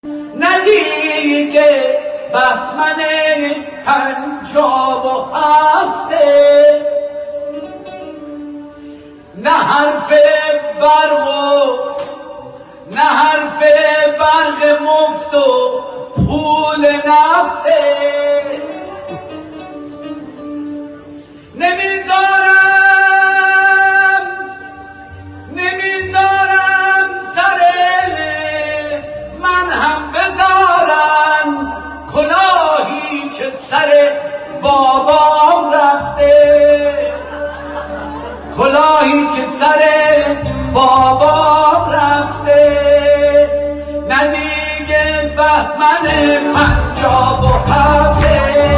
ندیگه بهمن 57 نه حرف برق و نه حرف برق مفت و پول نفته نمیذارم سر من هم بذارن کلاهی که سر بابام رفته کلاهی که سر بابام رفته نه دیگه بهمن 57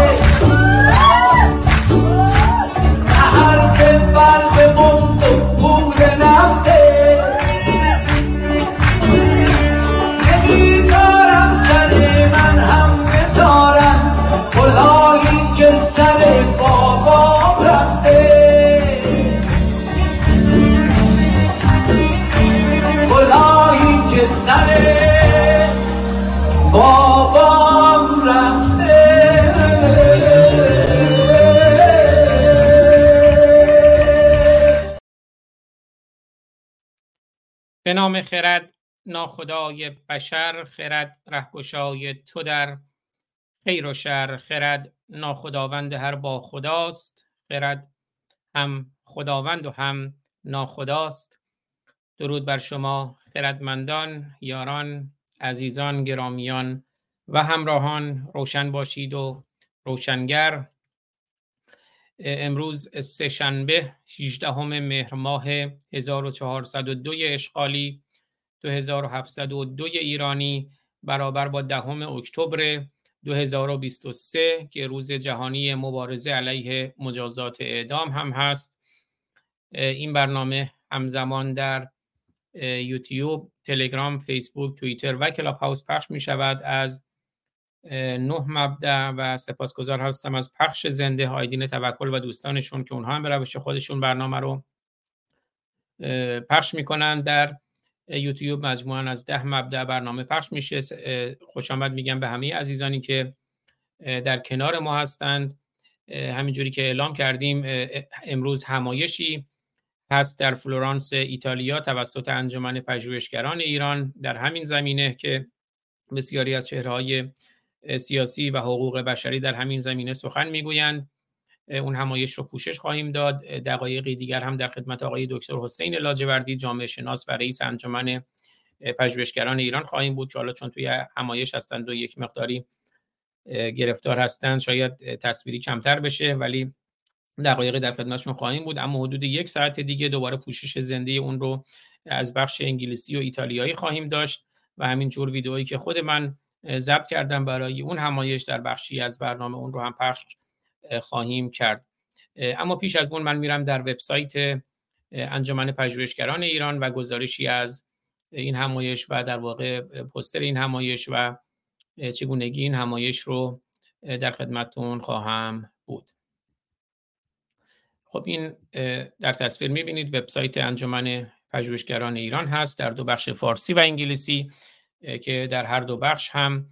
به نام خرد ناخدای بشر، خرد رهگشای تو در خیر و شر، خرد ناخداوند هر با خداست، خرد هم خداوند و هم ناخداست. درود بر شما خردمندان، یاران، عزیزان، گرامیان و همراهان. روشن باشید و روشنگر. امروز سه‌شنبه 18 مهر ماه 1402 اشغالی 2702 ایرانی برابر با 10 اکتبر 2023 که روز جهانی مبارزه علیه مجازات اعدام هم هست. این برنامه همزمان در یوتیوب، تلگرام، فیسبوک، توییتر و کلاب هاوس پخش می شود از 9 مبدأ و سپاسگزار هستم از پخش زنده آیدین توکل و دوستانشون که اونها هم به روش خودشون برنامه رو پخش میکنن. در یوتیوب مجموعاً از 10 مبدأ برنامه پخش میشه. خوش آمد میگم به همه عزیزانی که در کنار ما هستند. همینجوری که اعلام کردیم امروز همایشی هست در فلورانس ایتالیا توسط انجمن پژوهشگران ایران در همین زمینه که بسیاری از چهره‌های سیاسی و حقوق بشری در همین زمینه سخن میگویند. اون همایش رو پوشش خواهیم داد. دقایقی دیگر هم در خدمت آقای دکتر حسین لاجوردی، جامعه شناس و رئیس انجمن پژوهشگران ایران خواهیم بود که حالا چون توی همایش هستند و یک مقداری گرفتار هستند شاید تصویری کمتر بشه، ولی دقایقی در خدمتشون خواهیم بود. اما حدود 1 ساعت دیگه دوباره پوشش زنده اون رو از بخش انگلیسی و ایتالیایی خواهیم داشت و همینجور ویدئویی که خود من ضبط کردم برای اون همایش در بخشی از برنامه اون رو هم پخش خواهیم کرد. اما پیش از اون من میرم در وبسایت انجمن پژوهشگران ایران و گزارشی از این همایش و در واقع پوستر این همایش و چگونگی این همایش رو در خدمتتون خواهم بود. خب این در تصویر میبینید وبسایت انجمن پژوهشگران ایران هست در 2 بخش فارسی و انگلیسی که در هر 2 بخش هم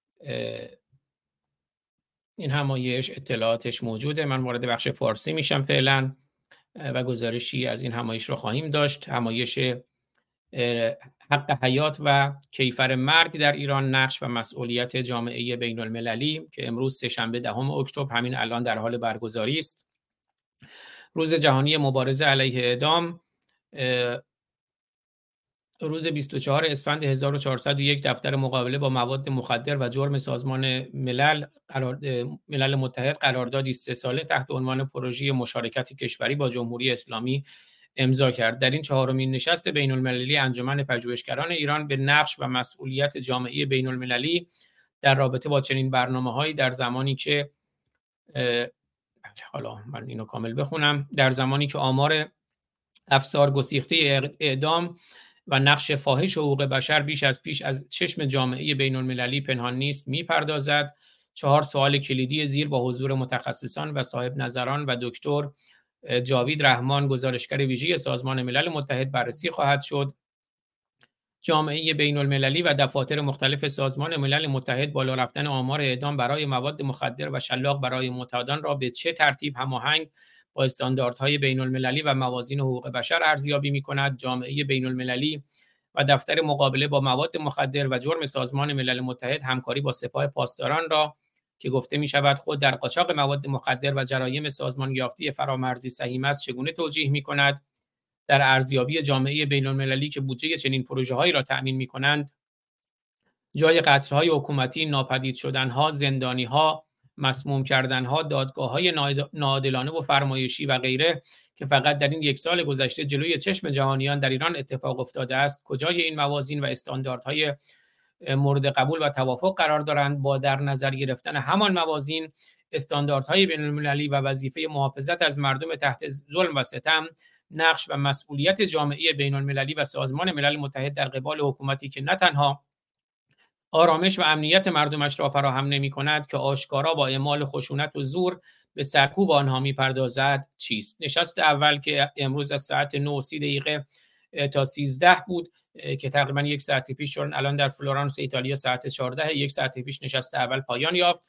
این همایش اطلاعاتش موجوده. من وارد بخش فارسی میشم فعلا و گزارشی از این همایش رو خواهیم داشت. همایش حق حیات و کیفر مرگ در ایران، نقش و مسئولیت جامعه بین المللی که امروز سه‌شنبه 10 اکتبر همین الان در حال برگزاری است. روز جهانی مبارزه علیه اعدام. روز 24 اسفند 1401 دفتر مقابله با مواد مخدر و جرم سازمان ملل متحد قراردادی 3 ساله تحت عنوان پروژه مشارکت کشوری با جمهوری اسلامی امضا کرد. در این 4مین نشست بین المللی انجمن پژوهشگران ایران به نقش و مسئولیت جامعه بین المللی در رابطه با چنین برنامه‌هایی در زمانی که حالا من اینو کامل بخونم. در زمانی که آمار افسار گسیخته اعدام و نقش فاحش حقوق بشر بیش از پیش از چشم جامعه بین المللی پنهان نیست میپردازد. 4 سوال کلیدی زیر با حضور متخصصان و صاحب نظران و دکتر جاوید رحمان گزارشگر ویژه سازمان ملل متحد بررسی خواهد شد. جامعه بین‌المللی و دفاتر مختلف سازمان ملل متحد بالا رفتن آمار اعدام برای مواد مخدر و شلاق برای معتادان را به چه ترتیب هماهنگ با استانداردهای بین‌المللی و موازین حقوق بشر ارزیابی می‌کند. جامعه بین‌المللی و دفتر مقابله با مواد مخدر و جرم سازمان ملل متحد همکاری با سپاه پاسداران را که گفته می‌شود خود در قاچاق مواد مخدر و جرایم سازمان یافته فرامرزی سهیم است چگونه توجیه می‌کند؟ در ارزیابی جامعه بین‌المللی که بودجه چنین پروژه‌هایی را تأمین می‌کنند، جای قتل‌های حکومتی، ناپدید شدن‌ها، زندانی‌ها، مسموم کردن‌ها، دادگاه‌های ناعادلانه و فرمایشی و غیره که فقط در این یک سال گذشته جلوی چشم جهانیان در ایران اتفاق افتاده است، کجای این موازین و استانداردهای مورد قبول و توافق قرار دارند؟ با در نظر گرفتن همان موازین، استانداردهای بین‌المللی و وظیفه محافظت از مردم تحت ظلم و ستم، نقش و مسئولیت جامعه بین‌المللی و سازمان ملل متحد در قبال حکومتی که نه تنها آرامش و امنیت مردمش را فراهم نمی‌کند که آشکارا با اعمال خشونت و زور به سرکوب آنها می‌پردازد چیست؟ نشست اول که امروز از ساعت 9:30 تا 13 بود که تقریبا یک ساعت پیش، چون الان در فلورانس ایتالیا ساعت 14، یک ساعت پیش نشست اول پایان یافت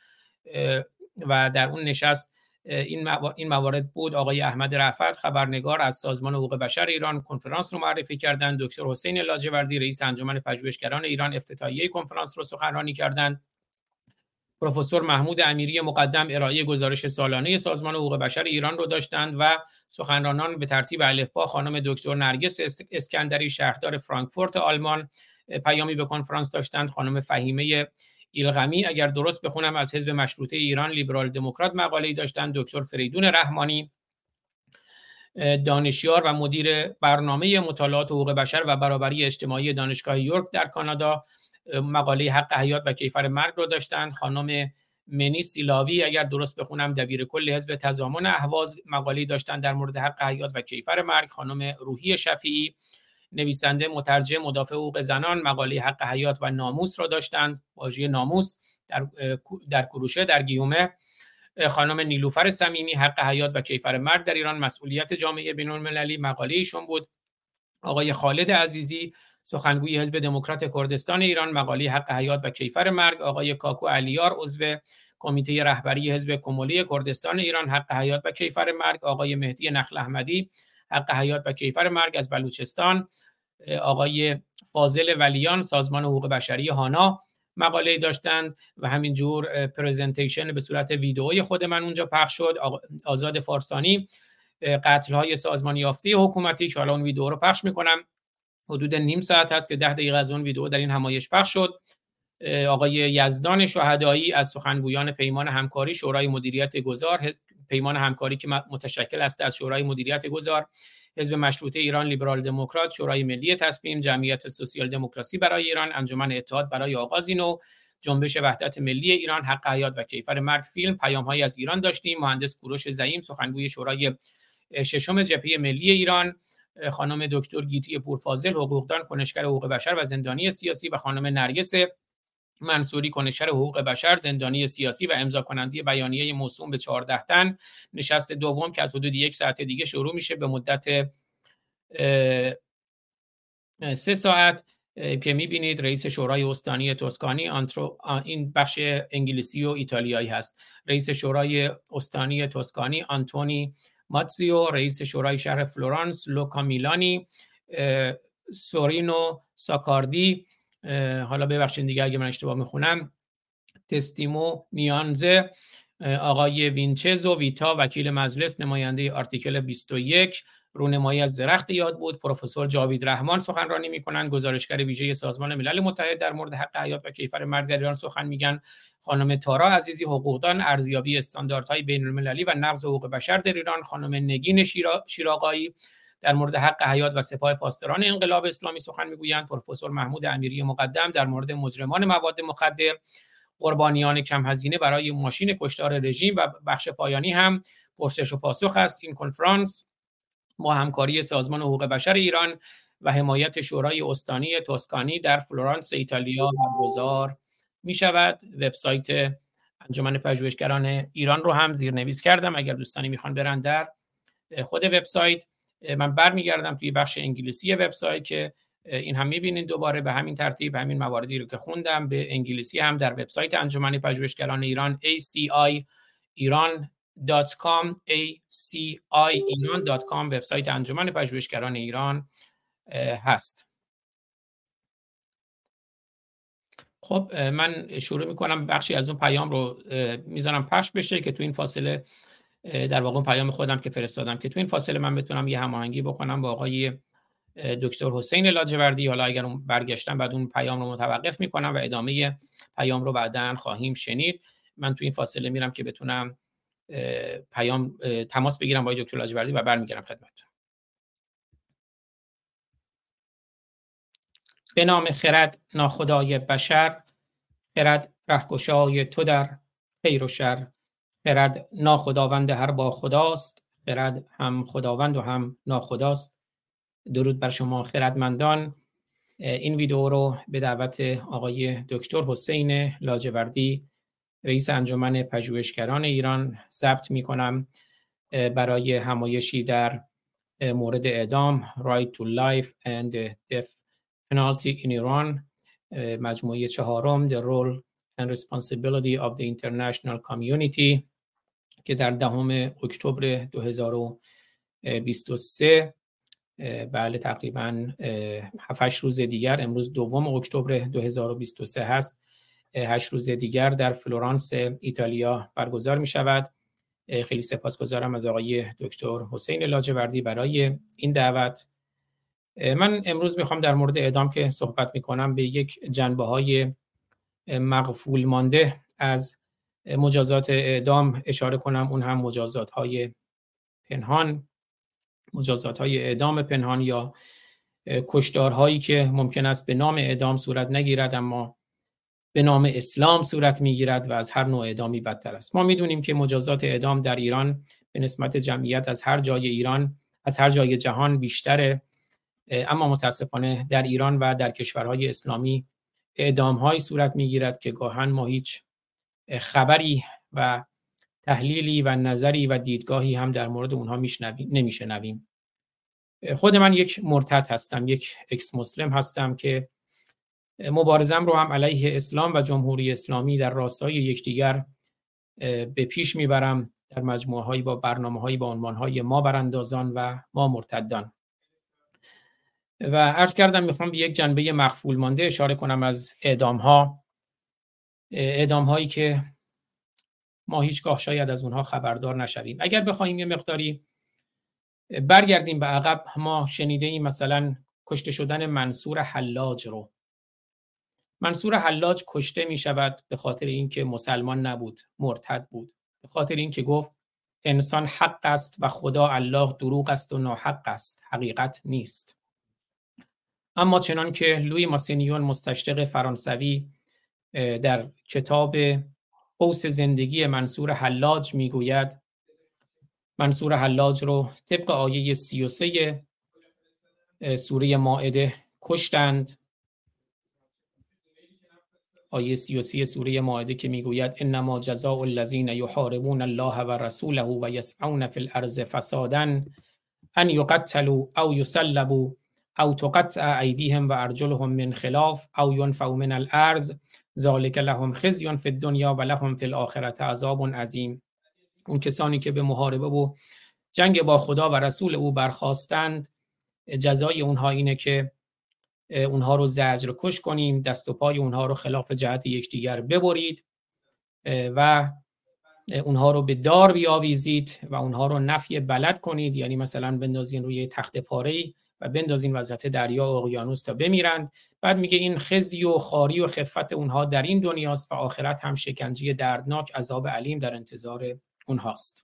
و در اون نشست این موارد بود. آقای احمد رفعت خبرنگار از سازمان حقوق بشر ایران کنفرانس رو معرفی کردند. دکتر حسین لاجوردی رئیس انجمن پژوهشگران ایران افتتاحیه کنفرانس رو سخنرانی کردند. پروفسور محمود امیری مقدم ارائه گزارش سالانه سازمان حقوق بشر ایران رو داشتند و سخنرانان به ترتیب الفبا خانم دکتر نرگس اسکندری شهردار فرانکفورت آلمان پیامی به کنفرانس داشتند. خانم فهیمه ایلغمی اگر درست بخونم از حزب مشروطه ایران لیبرال دموکرات مقاله‌ای داشتند. دکتر فریدون رحمانی دانشیار و مدیر برنامه مطالعات حقوق بشر و برابری اجتماعی دانشگاه یورک در کانادا مقاله حق حیات و کیفر مرگ رو داشتند. خانم منی سیلاوی اگر درست بخونم دبیر کل حزب تضامن اهواز مقاله داشتند در مورد حق حیات و کیفر مرگ. خانم روحی شفیعی نویسنده مترجم مدافع حقوق زنان مقاله حق حیات و ناموس را داشتند، واژه ناموس در کروشه در گیومه. خانم نیلوفر صمیمی حق حیات و کیفر مرگ در ایران مسئولیت جامعه بین‌المللی مقاله ایشون بود. آقای خالد عزیزی سخنگوی حزب دموکرات کردستان ایران مقاله حق حیات و کیفر مرگ. آقای کاکو علیار عضو کمیته رهبری حزب کمولی کردستان ایران حق حیات و کیفر مرگ. آقای مهدی نخل احمدی حق حیات و کیفر مرگ از بلوچستان. آقای فاضل ولیان سازمان حقوق بشری هانا مقاله داشتند و همینجور پرزنتیشن به صورت ویدئویی خود من اونجا پخش شد. آزاد فارسانی قتل‌های سازمان یافته حکومتی که حالا اون ویدئو رو پخش میکنم، حدود نیم ساعت هست که 10 دقیقه از اون ویدئو در این همایش پخش شد. آقای یزدان شهدایی از سخنگویان پیمان همکاری شورای مدیریت گذار، پیمان همکاری که متشکل است از شورای مدیریت گذار، حزب مشروطه ایران لیبرال دموکرات، شورای ملی تصمیم، جمعیت سوسیال دموکراسی برای ایران، انجمن اتحاد برای آغازی نو، جنبش وحدت ملی ایران، حق حیات و کیفر مرگ فیلم، پیام‌هایی از ایران داشتیم. مهندس کوروش زعیم سخنگوی شورای ششم جبهه ملی ایران، خانم دکتر گیتی پورفاضل حقوقدان کنشگر حقوق بشر و زندانی سیاسی و خانم نرگس منصوری کنشگر حقوق بشر زندانی سیاسی و امضا کننده بیانیه موسوم به 14 تن. نشست دوم که از حدود یک ساعت دیگه شروع میشه به مدت 3 ساعت که میبینید رئیس شورای استانی توسکانی این بخش انگلیسی و ایتالیایی هست. رئیس شورای استانی توسکانی آنتونی ماتزیو، رئیس شورای شهر فلورانس لوکا میلانی، سورینو ساکاردی، حالا ببخشید دیگه اگه من اشتباه میخونم، تستیمو نیانزه، آقای وینچزو ویتا وکیل مجلس نماینده آرتیکل 21 رونمایی از درخت یاد بود. پروفسور جاوید رحمان سخنرانی میکنن، گزارشگر ویژه سازمان ملل متحد در مورد حق حیات و کیفر مرگ در ایران سخن میگن. خانم تارا عزیزی حقوقدان ارزیابی استانداردهای بین‌المللی و نقض حقوق بشر در ایران. خانم نگین شیراقایی در مورد حق حیات و سپاه پاسداران انقلاب اسلامی سخن میگویند. پروفسور محمود امیری مقدم در مورد مجرمان مواد مخدر، قربانیان کم هزینه برای ماشین کشتار رژیم و بخش پایانی هم پرسش و پاسخ است. این کنفرانس با همکاری سازمان حقوق بشر ایران و حمایت شورای استانی توسکانی در فلورانس ایتالیا برگزار می شود. وبسایت انجمن پژوهشگران ایران رو هم زیرنویس کردم اگر دوستانی میخوان برن در خود وبسایت. من برمیگردم توی بخش انگلیسی وبسایت که این هم می‌بینید دوباره به همین ترتیب همین مواردی رو که خوندم به انگلیسی هم در وبسایت انجمن پژوهشگران ایران aciiran.com aciiran.com وبسایت انجمن پژوهشگران ایران هست. خب من شروع میکنم بخشی از اون پیام رو میذارم پخش بشه که تو این فاصله در واقع پیام خودم که فرستادم که تو این فاصله من بتونم یه هماهنگی بکنم با آقای دکتر حسین لاجوردی. حالا اگر اون برگشتن بعد اون پیام رو متوقف میکنم و ادامه پیام رو بعداً خواهیم شنید. من تو این فاصله میرم که بتونم تماس بگیرم با دکتر لاجوردی و برمیگردم خدمتتون. به نام خرد ناخدای بشر، خرد رهگشای تو در خیر و شر، خرد ناخداوند هر با خداست، خرد هم خداوند و هم ناخداست. درود بر شما خردمندان. این ویدیو رو به دعوت آقای دکتر حسین لاجوردی رئیس انجمن پژوهشگران ایران ضبط می‌کنم برای همایشی در مورد اعدام Right to Life and Death Penalty in Iran، مجموعه چهارم The Role and Responsibility of the International Community که در 10 اکتبر 2023 بله تقریباً 7 روز دیگر، امروز 2 اکتبر 2023 هست، 8 روز دیگر در فلورانس ایتالیا برگزار می شود. خیلی سپاسگزارم از آقای دکتر حسین لاجوردی برای این دعوت. من امروز میخوام در مورد اعدام که صحبت میکنم به یک جنبه‌های مغفول مانده از مجازات اعدام اشاره کنم، اون هم مجازات‌های پنهان، مجازات‌های اعدام پنهان یا کشتارهایی که ممکن است به نام اعدام صورت نگیرد اما به نام اسلام صورت میگیرد و از هر نوع اعدامی بدتر است. ما میدونیم که مجازات اعدام در ایران به نسبت جمعیت از هر جای ایران، از هر جای جهان بیشتره، اما متاسفانه در ایران و در کشورهای اسلامی اعدام‌هایی صورت میگیرد که گاهن ما هیچ خبری و تحلیلی و نظری و دیدگاهی هم در مورد اونها نمیشنویم. خود من یک مرتد هستم، یک اکس مسلم هستم که مبارزم رو هم علیه اسلام و جمهوری اسلامی در راستای یکدیگر به پیش میبرم در مجموعه‌هایی با برنامه‌هایی با عنوان‌های ما براندازان و ما مرتدان. و عرض کردم میخوام به یک جنبه مخفول مانده اشاره کنم از اعدام‌هایی که ما هیچگاه شاید از اونها خبردار نشویم. اگر بخوایم یه مقداری برگردیم به عقب، ما شنیدیم مثلا کشته شدن منصور حلاج رو. منصور حلاج کشته می شود به خاطر اینکه مسلمان نبود، مرتد بود، به خاطر اینکه گفت انسان حق است و خدا الله دروغ است و ناحق است، حقیقت نیست. اما چنان که لویی ماسینیون مستشرق فرانسوی در کتاب قوس زندگی منصور حلاج میگوید، منصور حلاج رو طبق آیه 33 سوره مائده کشتند. آیه 33 سوره مائده که میگوید انما جزاء الذین یحاربون الله و رسوله و یسعون فی الارض فسادا ان یقتلوا او یصلبوا او تقطع ایدیهم و ارجلهم من خلاف او ینفوا من الارض ذلک لهم خزی فی الدنیا و لهم فی الاخره عذاب عظیم. اون کسانی که به محاربه و جنگ با خدا و رسول او برخاستند، جزای اونها اینه که اونها رو زجر کش کنیم، دست و پای اونها رو خلاف جهت یکدیگر ببرید و اونها رو به دار بیاویزید و اونها رو نفی بلد کنید، یعنی مثلا بندازین روی تخت پاره‌ای و بندازین وسط دریا و اقیانوس تا بمیرند. بعد میگه این خزی و خاری و خفت اونها در این دنیاست و آخرت هم شکنجه دردناک، عذاب علیم در انتظار اونهاست.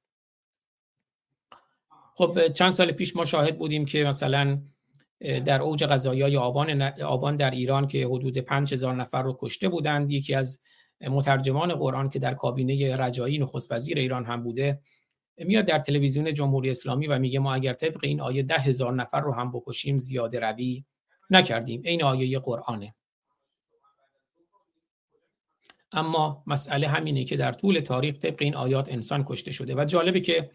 خب چند سال پیش ما شاهد بودیم که مثلا در اوج قضایای آبان در ایران که حدود 5000 نفر رو کشته بودند، یکی از مترجمان قرآن که در کابینه رجایی نخست وزیر ایران هم بوده میاد در تلویزیون جمهوری اسلامی و میگه ما اگر طبق این آیه 10,000 نفر رو هم بکشیم زیاده روی نکردیم. این آیه قرآنه. اما مسئله همینه که در طول تاریخ طبق این آیات انسان کشته شده و جالبه که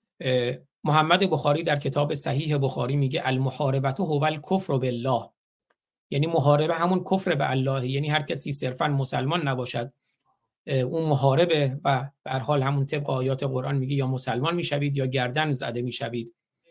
محمد بخاری در کتاب صحیح بخاری میگه المحاربته هو الکفر بالله، یعنی محاربه همون کفر به الله، یعنی هر کسی صرفا مسلمان نباشد اون محاربه و به هر حال همون طبق آیات قرآن میگه یا مسلمان میشوید یا گردن زده میشوید.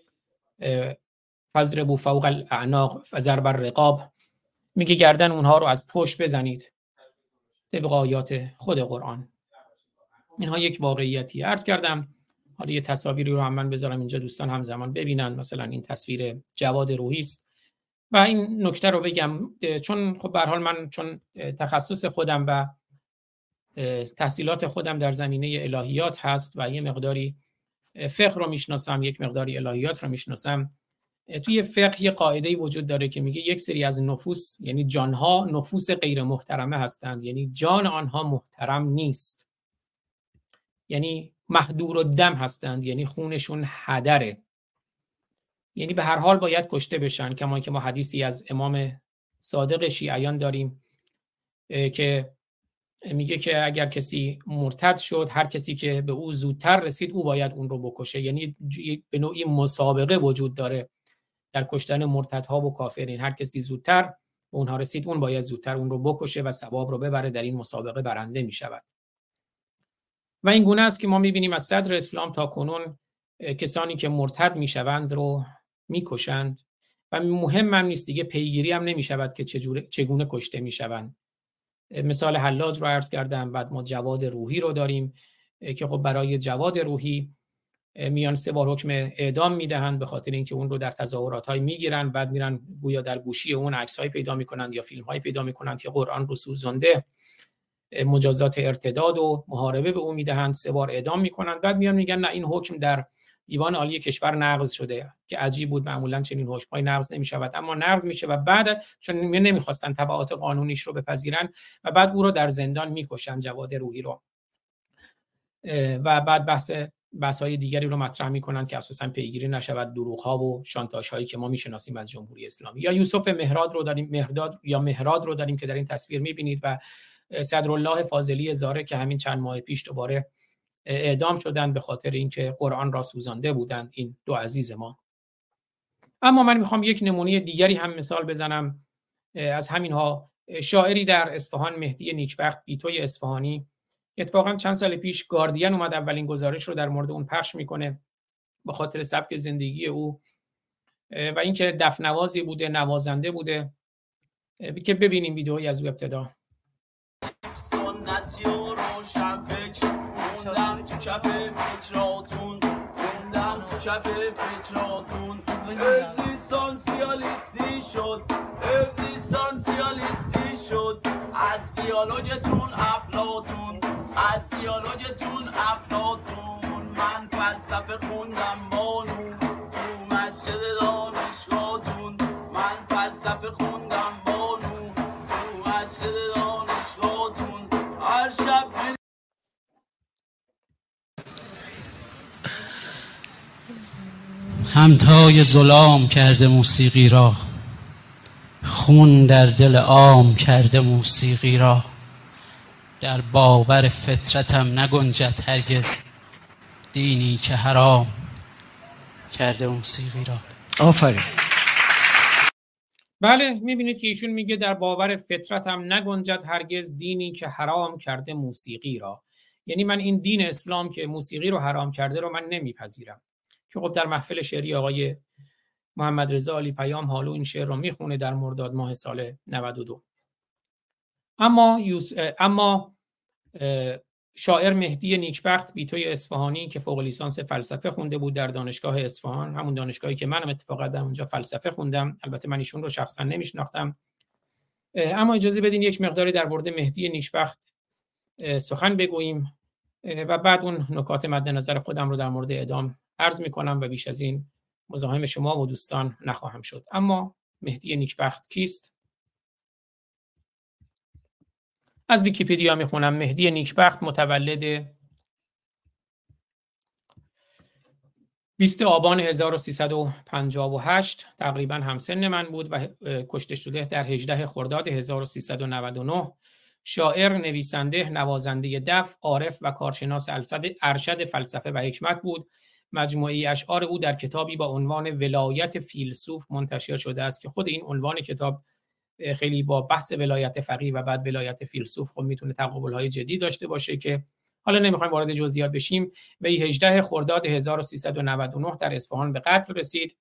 فضربوا فوق الاعناق فضرب الرقاب، میگه گردن اونها رو از پشت بزنید طبق آیات خود قرآن. اینها یک واقعیتی. عرض کردم حالا یه تصاویری رو هم من بذارم اینجا دوستان همزمان ببینن. مثلا این تصویر جواد روحی است و این نکته رو بگم چون خب به هر حال من چون تخصص خودم و تحصیلات خودم در زمینه الهیات هست و یه مقداری فقه رو میشناسم، یک مقداری الهیات رو میشناسم. توی فقه یه قاعده‌ای وجود داره که میگه یک سری از نفوس، یعنی جانها، نفوس غیر محترمه هستند، یعنی جان آنها محترم نیست، یعنی محدور الدم هستند، یعنی خونشون هدره، یعنی به هر حال باید کشته بشن. کما که ما حدیثی از امام صادق شیعیان داریم که میگه که اگر کسی مرتد شد، هر کسی که به او زودتر رسید او باید اون رو بکشه. یعنی به نوعی مسابقه وجود داره در کشتن مرتدها و کافرین. هر کسی زودتر به اونها رسید اون باید زودتر اون رو بکشه و ثواب رو ببره، در این مسابقه برنده میشود. و این گونه است که ما میبینیم از صدر اسلام تا کنون کسانی که مرتد میشوند رو میکشند و مهم هم نیست دیگه، پیگیری هم نمیشود که چگونه کشته میشوند. مثال حلاج رو عرض کردم. بعد ما جواد روحی رو داریم که خب برای جواد روحی میان 3 بار حکم اعدام میدهند به خاطر اینکه اون رو در تظاهرات‌های میگیرن، بعد میرن گویا در گوشی اون عکس‌های پیدا میکنند یا فیلم‌های پیدا میکنند که قرآن رو سوزانده، مجازات ارتداد و محاربه به اون میدهند، 3 بار اعدام میکنند. بعد میان میگن نه این حکم در دیوان عالی کشور نقض شده، که عجیب بود، معمولا چنین حکم‌های نقض نمی‌شود اما نقض میشه و بعد چون نمیخواستن تبعات قانونیش رو بپذیرن و بعد او رو در زندان میکشن، جواد روحی رو، و بعد بحث‌های دیگری رو مطرح میکنن که اساساً پیگیری نشود دروغ‌ها و شانتاژهایی که ما میشناسیم از جمهوری اسلامی. یا یوسف مهراد رو داریم که در این تصویر میبینید و صدرالله فاضلی زاره که همین چند ماه پیش دوباره اعدام شدند به خاطر اینکه قرآن را سوزانده بودند این 2 عزیز ما. اما من میخوام یک نمونه دیگری هم مثال بزنم از همینها. شاعری در اصفهان، مهدی نیکبخت بیتوی اصفهانی، اتفاقا چند سال پیش گاردین اومد اولین گزارش رو در مورد اون پخش میکنه به خاطر سبک زندگی او و اینکه دفنوازی بوده، نوازنده بوده، که ببینیم ویدئویی از او ابتدا. سنتی و روشن فکر موندم تو کف فکراتون، موندم تو کف فکراتون. اگزیستانسیالیستی شد، اگزیستانسیالیستی شد از دیالوگتون افلاطون، از دیالوگتون افلاطون. من فلسفه خوندم بانو تو مسجد دانشگاهتون، من فلسفه خوندم بانو تو مسجد دانشگاهتون. هر شب همتای ظلام کرده موسیقی را، خون در دل عام کرده موسیقی را. در باور فطرتم نگنجد هرگز دینی که حرام کرده موسیقی را. آفرین. بله میبینید که ایشون میگه در باور فطرتم نگنجد هرگز دینی که حرام کرده موسیقی را. یعنی من این دین اسلام که موسیقی رو حرام کرده رو من نمیپذیرم. که خب در محفل شعری آقای محمد رضا علی پیام حالو این شعر رو میخونه در مرداد ماه سال 92. اما شاعر مهدی نیکبخت بیتوی اصفهانی که فوق لیسانس فلسفه خونده بود در دانشگاه اصفهان، همون دانشگاهی که منم اتفاقا در اونجا فلسفه خوندم، البته من ایشون رو شخصا نمیشناختم، اما اجازه بدین یک مقداری در مورد مهدی نیکبخت سخن بگوییم و بعد اون نکات مد نظر خودم رو در مورد اعدام عرض میکنم و بیش از این مزاحم شما و دوستان نخواهم شد. اما مهدی نیکبخت کیست؟ از ویکی‌پدیا میخونم. مهدی نیکبخت متولد 20 آبان 1358 تقریبا همسن من بود و کشته شده در 18 خرداد 1399. شاعر، نویسنده، نوازنده دف، عارف و کارشناس ارشد فلسفه و حکمت بود. مجموعه اشعار او در کتابی با عنوان ولایت فیلسوف منتشر شده است که خود این عنوان کتاب خیلی با بحث ولایت فقیه و بعد ولایت فیلسوف خب میتونه تقابل‌های جدی داشته باشه که حالا نمیخوایم وارد جزئیات بشیم. وی 18 خرداد 1399 در اصفهان به قتل رسید.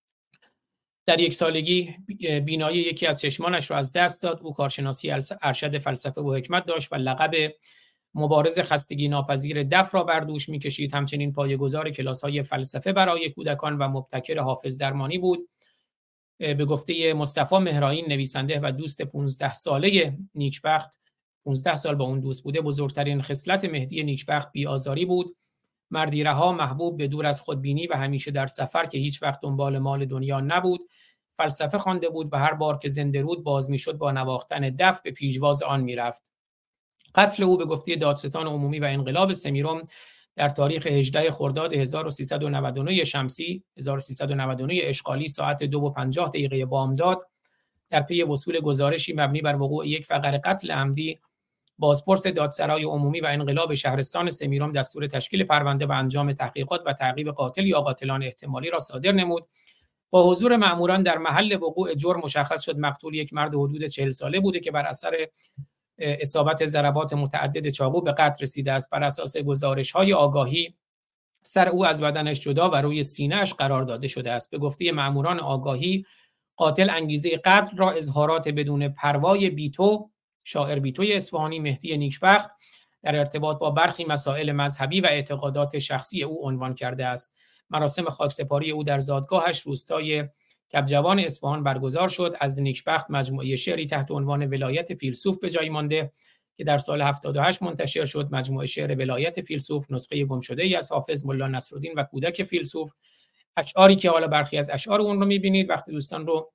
در 1 سالگی بینایی یکی از چشمانش را از دست داد. او کارشناسی ارشد فلسفه و حکمت داشت و لقب مبارز خستگی ناپذیر دف را بر دوش می‌کشید. همچنین پایه‌گذار کلاس‌های فلسفه برای کودکان و مبتکر حافظ درمانی بود. به گفته مصطفی مهرائین، نویسنده و دوست 15 ساله نیکبخت، 15 سال با اون دوست بوده، بزرگترین خصلت مهدی نیکبخت بی‌آزاری بود. مردی رها، محبوب، به دور از خودبینی و همیشه در سفر که هیچ وقت دنبال مال دنیا نبود. فلسفه خوانده بود و هر بار که زنده رود باز میشد با نواختن دف به پیشواز آن میرفت. قتل او به گفته دادستان عمومی و انقلاب سمیرم در تاریخ 18 خرداد 1399 شمسی 1399 اشغالی ساعت 2:50 بامداد در پی وصول گزارشی مبنی بر وقوع یک فقر قتل عمدی، بازپرس دادسرای عمومی و انقلاب شهرستان سمیرم دستور تشکیل پرونده و انجام تحقیقات و تعقیب قاتل یا قاتلان احتمالی را صادر نمود. با حضور مأموران در محل وقوع جرم مشخص شد مقتول یک مرد حدود 40 ساله بوده که بر اثر اصابت ضربات متعدد چاقو به قتل رسیده است. بر اساس گزارش‌های آگاهی سر او از بدنش جدا و روی سینه‌اش قرار داده شده است. به گفته مأموران آگاهی، قاتل انگیزه قتل را اظهارات بدون پروای بیتو، شاعر بیتوی اصفهانی مهدی نیکبخت، در ارتباط با برخی مسائل مذهبی و اعتقادات شخصی او عنوان کرده است. مراسم خاکسپاری او در زادگاهش روستای کبجوان اصفهان برگزار شد. از نیکبخت مجموعه شعری تحت عنوان ولایت فیلسوف به جای مانده که در سال 78 منتشر شد. مجموعه شعر ولایت فیلسوف نسخه گمشده‌ای از حافظ ملا نصرالدین و کودک فیلسوف. اشعاری که حالا برخی از اشعار اون رو می‌بینید، وقتی دوستان رو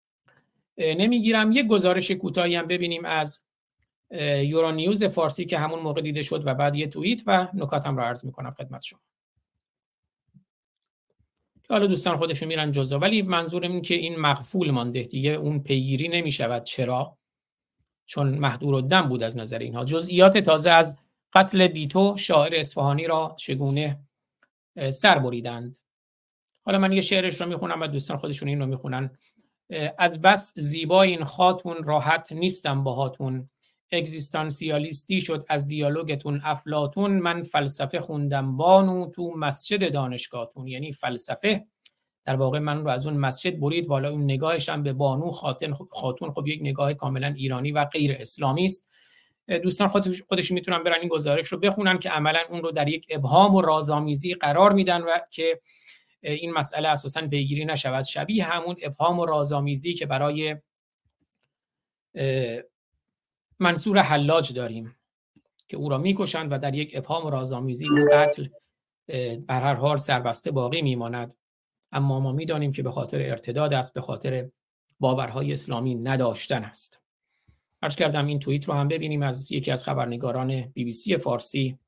نمیگیرم. یک گزارش کوتاهی هم ببینیم از یورونیوز فارسی که همون موقع دیده شد و بعد یه توییت و نکاتم رو عرض می‌کنم خدمت شما. حالا دوستان خودشون میرن جزا، ولی منظورم این که این مغفول مانده دیگه، اون پیگیری نمیشود. چرا؟ چون محدودالدم بود از نظر اینها. جزئیات تازه از قتل بیتو شاعر اصفهانی را چگونه سر بریدند. حالا من یه شعرش رو میخونم و دوستان خودشون این رو میخونن. از بس زیبا این خاتون راحت نیستم باهاتون، اگزیستانسیالیستی شد از دیالوگتون افلاطون، من فلسفه خوندم بانو تو مسجد دانشگاهتون. یعنی فلسفه در واقع من رو از اون مسجد برید، والا اون نگاهش هم به بانو خاتون خب یک نگاه کاملا ایرانی و غیر اسلامی است. دوستان خودشون میتونن برن این گزارش رو بخونن که عملا اون رو در یک ابهام و رازآمیزی قرار میدن و که این مسئله اساساً پیگیری نشود. شبیه همون ابهام و رازآمیزی که برای منصور حلاج داریم که او را میکشند و در یک ابهام و رازآمیزی این قتل بر هر حال سربسته باقی میماند. اما ما میدانیم که به خاطر ارتداد است، به خاطر باورهای اسلامی نداشتن است. عرض کردم این توییت رو هم ببینیم از یکی از خبرنگاران BBC فارسی،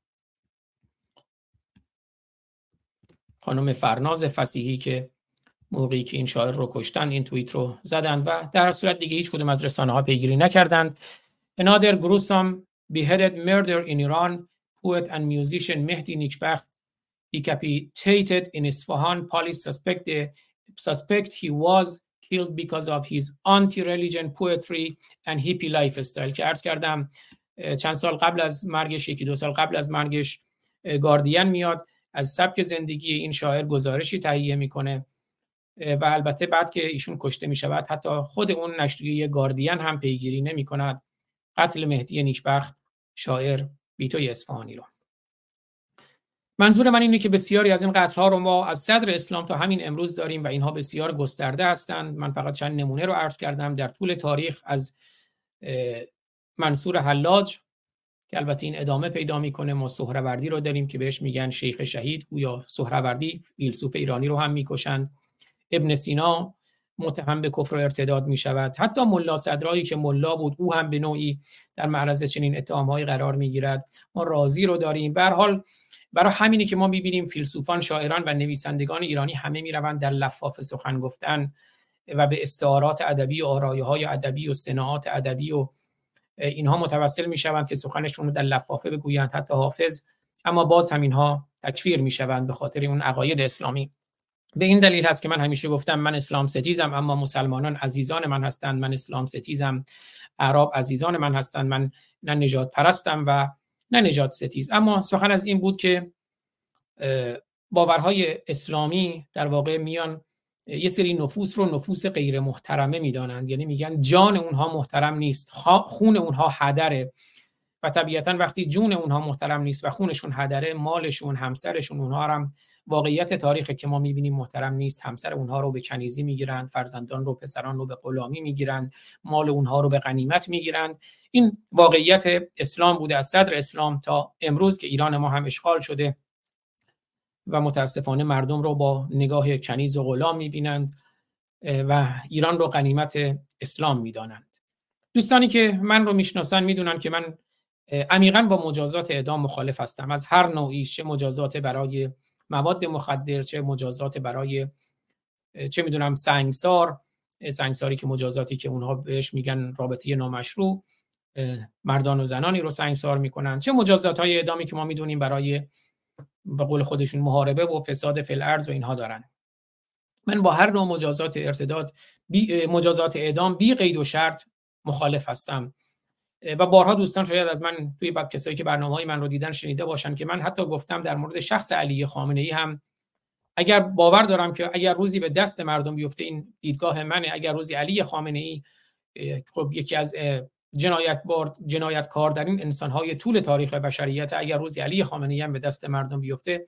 خانم فرناز فصیحی، که موقعی که این شاعر رو کشتن این توییت رو زدن و در هر صورت دیگه هیچ کدوم از رسانه‌ها پیگیری نکردند. Another gruesome beheaded murder in Iran. Poet and musician Mehdi Nikbakht decapitated in Isfahan. Police suspect he was killed because of his anti-religion poetry and hippie lifestyle. که عرض کردم چند سال قبل از مرگش، 1-2 سال قبل از مرگش، گاردین میاد از سبک زندگی این شاعر گزارشی تهیه میکنه و البته بعد که ایشون کشته میشود حتی خود اون نشریه گاردین هم پیگیری نمیکند قتل مهدی نیکبخت شاعر بیتوی اصفهانی رو. منظور من اینه که بسیاری از این قتل‌ها رو ما از صدر اسلام تا همین امروز داریم و اینها بسیار گسترده هستند. من فقط چند نمونه رو عرض کردم در طول تاریخ، از منصور حلاج که البته این ادامه پیدا میکنه. ما سهروردی رو داریم که بهش میگن شیخ شهید، گویا سهروردی فیلسوف ایرانی رو هم میکشند. ابن سینا متهم به کفر و ارتداد میشود. حتی ملا صدرایی که ملا بود او هم به نوعی در معرض چنین اتهام‌هایی قرار میگیرد. ما رازی رو داریم. به هر حال برای همینی که ما می‌بینیم فیلسوفان، شاعران و نویسندگان ایرانی همه میروند در لفاف سخن گفتن و به استعارات ادبی و آرایه‌های ادبی و صناعات ادبی و اینها متوسل میشوند که سخنشون رو در لفافه بگویند، حتی حافظ، اما باز هم اینها تکفیر میشوند به خاطر اون عقاید اسلامی. به این دلیل هست که من همیشه گفتم من اسلام ستیزم، اما مسلمانان عزیزان من هستند. من اسلام ستیزم، اعراب عزیزان من هستند. من نه نژاد پرستم و نه نژاد ستیز. اما سخن از این بود که باورهای اسلامی در واقع میان یه سری نفوس رو نفوس غیر محترمه میدانند، یعنی میگن جان اونها محترم نیست، خون اونها هدره، و طبیعتا وقتی جون اونها محترم نیست و خونشون هدره، مالشون، همسرشون، اونها هم واقعیت تاریخی که ما میبینیم محترم نیست. همسر اونها رو به کنیزی میگیرن، فرزندان رو، پسران رو به غلامی میگیرن، مال اونها رو به غنیمت میگیرن. این واقعیت اسلام بوده از صدر اسلام تا امروز که ایران ما هم اشغال شده و متاسفانه مردم رو با نگاه کنیز و غلام میبینند و ایران رو غنیمت اسلام میدانند. دوستانی که من رو میشناسن میدونن که من عمیقاً با مجازات اعدام مخالف هستم، از هر نوعی، چه مجازات برای مواد مخدر، چه مجازات برای چه میدونم سنگساری که مجازاتی که اونها بهش میگن رابطه نامشروع، مردان و زنانی رو سنگسار میکنن، چه مجازات‌های اعدامی که ما میدونیم برای به قول خودشون محاربه و فساد فی الارض و اینها دارن. من با هر نوع مجازات ارتداد مجازات اعدام بی قید و شرط مخالف هستم و بارها دوستان شاید از من توی کسایی که برنامه‌های من رو دیدن شنیده باشن که من حتی گفتم در مورد شخص علی خامنه‌ای هم اگر باور دارم که اگر روزی به دست مردم بیفته، این دیدگاه منه، اگر روزی علی خامنه‌ای خب یکی از جنایتکار در این انسان‌های طول تاریخ بشریت، اگر روزی علی خامنه‌ای هم به دست مردم بیفته،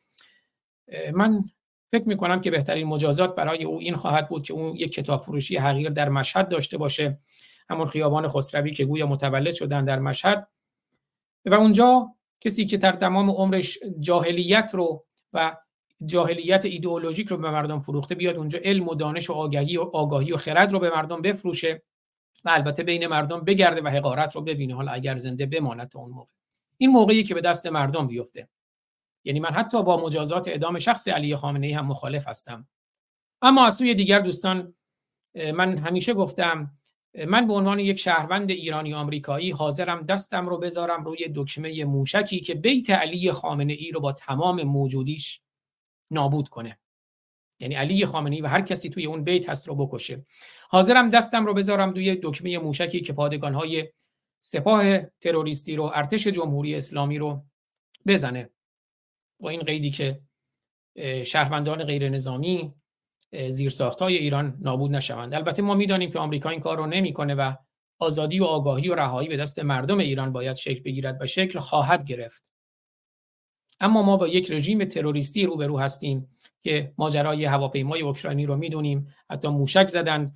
من فکر می‌کنم که بهترین مجازات برای او این خواهد بود که اون یک کتاب فروشی حقیر در مشهد داشته باشه، همون خیابان خسروی که گویا متولد شدن در مشهد، و اونجا کسی که در تمام عمرش جاهلیت رو و جاهلیت ایدئولوژیک رو به مردم فروخته بیاد اونجا علم و دانش و آگاهی و خرد رو به مردم بفروشه و البته بین مردم بگرده و حقارت رو ببینه، حالا اگر زنده بماند تا اون موقع. این موقعی که به دست مردم بیفته. یعنی من حتی با مجازات اعدام شخص علی خامنه‌ای هم مخالف هستم. اما از سوی دیگر دوستان، من همیشه گفتم من به عنوان یک شهروند ایرانی آمریکایی حاضرم دستم رو بذارم روی دکمه موشکی که بیت علی خامنه‌ای رو با تمام موجودیش نابود کنه، یعنی علی خامنه‌ای و هر کسی توی اون بیت هست رو بکشه. حاضرم دستم رو بذارم روی دکمه موشکی که پادگان‌های سپاه تروریستی رو، ارتش جمهوری اسلامی رو بزنه، با این قیدی که شهروندان غیر نظامی، زیرساخت‌های ایران نابود نشوند. البته ما می‌دانیم که آمریکا این کار رو نمی‌کنه و آزادی و آگاهی و رهایی به دست مردم ایران باید شکل بگیرد و شکل خواهد گرفت. اما ما با یک رژیم تروریستی روبرو هستیم که ماجرای هواپیمای اوکراینی رو می‌دونیم، حتی موشک زدن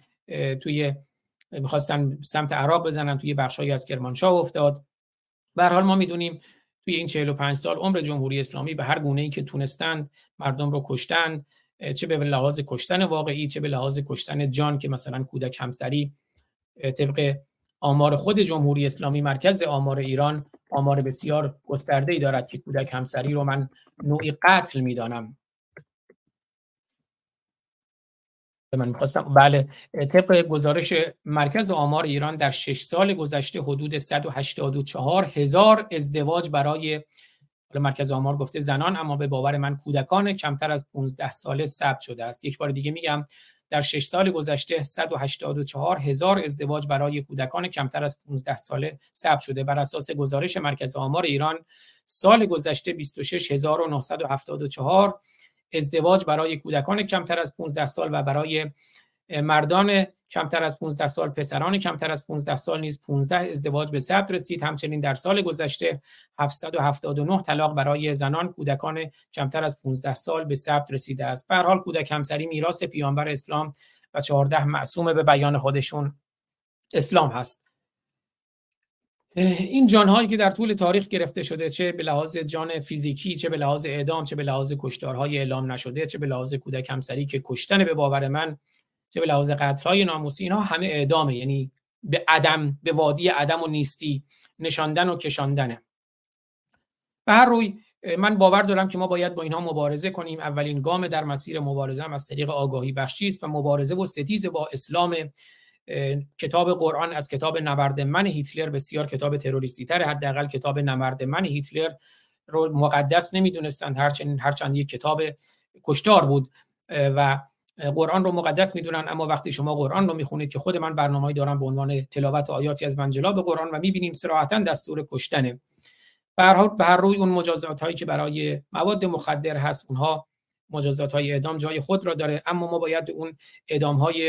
می‌خواستن سمت عراق بزنن، توی بخشایی از کرمانشاه افتاد. به هر حال ما می‌دونیم توی این 45 سال عمر جمهوری اسلامی به هر گونه‌ای که تونستند مردم رو کشتند، چه به لحاظ کشتن واقعی، چه به لحاظ کشتن جان، که مثلا کودک همسری طبق آمار خود جمهوری اسلامی، مرکز آمار ایران، آمار بسیار گسترده‌ای دارد که کودک همسری رو من نوعی قتل می‌دانم. بله، طبق گزارش مرکز آمار ایران در 6 سال گذشته حدود 184,000 ازدواج برای مرکز آمار گفته زنان، اما به باور من کودکان کمتر از 15 ساله ثبت شده است. یک بار دیگه میگم در 6 سال گذشته 184,000 ازدواج برای کودکان کمتر از 15 ساله ثبت شده. بر اساس گزارش مرکز آمار ایران سال گذشته 26,974 ازدواج برای کودکان کمتر از 15 سال و برای مردان کمتر از 15 سال، پسران کمتر از 15 سال نیز 15 ازدواج به ثبت رسید. همچنین در سال گذشته 779 طلاق برای زنان کودکان کمتر از 15 سال به ثبت رسیده است. به هر حال کودک همسری میراث پیامبر اسلام و 14 معصوم به بیان خودشون اسلام هست. این جانهایی که در طول تاریخ گرفته شده، چه به لحاظ جان فیزیکی، چه به لحاظ اعدام، چه به لحاظ کشتارهای اعلام نشده، چه به لحاظ کودک همسری که کشتن به باور من، چه به لحاظ قتل‌های ناموسی، اینها همه اعدامه، یعنی به عدم، به وادی عدم و نیستی نشاندن و کشاندنه. به هر روی من باور دارم که ما باید با اینها مبارزه کنیم. اولین گام در مسیر مبارزه هم از طریق آگاهی بخشی است و مبارزه و ستیز با اسلام. کتاب قرآن از کتاب نبرد من هیتلر بسیار کتاب تروریستی تره. حداقل کتاب نبرد من هیتلر رو مقدس نمیدونستند، هرچند یک کتاب کشتار بود. و قرآن رو مقدس میدونن، اما وقتی شما قرآن رو میخونید که خود من برنامه‌ای دارم به عنوان تلاوت آیاتی از منجلاب قرآن و میبینیم صراحتاً دستور کشتنه. به هر روی اون مجازات هایی که برای مواد مخدر هست، اونها مجازات های اعدام جای خود را داره، اما ما باید اون اعدام های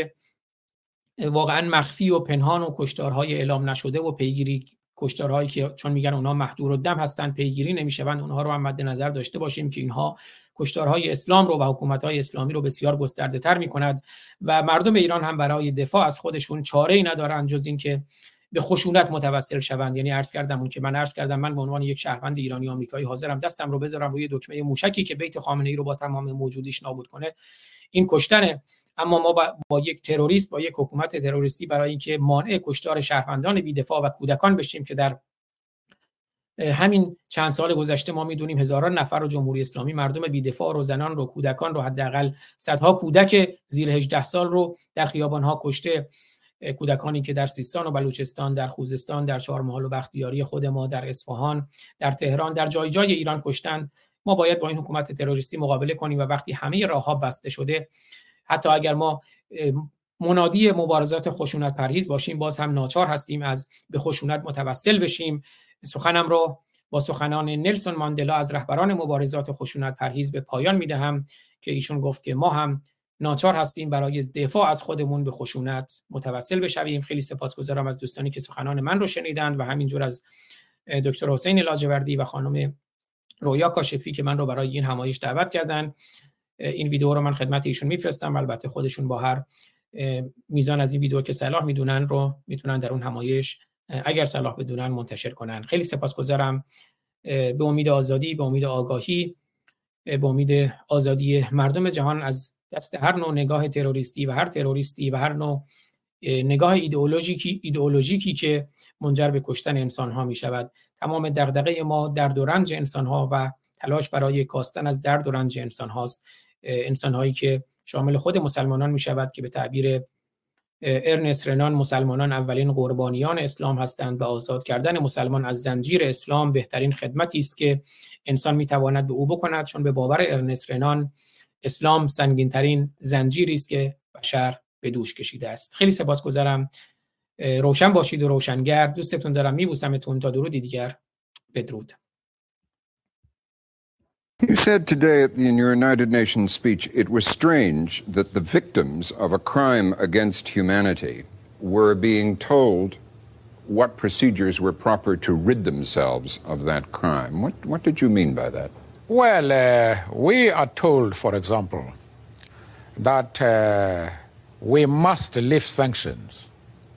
واقعا مخفی و پنهان و کشتارهای اعلام نشده و پیگیری، کشتارهایی که چون میگن اونها محدور الدم هستن پیگیری نمیشوند، اونها رو هم مد نظر داشته باشیم که اینها کشتارهای اسلام رو و حکومت‌های اسلامی رو بسیار گسترده‌تر می‌کند و مردم ایران هم برای دفاع از خودشون چاره‌ای ندارن جز این که به خشونت متوسل شوند. یعنی عرض کردم من به عنوان یک شهروند ایرانی آمریکایی حاضرم دستم رو بذارم روی دکمه موشکی که بیت خامنه‌ای رو با تمام موجودیش نابود کنه، این کشتنه. اما ما با یک تروریست، با یک حکومت تروریستی برای اینکه مانع کشتار شهروندان بی‌دفاع و کودکان بشیم که در همین چند سال گذشته ما میدونیم هزاران نفر رو جمهوری اسلامی، مردم بی‌دفاع رو، زنان رو، کودکان رو، حداقل صدها کودک زیر 18 سال رو در خیابان‌ها کشته. کودکانی که در سیستان و بلوچستان، در خوزستان، در چهارمحال و بختیاری خود ما، در اصفهان، در تهران، در جای جای ایران کشتن. ما باید با این حکومت تروریستی مقابله کنیم و وقتی همه راه‌ها بسته شده، حتی اگر ما منادی مبارزات خشونت پرهیز باشیم، باز هم ناچار هستیم از به خشونت متوسل بشیم. سخنم را با سخنان نلسون ماندلا از رهبران مبارزات خشونت پرهیز به پایان میدهم که ایشون گفت که ما هم ناچار هستیم برای دفاع از خودمون به خشونت متوسل بشویم. خیلی سپاسگزارم از دوستانی که سخنان من رو شنیدند و همینجور از دکتر حسین لاجوردی و خانم رویا کاشفی که من رو برای این همایش دعوت کردن. این ویدیو رو من خدمت ایشون میفرستم، البته خودشون با هر میزان از این ویدیو که صلاح میدونن رو میتونن در اون همایش اگر صلاح بدونن منتشر کنن. خیلی سپاسگزارم. به امید آزادی، به امید آگاهی، به امید آزادی مردم جهان از دست هر نوع نگاه تروریستی و هر تروریستی و هر نوع نگاه ایدئولوژیکی که منجر به کشتن انسان ها می شود. تمام دغدغه ما درد و رنج انسان ها و تلاش برای کاستن از درد و رنج انسان هاست. انسان هایی که شامل خود مسلمانان می شود که به تعبیر ارنست رنان مسلمانان اولین قربانیان اسلام هستند و آزاد کردن مسلمان از زنجیر اسلام بهترین خدمتی است که انسان می تواند به او بکند، چون به باور ارنست رنان اسلام سنگین ترین زنجیری است که بشر به دوش کشیده است. خیلی سپاسگزارم. روشن باشید و روشنگر. دوستتون دارم. میبوسمتون. تا درودی دیگر. بدرود. You said today in your United Nations speech it was strange that the victims of a crime against humanity were being told what procedures were proper to rid themselves of that crime. What did you mean by that? Well, we are told, for example, that we must lift sanctions.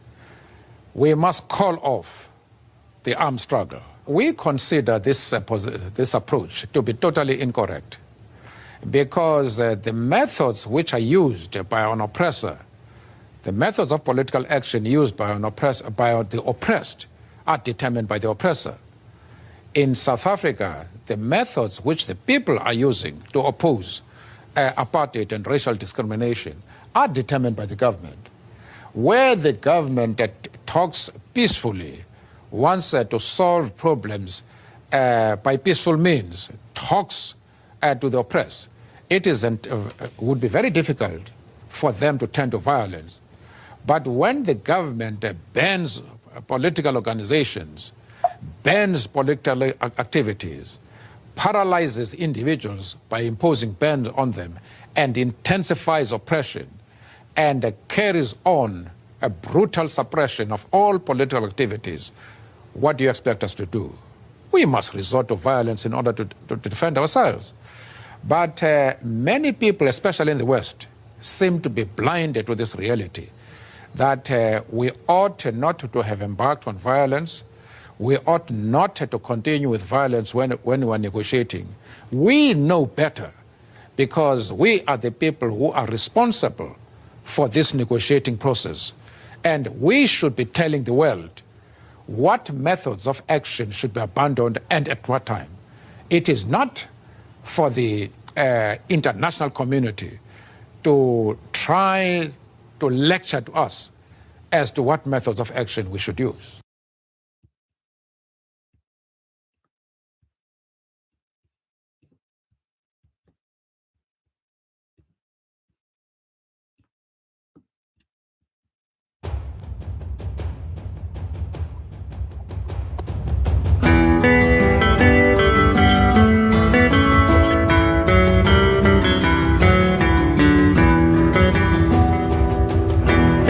We must call off the armed struggle. We consider this approach to be totally incorrect because the methods which are used by an oppressor, the methods of political action used by the oppressed are determined by the oppressor. In South Africa, the methods which the people are using to oppose apartheid and racial discrimination are determined by the government. Where the government talks peacefully, wants to solve problems by peaceful means, talks to the oppressed, it would be very difficult for them to turn to violence. But when the government bans political organizations, bans political activities, paralyzes individuals by imposing bans on them, and intensifies oppression, and carries on a brutal suppression of all political activities, what do you expect us to do? We must resort to violence in order to defend ourselves. But many people, especially in the West, seem to be blinded to this reality, that we ought not to have embarked on violence. We ought not to continue with violence when we are negotiating. We know better because we are the people who are responsible for this negotiating process. And we should be telling the world what methods of action should be abandoned and at what time. It is not for the international community to try to lecture to us as to what methods of action we should use.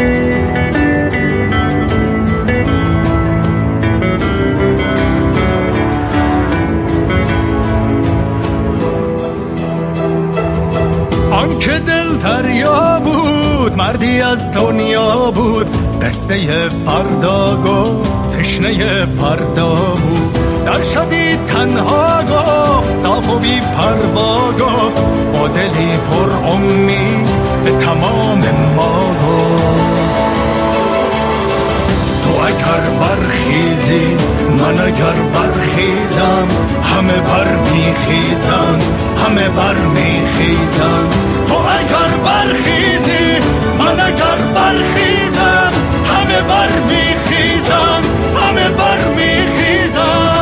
آن که دل دریا بود مردی از دنیا بود، قصه فردا گفت تشنه فردا بود. در شبی تنها گفت صاف و بی پروا گفت، با دلی پر امید به تمام ما گفت. تو اگر برخیزی من اگر برخیزم، همه بر میخیزم همه بر میخیزم. تو اگر برخیزی من اگر برخیزم، همه بر میخیزم همه بر میخیزم.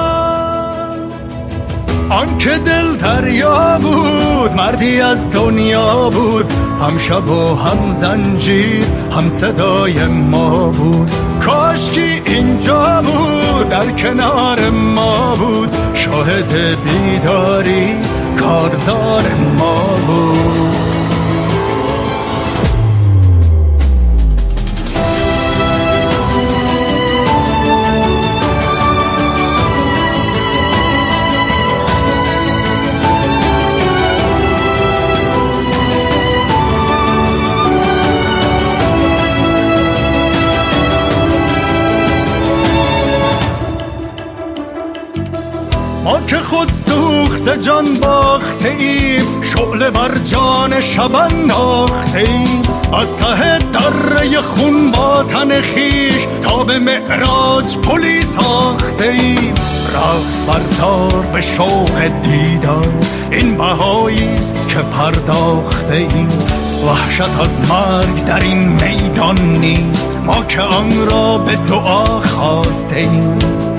آن که دل دریا بود مردی از دنیا بود، هم شب و هم زنجیر هم صدای ما بود. کاشکی اینجا بود در کنار ما بود، شاهد بیداری کارزار ما بود. ما که خود سوخت جان باخته ایم، شعله بر جان شب انداخته ایم. از ته دره خون با تن خیش تا به معراج پلی ساخته ایم. رقص بردار به شوق دیدار، این بهاییست که پرداخته ایم. وحشت از مرگ در این میدان نیست، ما که آن را به دعا خواسته ایم.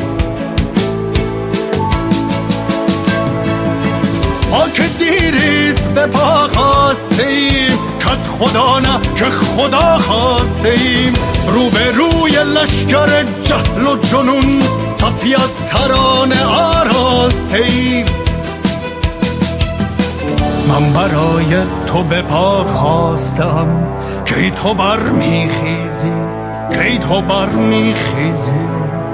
ما که دیریست به پا خواسته ایم، کت خدا نه که خدا خواسته ایم. رو به روی لشکر جهل و جنون صفی از ترانه آراسته ایم. من برای تو به پا خواستم، کی تو بر میخیزی کی تو بر میخیزی.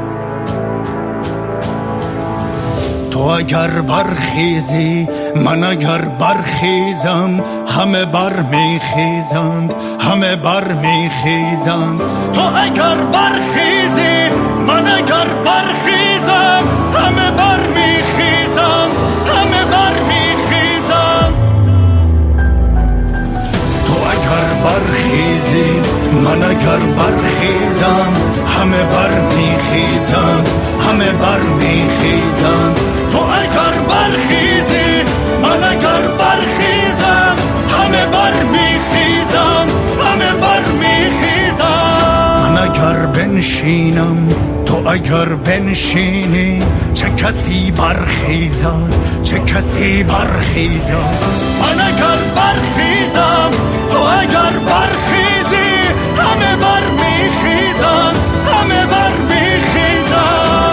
تو اگر برخیزی من اگر برخیزم، همه بر میخیزند همه بر میخیزند. تو اگر برخیزی من اگر برخیزم، همه بر میخیزند همه بر میخیزند. تو اگر برخیزی من اگر برخیزم، همه بر میخیزند همه بر میخیزند. تو اگر برخیزی من اگر برخیزم، همه بر میخیزند همه بر میخیزند. من اگر بنشینم تو اگر بنشینی، چه کسی برخیزد چه کسی برخیزد. من اگر برخیزم تو اگر برخیزی، همه بر میخیزند همه بر میخیزند.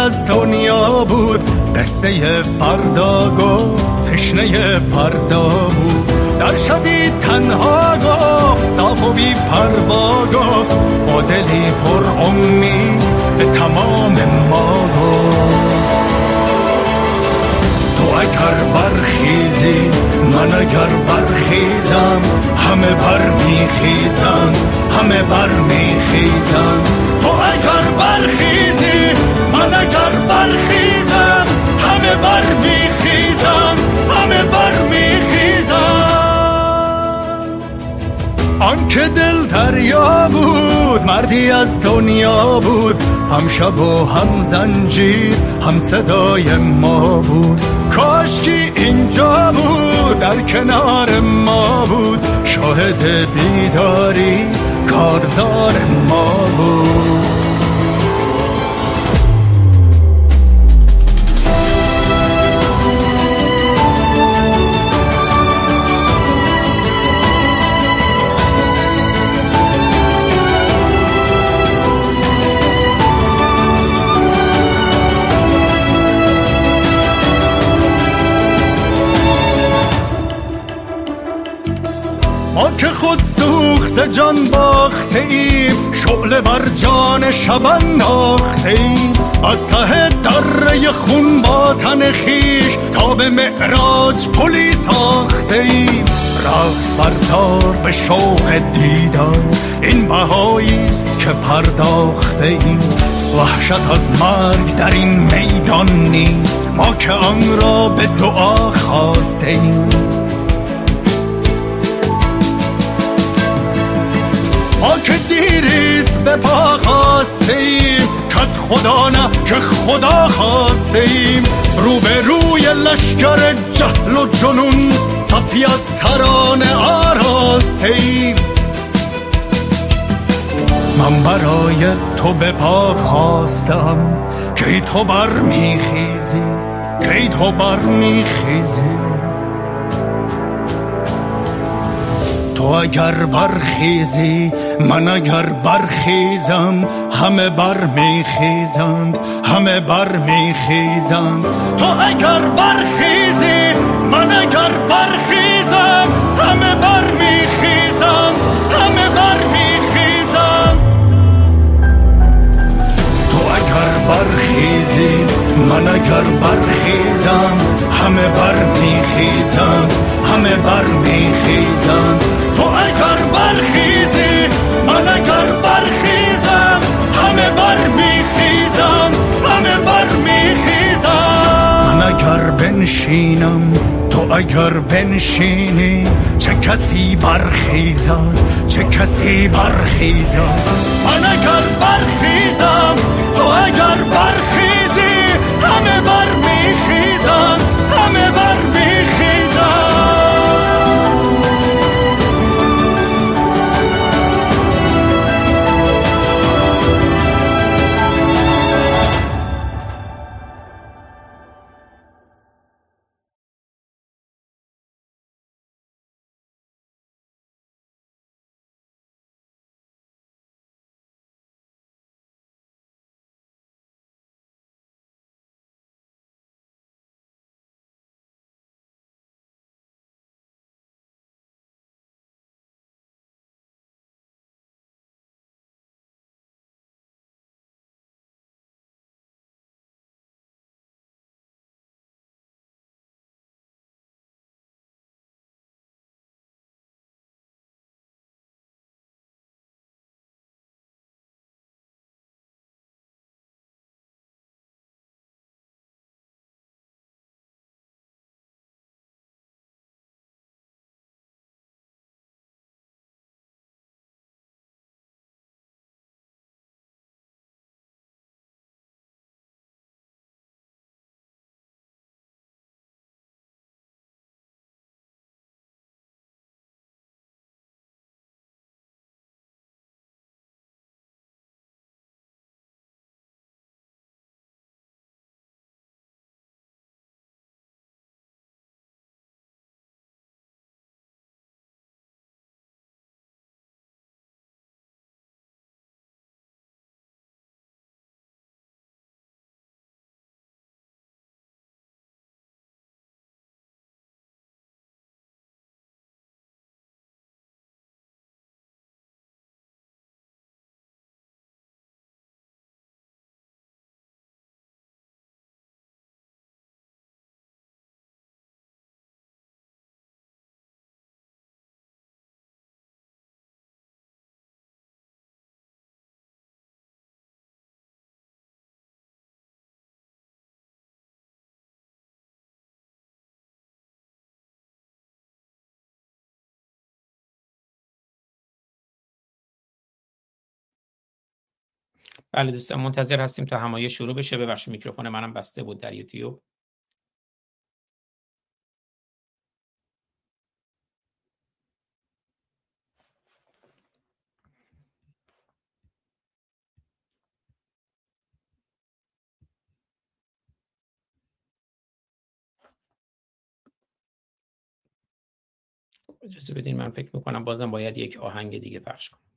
از دنیا بود، قصه فردا گفت تشنه فردا بود. در شبی تنها گفت صاف و بی پروا گفت، با دلی پر امید به تمام ما گفت. تو اگر برخیزی من اگر برخیزم، همه برمیخیزن همه برمیخیزن. تو اگر برخیزی من اگر برخیزم، همه برمیخیزن همه برمیخیزن. آنکه دل دریا بود مردی از دنیا بود، هم شب و هم زنجیر هم صدای ما بود. کاشکی اینجا بود در کنار ما بود، شاهد بیداری کارزار ما بود. ما که خود سوخت جان باخته ایم، شعله بر جان شب انداخته ایم. از ته دره خون با تن خیش تا به معراج پلی ساخته ایم. رقص بردار به شوق دیدار، این بهاییست که پرداخته ایم. وحشت از مرگ در این میدان نیست، ما که آن را به دعا خواسته ایم. ما که دیریست به پا خواسته ایم، کت خدا نه که خدا خواسته ایم. رو به روی لشکر جهل و جنون صفی از ترانه آراسته ایم. من برای تو به پا خواستم، کی تو برمیخیزی کی تو برمیخیزی. تو اگر برخیزی من اگر برخیزم، همه برمیخیزند همه برمیخیزند. تو اگر برخیزی من اگر برخیزم، همه برمیخیزند همه برمیخیزند. تو اگر برخیزی من اگر برخیزم، همه برمیخیزند همه برمیخیزند. تو اگر برخیزی من اگر برخیزم، همه برمیخیزند همه برمیخیزند. من اگر بنشینم تو اگر بنشینی، چه کسی برخیزد چه کسی برخیزد. من اگر برخیزم تو اگر برخیزی، همه برمیخیزند همه برمیخیزند. بله دوستان منتظر هستیم تا همایش شروع بشه. ببخشید میکروفون منم بسته بود در یوتیوب. اجازه بدین من فکر میکنم بازم باید یک آهنگ دیگه پخش کنم.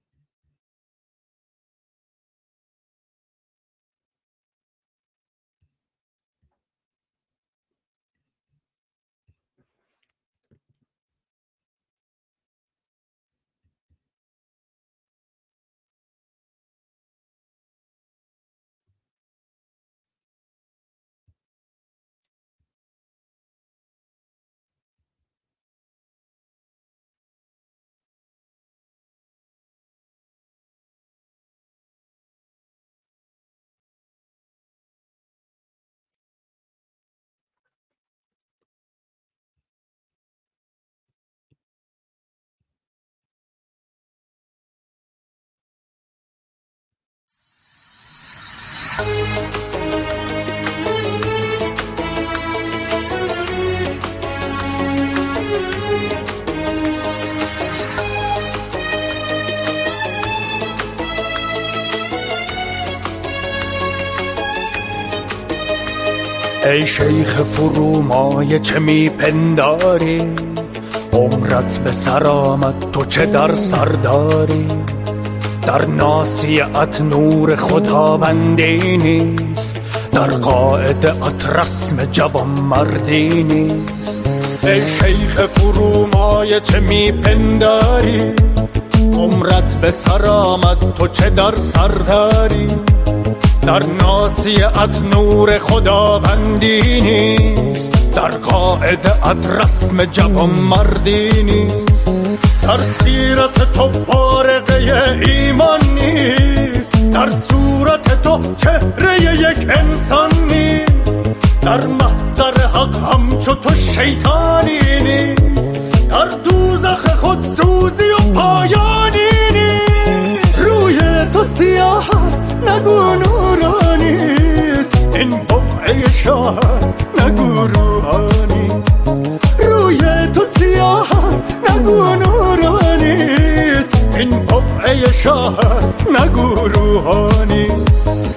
ای شیخ فرومایه چه میپنداری، عمرت به سر آمد تو چه در سر داری؟ در ناصیت نور خداوندی نیست، در قاعدت رسم جوان مردی نیست. ای شیخ فرومایه چه میپنداری، عمرت به سر آمد تو چه در سر داری؟ در ناصیت نور خداوندی نیست، در قاعدت رسم جوان مردی نیست. در سیرت تو بارقه ایمان نیست، در صورت تو چهره یک انسان نیست. در محضر حق همچو تو شیطانی نیست، در دوزخ خود سوزی و پایانی نیست. روی تو سیاه است نگو نورانیست، این بقعه شاه است نگو روحانیست. روی تو سیاه است نگو نورانیست، این بقعه شاه است نگو روحانیست.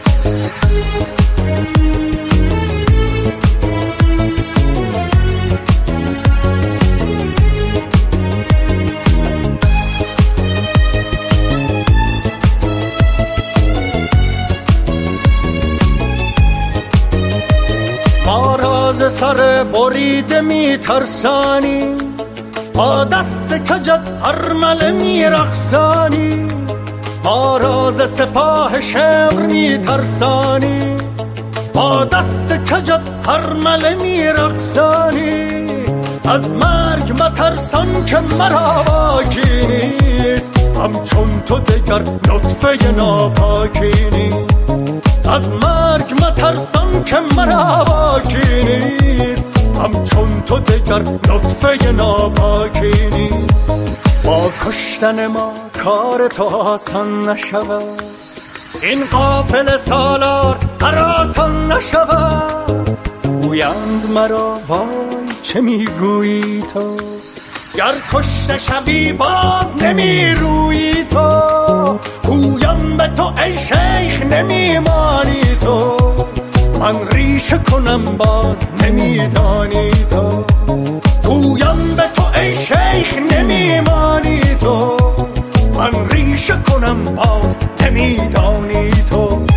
از سر بریده میترسانی، با دست کجت ارمله میرقصانی. ما راز سپاه شمر میترسانی، با دست کجت ارمله میرقصانی. از مرگ مترسان که مرا باکی نیست، همچون تو دگر نطفه ناپاکی نیست. از مرگ مترسان که مرا باکی نیست، همچون تو دگر نطفه ناپاکی نیست. با کشتن ما کار تو آسان نشود، این قافل سالار هراسان نشود. گویند مرا وای چه میگویی تو، گر کشته شوی باز نمیرویی تو. گویم به تو ای شیخ نمیمانی تو، من ریشه کنم باز نمیدانی تو. گویم به تو ای شیخ نمیمانی تو، من ریشه کنم باز نمیدانی تو.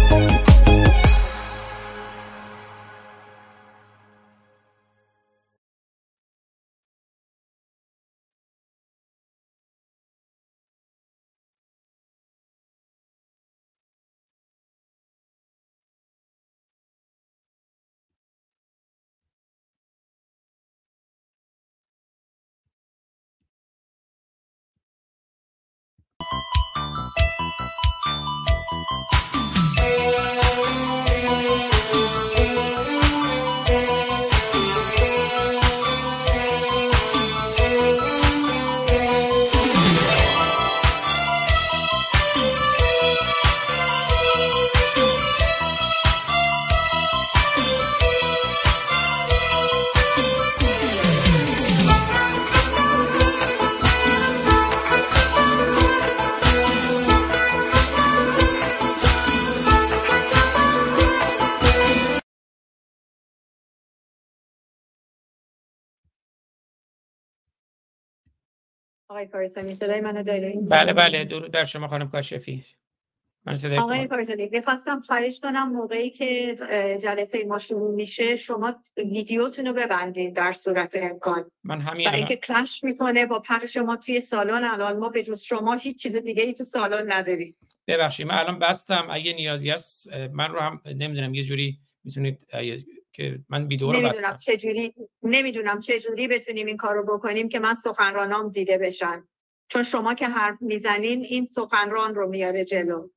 آقای کارسانی صدای منو دارین؟ بله بله، درود بر شما خانم کاشفی. من صدای آقای شما. کارسانی میخواستم خواهش کنم موقعی که جلسه ما شروع میشه شما ویدیوتون رو ببندید در صورت امکان، من همین برای الان اینکه کلش میکنه با پخش ما توی سالن. الان ما به جز شما هیچ چیز دیگه ای تو سالن نداریم. ببخشید من الان بستم، اگه نیازی هست من رو هم نمیدونم یه جوری میتونید که من ویدیو رو بستم. نمیدونم چه جوری بتونیم این کارو بکنیم که من سخنرانام دیده بشن، چون شما که حرف میزنین این سخنران رو میاره جلو.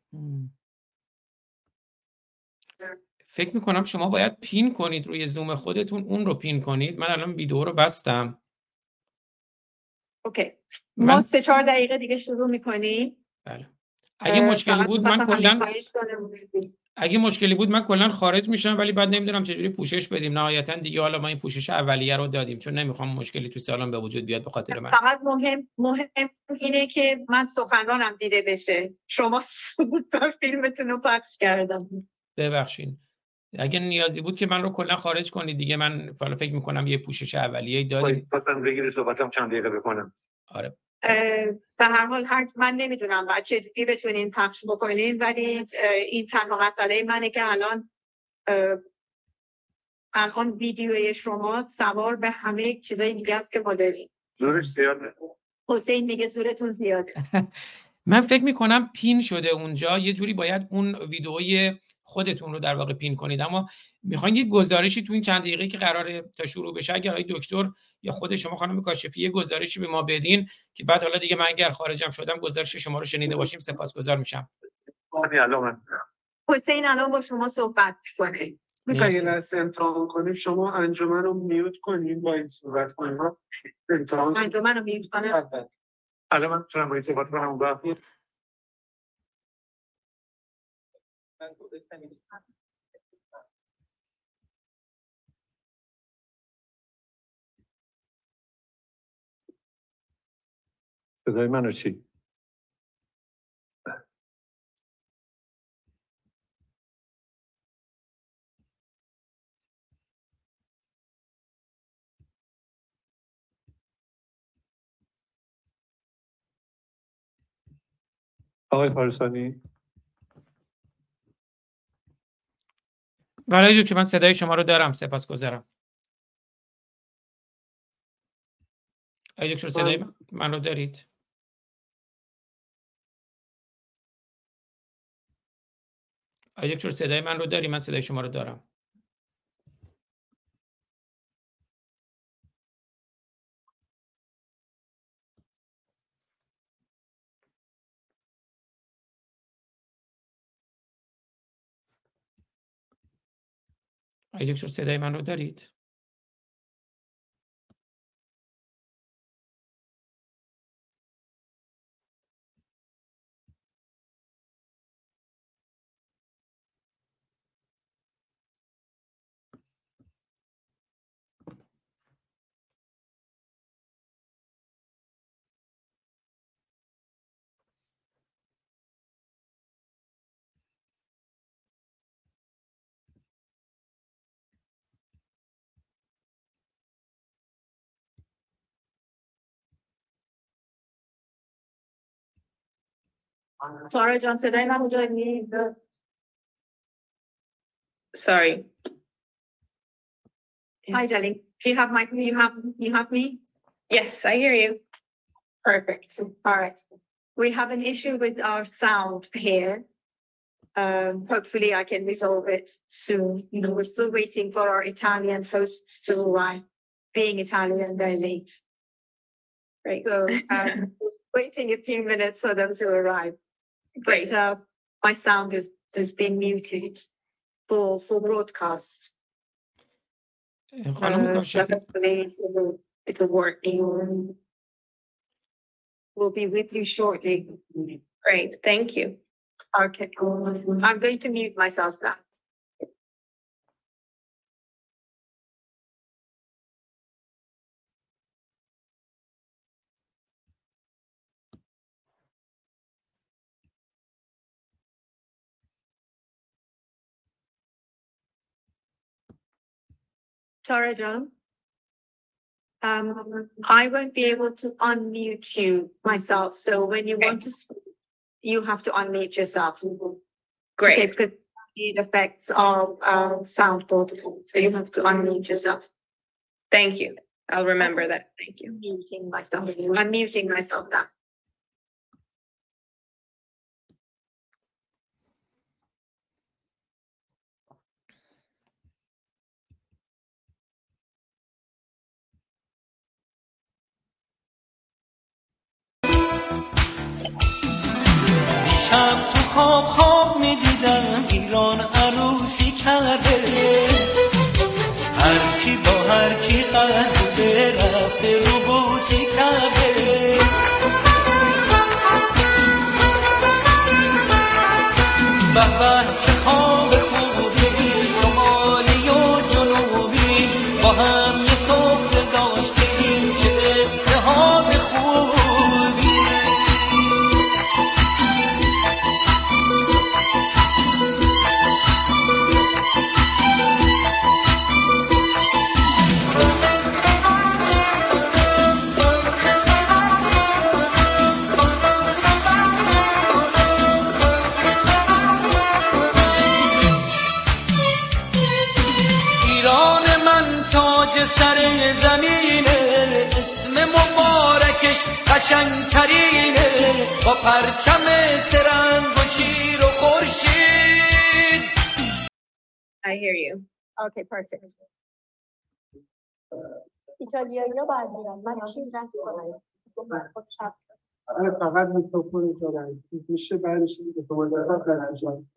فکر میکنم شما باید پین کنید روی زوم خودتون، اون رو پین کنید. من الان ویدیو رو بستم. اوکی، ما من 3-4 دقیقه دیگه شروع میکنیم. بله. اگه مشکلی فقط بود من می‌خواستم همین کلا خواهش کنم. خارج میشم، ولی بعد نمیدونم چجوری پوشش بدیم. نهایتا دیگه حالا ما این پوشش اولیه رو دادیم، چون نمیخوام مشکلی تو سالن به وجود بیاد به خاطر من. فقط مهم اینه که من سخنرانم دیده بشه. شما سوپر فیلمتون رو پخش کردم. ببخشید اگه نیازی بود که من رو کلا خارج کنید دیگه. من حالا فکر میکنم یه پوشش اولیه‌ای دادیم. خواستم بگیری صحبتم چند دقیقه بکنم. آره به هر حال من نمیدونم بچه دیگه بتونین پخش بکنین، ولی این تنها مسئله منه که الان ویدیوی شما سوار به همه چیزای دیگه است که ما داریم. زورش زیاده. حسین میگه زورتون زیاده. من فکر میکنم پین شده اونجا، یه جوری باید اون ویدئوی خودتون رو در واقع پین کنید. اما میخواین یه گزارشی تو این چند دقیقه که قراره تا شروع بشه، اگر آقای دکتر یا خود شما خانم کاشفی یه گزارشی به ما بدین که بعد حالا دیگه من اگر خارجم شدم گزارش شما رو شنیده باشیم سپاسگزار میشم. حسین الان با شما صحبت کنه. میخوایی یه لحظه امتحان کنیم، شما انجمن رو میوت کنیم با این صحبت کنیم. انجمن رو میوت کنم. الان من میتونم با این صحبت کنم و صدای منو چی؟ آقای فارسانی برای که من صدای شما رو دارم سپاسگزارم. آقای دکتر صدای من رو دارید؟ آقای دکتر صدای من رو داری؟ من صدای شما رو دارم. آقای دکتر صدای من رو دارید؟ تارا جان صدای منو داری؟ Sorry. Hi, Yes. darling. Do you have me? Yes, I hear you. Perfect. All right. We have an issue with our sound here. Hopefully I can resolve it soon. We're still waiting for our Italian hosts to arrive. Being Italian, they're late. Right. So waiting a few minutes for them to arrive. Great. But my sound is being muted for broadcast. خانم So کاشفی hopefully it will work. We'll be with you shortly. Great. Thank you. Okay. I'm going to mute myself now. Tara John. I won't be able to unmute you myself. So when you want to speak, you have to unmute yourself. Great. Okay, because it affects our sound protocol. So you have to unmute yourself. Thank you. I'll remember that. Thank you. I'm muting myself now. شب تو خواب میدیدم ایران عروسی کرده، هر کی با هر کی قهر رفته رو بوسی کرده. به به چه خواب خوبی، شمالی و جنوبی با هم یه سفره داشتیم، چه اتحاد خوبی. سر زمینه، اسم مبارکش قشنگترینه، با پرچم سرنگ و شیر و خورشید. I hear you. Okay, perfect. ایتالیایی ها باید میرن. من چیز دست کنم. فقط میکروفون دارن میشه بعدش اعتماد دارن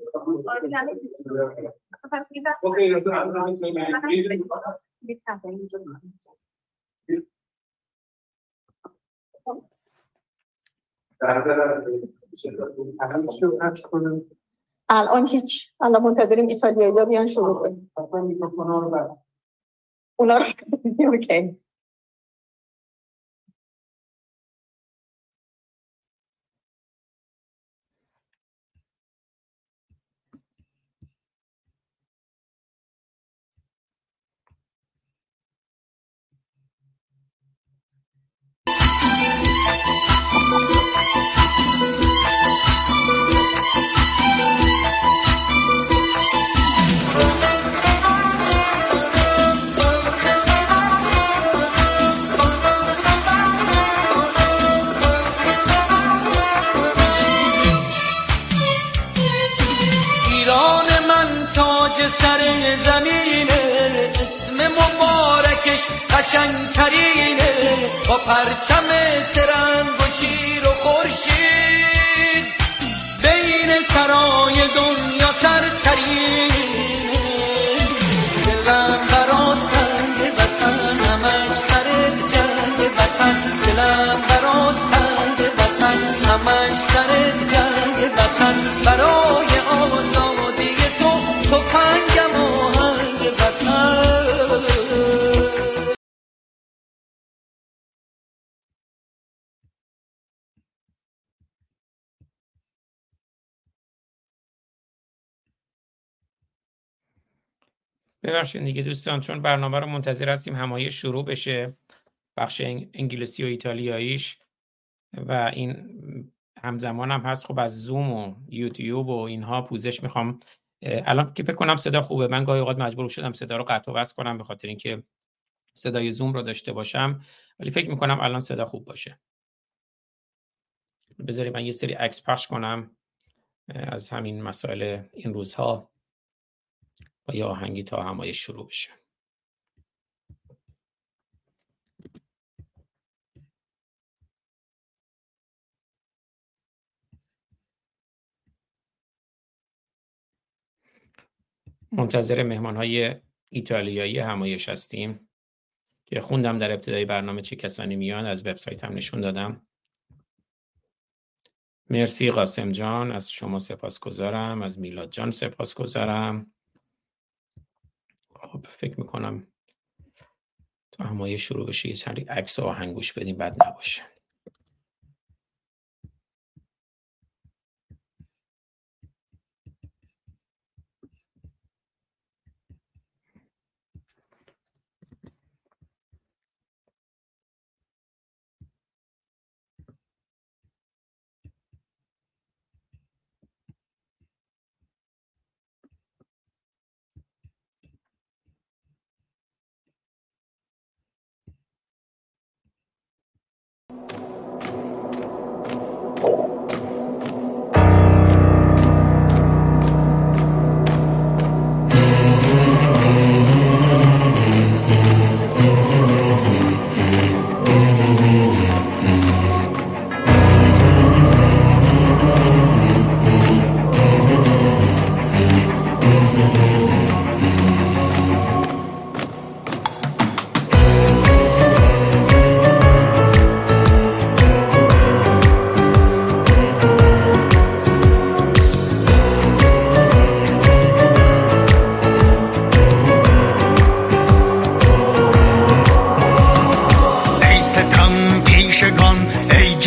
الان هیچ، الان منتظریم ایتالیایی ها بیان شروع کنیم. میکروفون ها رو بست. اونا رو اوکی. سر زمینه، اسم مبارکش قشنگترینه، با پرچم سرنگ و شیر و خورشید، بین سرای دنیا سرترینه. دلم برات تنگ وطن، همش سرت جنگ وطن، دلم برات تنگ وطن، همش سرت جنگ وطن، برای آزادی تفنگم آهنگ وطن. ببخشید دیگه دوستان، چون برنامه رو منتظر هستیم همایش شروع بشه، بخش انگلیسی و ایتالیاییش، و این همزمان هم هست. خب از زوم و یوتیوب و اینها پوزش میخوام. الان که فکر کنم صدا خوبه. من گاهی اوقات مجبور شدم صدا رو قطع و وصل کنم به خاطر اینکه صدای زوم رو داشته باشم، ولی فکر میکنم الان صدا خوب باشه. بذارید من یه سری عکس پخش کنم از همین مسائل این روزها با یه آهنگی تا همایش شروع بشه. منتظر مهمان‌های ایتالیایی همایش هستیم که خوندم در ابتدای برنامه چه کسانی میان، از وبسایتم نشون دادم. مرسی قاسم جان، از شما سپاسگزارم. از میلاد جان سپاسگزارم. خب فکر میکنم تا همایش شروع بشه یه چند عکس و آهنگ گوش بدیم، بد نباشه.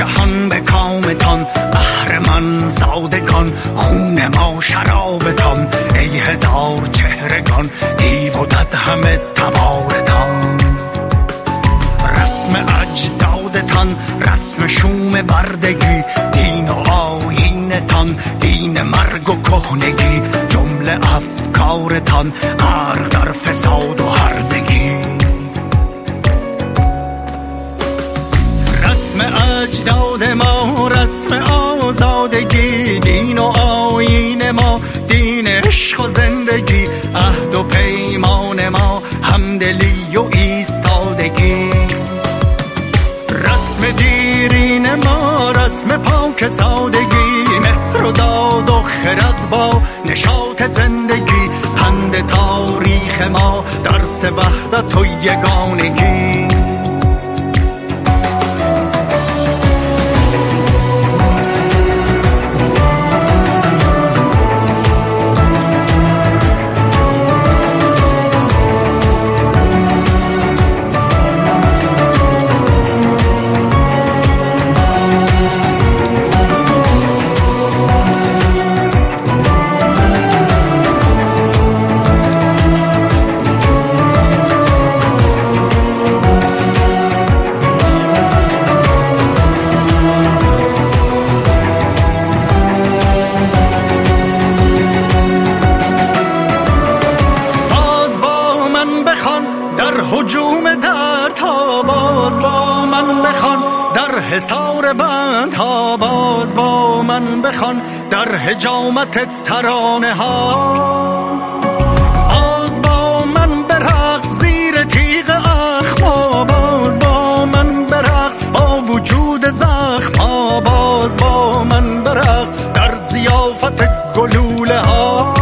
جهان به کامتان، اهرمن زادگان خون ما شرابتان. ای هزار چهرگان دیو و دد همه تبارتان. رسم اجدادتان رسم شوم بردگی، دین و آیینتان دین مرگ و کهنگی. جمله افکارتان غرق در فساد و هرزگی. رسم اجداد ما رسم آزادگی، دین و آیین ما دین عشق و زندگی. عهد و پیمان ما همدلی و ایستادگی. رسم دیرین ما رسم پاک سادگی، مهر و داد و خرد با نشاط زندگی. پند تاریخ ما درس وحدت و یگانگی. حصار بند ها باز با من بخوان، در حجامت ترانه ها باز با من برقص. زیر تیغ اخما باز با من برقص. با وجود زخم ها باز با من برقص. در ضیافت گلوله ها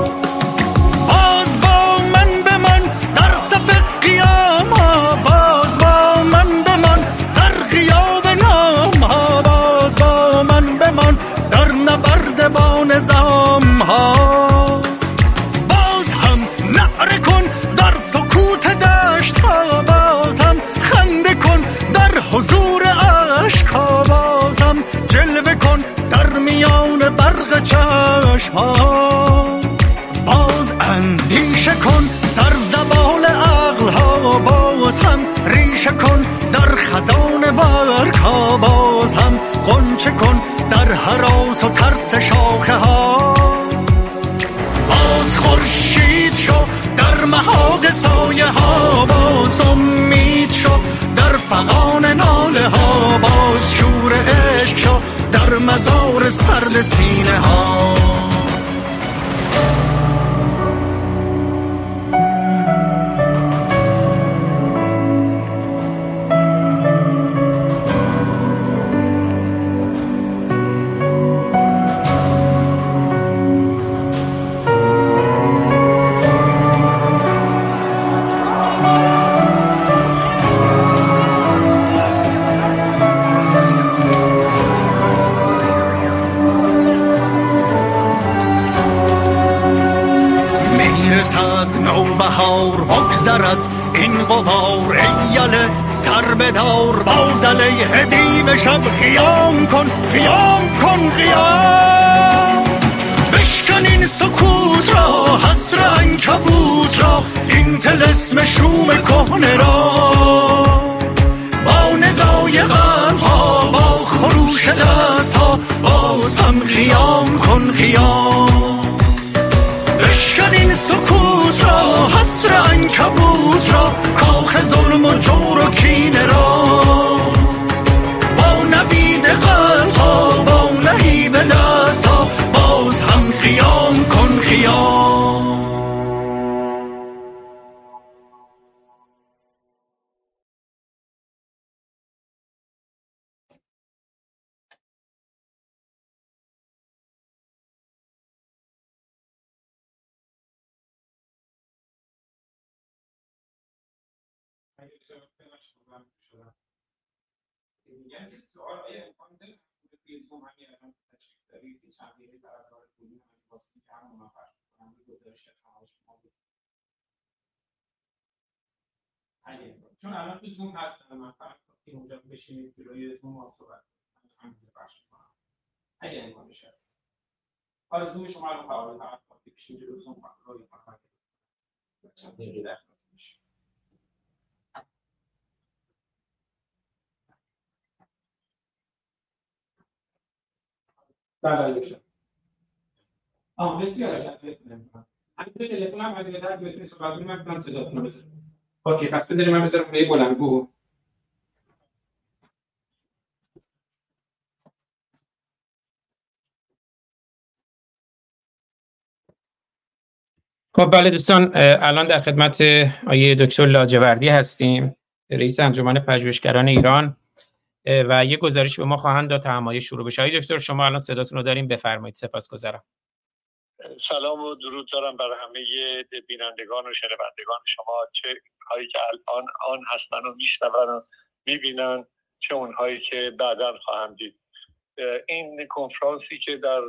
نظام ها باز هم نعره کن در سکوت دشت ها. باز هم خنده کن در حضور عشق ها. باز هم جلوه کن در میان برق چشم ها. باز اندیشه کن در زبان عقل ها. باز هم ریشه کن در خزان برگ ها. باز هم غنچه کن در هراس و ترس شاخه ها. باز خورشید شو در محاق سایه ها. باز امید شو در فغان ناله ها. باز شور عشق شو در مزار سرد سینه ها. نوبهار بگذرد این غبار. ایله سر بدار باز علیه دیو شب. خیام کن خیام کن خیام. بشکن این سکوت را حسر عنکبوت را. این طلسم شوم کهنه را با ندای غم ها. با خروش دست ها باز هم خیام کن خیام. بشکن این سکوت را حسر عنکبوت را. کاخ ظلم و جور و کینه را با نوید قلب ها. با لهیب دست ها باز هم خیام کن خیام. اگه بشه بخش بزنم شدم میگن که سوال آیا امکان داره توی زوم همین الان تشریف دارید که چند دقیقه طرفدار کلی همین واسه که هم مناقش کنم به گزارش از سماج شما بود. چون الان تو زوم هستم من فقط این اونجا بشینید جلوی زوم ها صحبت مثلا بخش کنم اگه امکانش هست. آرزوی شما رو فعال کنید پیش جلوتون کنترل کنید. چند دقیقه در میشه. بله بشه. بسیار عالی. همین تلفن هم اگه در بتونید صحبت کنید من میتونم صداتون رو بزنم. اوکی پس بذارید من بذارم به بلندگو. خب بله دوستان الان در خدمت آقای دکتر لاجوردی هستیم، رئیس انجمن پژوهشگران ایران و یه گزارش به ما خواهند داد تا همایش شروع بشه. آقای دکتر شما الان صداتون رو داریم، بفرمایید. سپاسگزارم. سلام و درود دارم برای همه بینندگان و شنوندگان شما، چه هایی که الان آن هستن و میشنون و میبینن، چه اونهایی که بعداً خواهند دید. این کنفرانسی که در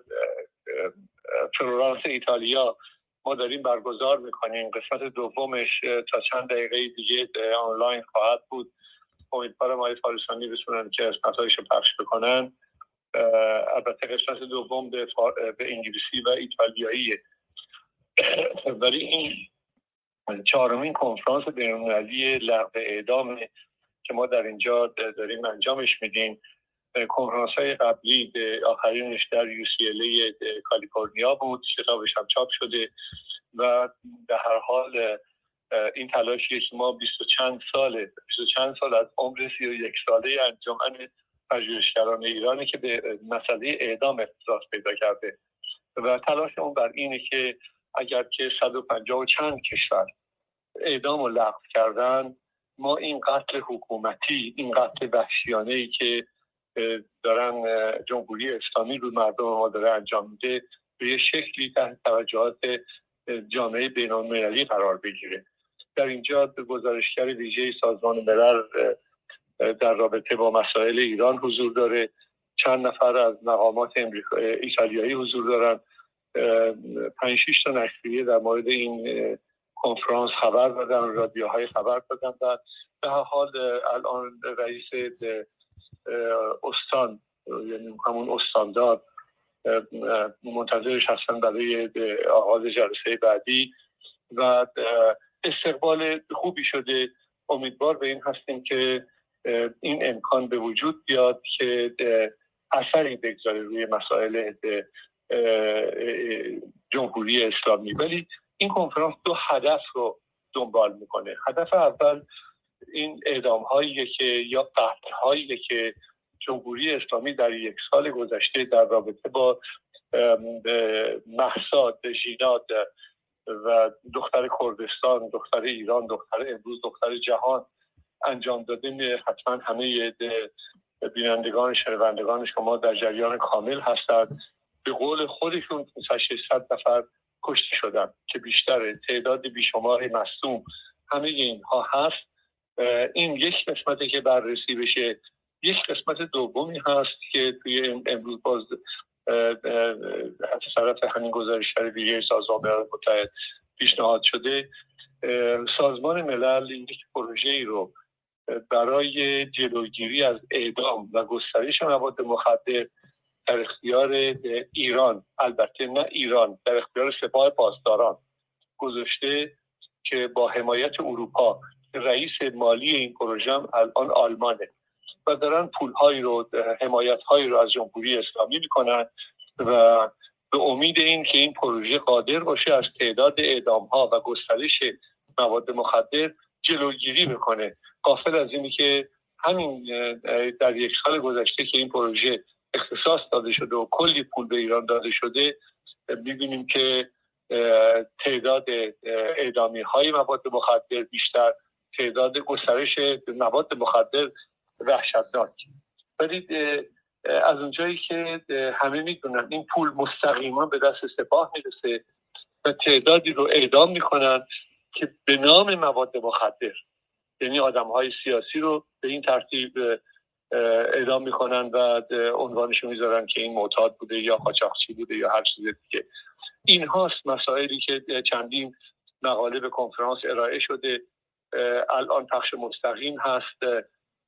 فلورانس ایتالیا ما داریم برگزار میکنیم، قسمت دومش تا چند دقیقه دیگه آنلاین خواهد بود. امیدوارم آقای فارسانی بتونن که قسمت‌هایش رو پخش بکنن. البته قسمت دوم به انگلیسی و ایتالیاییه، ولی این چهارمین کنفرانس بین‌المللی لغو اعدام که ما در اینجا داریم انجامش میدیم. کنفرانس‌های قبلی به آخرینش در UCLA کالیفرنیا بود، کتابش هم چاپ شده و در هر حال این تلاشیه که ما 20 چند سال از عمر 31 ساله انجمن پژوهشگران ایرانی که به مسئله اعدام اختصاص پیدا کرده و تلاشمون بر اینه که اگر که 150 و چند کشور اعدام رو لغو کردن، ما این قتل حکومتی، این قتل وحشیانه‌ای که دارن جمهوری اسلامی رو مردم ما داره انجام میده به یه شکلی تحت توجهات جامعه بین‌المللی قرار بگیره. در اینجا گزارشگر ویژه سازمان ملل در رابطه با مسائل ایران حضور داره، چند نفر از مقامات ایتالیایی حضور دارن، 5-6 تا نشریه در مورد این کنفرانس خبر دادن، رادیوهای خبر دادن و به هر حال الان رئیس استان یعنی همون استاندار منتظرش هستن برای آغاز جلسه بعدی و استقبال خوبی شده. امیدوار به این هستیم که این امکان به وجود بیاد که اثری بگذاره روی مسائل جمهوری اسلامی. ولی این کنفرانس 2 هدف رو دنبال میکنه. هدف اول این اعدام‌هایی که یا قتل‌هایی که جمهوری اسلامی در 1 سال گذشته در رابطه با مهسا ژینات و دختر کردستان، دختر ایران، دختر امروز، دختر جهان انجام داده، حتما همه بینندگان شنوندگان شما در جریان کامل هستند. به قول خودشون 600 نفر کشته شدن که بیشتر تعداد بیشمار مصدوم همه اینها هست. این یک قسمتی که بررسی بشه. یک قسمت دومی هست که توی امروز باز از طرف همین گزارشگر ویژه سازمان ملل متحد پیشنهاد شده. سازمان ملل یک پروژه‌ای رو برای جلوگیری از اعدام و گسترش مواد مخدر در اختیار ایران، البته نه ایران، در اختیار سپاه پاسداران گذاشته که با حمایت اروپا. رئیس مالی این پروژه هم الان آلمانه و دارن پول‌هایی رو، حمایت‌هایی رو از جمهوری اسلامی میکنن و به امید این که این پروژه قادر باشه از تعداد اعدام‌ها و گسترش مواد مخدر جلوگیری بکنه. غافل از اینی که همین در 1 سال گذشته که این پروژه اختصاص داده شده و کلی پول به ایران داده شده، می‌بینیم که تعداد اعدامی‌های مواد مخدر بیشتر، تعداد گسترش مواد مخدر وحشتناک. ولی از اونجایی که همه میدونن این پول مستقیما به دست سپاه میرسه و تعدادی رو اعدام میکنن که به نام مواد مخدر، یعنی آدم‌های سیاسی رو به این ترتیب اعدام میکنن و عنوانشو میذارن که این معتاد بوده یا قاچاقچی بوده یا هر چیز دیگه. این هاست مسائلی که چندین مقاله به کنفرانس ارائه شده. الان پخش مستقیم هست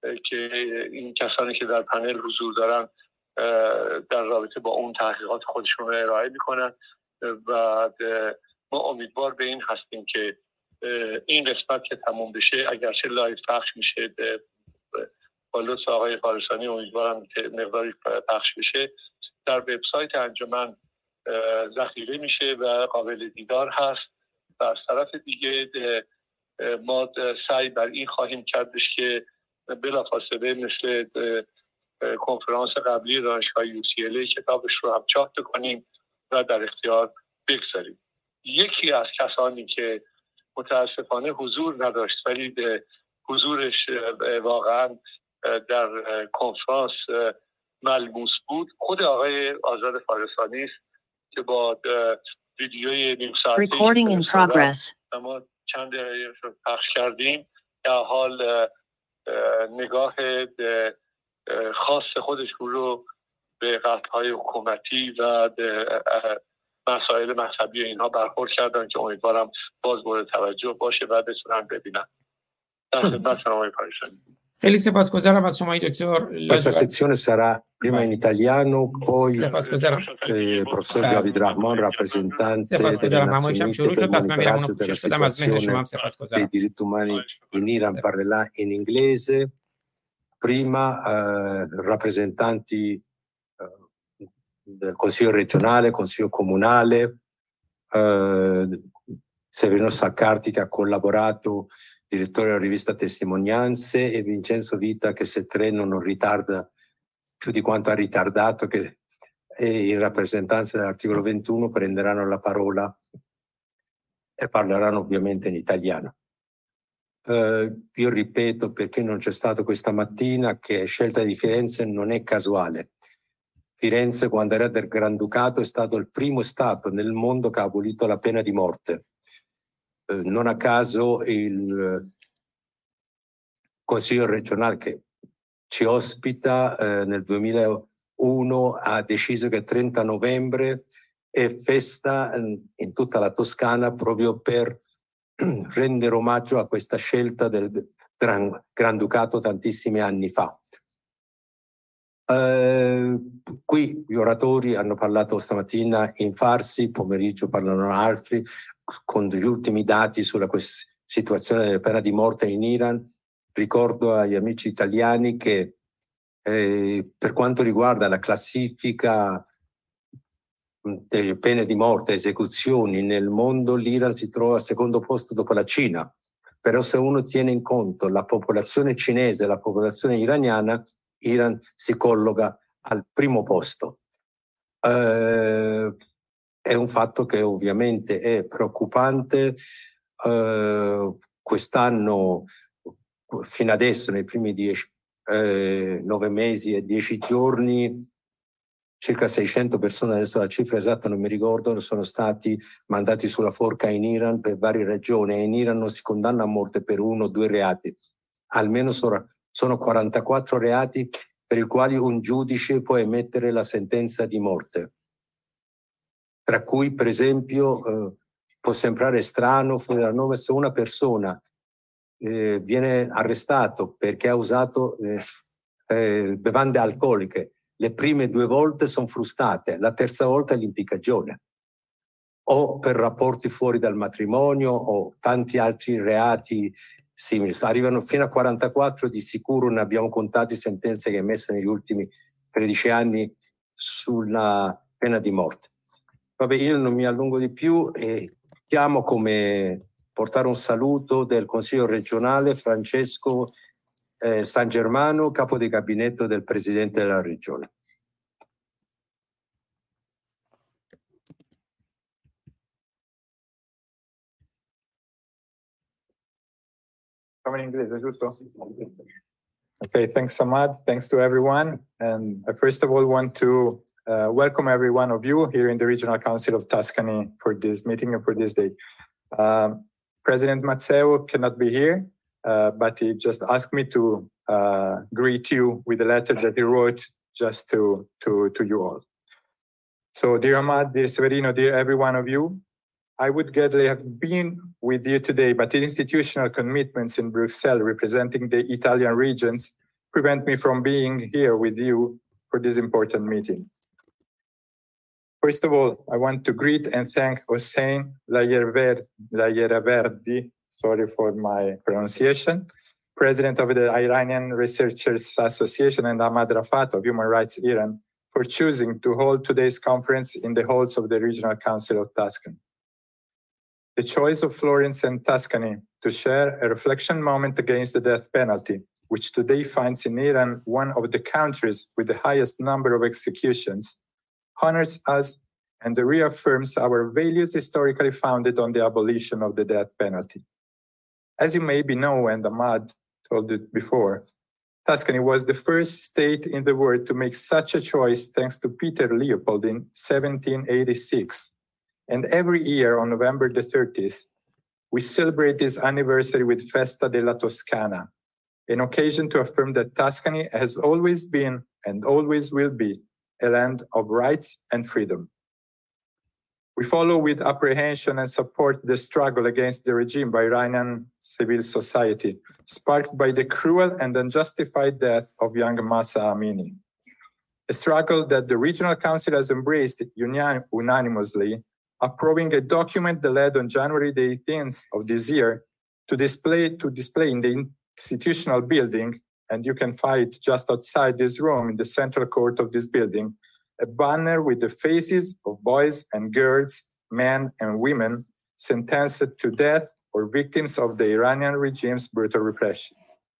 که این کسانی که در پنل حضور دارن در رابطه با اون تحقیقات خودشون رو ارائه میکنن و ما امیدوار به این هستیم که این قسمت که تموم بشه، اگرچه لایو پخش میشه با لطف آقای فارسانی، امیدوارم که مقداری پخش بشه، در وبسایت انجمن ذخیره میشه و قابل دیدار هست. و از طرف دیگه ما سعی بر این خواهیم کردش که بلافاصله مثل کنفرانس قبلی دانشگاه UCLA کتابش رو هم چاپ کنیم و در اختیار بگذاریم. یکی از کسانی که متاسفانه حضور نداشت ولی حضورش واقعا در کنفرانس ملموس بود، خود آقای آزاد فارسانی است که با ویدیوی نیم ساعته ما چند دقیقه رو پخش کردیم در حال نگاه خاص خودش رو به قطعهای حکومتی و مسائل مذهبی اینها برخورد کردن که امیدوارم باز مورد توجه باشه و بتونن ببینن. در خدمت شما پاریسانی. خیلی سپاسگزارم از شما دکتر. Questa sezione sarà prima in italiano, poi il professor Javid Rahman, rappresentante delle Nazioni Unite per il monitoraggio della situazione dei diritti umani in Iran, parlerà in inglese. Prima rappresentanti del Consiglio regionale, Consiglio comunale, Severino Saccardi che ha collaborato, direttore della rivista Testimonianze, e Vincenzo Vita che se treno non ritarda più di quanto ha ritardato, che in rappresentanza dell'articolo 21 prenderanno la parola e parleranno ovviamente in italiano. Io ripeto, perché non c'è stato questa mattina, che scelta di Firenze non è casuale. Firenze, quando era del Granducato, è stato il primo Stato nel mondo che ha abolito la pena di morte. Non a caso il Consiglio regionale che ci ospita nel 2001 ha deciso che 30 novembre è festa in tutta la Toscana proprio per rendere omaggio a questa scelta del Granducato tantissimi anni fa. Qui gli oratori hanno parlato stamattina in farsi, pomeriggio parlano altri, con gli ultimi dati sulla situazione della pena di morte in Iran. Ricordo agli amici italiani che per quanto riguarda la classifica delle pene di morte, esecuzioni nel mondo, l'Iran si trova al secondo posto dopo la Cina. Però se uno tiene in conto la popolazione cinese e la popolazione iraniana, Iran si colloca al primo posto. È un fatto che ovviamente è preoccupante. Quest'anno, fino adesso, nei primi 9 mesi e 10 giorni, circa 600 persone, adesso la cifra esatta non mi ricordo, sono stati mandati sulla forca in Iran per varie ragioni, e in Iran non si condanna a morte per 1 o 2 reati, almeno sono 44 reati per i quali un giudice può emettere la sentenza di morte, tra cui per esempio può sembrare strano, se una persona viene arrestato perché ha usato bevande alcoliche, le prime 2 volte sono frustate, la terza volta è l'impiccagione, o per rapporti fuori dal matrimonio o tanti altri reati simili. Arrivano fino a 44, di sicuro ne abbiamo contati sentenze che emesse negli ultimi 13 anni sulla pena di morte. Vabbè, io non mi allungo di più e chiamo come portare un saluto del Consiglio regionale Francesco San Germano, capo di gabinetto del Presidente della Regione. Come in inglese, giusto? Okay, thanks Samad. Thanks to everyone. And I first of all want to welcome every one of you here in the Regional Council of Tuscany for this meeting and for this day. President Mazzeo cannot be here, but he just asked me to greet you with a letter that he wrote just to you all. So dear Ahmad, dear Severino, dear every one of you, I would gladly have been with you today, but institutional commitments in Brussels representing the Italian regions prevent me from being here with you for this important meeting. First of all, I want to greet and thank Hossein Layeraverdi, sorry for my pronunciation, President of the Iranian Researchers Association, and Ahmad Rafat of Human Rights Iran, for choosing to hold today's conference in the halls of the Regional Council of Tuscany. The choice of Florence and Tuscany to share a reflection moment against the death penalty, which today finds in Iran one of the countries with the highest number of executions, honors us and reaffirms our values historically founded on the abolition of the death penalty. As you maybe know, and Ahmad told it before, Tuscany was the first state in the world to make such a choice thanks to Peter Leopold in 1786. And every year on November the 30th, we celebrate this anniversary with Festa della Toscana, an occasion to affirm that Tuscany has always been and always will be a land of rights and freedom. We follow with apprehension and support the struggle against the regime by Iranian civil society, sparked by the cruel and unjustified death of young Mahsa Amini. A struggle that the Regional Council has embraced unanimously, approving a document that led on January the 18th of this year to display in the institutional building, and you can find it just outside this room in the central court of this building, a banner with the faces of boys and girls, men and women sentenced to death or victims of the Iranian regime's brutal repression.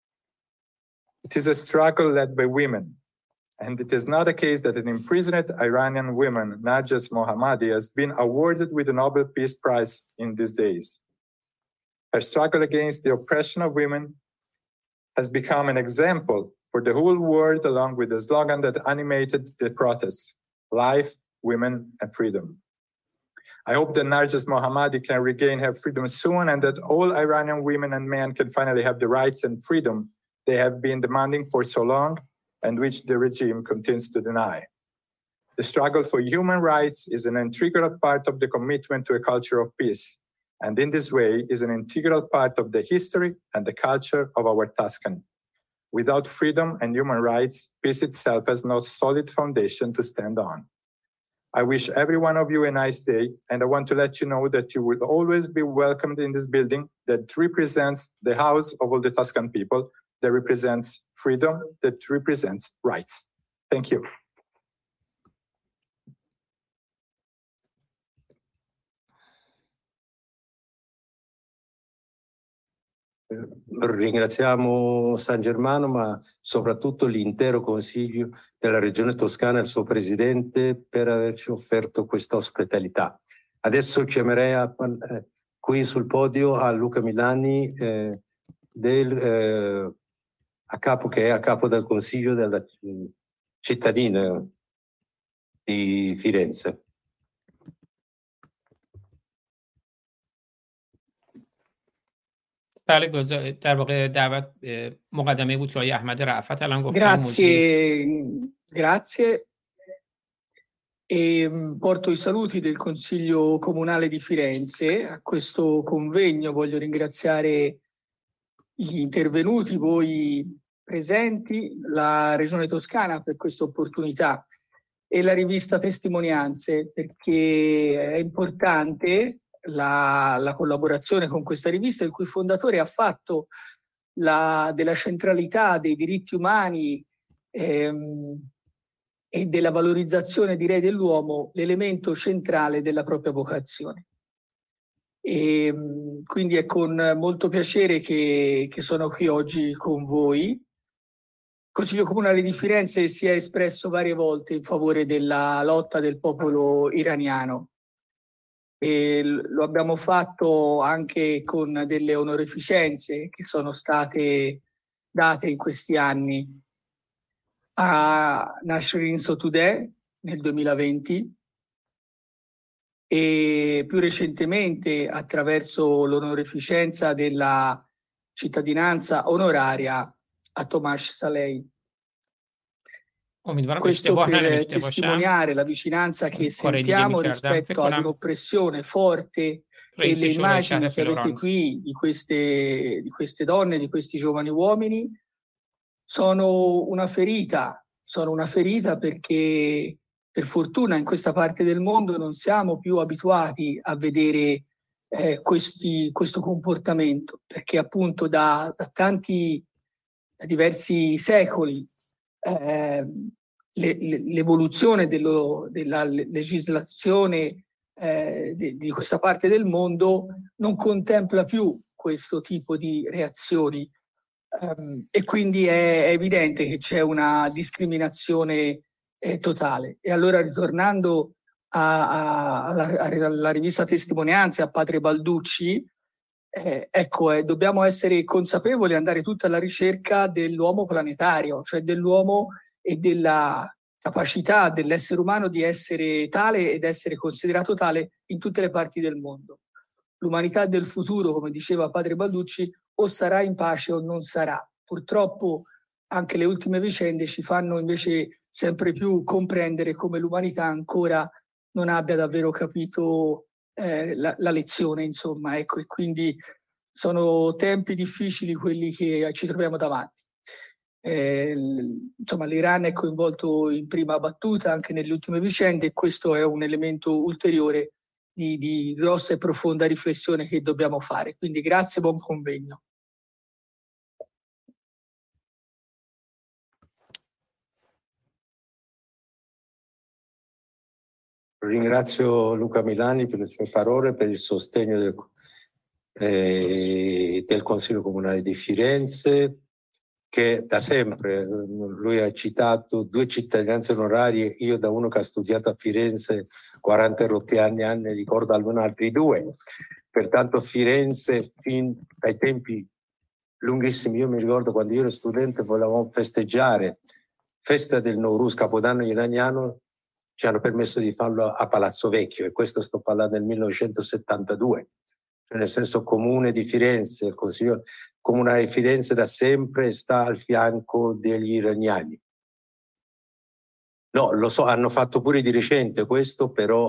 It is a struggle led by women, and it is not a case that an imprisoned Iranian woman, Narges Mohammadi, has been awarded with the Nobel Peace Prize in these days. Her struggle against the oppression of women has become an example for the whole world, along with the slogan that animated the protests: life, women, and freedom. I hope that Narges Mohammadi can regain her freedom soon, and that all Iranian women and men can finally have the rights and freedom they have been demanding for so long, and which the regime continues to deny. The struggle for human rights is an integral part of the commitment to a culture of peace, and in this way is an integral part of the history and the culture of our Tuscany. Without freedom and human rights, peace itself has no solid foundation to stand on. I wish every one of you a nice day, and I want to let you know that you will always be welcomed in this building that represents the house of all the Tuscan people, that represents freedom, that represents rights. Thank you. Ringraziamo San Germano, ma soprattutto l'intero Consiglio della Regione Toscana e il suo Presidente per averci offerto questa ospitalità. Adesso chiamerei qui sul podio a Luca Milani, che è a capo del Consiglio della cittadina di Firenze. بله در واقع دعوت مقدمه بود که آقای احمد رأفت الان گفتن. Grazie. E porto i saluti del Consiglio Comunale di Firenze a questo convegno. Voglio ringraziare gli intervenuti, voi presenti, la Regione Toscana per questa opportunità e la rivista Testimonianze, perché è importante la collaborazione con questa rivista, il cui fondatore ha fatto della centralità dei diritti umani e della valorizzazione, direi, dell'uomo l'elemento centrale della propria vocazione. E quindi è con molto piacere che sono qui oggi con voi. Il Consiglio Comunale di Firenze si è espresso varie volte in favore della lotta del popolo iraniano. E lo abbiamo fatto anche con delle onorificenze che sono state date in questi anni a Nasrin Sotoudeh nel 2020 e più recentemente attraverso l'onorificenza della cittadinanza onoraria a Tomasz Salei. Questo per testimoniare la vicinanza che sentiamo rispetto ad un'oppressione forte e le immagini che avete qui di queste donne, di questi giovani uomini sono una ferita perché per fortuna in questa parte del mondo non siamo più abituati a vedere questo comportamento, perché appunto da diversi secoli eh, l'evoluzione della legislazione di questa parte del mondo non contempla più questo tipo di reazioni. E quindi è evidente che c'è una discriminazione totale. E allora, ritornando alla rivista Testimonianze, a Padre Balducci, ecco, dobbiamo essere consapevoli e andare tutti alla ricerca dell'uomo planetario, cioè dell'uomo e della capacità dell'essere umano di essere tale ed essere considerato tale in tutte le parti del mondo. L'umanità del futuro, come diceva Padre Balducci, o sarà in pace o non sarà. Purtroppo anche le ultime vicende ci fanno invece sempre più comprendere come l'umanità ancora non abbia davvero capito la lezione, insomma, ecco, e quindi sono tempi difficili quelli che ci troviamo davanti. Insomma, l'Iran è coinvolto in prima battuta anche nelle ultime vicende e questo è un elemento ulteriore di grossa e profonda riflessione che dobbiamo fare. Quindi grazie, buon convegno. Ringrazio Luca Milani per le sue parole, per il sostegno del Consiglio Comunale di Firenze, che da sempre, lui ha citato 2 cittadinanze onorarie, io da uno che ha studiato a Firenze 40 rotti anni ricordo almeno altri 2. Pertanto Firenze fin dai tempi lunghissimi, io mi ricordo quando io ero studente volevamo festeggiare festa del Nowruz, Capodanno iraniano, ci hanno permesso di farlo a Palazzo Vecchio, e questo sto parlando del 1972, cioè nel senso Comune di Firenze, il Consiglio Comunale di Firenze da sempre sta al fianco degli iraniani. No, lo so, hanno fatto pure di recente questo, però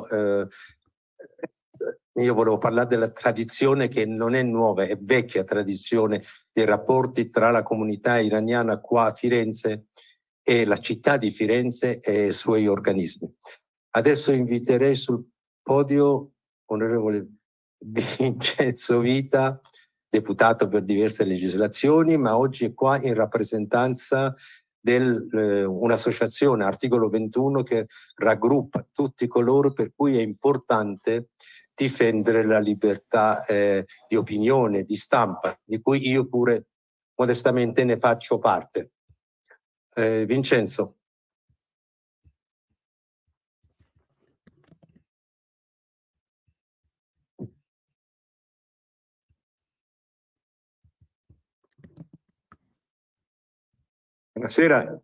io volevo parlare della tradizione che non è nuova, è vecchia tradizione dei rapporti tra la comunità iraniana qua a Firenze e la città di Firenze e i suoi organismi. Adesso inviterei sul podio onorevole Vincenzo Vita, deputato per diverse legislazioni, ma oggi è qua in rappresentanza di un'associazione, articolo 21, che raggruppa tutti coloro per cui è importante difendere la libertà di opinione, di stampa, di cui io pure modestamente ne faccio parte. Vincenzo. Buonasera.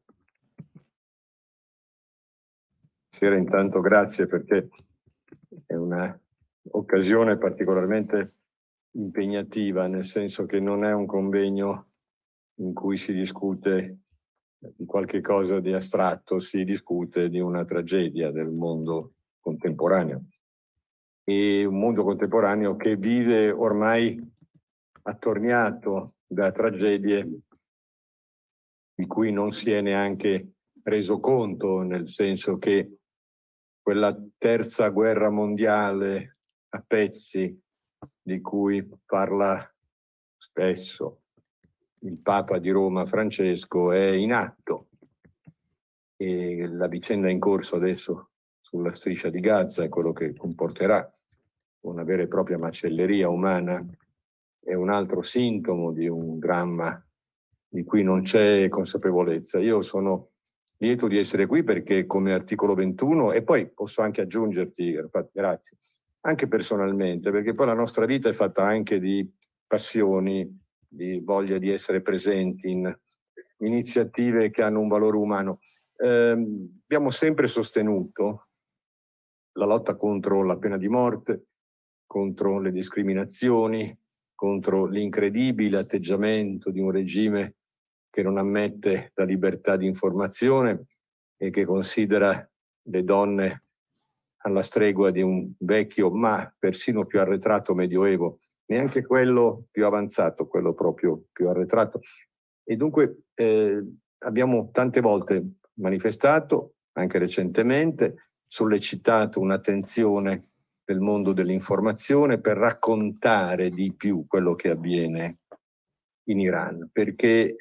Buonasera, intanto grazie perché è un'occasione particolarmente impegnativa, nel senso che non è un convegno in cui si discute di qualche cosa di astratto, si discute di una tragedia del mondo contemporaneo. E un mondo contemporaneo che vive ormai attorniato da tragedie di cui non si è neanche reso conto, nel senso che quella terza guerra mondiale a pezzi di cui parla spesso il Papa di Roma Francesco è in atto, e la vicenda in corso adesso sulla striscia di Gaza è quello che comporterà una vera e propria macelleria umana, è un altro sintomo di un dramma di cui non c'è consapevolezza. Io sono lieto di essere qui perché come articolo 21, e poi posso anche aggiungerti, grazie, anche personalmente, perché poi la nostra vita è fatta anche di passioni, di voglia di essere presenti in iniziative che hanno un valore umano. Abbiamo sempre sostenuto la lotta contro la pena di morte, contro le discriminazioni, contro l'incredibile atteggiamento di un regime che non ammette la libertà di informazione e che considera le donne alla stregua di un vecchio, ma persino più arretrato medioevo, neanche quello più avanzato, quello proprio più arretrato. E dunque abbiamo tante volte manifestato, anche recentemente, sollecitato un'attenzione del mondo dell'informazione per raccontare di più quello che avviene in Iran, perché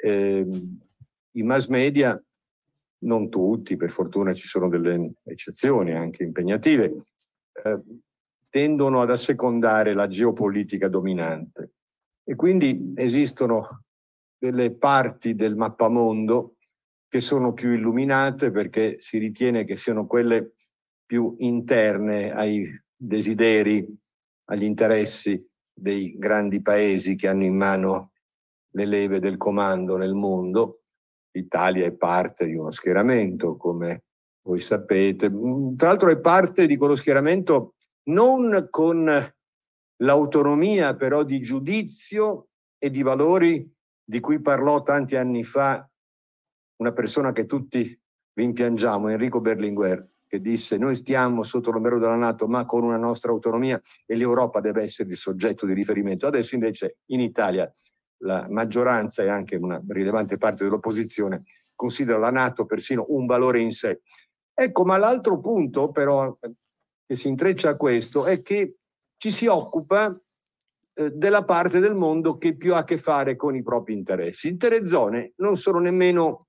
i mass media, non tutti, per fortuna ci sono delle eccezioni anche impegnative, tendono ad assecondare la geopolitica dominante e quindi esistono delle parti del mappamondo che sono più illuminate perché si ritiene che siano quelle più interne ai desideri, agli interessi dei grandi paesi che hanno in mano le leve del comando nel mondo. L'Italia è parte di uno schieramento, come voi sapete. Tra l'altro è parte di quello schieramento non con l'autonomia però di giudizio e di valori di cui parlò tanti anni fa una persona che tutti rimpiangiamo, Enrico Berlinguer, che disse: noi stiamo sotto l'ombrello della NATO ma con una nostra autonomia e l'Europa deve essere il soggetto di riferimento. Adesso invece in Italia la maggioranza e anche una rilevante parte dell'opposizione considera la NATO persino un valore in sé. Ecco, ma l'altro punto però che si intreccia a questo è che ci si occupa della parte del mondo che più ha a che fare con i propri interessi. Intere zone non sono nemmeno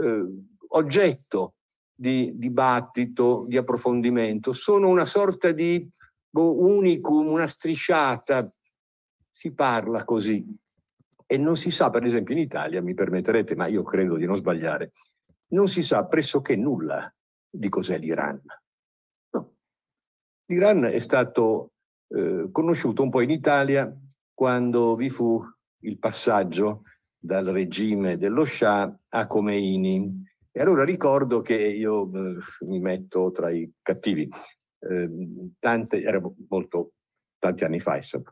oggetto di dibattito, di approfondimento, sono una sorta di unicum, una strisciata, si parla così. E non si sa, per esempio in Italia, mi permetterete, ma io credo di non sbagliare, non si sa pressoché nulla di cos'è l'Iran. No. L'Iran è stato conosciuto un po' in Italia quando vi fu il passaggio dal regime dello Shah a Khomeini. E allora ricordo che io mi metto tra i cattivi. Era molto tanti anni fa, insomma.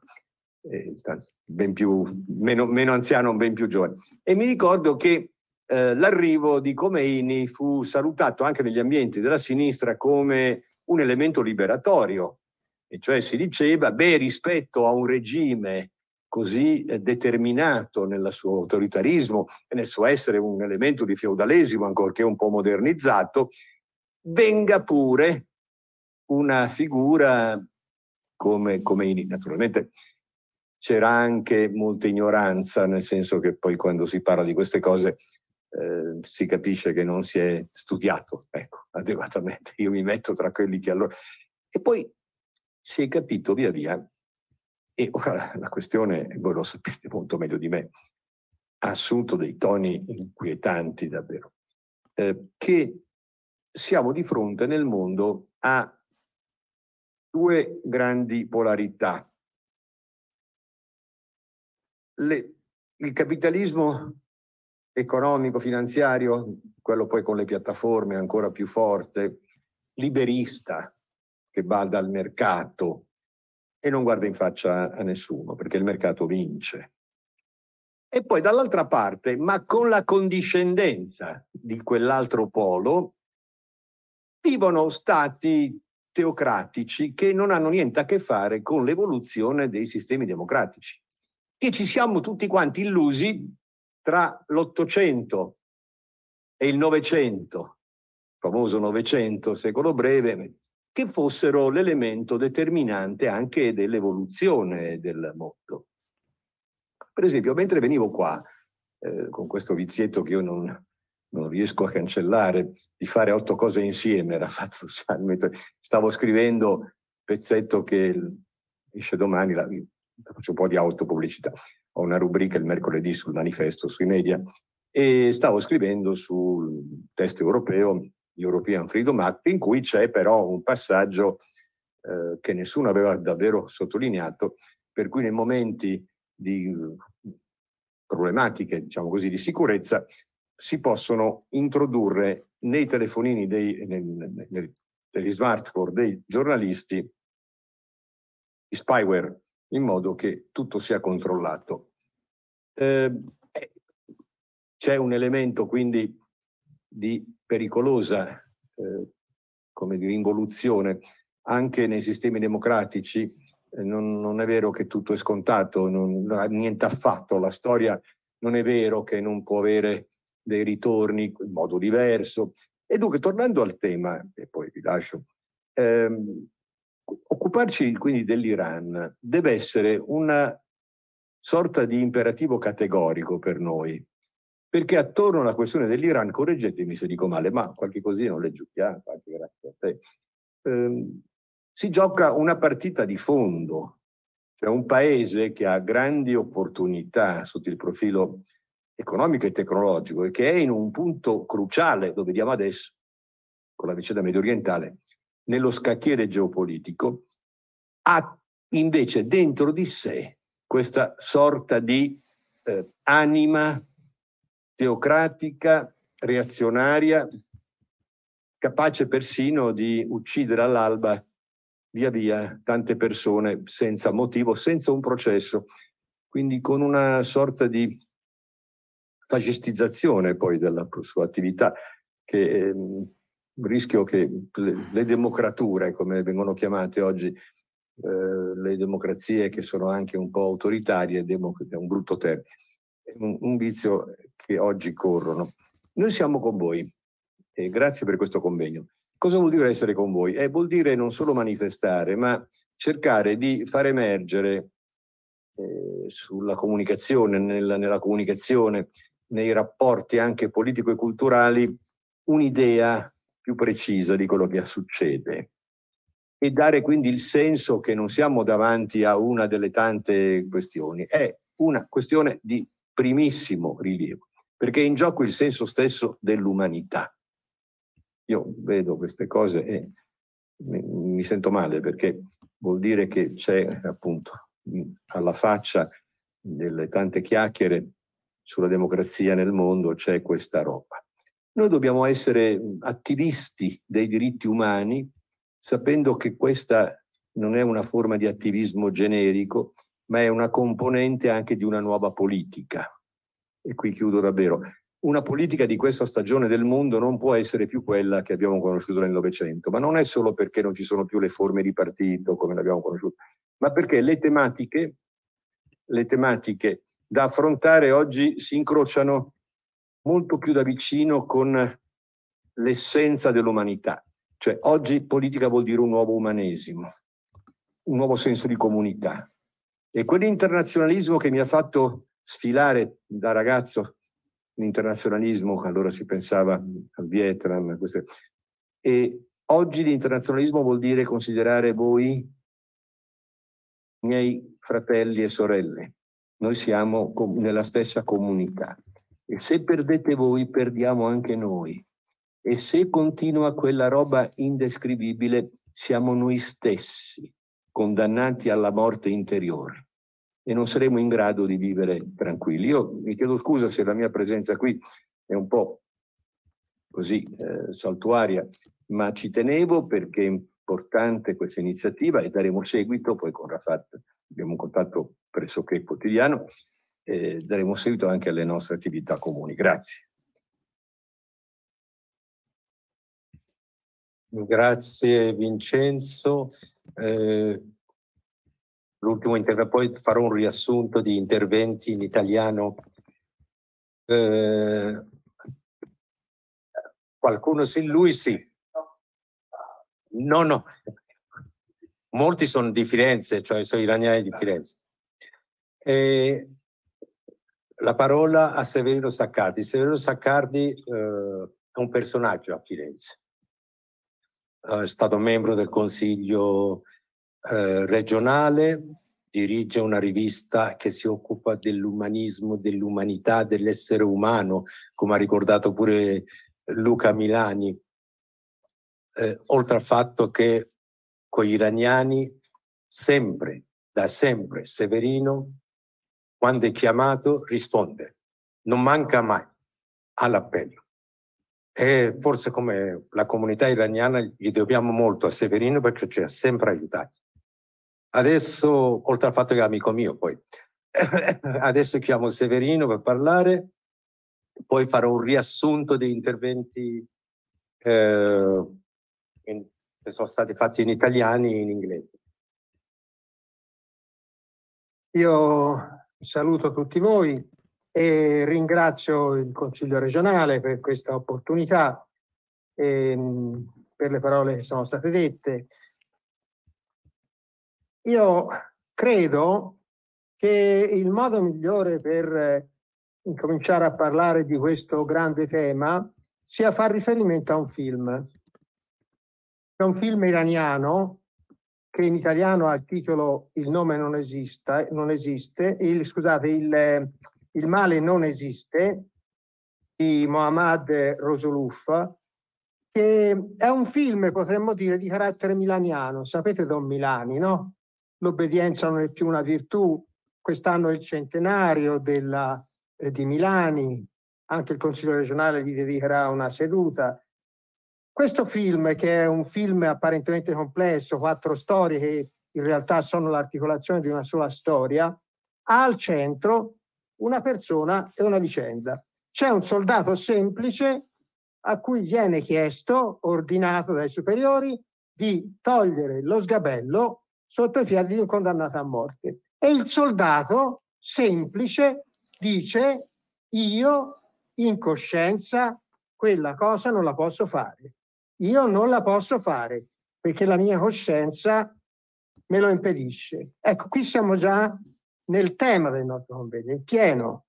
Ben più, meno anziano, ben più giovane. E mi ricordo che l'arrivo di Khomeini fu salutato anche negli ambienti della sinistra come un elemento liberatorio, e cioè si diceva, rispetto a un regime così determinato nel suo autoritarismo e nel suo essere un elemento di feudalesimo, ancorché un po' modernizzato, venga pure una figura come Khomeini. Naturalmente c'era anche molta ignoranza, nel senso che poi quando si parla di queste cose si capisce che non si è studiato, ecco, adeguatamente. Io mi metto tra quelli che allora... E poi si è capito via via, e ora la questione, voi lo sapete molto meglio di me, ha assunto dei toni inquietanti davvero, che siamo di fronte nel mondo a due grandi polarità. Il capitalismo economico, finanziario, quello poi con le piattaforme ancora più forte, liberista, che bada al mercato e non guarda in faccia a nessuno, perché il mercato vince. E poi dall'altra parte, ma con la condiscendenza di quell'altro polo, vivono stati teocratici che non hanno niente a che fare con l'evoluzione dei sistemi democratici, che ci siamo tutti quanti illusi tra l'Ottocento e il Novecento, famoso Novecento, secolo breve, che fossero l'elemento determinante anche dell'evoluzione del mondo. Per esempio, mentre venivo qua, con questo vizietto che io non riesco a cancellare, di fare 8 cose insieme, era fatto, stavo scrivendo un pezzetto che esce domani, faccio un po' di autopubblicità, ho una rubrica il mercoledì sul manifesto, sui media, e stavo scrivendo sul test europeo, European Freedom Act, in cui c'è però un passaggio che nessuno aveva davvero sottolineato, per cui nei momenti di problematiche, diciamo così, di sicurezza, si possono introdurre nei telefonini degli smartphone dei giornalisti i spyware, in modo che tutto sia controllato. C'è un elemento quindi di pericolosa come dire, involuzione anche nei sistemi democratici. Non è vero che tutto è scontato, niente affatto. La storia non è vero che non può avere dei ritorni in modo diverso. E dunque, tornando al tema, e poi vi lascio, occuparci quindi dell'Iran deve essere una sorta di imperativo categorico per noi, perché attorno alla questione dell'Iran, correggetemi se dico male, ma qualche così non le giochiamo, grazie a te, si gioca una partita di fondo, cioè un paese che ha grandi opportunità sotto il profilo economico e tecnologico e che è in un punto cruciale, lo vediamo adesso con la vicenda medio orientale, nello scacchiere geopolitico, ha invece dentro di sé questa sorta di anima teocratica, reazionaria, capace persino di uccidere all'alba via via tante persone senza motivo, senza un processo, quindi con una sorta di fascistizzazione poi della sua attività, che rischio che le democrature, come vengono chiamate oggi, le democrazie che sono anche un po' autoritarie, è un brutto termine, è un vizio che oggi corrono. Noi siamo con voi e grazie per questo convegno. Cosa vuol dire essere con voi? Vuol dire non solo manifestare, ma cercare di far emergere sulla comunicazione, nella comunicazione, nei rapporti anche politico e culturali, un'idea più precisa di quello che succede e dare quindi il senso che non siamo davanti a una delle tante questioni, è una questione di primissimo rilievo, perché è in gioco il senso stesso dell'umanità. Io vedo queste cose e mi sento male, perché vuol dire che c'è appunto alla faccia delle tante chiacchiere sulla democrazia nel mondo, c'è questa roba. Noi dobbiamo essere attivisti dei diritti umani, sapendo che questa non è una forma di attivismo generico, ma è una componente anche di una nuova politica. E qui chiudo davvero. Una politica di questa stagione del mondo non può essere più quella che abbiamo conosciuto nel Novecento, ma non è solo perché non ci sono più le forme di partito come le abbiamo conosciute, ma perché le tematiche da affrontare oggi si incrociano molto più da vicino con l'essenza dell'umanità. Cioè oggi politica vuol dire un nuovo umanesimo, un nuovo senso di comunità. E quell'internazionalismo che mi ha fatto sfilare da ragazzo, l'internazionalismo, allora si pensava al Vietnam, e oggi l'internazionalismo vuol dire considerare voi miei fratelli e sorelle. Noi siamo nella stessa comunità. E se perdete voi, perdiamo anche noi. E se continua quella roba indescrivibile, siamo noi stessi condannati alla morte interiore e non saremo in grado di vivere tranquilli. Io mi chiedo scusa se la mia presenza qui è un po' così saltuaria, ma ci tenevo perché è importante questa iniziativa e daremo seguito, poi con Rafat abbiamo un contatto pressoché quotidiano, daremo seguito anche alle nostre attività comuni. Grazie. Grazie Vincenzo. L'ultimo intervento, poi farò un riassunto di interventi in italiano. Qualcuno sì, lui sì. No. Molti sono di Firenze, cioè sono iraniani di Firenze. La parola a Severino Saccardi. Severino Saccardi è un personaggio a Firenze. È stato membro del Consiglio regionale, dirige una rivista che si occupa dell'umanismo, dell'umanità, dell'essere umano, come ha ricordato pure Luca Milani, oltre al fatto che con gli iraniani da sempre Severino, quando è chiamato, risponde, non manca mai all'appello. E forse come la comunità iraniana gli dobbiamo molto a Severino perché ci ha sempre aiutati. Adesso, oltre al fatto che è amico mio, poi adesso chiamo Severino per parlare, poi farò un riassunto degli interventi che sono stati fatti in italiano e in inglese. Io saluto tutti voi e ringrazio il Consiglio regionale per questa opportunità e per le parole che sono state dette. Io credo che il modo migliore per incominciare a parlare di questo grande tema sia far riferimento a un film. È un film iraniano che in italiano ha il titolo Il nome non esiste, il male non esiste, di Mohammad Rasuluf, che è un film, potremmo dire, di carattere milaniano. Sapete Don Milani, no? L'obbedienza non è più una virtù. Quest'anno è il centenario di Milani, anche il Consiglio regionale gli dedicherà una seduta. Questo film, che è un film apparentemente complesso, 4 storie che in realtà sono l'articolazione di una sola storia, ha al centro una persona e una vicenda. C'è un soldato semplice a cui viene chiesto, ordinato dai superiori, di togliere lo sgabello sotto i piedi di un condannato a morte. E il soldato semplice dice: io in coscienza quella cosa non la posso fare. Io non la posso fare perché la mia coscienza me lo impedisce. Ecco, qui siamo già nel tema del nostro convegno, in pieno.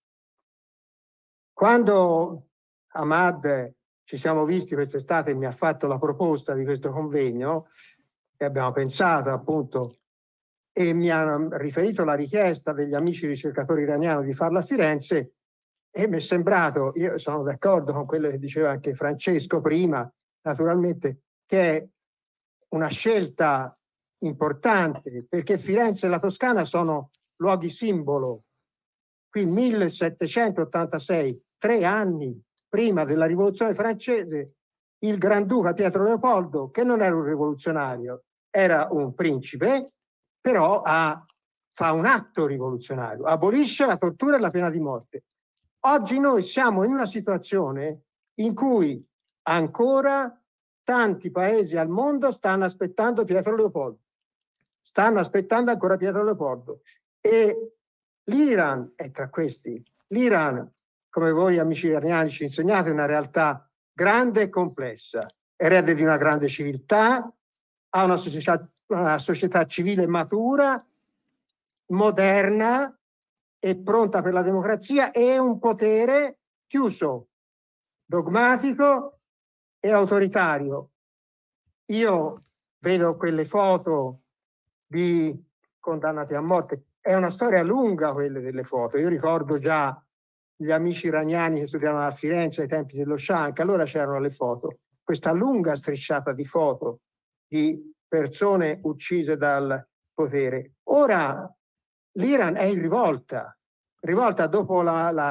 Quando Ahmad ci siamo visti quest'estate e mi ha fatto la proposta di questo convegno, e abbiamo pensato appunto, e mi ha riferito la richiesta degli amici ricercatori iraniani di farla a Firenze, e mi è sembrato, io sono d'accordo con quello che diceva anche Francesco prima, naturalmente, che è una scelta importante, perché Firenze e la Toscana sono luoghi simbolo. Qui 1786, 3 anni prima della rivoluzione francese, il Granduca Pietro Leopoldo, che non era un rivoluzionario, era un principe, però fa un atto rivoluzionario, abolisce la tortura e la pena di morte. Oggi noi siamo in una situazione in cui ancora tanti paesi al mondo stanno aspettando Pietro Leopoldo. Stanno aspettando ancora Pietro Leopoldo. E l'Iran è tra questi. L'Iran, come voi amici iraniani ci insegnate, è una realtà grande e complessa. Erede di una grande civiltà, ha una società civile matura, moderna e pronta per la democrazia, e un potere chiuso, dogmatico e autoritario. Io vedo quelle foto di condannati a morte. È una storia lunga quelle delle foto. Io ricordo già gli amici iraniani che studiavano a Firenze ai tempi dello Shah, anche allora c'erano le foto. Questa lunga strisciata di foto di persone uccise dal potere. Ora l'Iran è in rivolta dopo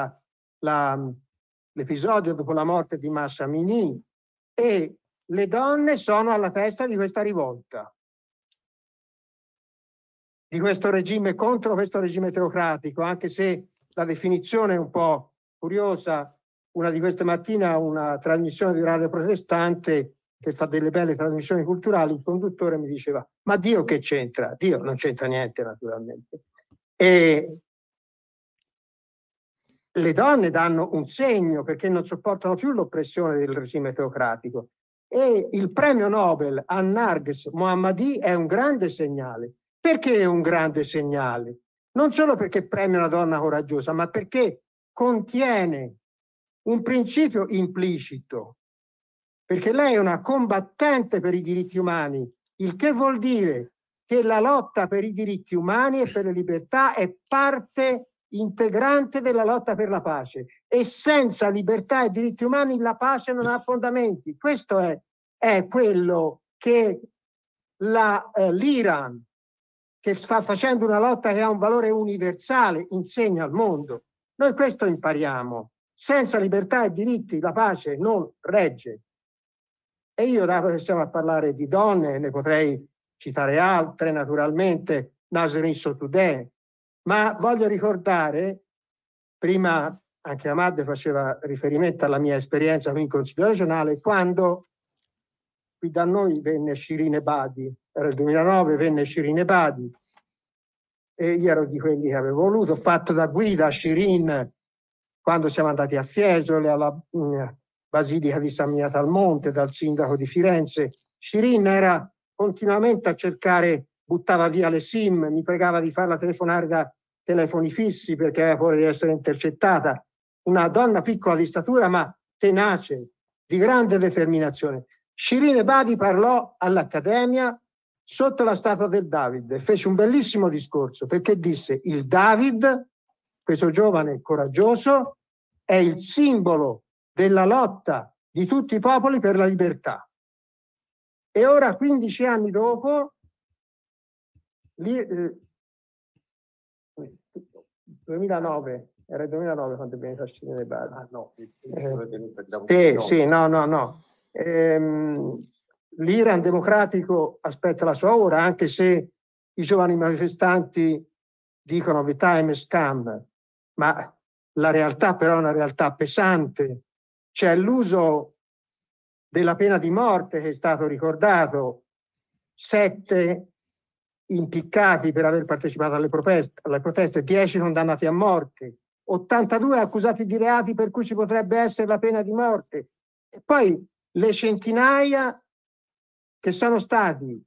l'episodio dopo la morte di Mahsa Amini, e le donne sono alla testa di questa rivolta, di questo regime, contro questo regime teocratico, anche se la definizione è un po' curiosa. Una di queste mattine, una trasmissione di radio protestante che fa delle belle trasmissioni culturali, il conduttore mi diceva: ma Dio che c'entra? Dio non c'entra niente, naturalmente. E le donne danno un segno, perché non sopportano più l'oppressione del regime teocratico. E il premio Nobel a Narges Mohammadi è un grande segnale. Perché è un grande segnale? Non solo perché premia una donna coraggiosa, ma perché contiene un principio implicito, perché lei è una combattente per i diritti umani, il che vuol dire che la lotta per i diritti umani e per le libertà è parte integrante della lotta per la pace, e senza libertà e diritti umani la pace non ha fondamenti. Questo è quello che l'Iran, che sta facendo una lotta che ha un valore universale, insegna al mondo. Noi questo impariamo. Senza libertà e diritti la pace non regge. E io, dato che stiamo a parlare di donne, ne potrei citare altre, naturalmente, Nasrin Sotoudeh, ma voglio ricordare, prima anche Ahmad faceva riferimento alla mia esperienza qui in Consiglio regionale, quando qui da noi venne Shirin Ebadi, era il 2009, venne Shirin Ebadi, e io ero di quelli che avevo voluto, fatto da guida Shirin quando siamo andati a Fiesole, alla Basilica di San Miniato al Monte, dal sindaco di Firenze. Shirin era continuamente a cercare, buttava via le SIM, mi pregava di farla telefonare da telefoni fissi perché aveva paura di essere intercettata. Una donna piccola di statura ma tenace, di grande determinazione. Shirin Ebadi parlò all'Accademia sotto la statua del David e fece un bellissimo discorso perché disse: il David, questo giovane coraggioso, è il simbolo della lotta di tutti i popoli per la libertà. E ora, 15 anni dopo, 2009, era il 2009 quando è venuto a Shirin Ebadi. Ah no, no. L'Iran democratico aspetta la sua ora, anche se i giovani manifestanti dicono the time has come, ma la realtà però è una realtà pesante. C'è l'uso della pena di morte che è stato ricordato, 7 impiccati per aver partecipato alle proteste, 10 condannati a morte, 82 accusati di reati per cui ci potrebbe essere la pena di morte, e poi le centinaia che sono stati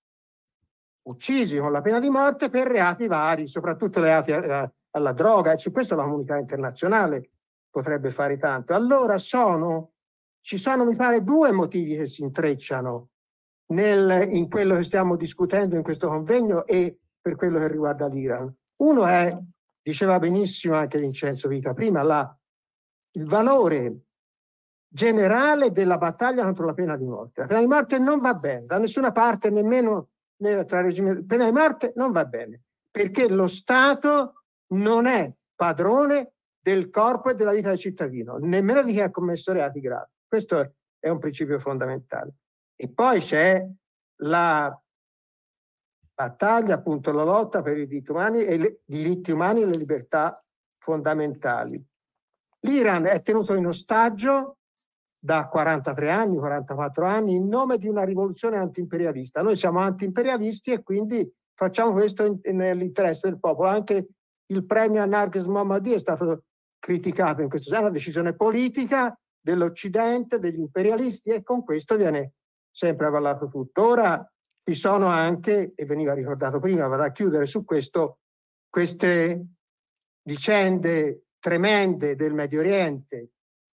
uccisi con la pena di morte per reati vari, soprattutto reati alla droga, e su questo la comunità internazionale potrebbe fare tanto. Allora ci sono mi pare 2 motivi che si intrecciano in quello che stiamo discutendo in questo convegno e per quello che riguarda l'Iran. Uno è, diceva benissimo anche Vincenzo Vita prima, il valore generale della battaglia contro la pena di morte. La pena di morte non va bene da nessuna parte, nemmeno tra regimi. La pena di morte non va bene perché lo Stato non è padrone del corpo e della vita del cittadino, nemmeno di chi ha commesso reati gravi. Questo è un principio fondamentale. E poi c'è la battaglia, appunto, la lotta per i diritti umani e le libertà fondamentali. L'Iran è tenuto in ostaggio da 43 anni, 44 anni, in nome di una rivoluzione antiimperialista. Noi siamo antiimperialisti e quindi facciamo questo nell'interesse del popolo. Anche il premio a Narges Mohammadi è stato criticato in questo senso, è una decisione politica dell'Occidente, degli imperialisti, e con questo viene sempre avallato tutto. Ora ci sono anche, e veniva ricordato prima, vado a chiudere su questo, queste vicende tremende del Medio Oriente,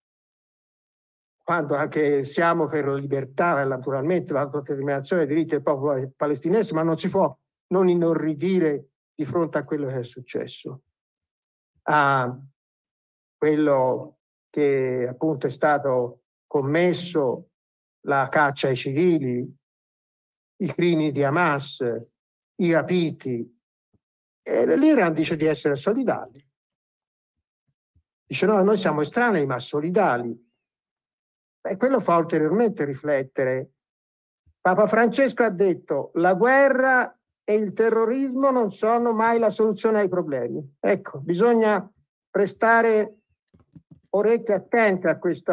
quando anche siamo per la libertà e naturalmente l'autodeterminazione dei diritti del popolo palestinese, ma non si può non inorridire di fronte a quello che è successo, a quello che appunto è stato commesso, la caccia ai civili, i crimini di Hamas, i rapiti. E l'Iran dice di essere solidali. Dice no, noi siamo estranei ma solidali. E quello fa ulteriormente riflettere. Papa Francesco ha detto: la guerra e il terrorismo non sono mai la soluzione ai problemi. Ecco, bisogna prestare orecchie attente a questo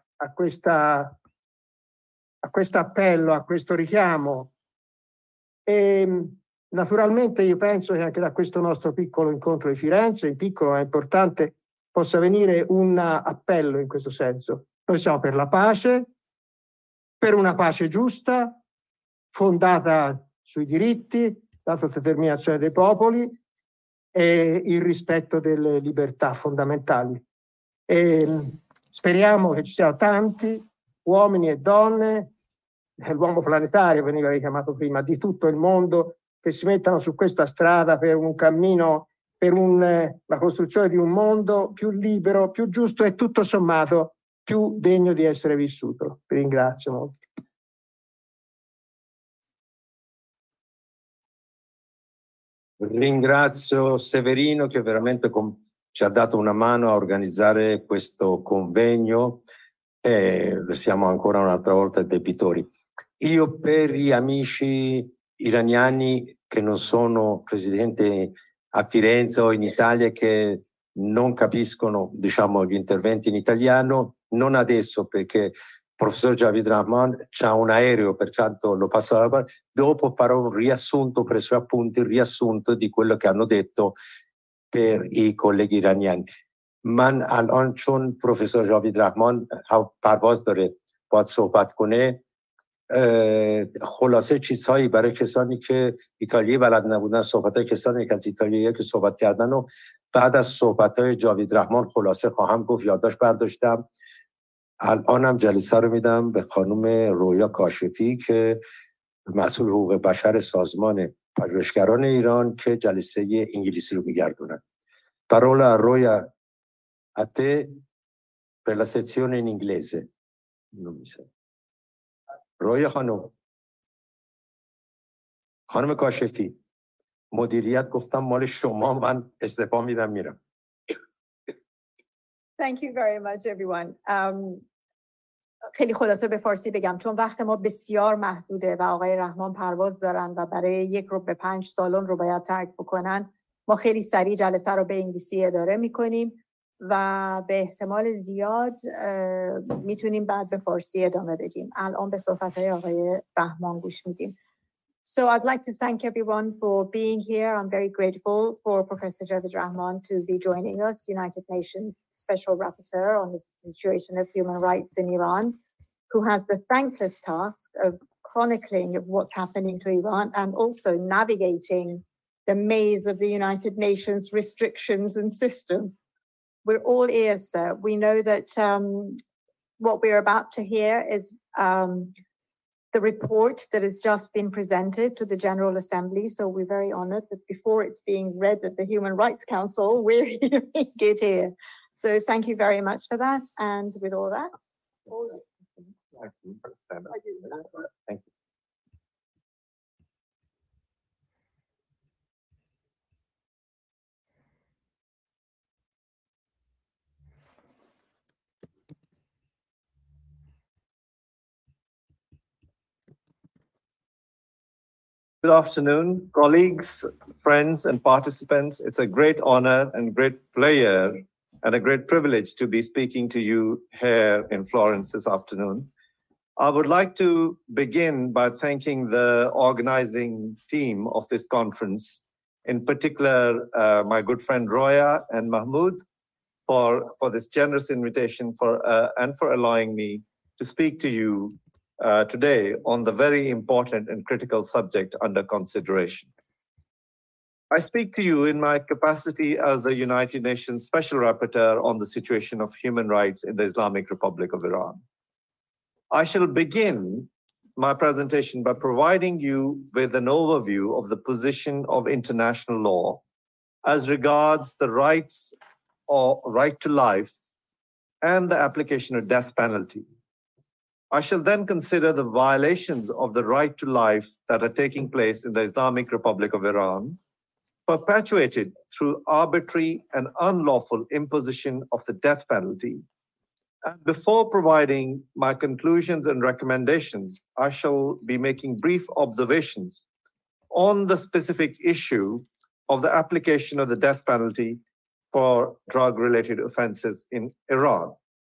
appello, a questo richiamo. E naturalmente io penso che anche da questo nostro piccolo incontro di Firenze, in piccolo ma importante, possa venire un appello in questo senso. Noi siamo per la pace, per una pace giusta, fondata sui diritti, l'autodeterminazione dei popoli e il rispetto delle libertà fondamentali. E speriamo che ci siano tanti uomini e donne, l'uomo planetario veniva richiamato prima, di tutto il mondo, che si mettano su questa strada per un cammino, per la costruzione di un mondo più libero, più giusto e tutto sommato più degno di essere vissuto. Vi ringrazio molto. Ringrazio Severino che veramente ci ha dato una mano a organizzare questo convegno e siamo ancora un'altra volta debitori. Io per gli amici iraniani che non sono residenti a Firenze o in Italia che non capiscono, diciamo, gli interventi in italiano, non adesso perché il professor Javid Rahman c'ha un aereo, pertanto lo passo alla parte. Dopo farò un riassunto, preso appunti, il riassunto di quello che hanno detto per i colleghi iraniani. من الان چون پروفسور جاوید رحمان پرواز داره باید صحبت کنه، خلاصه چیزهایی برای کسانی که ایتالیایی بلد نبودن، صحبت‌های کسانی که از ایتالیایی که صحبت کردن و بعد از صحبت‌های جاوید رحمان خلاصه خواهم گفت. یادداشت برداشتم. الانم جلسه رو میدم به خانم رویا کاشفی که مسئول حقوق بشر سازمان پژوهشگران ایران که جلسه انگلیسی رو میگردونن. Parola Roya a te per la sezione in inglese. Non mi sa. رویا خانم کاشفی، مدیریت گفتم مال شما، من استعفا میدم میرم. Thank you very much everyone. خیلی خلاصه به فارسی بگم چون وقت ما بسیار محدوده و آقای رحمان پرواز دارن و برای 1 رو به 5 سالن رو باید ترک بکنن. ما خیلی سریع جلسه رو به انگلیسی اداره میکنیم و به احتمال زیاد میتونیم بعد به فارسی ادامه بدیم. الان به صحبت‌های آقای رحمان گوش میدیم. So I'd like to thank everyone for being here. I'm very grateful for Professor Javid Rahman to be joining us, United Nations Special Rapporteur on the situation of human rights in Iran, who has the thankless task of chronicling of what's happening to Iran and also navigating the maze of the United Nations restrictions and systems. We're all ears, sir. We know that what we're about to hear is the report that has just been presented to the General Assembly. So we're very honored that before it's being read at the Human Rights Council, we're hearing it here. So thank you very much for that. And with all that, Thank you. Good afternoon, colleagues, friends, and participants. It's a great honor and great pleasure and a great privilege to be speaking to you here in Florence this afternoon. I would like to begin by thanking the organizing team of this conference, in particular my good friend Roya and Mahmoud, for this generous invitation and for allowing me to speak to you today on the very important and critical subject under consideration. I speak to you in my capacity as the United Nations Special Rapporteur on the situation of human rights in the Islamic Republic of Iran. I shall begin my presentation by providing you with an overview of the position of international law as regards the rights or right to life and the application of death penalty. I shall then consider the violations of the right to life that are taking place in the Islamic Republic of Iran, perpetuated through arbitrary and unlawful imposition of the death penalty. And before providing my conclusions and recommendations, I shall be making brief observations on the specific issue of the application of the death penalty for drug-related offenses in Iran.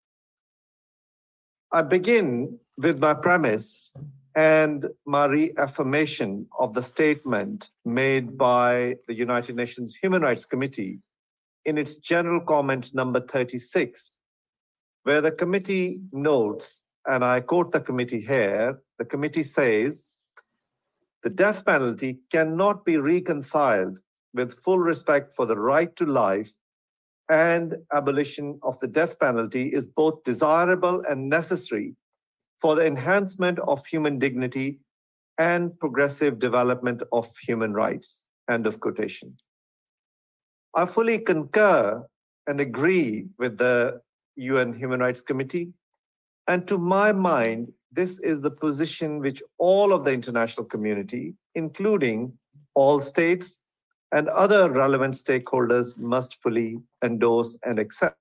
I begin with my premise and my reaffirmation of the statement made by the United Nations Human Rights Committee in its general comment number 36, where the committee notes, and I quote the committee here, the committee says, the death penalty cannot be reconciled with full respect for the right to life, and abolition of the death penalty is both desirable and necessary for the enhancement of human dignity and progressive development of human rights. End of quotation. I fully concur and agree with the UN Human Rights Committee, and to my mind, this is the position which all of the international community, including all states and other relevant stakeholders, must fully endorse and accept.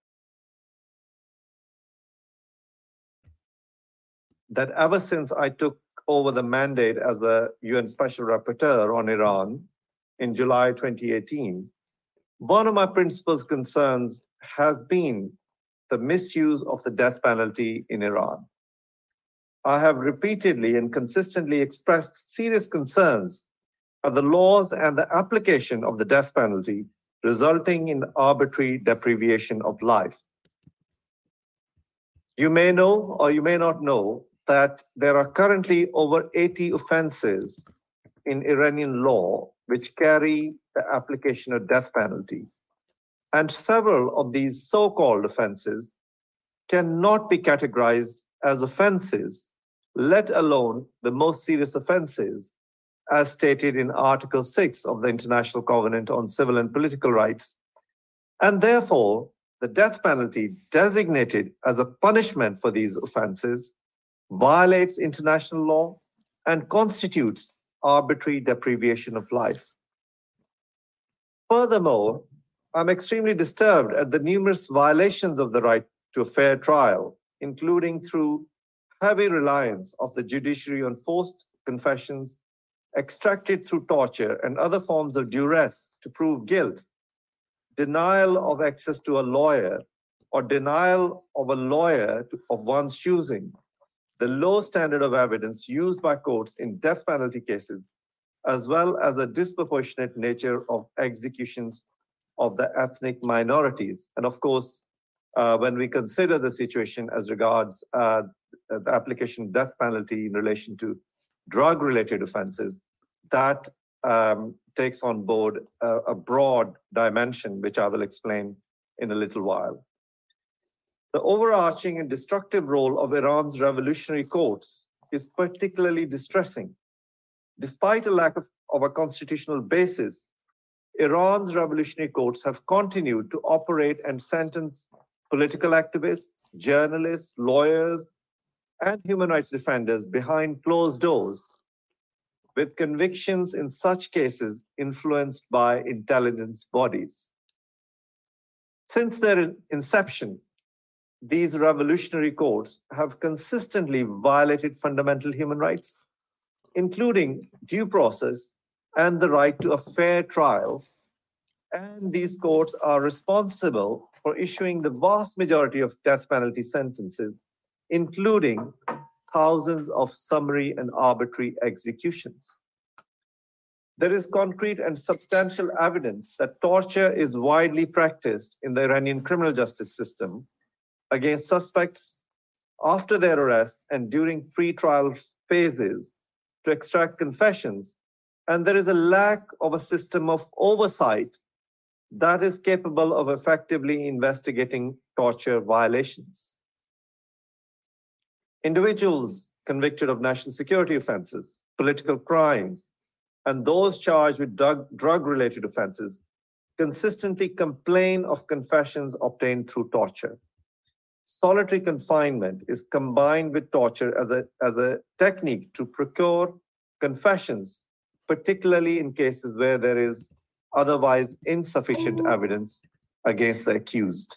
That ever since I took over the mandate as the UN Special Rapporteur on Iran in July 2018, one of my principal concerns has been the misuse of the death penalty in Iran. I have repeatedly and consistently expressed serious concerns at the laws and the application of the death penalty resulting in arbitrary deprivation of life. You may know or you may not know that there are currently over 80 offenses in Iranian law which carry the application of death penalty. And several of these so-called offenses cannot be categorized as offenses, let alone the most serious offenses, as stated in Article 6 of the International Covenant on Civil and Political Rights. And therefore, the death penalty designated as a punishment for these offenses violates international law and constitutes arbitrary deprivation of life. Furthermore, I'm extremely disturbed at the numerous violations of the right to a fair trial, including through heavy reliance of the judiciary on forced confessions extracted through torture and other forms of duress to prove guilt, denial of access to a lawyer, or denial of a lawyer of one's choosing, the low standard of evidence used by courts in death penalty cases, as well as a disproportionate nature of executions of the ethnic minorities. And of course, when we consider the situation as regards the application of death penalty in relation to drug-related offenses, that takes on board a broad dimension, which I will explain in a little while. The overarching and destructive role of Iran's revolutionary courts is particularly distressing. Despite a lack of a constitutional basis, Iran's revolutionary courts have continued to operate and sentence political activists, journalists, lawyers, and human rights defenders behind closed doors, with convictions in such cases influenced by intelligence bodies. Since their inception, these revolutionary courts have consistently violated fundamental human rights, including due process and the right to a fair trial. And these courts are responsible for issuing the vast majority of death penalty sentences, including thousands of summary and arbitrary executions. There is concrete and substantial evidence that torture is widely practiced in the Iranian criminal justice system against suspects after their arrest and during pre-trial phases to extract confessions, and there is a lack of a system of oversight that is capable of effectively investigating torture violations. Individuals convicted of national security offenses, political crimes, and those charged with drug-related offenses consistently complain of confessions obtained through torture. Solitary confinement is combined with torture as a technique to procure confessions, particularly in cases where there is otherwise insufficient evidence against the accused.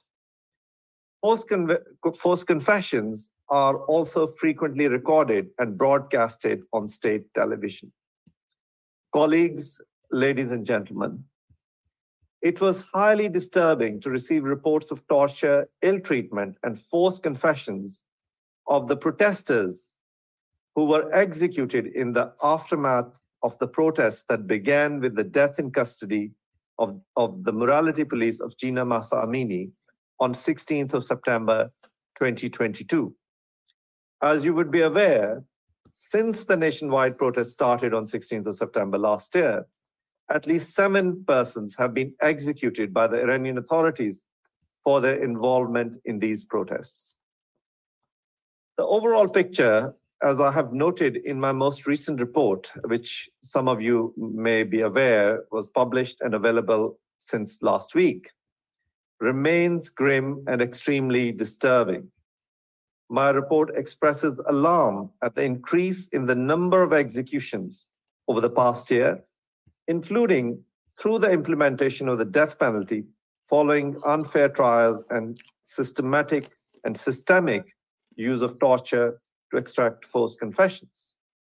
Forced confessions are also frequently recorded and broadcasted on state television. Colleagues, ladies and gentlemen, it was highly disturbing to receive reports of torture, ill treatment, and forced confessions of the protesters who were executed in the aftermath of the protests that began with the death in custody of the morality police of Jina Mahsa Amini on 16th of September 2022. As you would be aware, since the nationwide protest started on 16th of September last year, at least 7 persons have been executed by the Iranian authorities for their involvement in these protests. The overall picture, as I have noted in my most recent report, which some of you may be aware was published and available since last week, remains grim and extremely disturbing. My report expresses alarm at the increase in the number of executions over the past year, including through the implementation of the death penalty following unfair trials and systemic use of torture to extract forced confessions.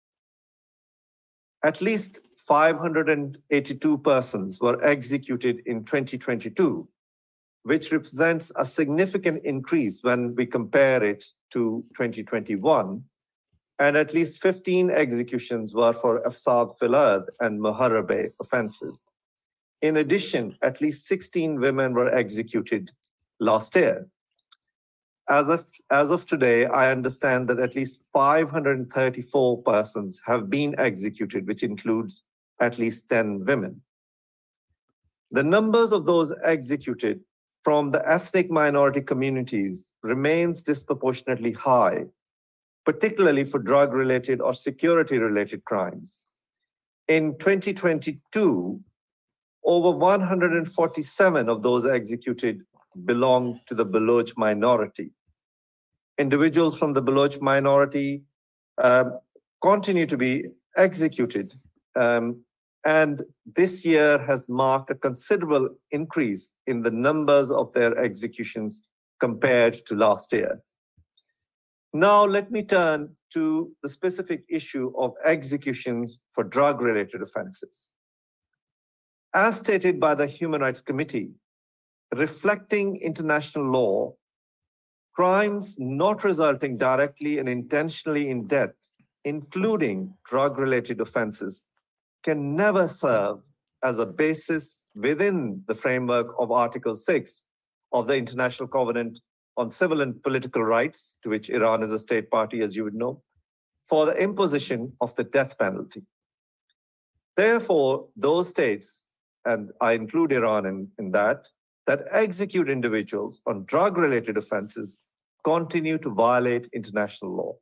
At least 582 persons were executed in 2022, which represents a significant increase when we compare it to 2021, and at least 15 executions were for Afsad Filad and Moharrabe offenses. In addition, at least 16 women were executed last year. As of today, I understand that at least 534 persons have been executed, which includes at least 10 women. The numbers of those executed from the ethnic minority communities remains disproportionately high, particularly for drug-related or security-related crimes. In 2022, over 147 of those executed belong to the Baloch minority. Individuals from the Baloch minority continue to be executed, and this year has marked a considerable increase in the numbers of their executions compared to last year. Now, let me turn to the specific issue of executions for drug-related offenses. As stated by the Human Rights Committee, reflecting international law, crimes not resulting directly and intentionally in death, including drug-related offenses, can never serve as a basis within the framework of Article 6 of the International Covenant on Civil and Political Rights, to which Iran is a state party, as you would know, for the imposition of the death penalty. Therefore, those states, and I include Iran in that execute individuals on drug-related offenses continue to violate international law.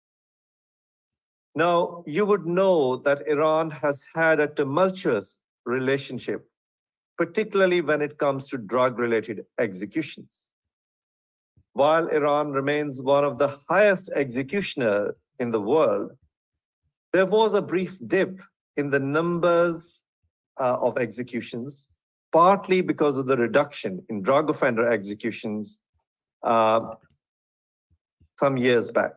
Now, you would know that Iran has had a tumultuous relationship, particularly when it comes to drug-related executions. While Iran remains one of the highest executioners in the world, there was a brief dip in the numbers of executions, partly because of the reduction in drug offender executions some years back.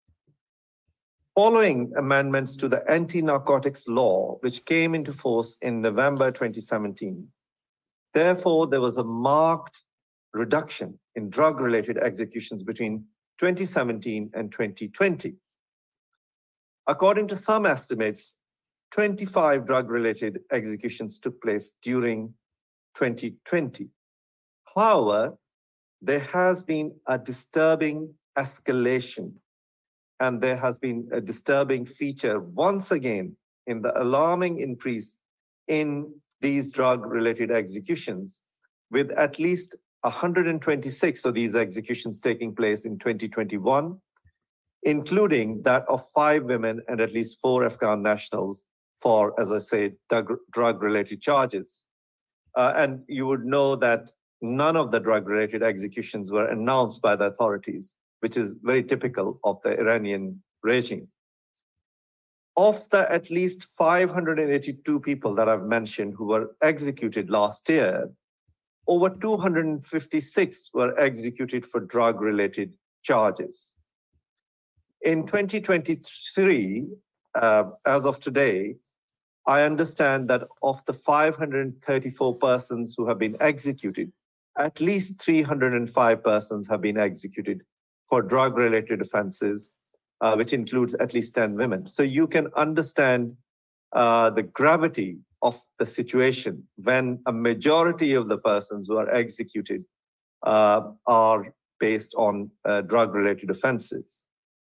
Following amendments to the anti-narcotics law, which came into force in November 2017, therefore, there was a marked reduction in drug-related executions between 2017 and 2020. According to some estimates, 25 drug-related executions took place during 2020. However, there has been a disturbing escalation, and there has been a disturbing feature once again in the alarming increase in these drug-related executions, with at least 126 of these executions taking place in 2021, including that of 5 women and at least 4 Afghan nationals for, as I say, drug-related charges. And you would know that none of the drug-related executions were announced by the authorities, which is very typical of the Iranian regime. Of the at least 582 people that I've mentioned who were executed last year, over 256 were executed for drug-related charges. In 2023, as of today, I understand that of the 534 persons who have been executed, at least 305 persons have been executed for drug-related offenses, which includes at least 10 women. So you can understand the gravity of the situation when a majority of the persons who are executed are based on drug-related offenses.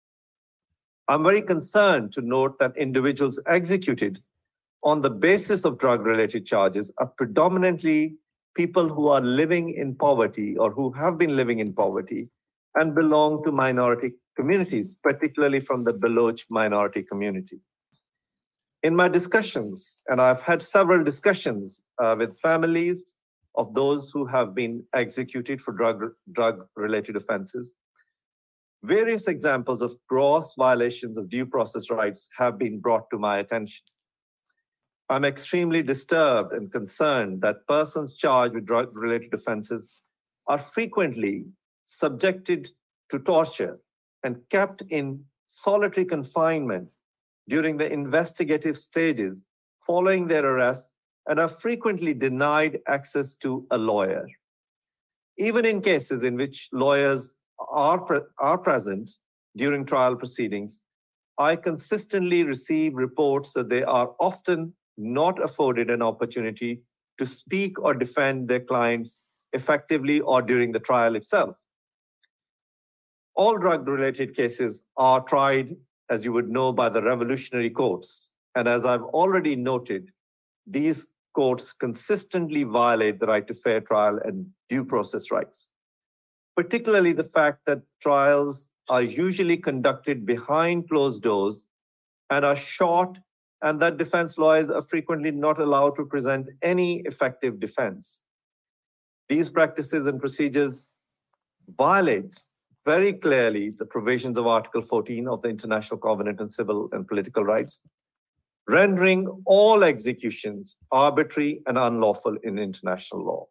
I'm very concerned to note that individuals executed on the basis of drug-related charges are predominantly people who are living in poverty or who have been living in poverty and belong to minority communities, particularly from the Baloch minority community. In my discussions, and I've had several discussions with families of those who have been executed for drug-related offenses, various examples of gross violations of due process rights have been brought to my attention. I'm extremely disturbed and concerned that persons charged with drug-related offenses are frequently subjected to torture and kept in solitary confinement during the investigative stages following their arrest and are frequently denied access to a lawyer. Even in cases in which lawyers are present during trial proceedings, I consistently receive reports that they are often not afforded an opportunity to speak or defend their clients effectively or during the trial itself. All drug-related cases are tried, as you would know, by the revolutionary courts. And as I've already noted, these courts consistently violate the right to fair trial and due process rights, particularly the fact that trials are usually conducted behind closed doors and are short, and that defense lawyers are frequently not allowed to present any effective defense. These practices and procedures violate very clearly the provisions of Article 14 of the International Covenant on Civil and Political Rights, rendering all executions arbitrary and unlawful in international law.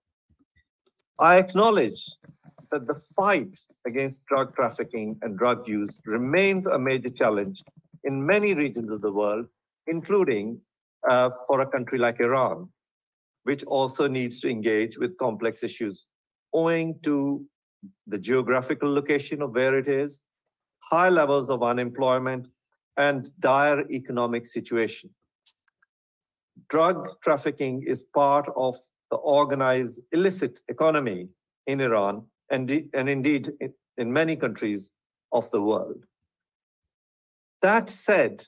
I acknowledge that the fight against drug trafficking and drug use remains a major challenge in many regions of the world, including for a country like Iran, which also needs to engage with complex issues owing to the geographical location of where it is, high levels of unemployment, and dire economic situation. Drug trafficking is part of the organized illicit economy in Iran and indeed in many countries of the world. That said,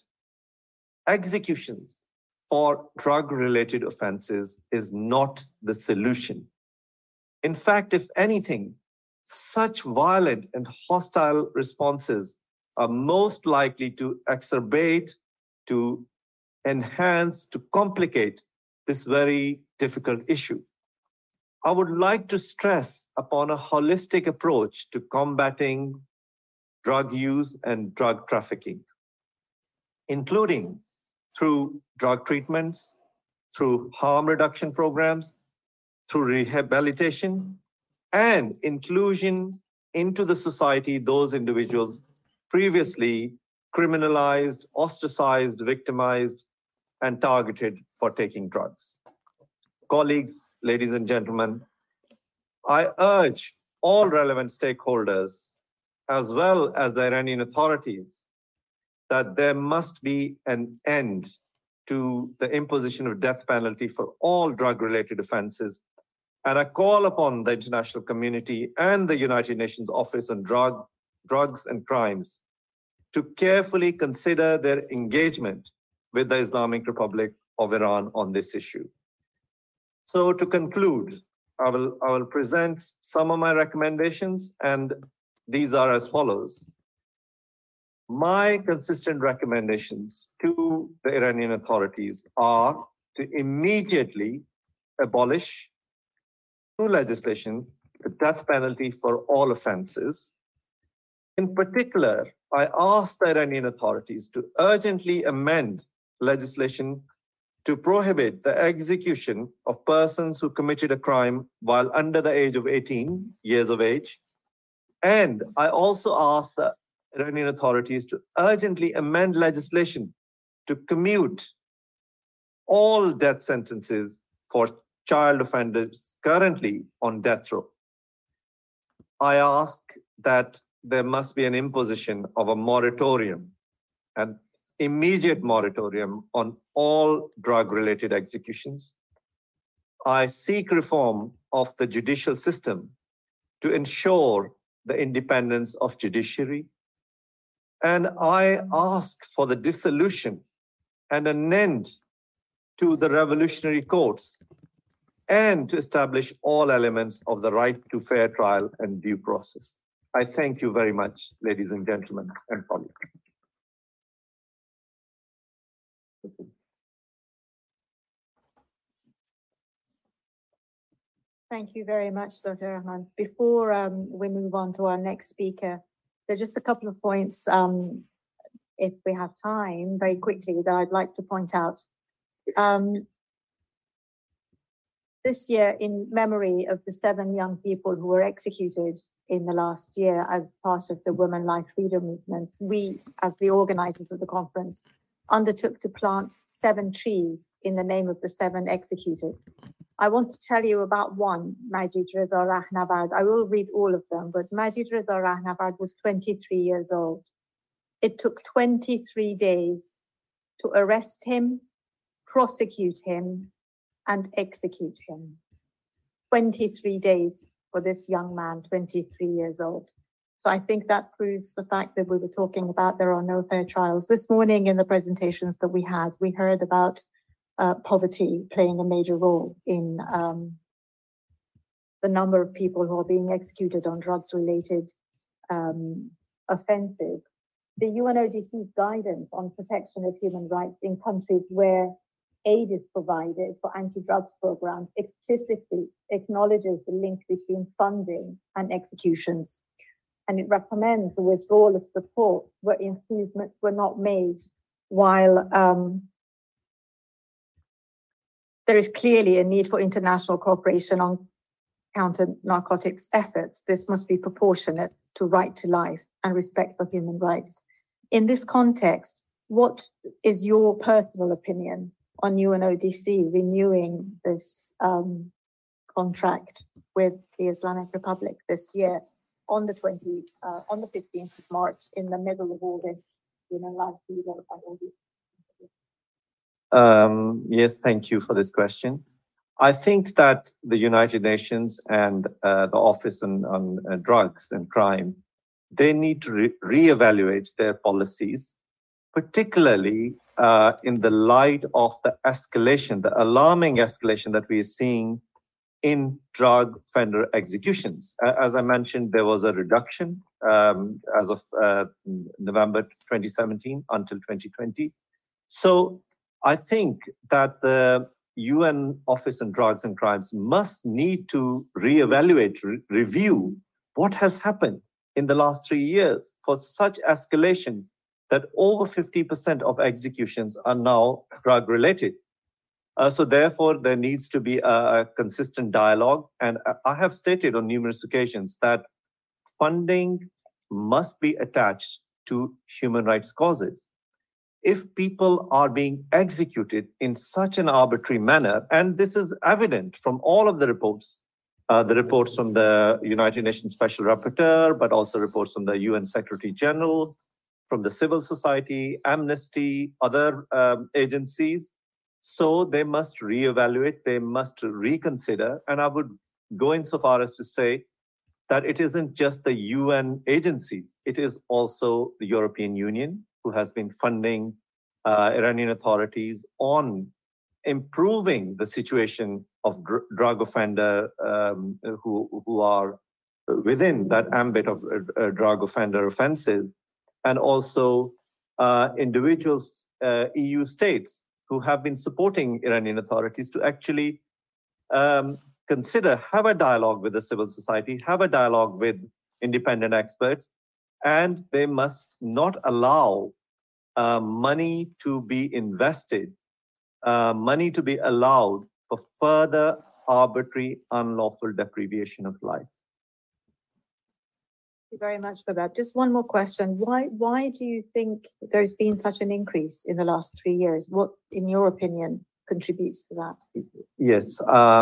executions for drug-related offenses is not the solution. In fact, if anything, such violent and hostile responses are most likely to exacerbate, to enhance, to complicate this very difficult issue. I would like to stress upon a holistic approach to combating drug use and drug trafficking, including through drug treatments, through harm reduction programs, through rehabilitation, and inclusion into the society those individuals previously criminalized, ostracized, victimized, and targeted for taking drugs. Colleagues, ladies and gentlemen, I urge all relevant stakeholders, as well as the Iranian authorities, that there must be an end to the imposition of death penalty for all drug-related offenses. And I call upon the international community and the United Nations Office on Drugs and Crimes to carefully consider their engagement with the Islamic Republic of Iran on this issue. So to conclude, I will present some of my recommendations, and these are as follows. My consistent recommendations to the Iranian authorities are to immediately abolish through legislation the death penalty for all offenses. In particular, I ask the Iranian authorities to urgently amend legislation to prohibit the execution of persons who committed a crime while under the age of 18 years of age. And I also ask the Iranian authorities to urgently amend legislation to commute all death sentences for child offenders currently on death row. I ask that there must be an imposition of a moratorium, an immediate moratorium on all drug-related executions. I seek reform of the judicial system to ensure the independence of judiciary. And I ask for the dissolution and an end to the revolutionary courts and to establish all elements of the right to fair trial and due process. I thank you very much, ladies and gentlemen and colleagues. Thank you very much, Dr. Rahman. Before we move on to our next speaker, there's just a couple of points, if we have time, very quickly, that I'd like to point out. This year, in memory of the 7 young people who were executed in the last year as part of the Women Life Freedom movements, we, as the organizers of the conference, undertook to plant 7 trees in the name of the 7 executed. I want to tell you about one, Majid Reza Rahnavard. I will read all of them, but Majid Reza Rahnavard was 23 years old. It took 23 days to arrest him, prosecute him, and execute him. 23 days for this young man, 23 years old. So I think that proves the fact that we were talking about there are no fair trials. This morning in the presentations that we had, we heard about poverty playing a major role in the number of people who are being executed on drugs-related offenses. The UNODC's guidance on protection of human rights in countries where aid is provided for anti-drugs programs explicitly acknowledges the link between funding and executions. And it recommends the withdrawal of support where improvements were not made, while there is clearly a need for international cooperation on counter-narcotics efforts. This must be proportionate to right to life and respect for human rights. In this context, what is your personal opinion on UNODC renewing this contract with the Islamic Republic this year on the 15th of March, in the middle of all this, Yes, thank you for this question. I think that the United Nations and the Office on Drugs and Crime, they need to reevaluate their policies, particularly in the light of the escalation, the alarming escalation that we are seeing in drug offender executions. As I mentioned, there was a reduction as of November 2017 until 2020. So I think that the UN Office on Drugs and Crimes must need to reevaluate, review what has happened in the last 3 years for such escalation that over 50% of executions are now drug-related. So therefore, there needs to be a consistent dialogue. And I have stated on numerous occasions that funding must be attached to human rights causes. If people are being executed in such an arbitrary manner, and this is evident from all of the reports from the United Nations Special Rapporteur, but also reports from the UN Secretary General, from the civil society, Amnesty, other agencies. So they must reevaluate, they must reconsider. And I would go insofar as to say that it isn't just the UN agencies, it is also the European Union who has been funding Iranian authorities on improving the situation of drug offender who are within that ambit of drug offender offenses, and also individuals, EU states who have been supporting Iranian authorities to actually consider, have a dialogue with the civil society, have a dialogue with independent experts, and they must not allow money to be invested, money to be allowed for further arbitrary, unlawful deprivation of life. Thank you very much for that. Just one more question. Why do you think there's been such an increase in the last 3 years? What, in your opinion, contributes to that? Yes.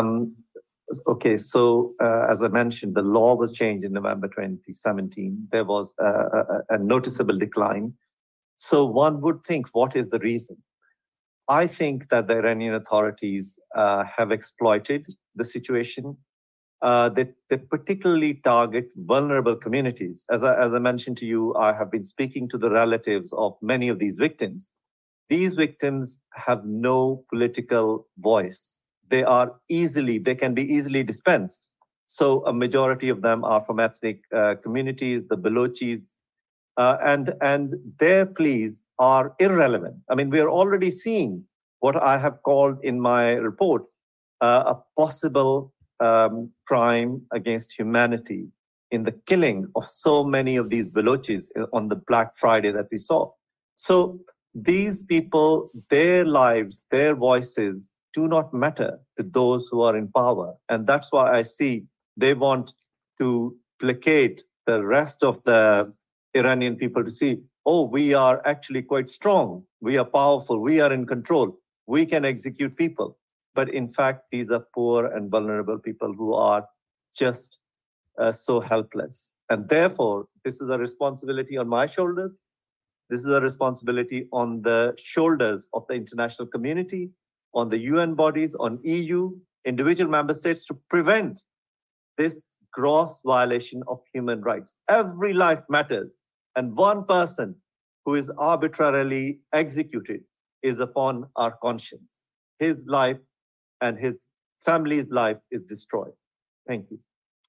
Okay, so as I mentioned, the law was changed in November 2017. There was a noticeable decline. So one would think, what is the reason? I think that the Iranian authorities have exploited the situation. They particularly target vulnerable communities. As I mentioned to you, I have been speaking to the relatives of many of these victims. These victims have no political voice. They can be easily dispensed. So a majority of them are from ethnic communities, the Balochis, and their pleas are irrelevant. I mean, we are already seeing what I have called in my report a possible crime against humanity in the killing of so many of these Balochis on the Black Friday that we saw. So these people, their lives, their voices do not matter to those who are in power. And that's why I see they want to placate the rest of the Iranian people to see, oh, we are actually quite strong. We are powerful. We are in control. We can execute people. But in fact, these are poor and vulnerable people who are just so helpless. And therefore, this is a responsibility on my shoulders. This is a responsibility on the shoulders of the international community. on the UN bodies, on EU, individual member states to prevent this gross violation of human rights. Every life matters, and one person who is arbitrarily executed is upon our conscience. His life and his family's life is destroyed. Thank you.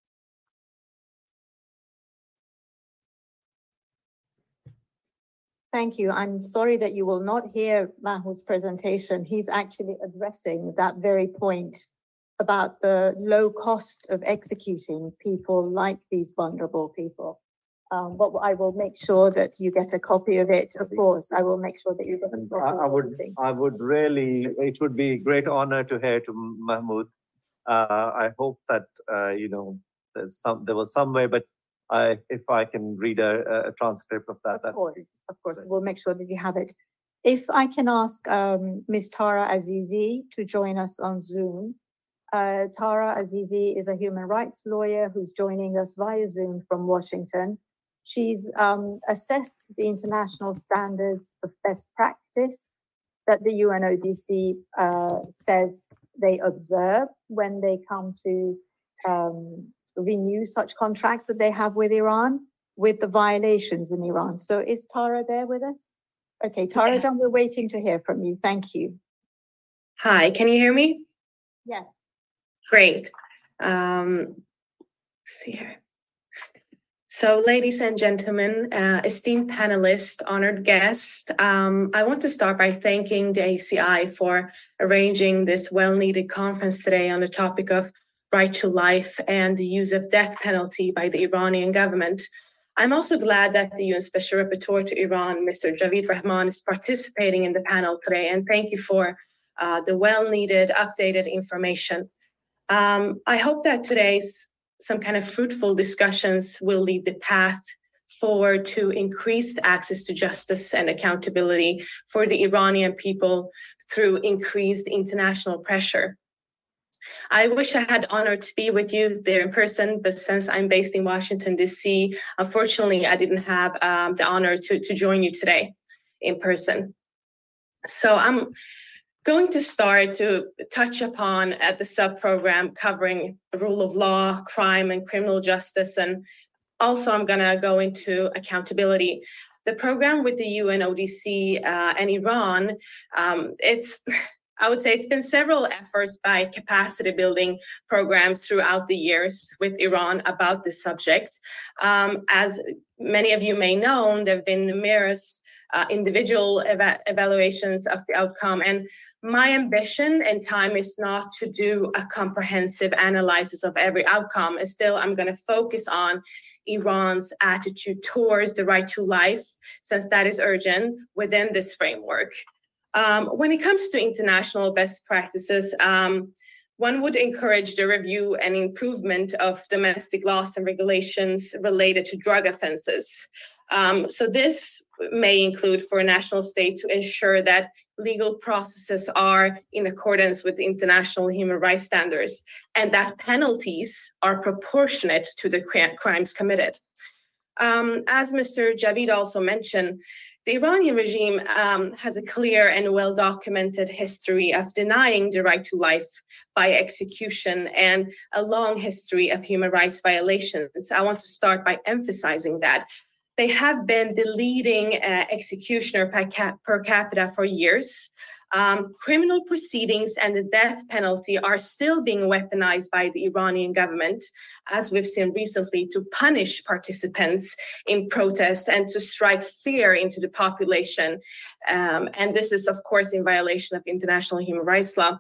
Thank you. I'm sorry that you will not hear Mahmoud's presentation. He's actually addressing that very point about the low cost of executing people like these vulnerable people. But I will make sure that you get a copy of it. Of course, I will make sure that you get a copy. I would really, it would be a great honor to hear to Mahmoud. I hope that, there was some way, but if I can read a transcript of that. Of course, we'll make sure that you have it. If I can ask Ms. Tara Azizi to join us on Zoom. Tara Azizi is a human rights lawyer who's joining us via Zoom from Washington. She's assessed the international standards of best practice that the UNODC says they observe when they come to renew such contracts that they have with Iran, with the violations in Iran. So is Tara there with us? Okay, Tara, yes. We're waiting to hear from you. Thank you. Hi, can you hear me? Yes. Great. Let's see here. So, ladies and gentlemen, esteemed panelists, honored guests, I want to start by thanking the ACI for arranging this well-needed conference today on the topic of right to life and the use of death penalty by the Iranian government. I'm also glad that the UN Special Rapporteur to Iran, Mr. Javid Rahman, is participating in the panel today, and thank you for the well-needed updated information. I hope that today's some kind of fruitful discussions will lead the path forward to increased access to justice and accountability for the Iranian people through increased international pressure. I wish I had the honor to be with you there in person, but since I'm based in Washington, D.C., unfortunately, I didn't have the honor to join you today in person. So I'm going to start to touch upon at the sub-program covering rule of law, crime, and criminal justice, and also I'm going to go into accountability. The program with the UNODC and Iran, I would say it's been several efforts by capacity building programs throughout the years with Iran about this subject. As many of you may know, there have been numerous individual evaluations of the outcome. And my ambition and time is not to do a comprehensive analysis of every outcome. Still, I'm going to focus on Iran's attitude towards the right to life, since that is urgent within this framework. When it comes to international best practices, one would encourage the review and improvement of domestic laws and regulations related to drug offenses. So this may include for a national state to ensure that legal processes are in accordance with international human rights standards and that penalties are proportionate to the crimes committed. As Mr. Javid also mentioned, the Iranian regime has a clear and well-documented history of denying the right to life by execution and a long history of human rights violations. I want to start by emphasizing that. They have been the leading executioner per capita for years. Criminal proceedings and the death penalty are still being weaponized by the Iranian government, as we've seen recently, to punish participants in protests and to strike fear into the population. And this is, of course, in violation of international human rights law.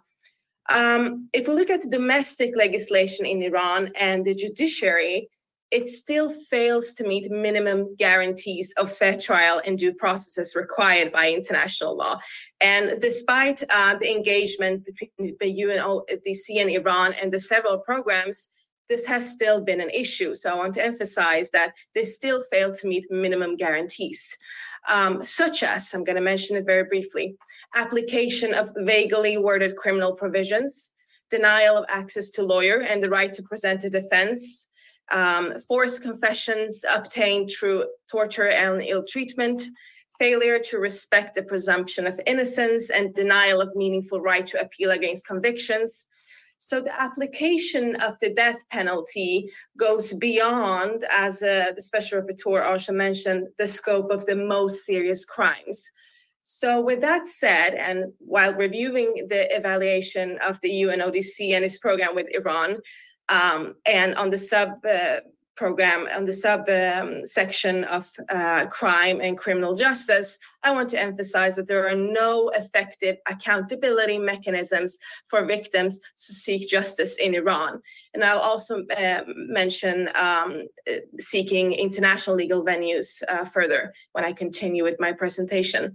If we look at the domestic legislation in Iran and the judiciary, it still fails to meet minimum guarantees of fair trial and due processes required by international law. And despite the engagement between the UNODC and Iran and the several programs, this has still been an issue. So I want to emphasize that they still fail to meet minimum guarantees, such as, I'm going to mention it very briefly, application of vaguely worded criminal provisions, denial of access to lawyer and the right to present a defense, forced confessions obtained through torture and ill treatment, failure to respect the presumption of innocence, and denial of meaningful right to appeal against convictions. So the application of the death penalty goes beyond, as the Special Rapporteur also mentioned, the scope of the most serious crimes. So with that said, and while reviewing the evaluation of the UNODC and its program with Iran, and on the section of crime and criminal justice, I want to emphasize that there are no effective accountability mechanisms for victims to seek justice in Iran. And I'll also mention seeking international legal venues further when I continue with my presentation.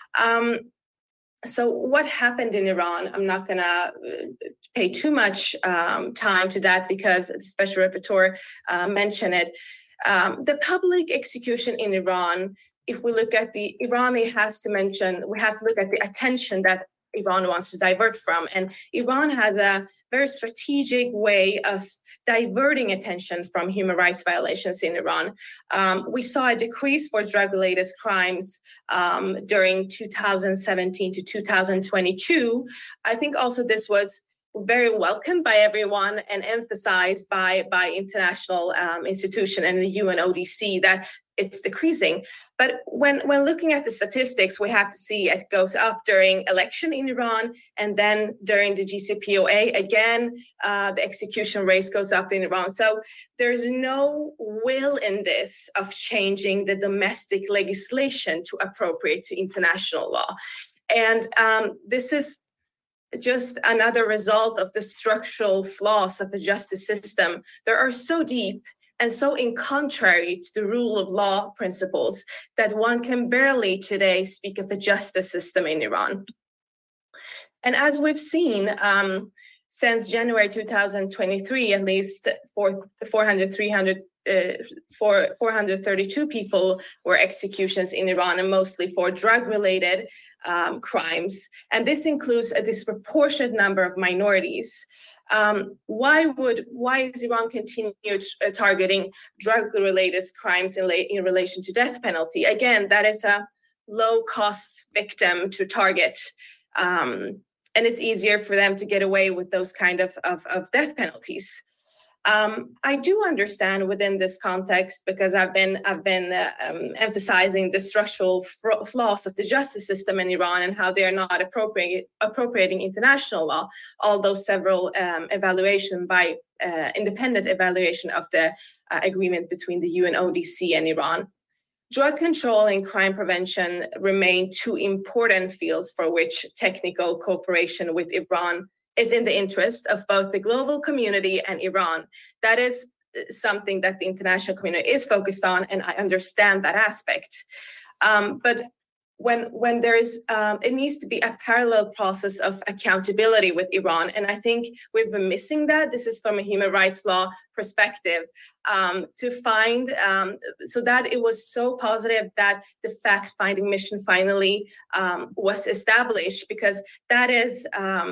So what happened in Iran? I'm not going to pay too much time to that because the Special Rapporteur mentioned it. The public execution in Iran, if we look at we have to look at the attention that Iran wants to divert from. And Iran has a very strategic way of diverting attention from human rights violations in Iran. We saw a decrease for drug-related crimes during 2017 to 2022. I think also this was very welcomed by everyone and emphasized by international institution and the UNODC that it's decreasing. But when looking at the statistics, we have to see it goes up during election in Iran, and then during the GCPOA, again, the execution rate goes up in Iran. So there's no will in this of changing the domestic legislation to appropriate to international law. And this is just another result of the structural flaws of the justice system that are so deep and so in contrary to the rule of law principles that one can barely today speak of a justice system in Iran. And as we've seen, since January 2023, at least 432 people were executions in Iran, and mostly for drug-related crimes. And this includes a disproportionate number of minorities. Why is Iran continue targeting drug-related crimes in relation to death penalty? Again, that is a low-cost victim to target. And it's easier for them to get away with those kind of death penalties. I do understand within this context, because I've been emphasizing the structural flaws of the justice system in Iran and how they are not appropriating international law, although several independent evaluation of the agreement between the UNODC and Iran. Drug control and crime prevention remain two important fields for which technical cooperation with Iran is in the interest of both the global community and Iran. That is something that the international community is focused on, and I understand that aspect. But when there is, it needs to be a parallel process of accountability with Iran, and I think we've been missing that. This is from a human rights law perspective, to find, so that it was so positive that the fact-finding mission finally was established, because that is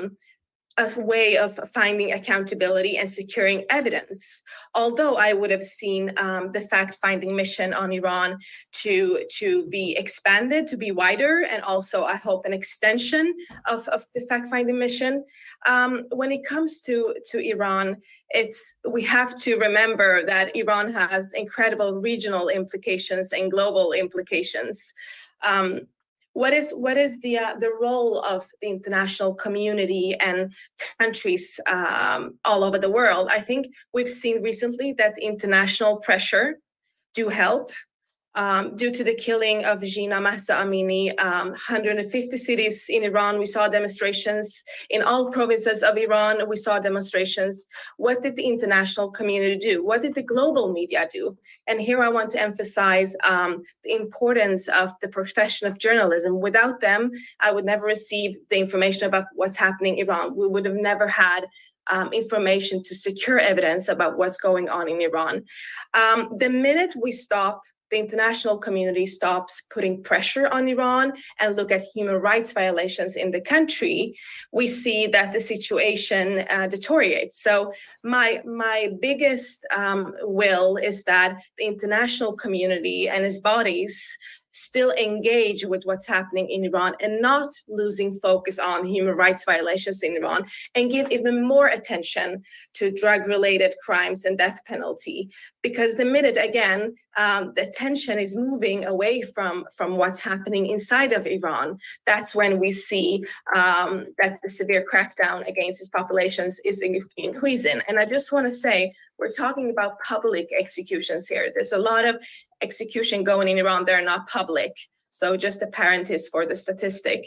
a way of finding accountability and securing evidence. Although I would have seen the fact-finding mission on Iran to be expanded, to be wider, and also I hope an extension of the fact-finding mission. When it comes to Iran, we have to remember that Iran has incredible regional implications and global implications. What is the role of the international community and countries all over the world? I think we've seen recently that international pressure do help. Due to the killing of Jina Mahsa Amini, 150 cities in Iran, we saw demonstrations. In all provinces of Iran, we saw demonstrations. What did the international community do? What did the global media do? And here I want to emphasize the importance of the profession of journalism. Without them, I would never receive the information about what's happening in Iran. We would have never had information to secure evidence about what's going on in Iran. The minute the international community stops putting pressure on Iran and look at human rights violations in the country, we see that the situation deteriorates. So my biggest will is that the international community and its bodies still engage with what's happening in Iran and not losing focus on human rights violations in Iran, and give even more attention to drug-related crimes and death penalty. Because the minute, again, the attention is moving away from what's happening inside of Iran, that's when we see that the severe crackdown against its populations is increasing. And I just want to say, we're talking about public executions here. There's a lot of execution going in Iran that are not public. So just a parenthesis for the statistic.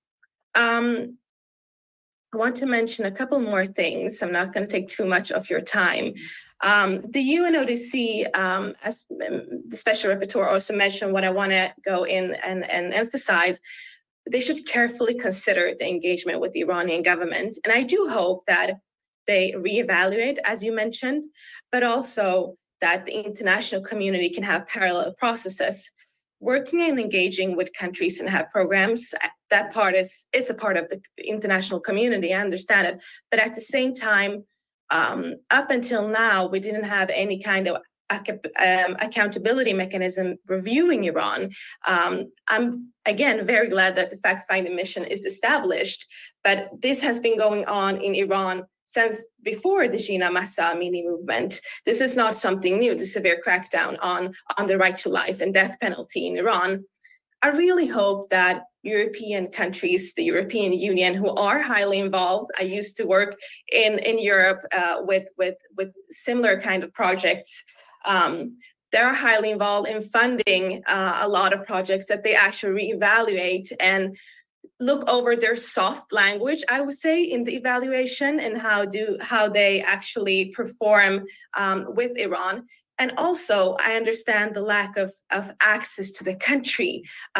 I want to mention a couple more things. I'm not going to take too much of your time. The UNODC, as the Special Rapporteur also mentioned, what I want to go in and emphasize, they should carefully consider the engagement with the Iranian government. And I do hope that they reevaluate, as you mentioned, but also that the international community can have parallel processes. Working and engaging with countries and have programs, that part is a part of the international community, I understand it. But at the same time, up until now, we didn't have any kind of accountability mechanism reviewing Iran. I'm, again, very glad that the fact-finding mission is established, but this has been going on in Iran since before the Jina Mahsa Amini movement. This is not something new, the severe crackdown on the right to life and death penalty in Iran. I really hope that European countries, the European Union, who are highly involved. I used to work in Europe with similar kind of projects. They're highly involved in funding a lot of projects, that they actually reevaluate and look over their soft language, I would say, in the evaluation, and how they actually perform with Iran. And also, I understand the lack of access to the country.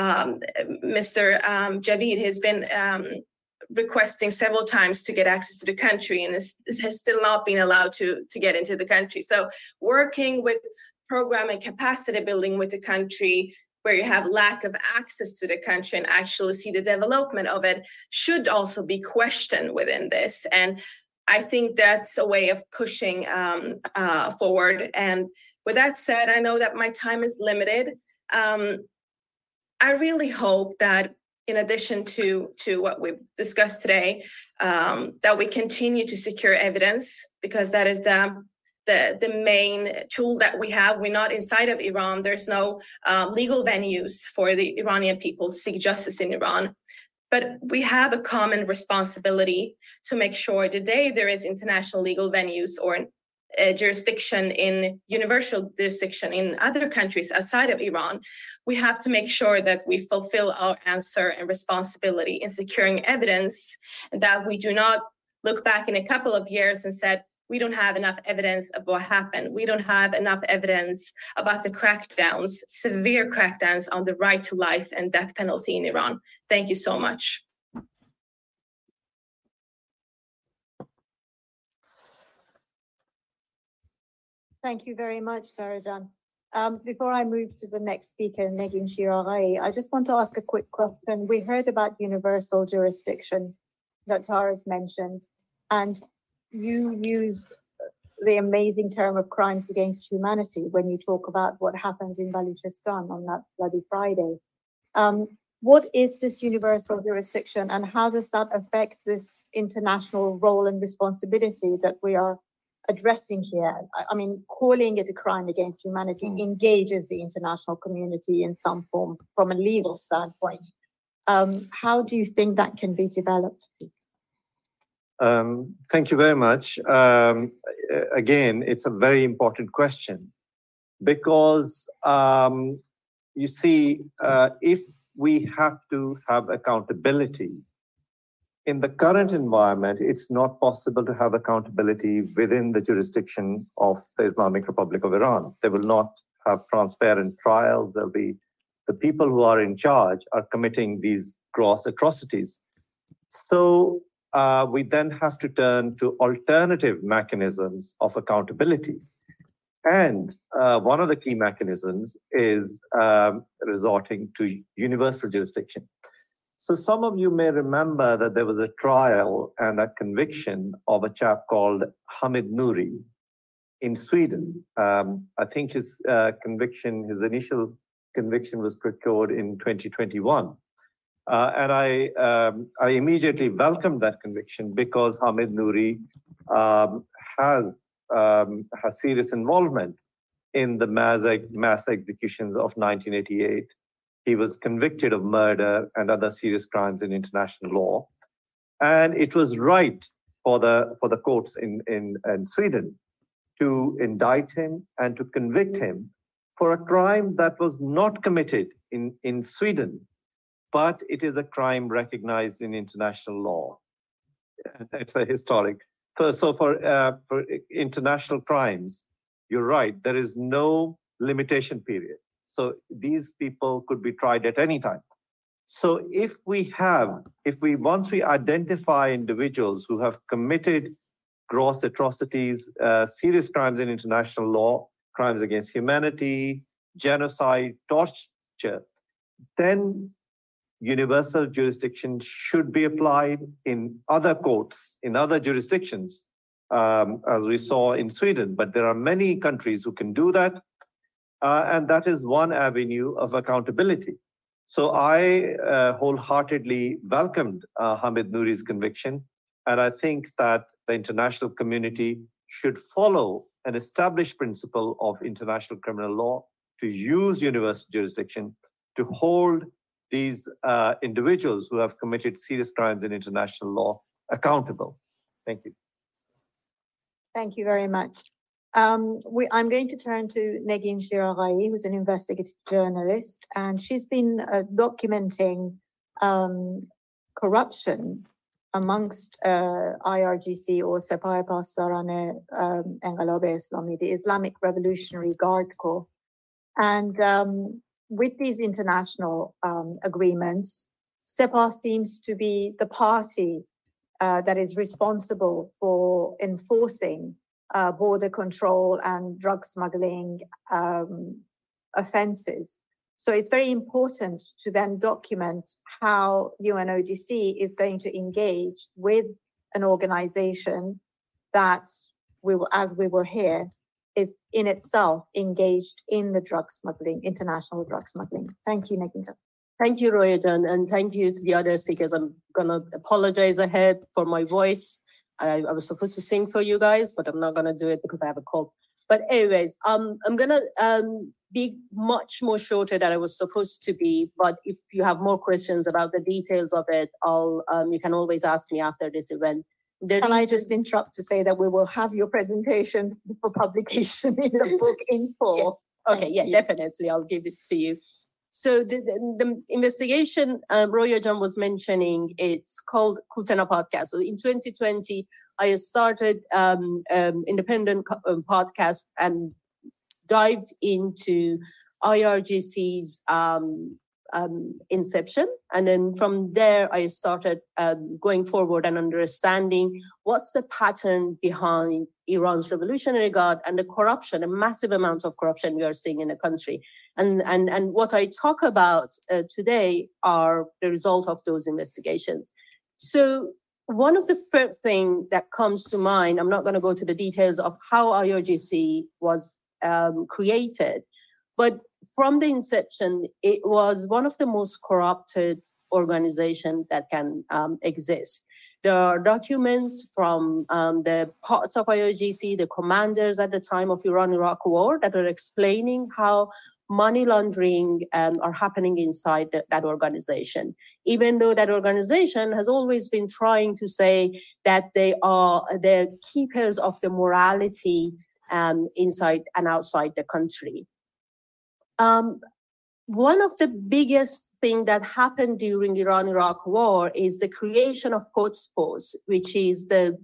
Mr. Javid has been requesting several times to get access to the country, and has still not been allowed to get into the country. So working with program and capacity building with the country, where you have lack of access to the country and actually see the development of it, should also be questioned within this. And I think that's a way of pushing forward. And with that said, I know that my time is limited. I really hope that, in addition to what we've discussed today, that we continue to secure evidence, because that is the main tool that we have. We're not inside of Iran. There's no legal venues for the Iranian people to seek justice in Iran. But we have a common responsibility to make sure the day there is international legal venues or jurisdiction in universal jurisdiction in other countries outside of Iran, we have to make sure that we fulfill our answer and responsibility in securing evidence, and that we do not look back in a couple of years and said, we don't have enough evidence of what happened. We don't have enough evidence about the crackdowns, severe crackdowns on the right to life and death penalty in Iran. Thank you so much. Thank you very much, Sarajan. Before I move to the next speaker, Negin Shiraghai, I just want to ask a quick question. We heard about universal jurisdiction that Tara's mentioned, and you used the amazing term of crimes against humanity when you talk about what happened in Baluchistan on that bloody Friday. What is this universal jurisdiction, and how does that affect this international role and responsibility that we are addressing here? I mean, calling it a crime against humanity engages the international community in some form from a legal standpoint. How do you think that can be developed, please? Thank you very much. Again, it's a very important question, because you see, if we have to have accountability, in the current environment, it's not possible to have accountability within the jurisdiction of the Islamic Republic of Iran. They will not have transparent trials. There'll be the people who are in charge are committing these gross atrocities. So we then have to turn to alternative mechanisms of accountability. And one of the key mechanisms is resorting to universal jurisdiction. So some of you may remember that there was a trial and a conviction of a chap called Hamid Nouri in Sweden. I think his conviction, his initial conviction was procured in 2021. And I immediately welcomed that conviction because Hamid Nouri has serious involvement in the mass executions of 1988. He was convicted of murder and other serious crimes in international law. And it was right for the courts in Sweden to indict him and to convict him for a crime that was not committed in Sweden, but it is a crime recognized in international law. It's a historic. So for international crimes, you're right, there is no limitation period. So these people could be tried at any time. So once we identify individuals who have committed gross atrocities, serious crimes in international law, crimes against humanity, genocide, torture, then universal jurisdiction should be applied in other courts, in other jurisdictions, as we saw in Sweden. But there are many countries who can do that. And that is one avenue of accountability. So I wholeheartedly welcomed Hamid Nouri's conviction. And I think that the international community should follow an established principle of international criminal law to use universal jurisdiction to hold these individuals who have committed serious crimes in international law accountable. Thank you. Thank you very much. I'm going to turn to Negin Shiraghai, who's an investigative journalist, and she's been documenting corruption amongst IRGC or Sepah Pasdaran Enqilab Islami, the Islamic Revolutionary Guard Corps. And with these international agreements, Sepah seems to be the party that is responsible for enforcing border control and drug smuggling offenses. So it's very important to then document how UNODC is going to engage with an organization that, as we will hear, is in itself engaged in the drug smuggling, international drug smuggling. Thank you, Negin. Thank you, Royajan, and thank you to the other speakers. I'm going to apologize ahead for my voice. I was supposed to sing for you guys, but I'm not going to do it because I have a cold. But anyways, I'm going to be much more shorter than I was supposed to be. But if you have more questions about the details of it, you can always ask me after this event. Can I just interrupt to say that we will have your presentation for publication in the book in full? Yeah. Okay, definitely. I'll give it to you. So the investigation Royajan was mentioning, it's called Kutena Podcast. So in 2020, I started independent podcast and dived into IRGC's inception. And then from there, I started going forward and understanding what's the pattern behind Iran's Revolutionary Guard and the corruption, a massive amount of corruption we are seeing in the country. And what I talk about today are the result of those investigations. So one of the first things that comes to mind, I'm not going to go to the details of how IRGC was created, but from the inception, it was one of the most corrupted organizations that can exist. There are documents from the parts of IRGC, the commanders at the time of Iran-Iraq war, that are explaining how money laundering are happening inside that organization, even though that organization has always been trying to say that they are the keepers of the morality inside and outside the country. One of the biggest things that happened during Iran-Iraq war is the creation of Quds Force, which is the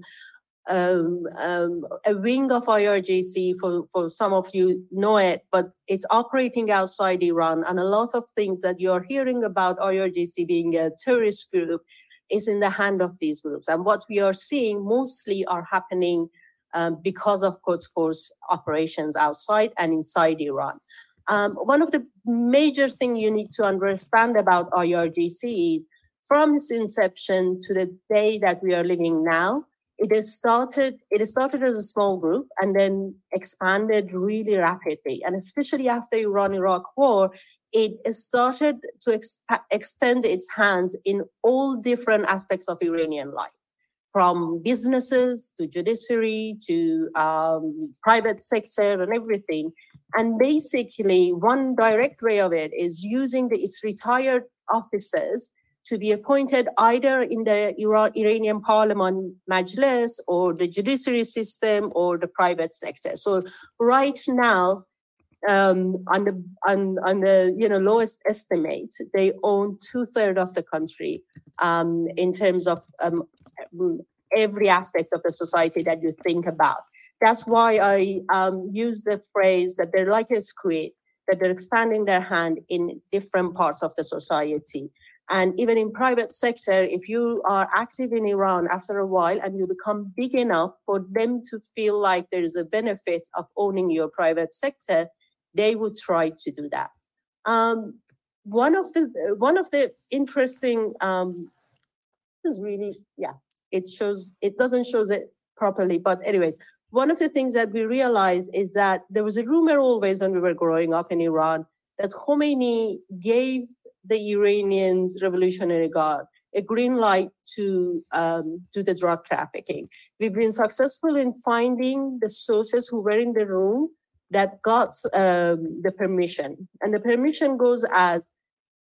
a wing of IRGC, for some of you know it, but it's operating outside Iran. And a lot of things that you're hearing about IRGC being a terrorist group is in the hand of these groups. And what we are seeing mostly are happening because of Quds Force operations outside and inside Iran. One of the major things you need to understand about IRGC is from its inception to the day that we are living now, It started as a small group and then expanded really rapidly. And especially after Iran-Iraq war, it started to extend its hands in all different aspects of Iranian life, from businesses to judiciary to private sector and everything. And basically, one direct way of it is using its retired officers to be appointed either in the Iranian parliament majlis or the judiciary system or the private sector. So right now, on the lowest estimate, they own 2/3 of the country in terms of every aspect of the society that you think about. That's why I use the phrase that they're like a squid, that they're expanding their hand in different parts of the society. And even in private sector, if you are active in Iran after a while and you become big enough for them to feel like there is a benefit of owning your private sector, they would try to do that. One of the interesting is really, it doesn't show it properly, but anyways, one of the things that we realized is that there was a rumor always when we were growing up in Iran that Khomeini gave the Iranians Revolutionary Guard a green light to do the drug trafficking. We've been successful in finding the sources who were in the room that got the permission. And the permission goes as,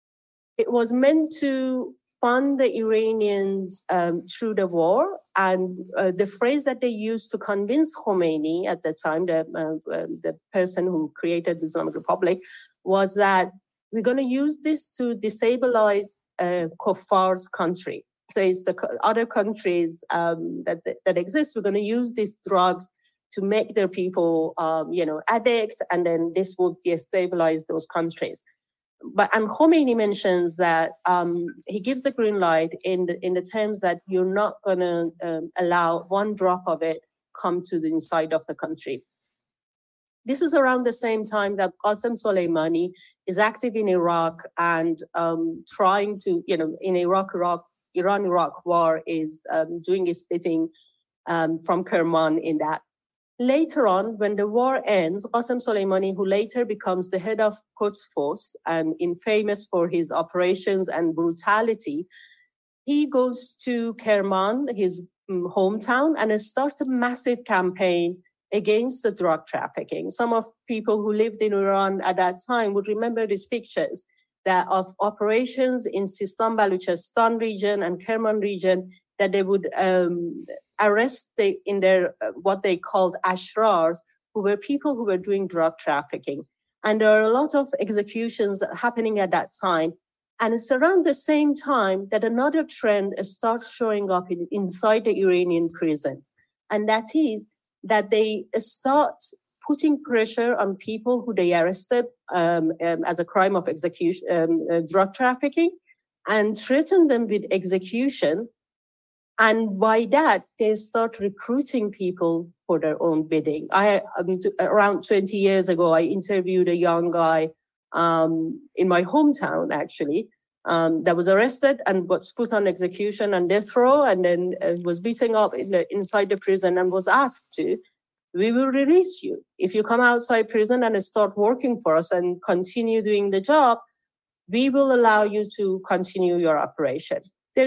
it was meant to fund the Iranians through the war. And the phrase that they used to convince Khomeini at the time, the person who created the Islamic Republic, was that we're going to use this to destabilize Kuffar's country. So it's the other countries that exist. We're going to use these drugs to make their people, addicts, and then this will destabilize those countries. And Khomeini mentions that he gives the green light in the terms that you're not going to allow one drop of it come to the inside of the country. This is around the same time that Qasem Soleimani is active in Iraq and trying to, in Iran-Iraq war is doing his splitting from Kerman in that. Later on, when the war ends, Qasem Soleimani, who later becomes the head of Quds Force and famous for his operations and brutality, he goes to Kerman, his hometown, and starts a massive campaign against the drug trafficking. Some of people who lived in Iran at that time would remember these pictures of operations in Sistan, Baluchistan region and Kerman region, that they would arrest in their what they called ashrars, who were people who were doing drug trafficking. And there are a lot of executions happening at that time. And it's around the same time that another trend starts showing up inside the Iranian prisons. And that is that they start putting pressure on people who they arrested as a crime of execution, drug trafficking, and threaten them with execution. And by that, they start recruiting people for their own bidding. Around 20 years ago, I interviewed a young guy in my hometown, actually, that was arrested and was put on execution and death row, and then was beaten up inside the prison and was asked we will release you. If you come outside prison and start working for us and continue doing the job, we will allow you to continue your operation.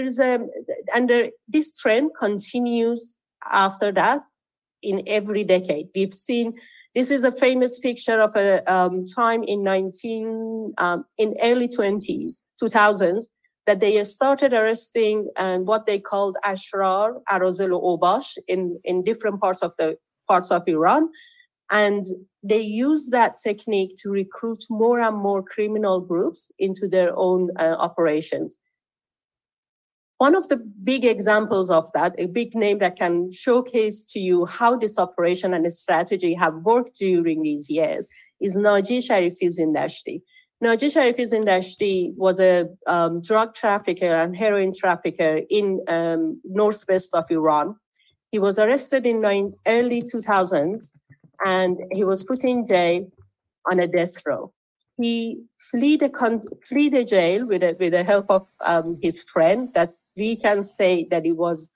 This trend continues after that in every decade. We've seen, this is a famous picture of a time in early 2000s, that they started arresting what they called ashrar, arozel obash in different parts of Iran. And they use that technique to recruit more and more criminal groups into their own operations. One of the big examples of that, a big name that can showcase to you how this operation and this strategy have worked during these years, is Naji Sharifi Zindashti. Naji Sharifi Zindashti was a drug trafficker and heroin trafficker in northwest of Iran. He was arrested in early 2000s, and he was put in jail on a death row. He fled the jail with the help of his friend, that we can say that he was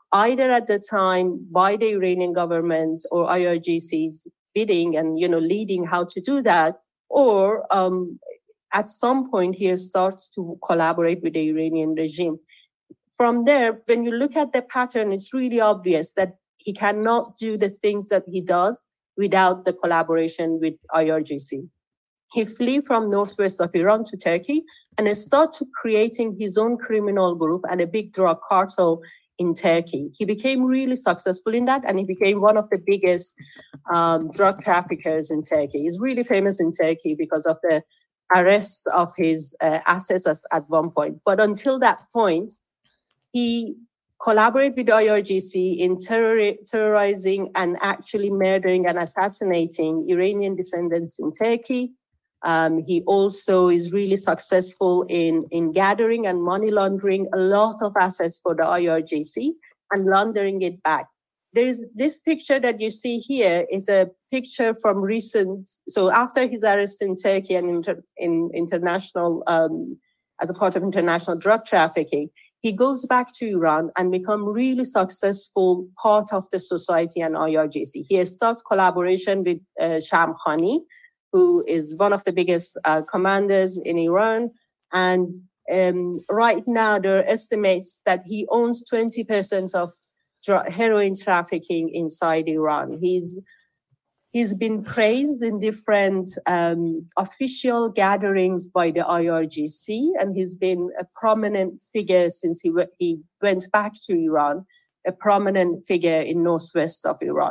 either at the time by the Iranian governments or IRGC's bidding and, leading how to do that, or at some point he starts to collaborate with the Iranian regime. From there, when you look at the pattern, it's really obvious that he cannot do the things that he does without the collaboration with IRGC. He flee from northwest of Iran to Turkey and started creating his own criminal group and a big drug cartel in Turkey. He became really successful in that, and he became one of the biggest drug traffickers in Turkey. He's really famous in Turkey because of the arrest of his assets at one point. But until that point, he collaborated with IRGC in terrorizing and actually murdering and assassinating Iranian descendants in Turkey. He also is really successful in gathering and money laundering a lot of assets for the IRGC and laundering it back. There is this picture that you see here is a picture from recent. So after his arrest in Turkey and in international, as a part of international drug trafficking, he goes back to Iran and become really successful part of the society and IRGC. He starts collaboration with Shamkhani, who is one of the biggest commanders in Iran. And right now, there are estimates that he owns 20% of heroin trafficking inside Iran. He's been praised in different official gatherings by the IRGC, and he's been a prominent figure since he went back to Iran, a prominent figure in northwest of Iran.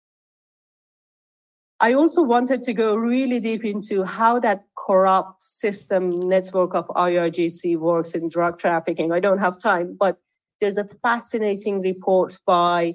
I also wanted to go really deep into how that corrupt system network of IRGC works in drug trafficking. I don't have time, but there's a fascinating report by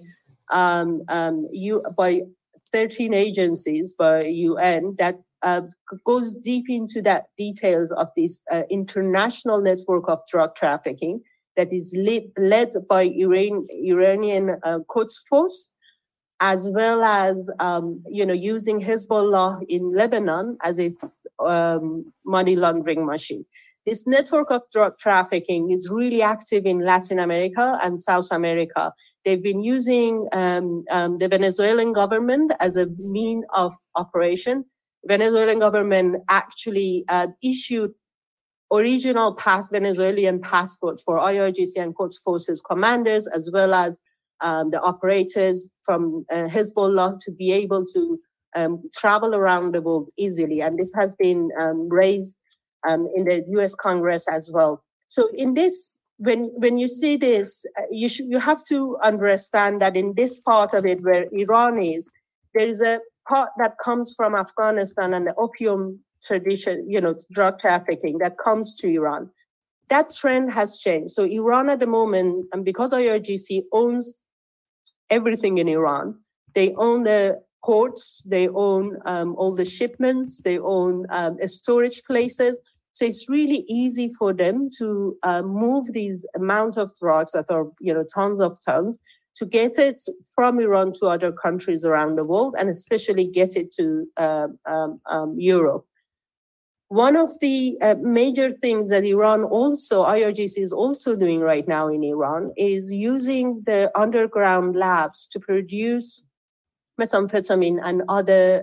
13 agencies by UN that goes deep into that details of this international network of drug trafficking that is led by Iranian Quds Force, as well as using Hezbollah in Lebanon as its money laundering machine. This network of drug trafficking is really active in Latin America and South America. They've been using the Venezuelan government as a mean of operation. Venezuelan government actually issued original Venezuelan passport for IRGC and Quds Forces commanders, as well as the operators from Hezbollah to be able to travel around the world easily. And this has been raised in the US Congress as well. So in this, when you see this, you have to understand that in this part of it where Iran is, there is a part that comes from Afghanistan and the opium tradition, drug trafficking that comes to Iran. That trend has changed. So Iran at the moment, and because IRGC owns everything in Iran, they own the ports, they own all the shipments, they own storage places. So it's really easy for them to move these amount of drugs that are, tons of tons, to get it from Iran to other countries around the world, and especially get it to Europe. One of the major things that IRGC is also doing right now in Iran is using the underground labs to produce methamphetamine and other,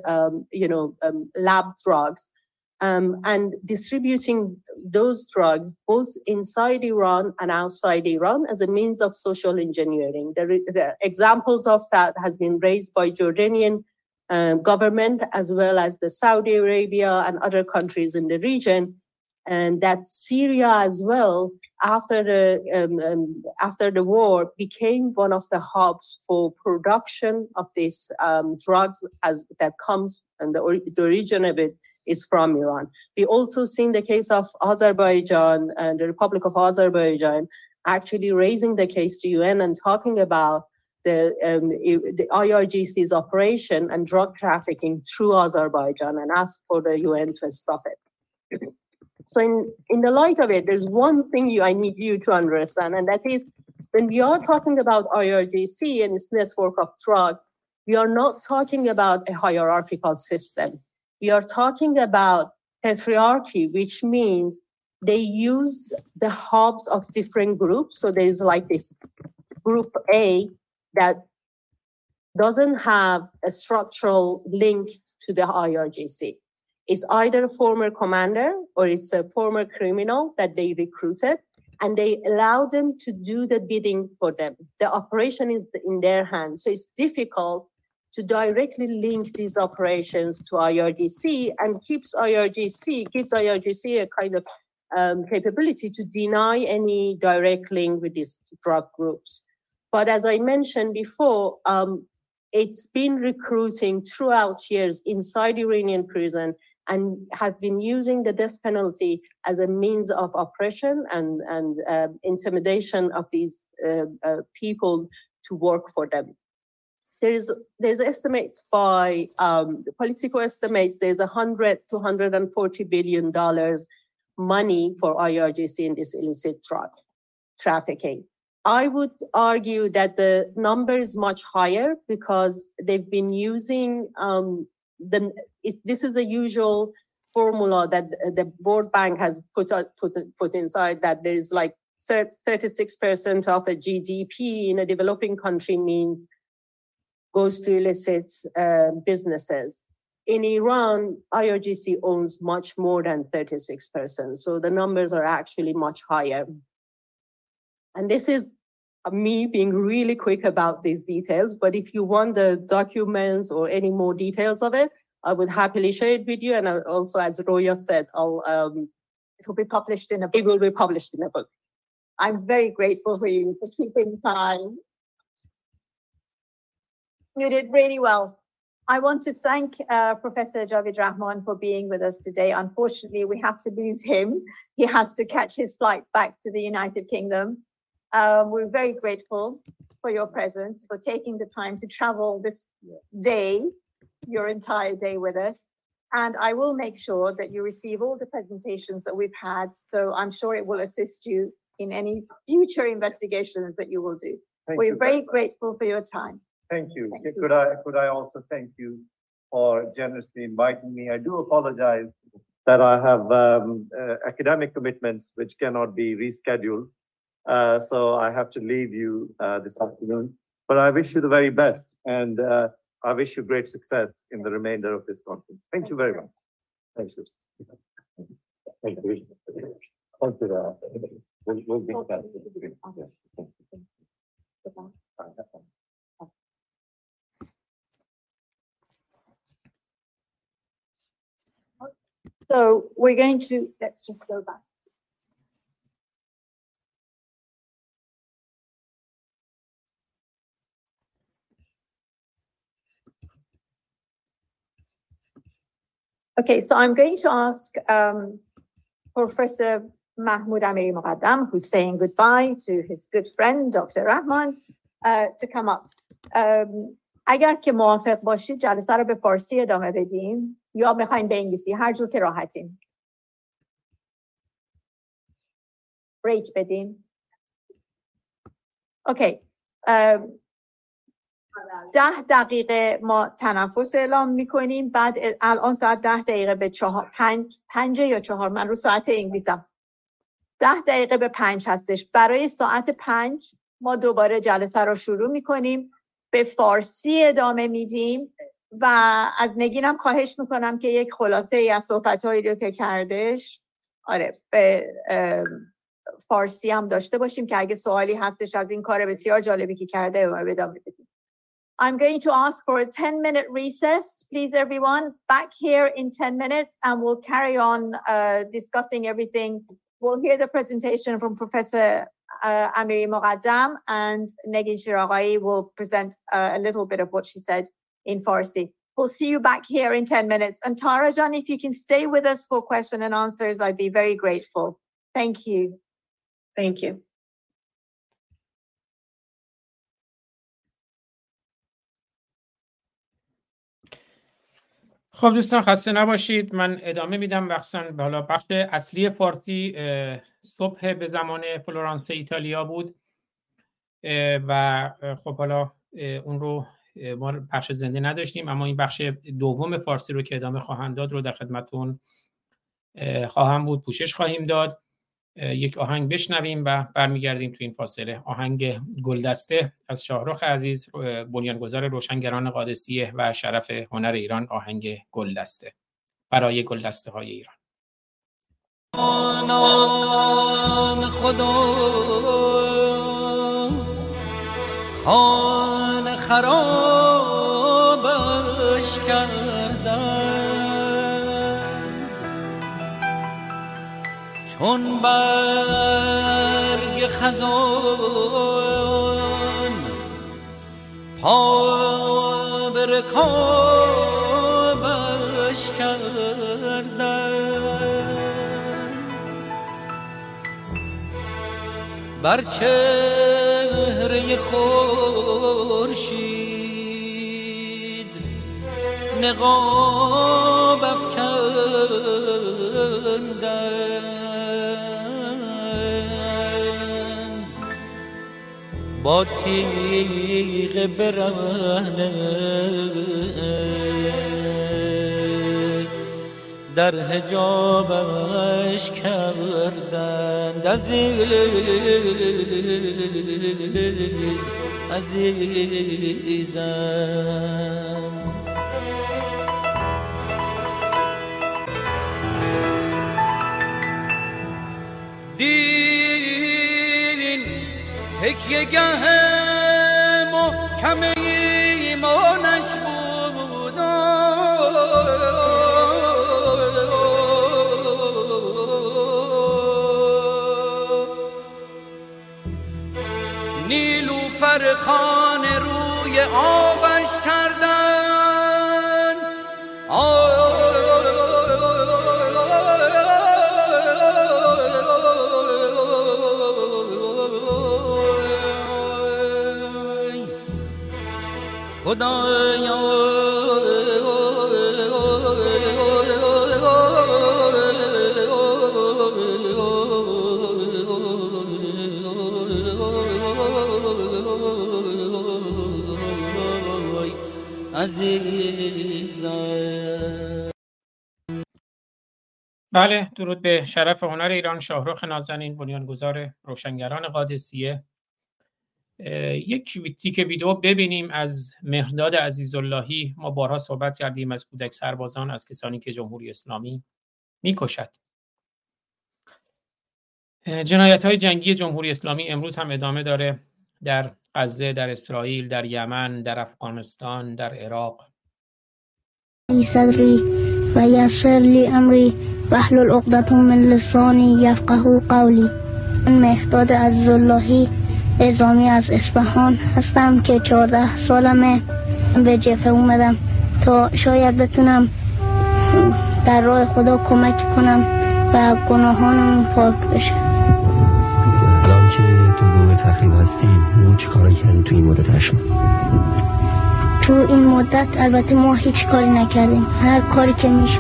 lab drugs, and distributing those drugs both inside Iran and outside Iran as a means of social engineering. The examples of that has been raised by Jordanian government, as well as the Saudi Arabia and other countries in the region, and that Syria as well, after the war, became one of the hubs for production of these drugs that comes, and the origin of it is from Iran. We also seen the case of Azerbaijan and the Republic of Azerbaijan actually raising the case to UN and talking about the IRGC's operation and drug trafficking through Azerbaijan, and ask for the UN to stop it. So in the light of it, there's one thing I need you to understand, and that is when we are talking about IRGC and its network of drug, we are not talking about a hierarchical system. We are talking about patriarchy, which means they use the hubs of different groups. So there's like this group A that doesn't have a structural link to the IRGC. It's either a former commander or it's a former criminal that they recruited, and they allow them to do the bidding for them. The operation is in their hands. So it's difficult to directly link these operations to IRGC, and gives IRGC a kind of capability to deny any direct link with these drug groups. But as I mentioned before, it's been recruiting throughout years inside Iranian prison and have been using the death penalty as a means of oppression and intimidation of these people to work for them. There's estimates by Politico estimates there's $100 to $140 billion money for IRGC in this illicit drug trafficking. I would argue that the number is much higher because they've been using this is a usual formula that the World Bank has put inside, that there's like 36% of a GDP in a developing country goes to illicit businesses. In Iran, IRGC owns much more than 36%. So the numbers are actually much higher. And this is me being really quick about these details, but if you want the documents or any more details of it, I would happily share it with you. And also, as Roya said, it will be published in a book. It will be published in a book. I'm very grateful for you for keeping time. You did really well. I want to thank Professor Javid Rahman for being with us today. Unfortunately, we have to lose him. He has to catch his flight back to the United Kingdom. We're very grateful for your presence, for taking the time to travel this day, your entire day with us. And I will make sure that you receive all the presentations that we've had. So I'm sure it will assist you in any future investigations that you will do. We're very grateful for your time. Thank you. Could I also thank you for generously inviting me? I do apologize that I have academic commitments which cannot be rescheduled. So I have to leave you this afternoon. But I wish you the very best, and I wish you great success in the remainder of this conference. Thank you very much. Thank you. Thank you. We'll be back. So we're going to, let's just go back. Okay, so I'm going to ask Professor Mahmoud Amiri Moqaddam, who's saying goodbye to his good friend, Dr. Rahman, to come up. اگر که موافق باشید جلسه رو به فارسی ادامه بدیم یا میخواین به انگلیسی، هر جور که راحتیم. بریک بدیم. اوکی. 10 دقیقه ما تنفس اعلام میکنیم. بعد الان ساعت 10 دقیقه به 5 یا 4، من رو ساعت انگلیسم، 10 دقیقه به 5 هستش. برای ساعت 5 ما دوباره جلسه رو شروع میکنیم، به فارسی ادامه میدیم و از نگینم خواهش میکنم که یک خلاصه ای از صحبت‌هایی رو که کردش به فارسی هم داشته باشیم که اگه سوالی هستش از این کار بسیار جالبی که کرده ادامه بدیم. I'm going to ask for a 10-minute recess, please everyone, back here in 10 minutes, and we'll carry on discussing everything. We'll hear the presentation from Professor Amiri Moqaddam, and Negin Shiraghai will present a little bit of what she said in Farsi. We'll see you back here in 10 minutes. And Tarajan, if you can stay with us for question and answers, I'd be very grateful. Thank you. Thank you. خب دوستان خسته نباشید. من ادامه میدم حالا بخش اصلی فارسی صبح به زمان فلورانس ایتالیا بود و خب حالا اون رو ما بخش زنده نداشتیم، اما این بخش دوم فارسی رو که ادامه خواهم داد رو در خدمتتون خواهم بود، پوشش خواهیم داد. یک آهنگ بشنویم و برمیگردیم تو این فاصله. آهنگ گلدسته از شاهرخ عزیز، بنیانگذار روشنگران قادسیه و شرف هنر ایران. آهنگ گلدسته برای گلدسته های ایران. نام خدا خانه خرابش کردند، چون برگ خزان پا به رکابش کردند، بر چهره خورشید نقاب افکندند، با تیغ برهنه در حجابش کردند. عزیزم دین تکیه گه محکم ایمانش بود، نیلوفر خانه روی آبش کردن، خدایا عزیزم. بله، درود به شرف هنر ایران. شاهرخ نازنین، بنیانگذار روشنگران قادسیه. یک تیکه ویدیو ببینیم از مهرداد عزیزاللهی. ما بارها صحبت کردیم از کودک سربازان، از کسانی که جمهوری اسلامی میکشد. جنایت‌های جنگی جمهوری اسلامی امروز هم ادامه داره، در غزه، در اسرائیل، در یمن، در افغانستان، در عراق. صدری و یسر لی امری واحلل عقدة من لسانی یفقهوا قولی. من مهرداد عزیزاللهی نظامی از اصفهان هستم که 14 سالمه به جبهه اومدم تا شاید بتونم در راه خدا کمک کنم و گناهانمون پاک بشه. الان که تو گروه تخریب هستی چه کاری کردین تو این مدت هشم؟ تو این مدت البته ما هیچ کاری نکردیم. هر کاری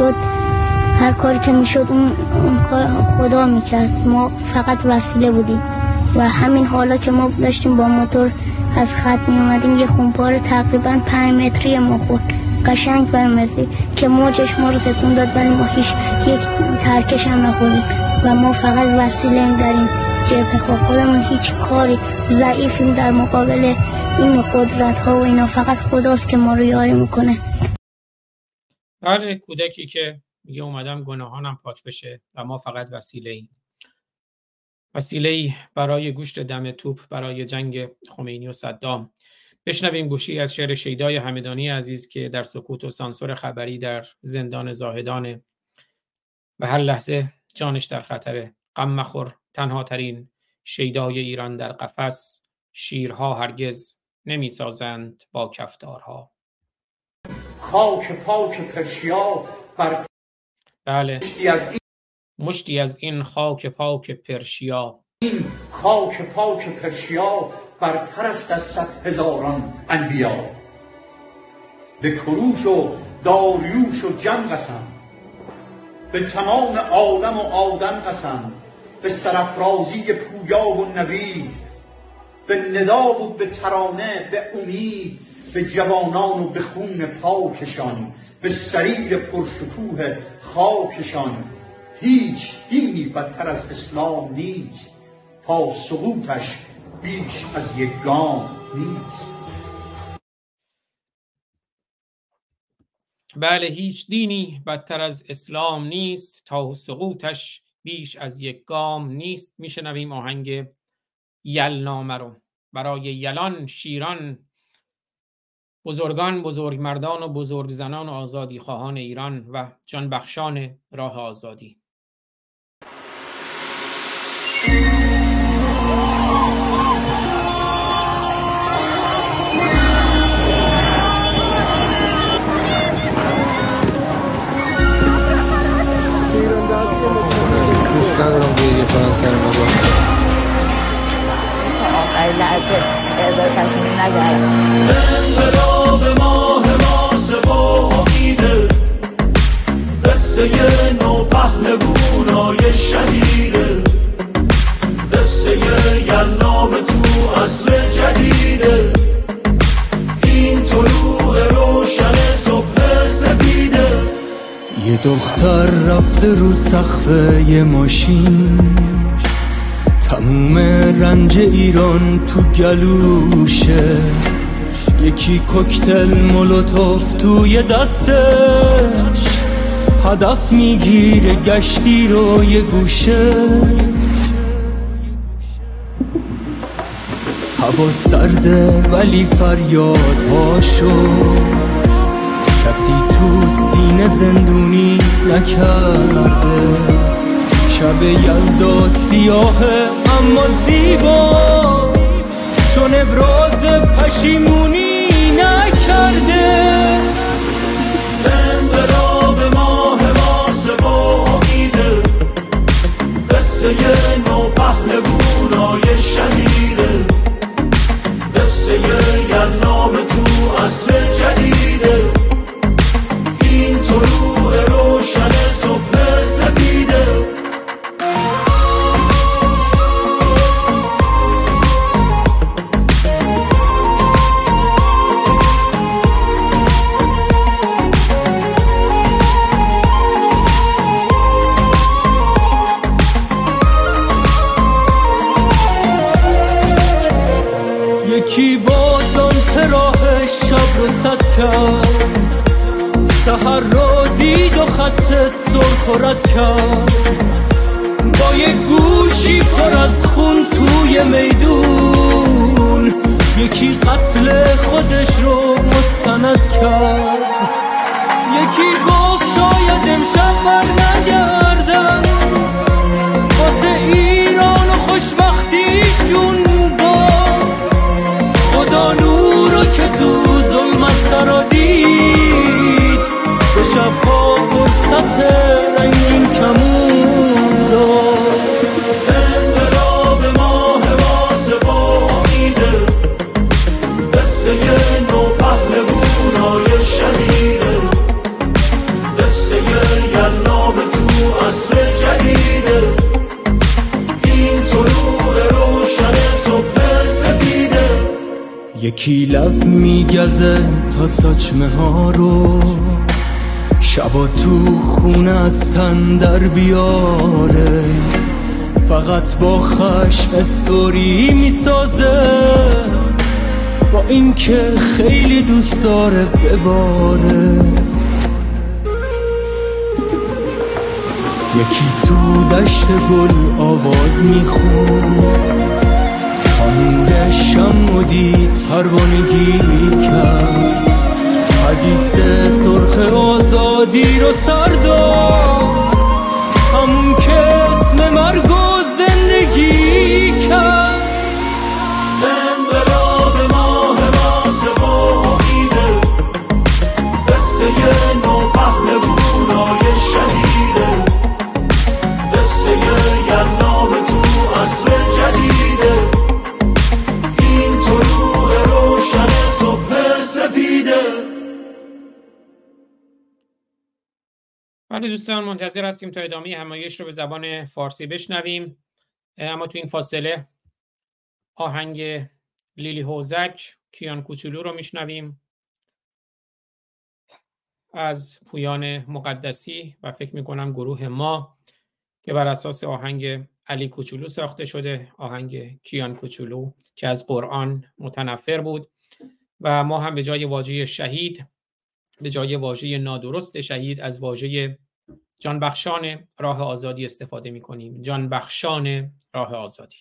که میشد اون خدا میکرد. ما فقط وسیله بودیم و همین حالا که ما داشتیم با موتور از خط می اومدیم یه خونپاره تقریبا 5 متری ما خورد، قشنگ برمزی که موجش ما رو تکون داد، ولی ما هیچ یک ترکش هم نخوردیم و ما فقط وسیله در این جبهه. خودمون هیچ کاری ضعیفیم در مقابل این قدرت ها و اینا. فقط خداست که ما رو یاری میکنه. بله، کودکی که میگه اومدم گناهانم پاک بشه و ما فقط وسیله‌ای برای گوشت دم توپ برای جنگ خمینی و صدام. بشنویم گوشی از شعر شیدای همدانی عزیز که در سکوت و سانسور خبری در زندان زاهدانه و هر لحظه جانش در خطره. غم مخور، تنها ترین شیدای ایران در قفس، شیرها هرگز نمی سازند با کفتارها. خاک پاک پرشیا بر بله، مشتی از این خاک پاک پرشیا. این خاک پاک پرشیا برتر است از 100,000 انبیا. به کروش و داریوش و جم قسم، به تمام عالم و آدم قسم، به سرافرازی پویا و نوید، به ندا و به ترانه، به امید، به جوانان و به خون پاکشان، به سریر پرشکوه خاکشان. هیچ دینی بدتر از اسلام نیست، تا سقوطش بیش از یک گام نیست. بله، هیچ دینی بدتر از اسلام نیست، تا سقوطش بیش از یک گام نیست. میشنویم آهنگ یلنامه رو برای یلان، شیران، بزرگان، بزرگمردان و بزرگزنان و آزادی خواهان ایران و جانبخشان راه آزادی. دوست ندارم گریه کنن سر مزار. آخرین لحظه اعزای تصمیم نگردم. انقلاب ماه ماسه و امیده، قصه نو پهلوونای شهیده، قصه یلنام تو عصر جدیده، این طلوع روشن صبح سپیده. یه دختر رفته رو سقف یه ماشین، تموم رنج ایران تو گلوشه، یکی کوکتل مولوتوف توی دستش، هدف میگیره گشتی رو یه گوشه. هوا سرده ولی فریادهاشو کسی تو سینه زندونی نکرده. شب یلدا سیاهه اما زیباست، چون ابراز پشیمونی نکرده. انقلاب ماه ماسه و امیده، قصه نو پهلوونای شهیده، قصه یلنام تو عصر جدیده، این طلوع روشن صبح سپیده. یکی بازان راه شب رو سد کرد، سحر رو دید و خط سرخ و رد کرد، با یه گوشی پر از خون توی میدون، یکی قتل خودش رو مستند کرد. یکی گفت شاید امشب بر نگردم، واسه ایران و خوشبختیش جون داد. خدا نورو که تو ظلمت سرا دید، به شبها فرصت رنگین کمون داد. انقلاب ماه ماسه و امیده، قصه نو پهلوونای شهیده، قصه یلنام تو عصر جدیده، این طلوع روشن صبح سپیده. یکی لب میگزه تا ساچمه ها رو، شبا تو خونه از تن در بیاره، فقط با خشم استوری میسازه، با این که خیلی دوست داره بباره. یکی تو دشت گل آواز میخون، خانوده شم و دید پروانگی کرد، حدیث سرخ آزادی رو سر داد، همون که اسم مرگ و زندگی کرد. انقلاب ماه ماسه و امیده، قصه نو پهلوونای شهیده، قصه یلنام تو عصر جدیده، این طلوع روشن صبح سپیده. بله دوستان، منتظر هستیم تا ادامه همایش رو به زبان فارسی بشنویم، اما تو این فاصله آهنگ لیلی هوزک کیان کوچولو رو میشنویم از پویان مقدسی و فکر میکنم گروه ما. که بر اساس آهنگ علی کوچولو ساخته شده، آهنگ کیان کوچولو که از قرآن متنفر بود و ما هم به جای واژه شهید، به جای واژه نادرست شهید، از واژه جانبخشان راه آزادی استفاده می‌کنیم. جانبخشان راه آزادی.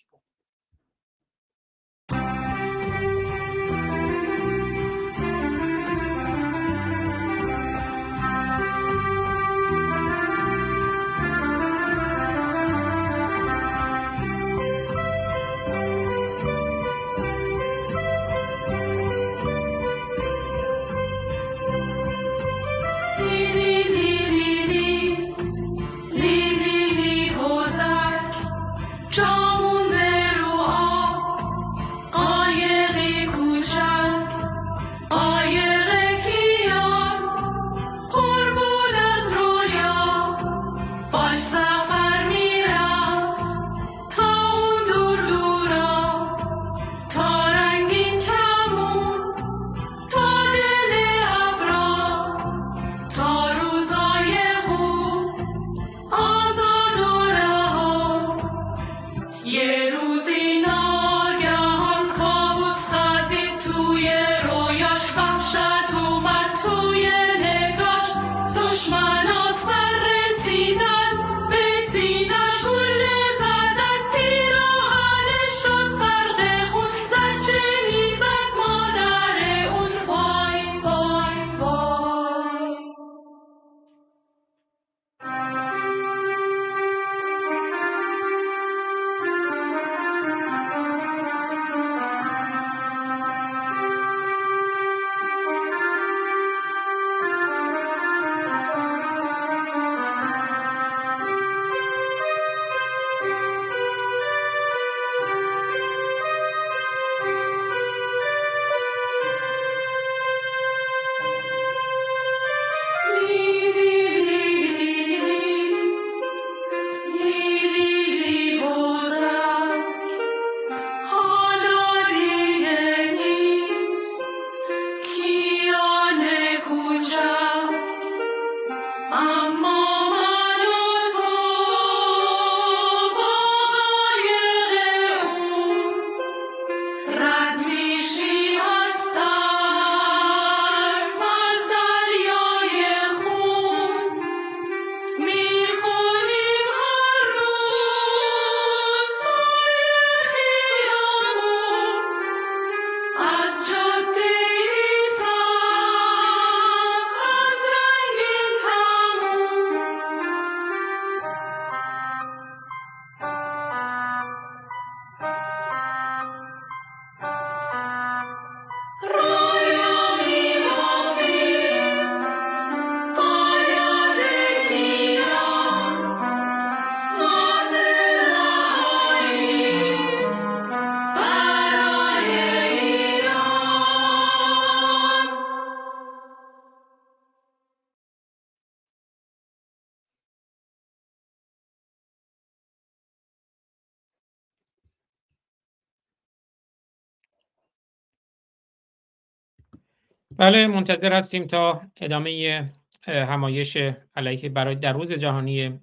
بله، منتظر هستیم تا ادامه همایش علیه برای در روز جهانی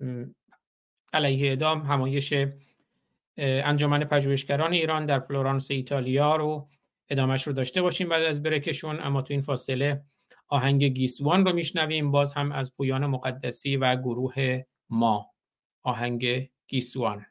علیه اعدام، همایش انجمن پژوهشگران ایران در فلورانس ایتالیا رو ادامهش رو داشته باشیم بعد از بریکشون. اما تو این فاصله آهنگ گیسوان رو میشنویم، باز هم از پویان مقدسی و گروه ما. آهنگ گیسوان.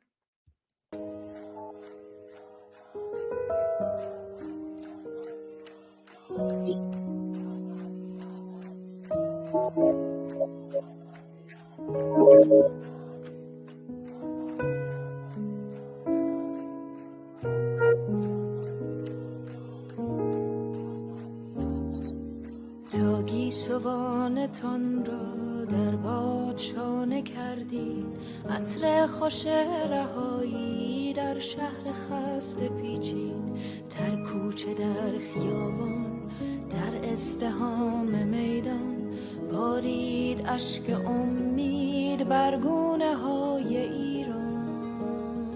تا گیسوانتان را در باد شانه کردیم، عطر خوش رهایی در شهر خسته پیچید، در کوچه در خیابان در ازدحام میدان بارید اشک امید بر گونه های ایران.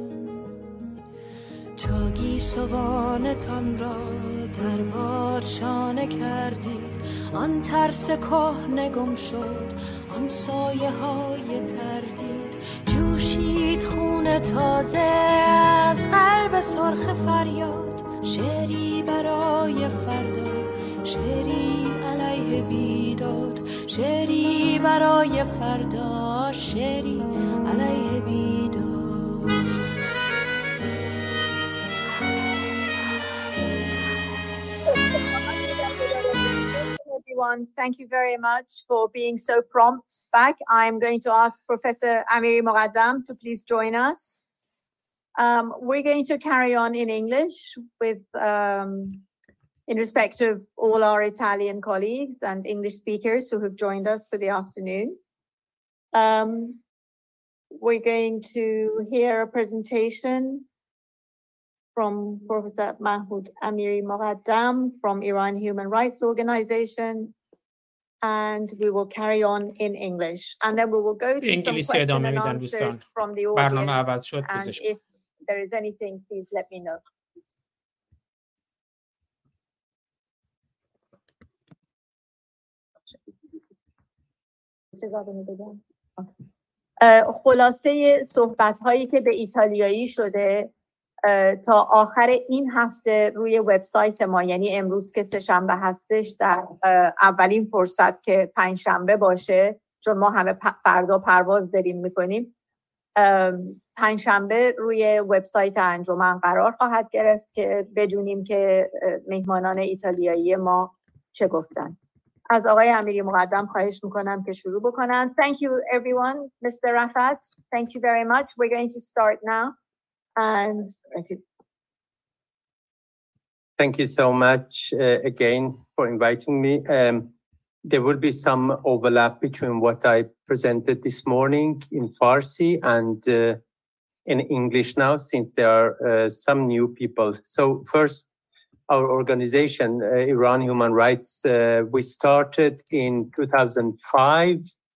تا گیسوانتان را در باد شانه کردید، آن ترس کهنه گم شد، آن سایه های تردید جوشید خون تازه از قلب سرخ فریاد، شعری برای فردا، شعری علیه بیداد، شعری برای فردا، شعری علیه بیداد. Everyone, thank you very much for being so prompt back. I'm going to ask Professor Amiri Moghaddam to please join us. We're going to carry on in English with, in respect of all our Italian colleagues and English speakers who have joined us for the afternoon. We're going to hear a presentation from Professor Mahmoud Amiri Moghaddam from Iran Human Rights Organization, and we will carry on in English. And then we will go to some questions and answers from the audience. And if there is anything, please let me know. خلاصه صحبت‌هایی که به ایتالیایی شده تا آخر این هفته روی وبسایت ما، یعنی امروز که سه‌شنبه هستش، در اولین فرصت که پنجشنبه باشه، چون ما همه فردا پرواز داریم میکنیم، پنجشنبه روی وبسایت انجمن قرار خواهد گرفت که بدونیم که مهمانان ایتالیایی ما چه گفتن. از آقای امیری مقدم خواهش میکنم که شروع بکنن. Thank you everyone. Mr. Rafat, thank you very much. We're going to start now. And thank you so much again for inviting me. There will be some overlap between what I presented this morning in Farsi and in English now, since there are some new people. So first, our organization, Iran Human Rights, we started in 2005.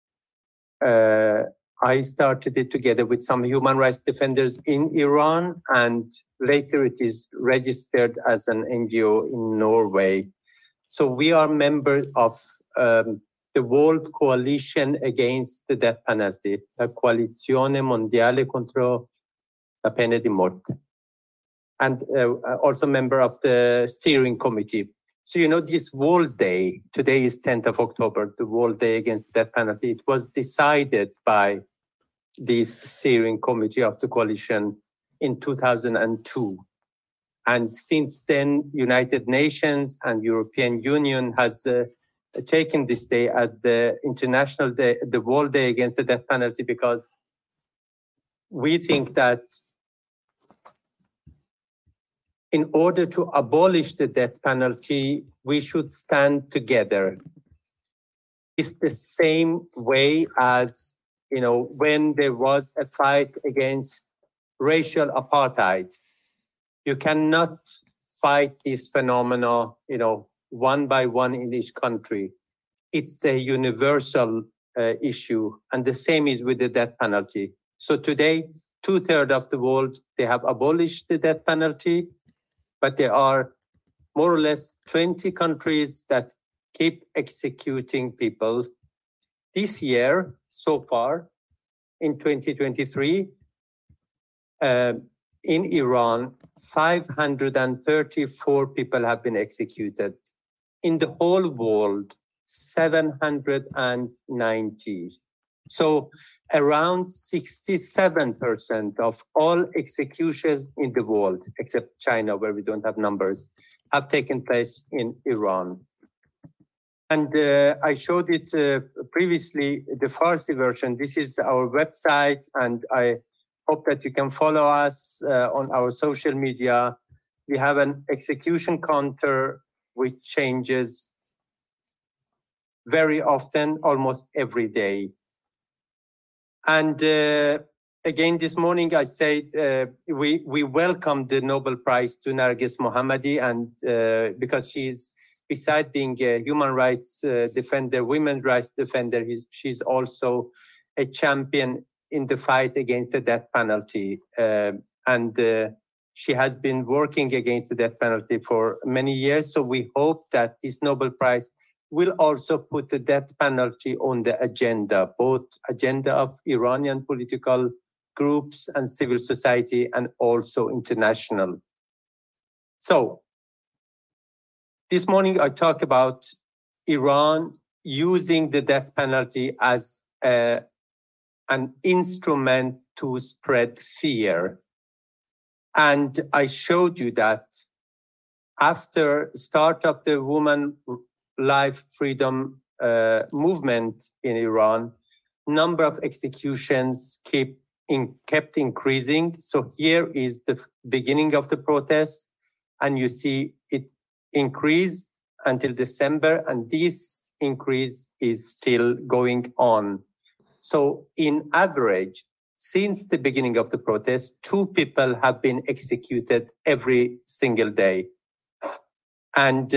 I started it together with some human rights defenders in Iran, and later it is registered as an NGO in Norway. So we are members of the World Coalition Against the Death Penalty, la Coalizione Mondiale contro la Pena di Morte, and also member of the steering committee. So, you know, this World Day, today is 10th of October, the World Day Against the Death Penalty, it was decided by this steering committee of the coalition in 2002. And since then, United Nations and European Union has taken this day as the International Day, the World Day Against the Death Penalty, because we think that in order to abolish the death penalty, we should stand together. It's the same way as, you know, when there was a fight against racial apartheid. You cannot fight this phenomena, you know, one by one in each country. It's a universal issue, and the same is with the death penalty. So today, 2/3 of the world, they have abolished the death penalty, but there are more or less 20 countries that keep executing people. This year, so far, in 2023, in Iran, 534 people have been executed. In the whole world, 790. So around 67% of all executions in the world, except China, where we don't have numbers, have taken place in Iran. And I showed it previously, the Farsi version. This is our website, and I hope that you can follow us on our social media. We have an execution counter which changes very often, almost every day. And again, this morning I said we welcomed the Nobel Prize to Narges Mohammadi, and because she's, besides being a human rights defender, women's rights defender, she's also a champion in the fight against the death penalty. And she has been working against the death penalty for many years. So we hope that this Nobel Prize will also put the death penalty on the agenda, both agenda of Iranian political groups and civil society, and also international. So, this morning I talk about Iran using the death penalty as an instrument to spread fear. And I showed you that after start of the woman life freedom movement in Iran, number of executions kept increasing. So here is the beginning of the protest, and you see it increased until December, and this increase is still going on. So in average, since the beginning of the protest, 2 people have been executed every single day. And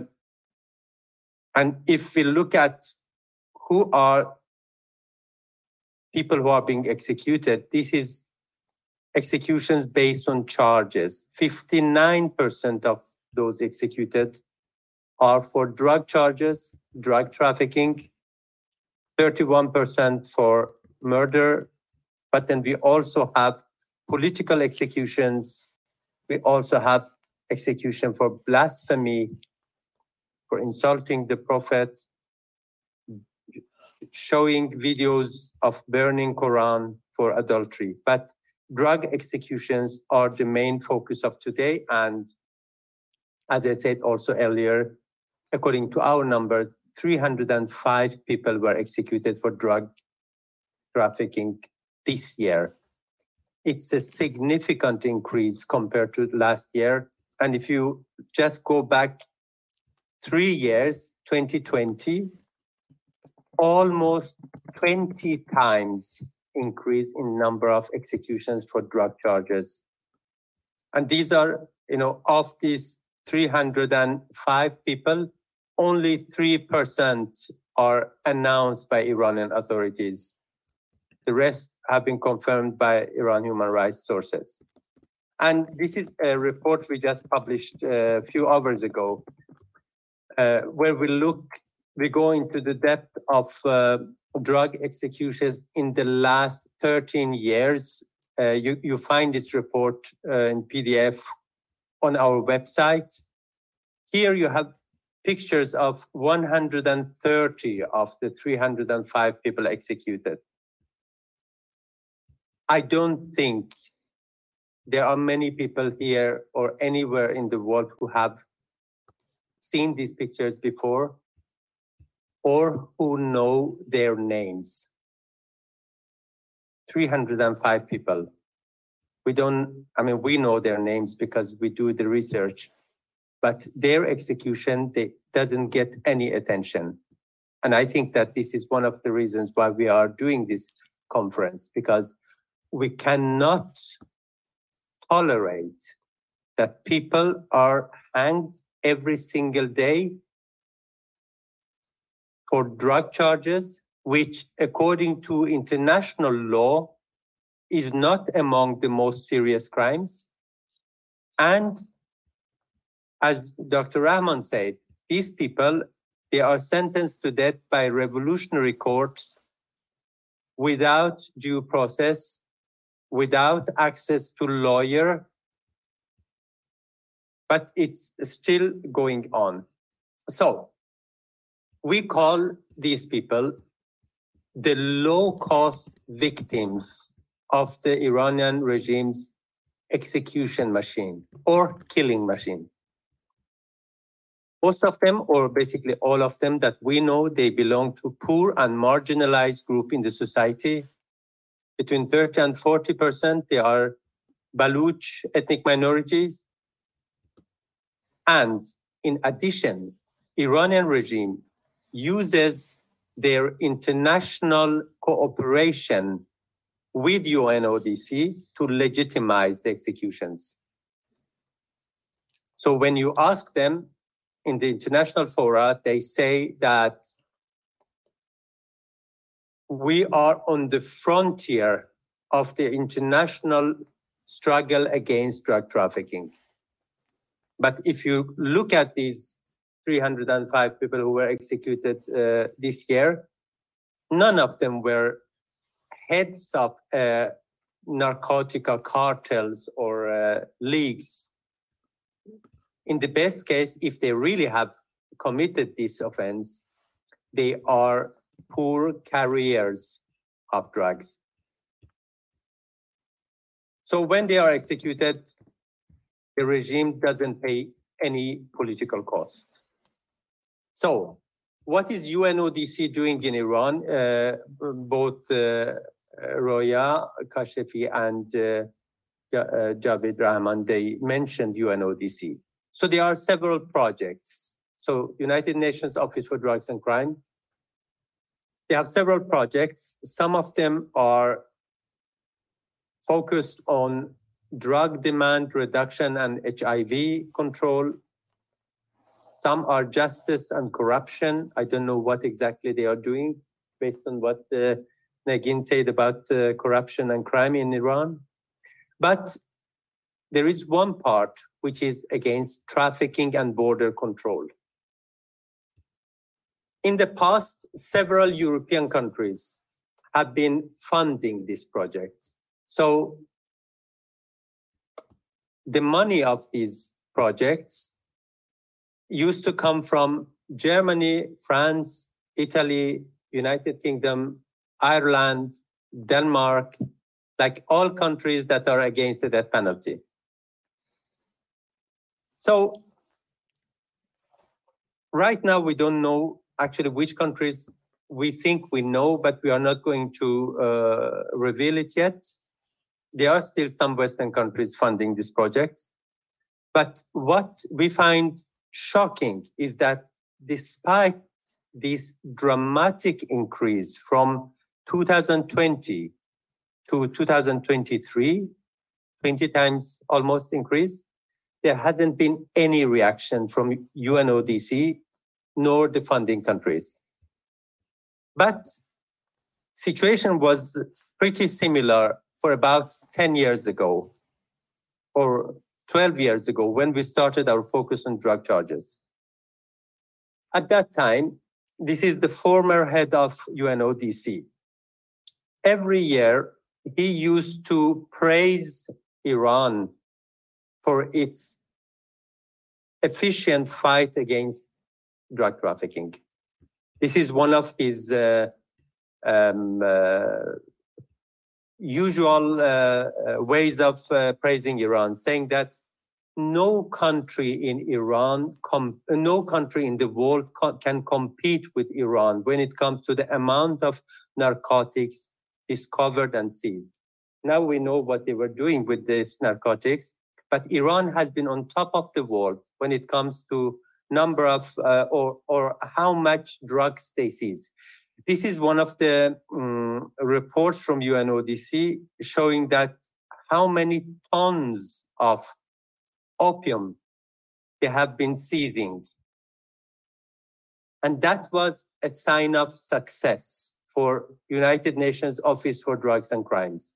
if we look at who are people who are being executed, this is executions based on charges. 59% of those executed are for drug charges, drug trafficking, 31% for murder, but then we also have political executions. We also have execution for blasphemy, for insulting the Prophet, showing videos of burning Quran, for adultery. But drug executions are the main focus of today. And as I said also earlier, according to our numbers, 305 people were executed for drug trafficking this year. It's a significant increase compared to last year. And if you just go back 3 years, 2020, almost 20 times increase in number of executions for drug charges. And these are, of these 305 people, only 3% are announced by Iranian authorities. The rest have been confirmed by Iran human rights sources. And this is a report we just published a few hours ago, where we go into the depth of drug executions in the last 13 years. You find this report in PDF on our website. Here you have pictures of 130 of the 305 people executed. I don't think there are many people here or anywhere in the world who have seen these pictures before or who know their names. 305 people. We know their names because we do the research, but their execution, doesn't get any attention. And I think that this is one of the reasons why we are doing this conference, because we cannot tolerate that people are hanged every single day for drug charges, which according to international law is not among the most serious crimes. And as Dr. Rahman said, these people, they are sentenced to death by revolutionary courts without due process, without access to lawyer, but it's still going on. So we call these people the low-cost victims of the Iranian regime's execution machine or killing machine. Most of them, or basically all of them that we know, they belong to poor and marginalized group in the society. Between 30 and 40%, they are Baluch ethnic minorities. And in addition, Iranian regime uses their international cooperation with UNODC to legitimize the executions. So when you ask them in the international fora, they say that we are on the frontier of the international struggle against drug trafficking. But if you look at these 305 people who were executed this year, none of them were heads of narcotic cartels or leagues. In the best case, if they really have committed this offense, they are poor carriers of drugs. So when they are executed, the regime doesn't pay any political cost. So what is UNODC doing in Iran? Both Roya Kashefi and Javed Rahman, they mentioned UNODC. So there are several projects. So United Nations Office for Drugs and Crime, they have several projects. Some of them are focused on drug demand reduction and HIV control. Some are justice and corruption. I don't know what exactly they are doing based on what Negin said about corruption and crime in Iran. But there is one part which is against trafficking and border control. In the past, several European countries have been funding this project. So the money of these projects used to come from Germany, France, Italy, United Kingdom, Ireland, Denmark, like all countries that are against the death penalty. So right now we don't know actually which countries. We think we know, but we are not going to reveal it yet. There are still some Western countries funding these projects. But what we find shocking is that despite this dramatic increase from 2020 to 2023, 20 times almost increase, there hasn't been any reaction from UNODC nor the funding countries. But situation was pretty similar for about 10 years ago or 12 years ago when we started our focus on drug charges. At that time, this is the former head of UNODC. Every year, he used to praise Iran for its efficient fight against drug trafficking. This is one of his usual ways of praising Iran, saying that no country in Iran, no country in the world can compete with Iran when it comes to the amount of narcotics discovered and seized. Now we know what they were doing with these narcotics, but Iran has been on top of the world when it comes to number of or how much drugs they seize. This is one of the reports from UNODC showing that how many tons of opium they have been seizing. And that was a sign of success for United Nations Office for Drugs and Crimes.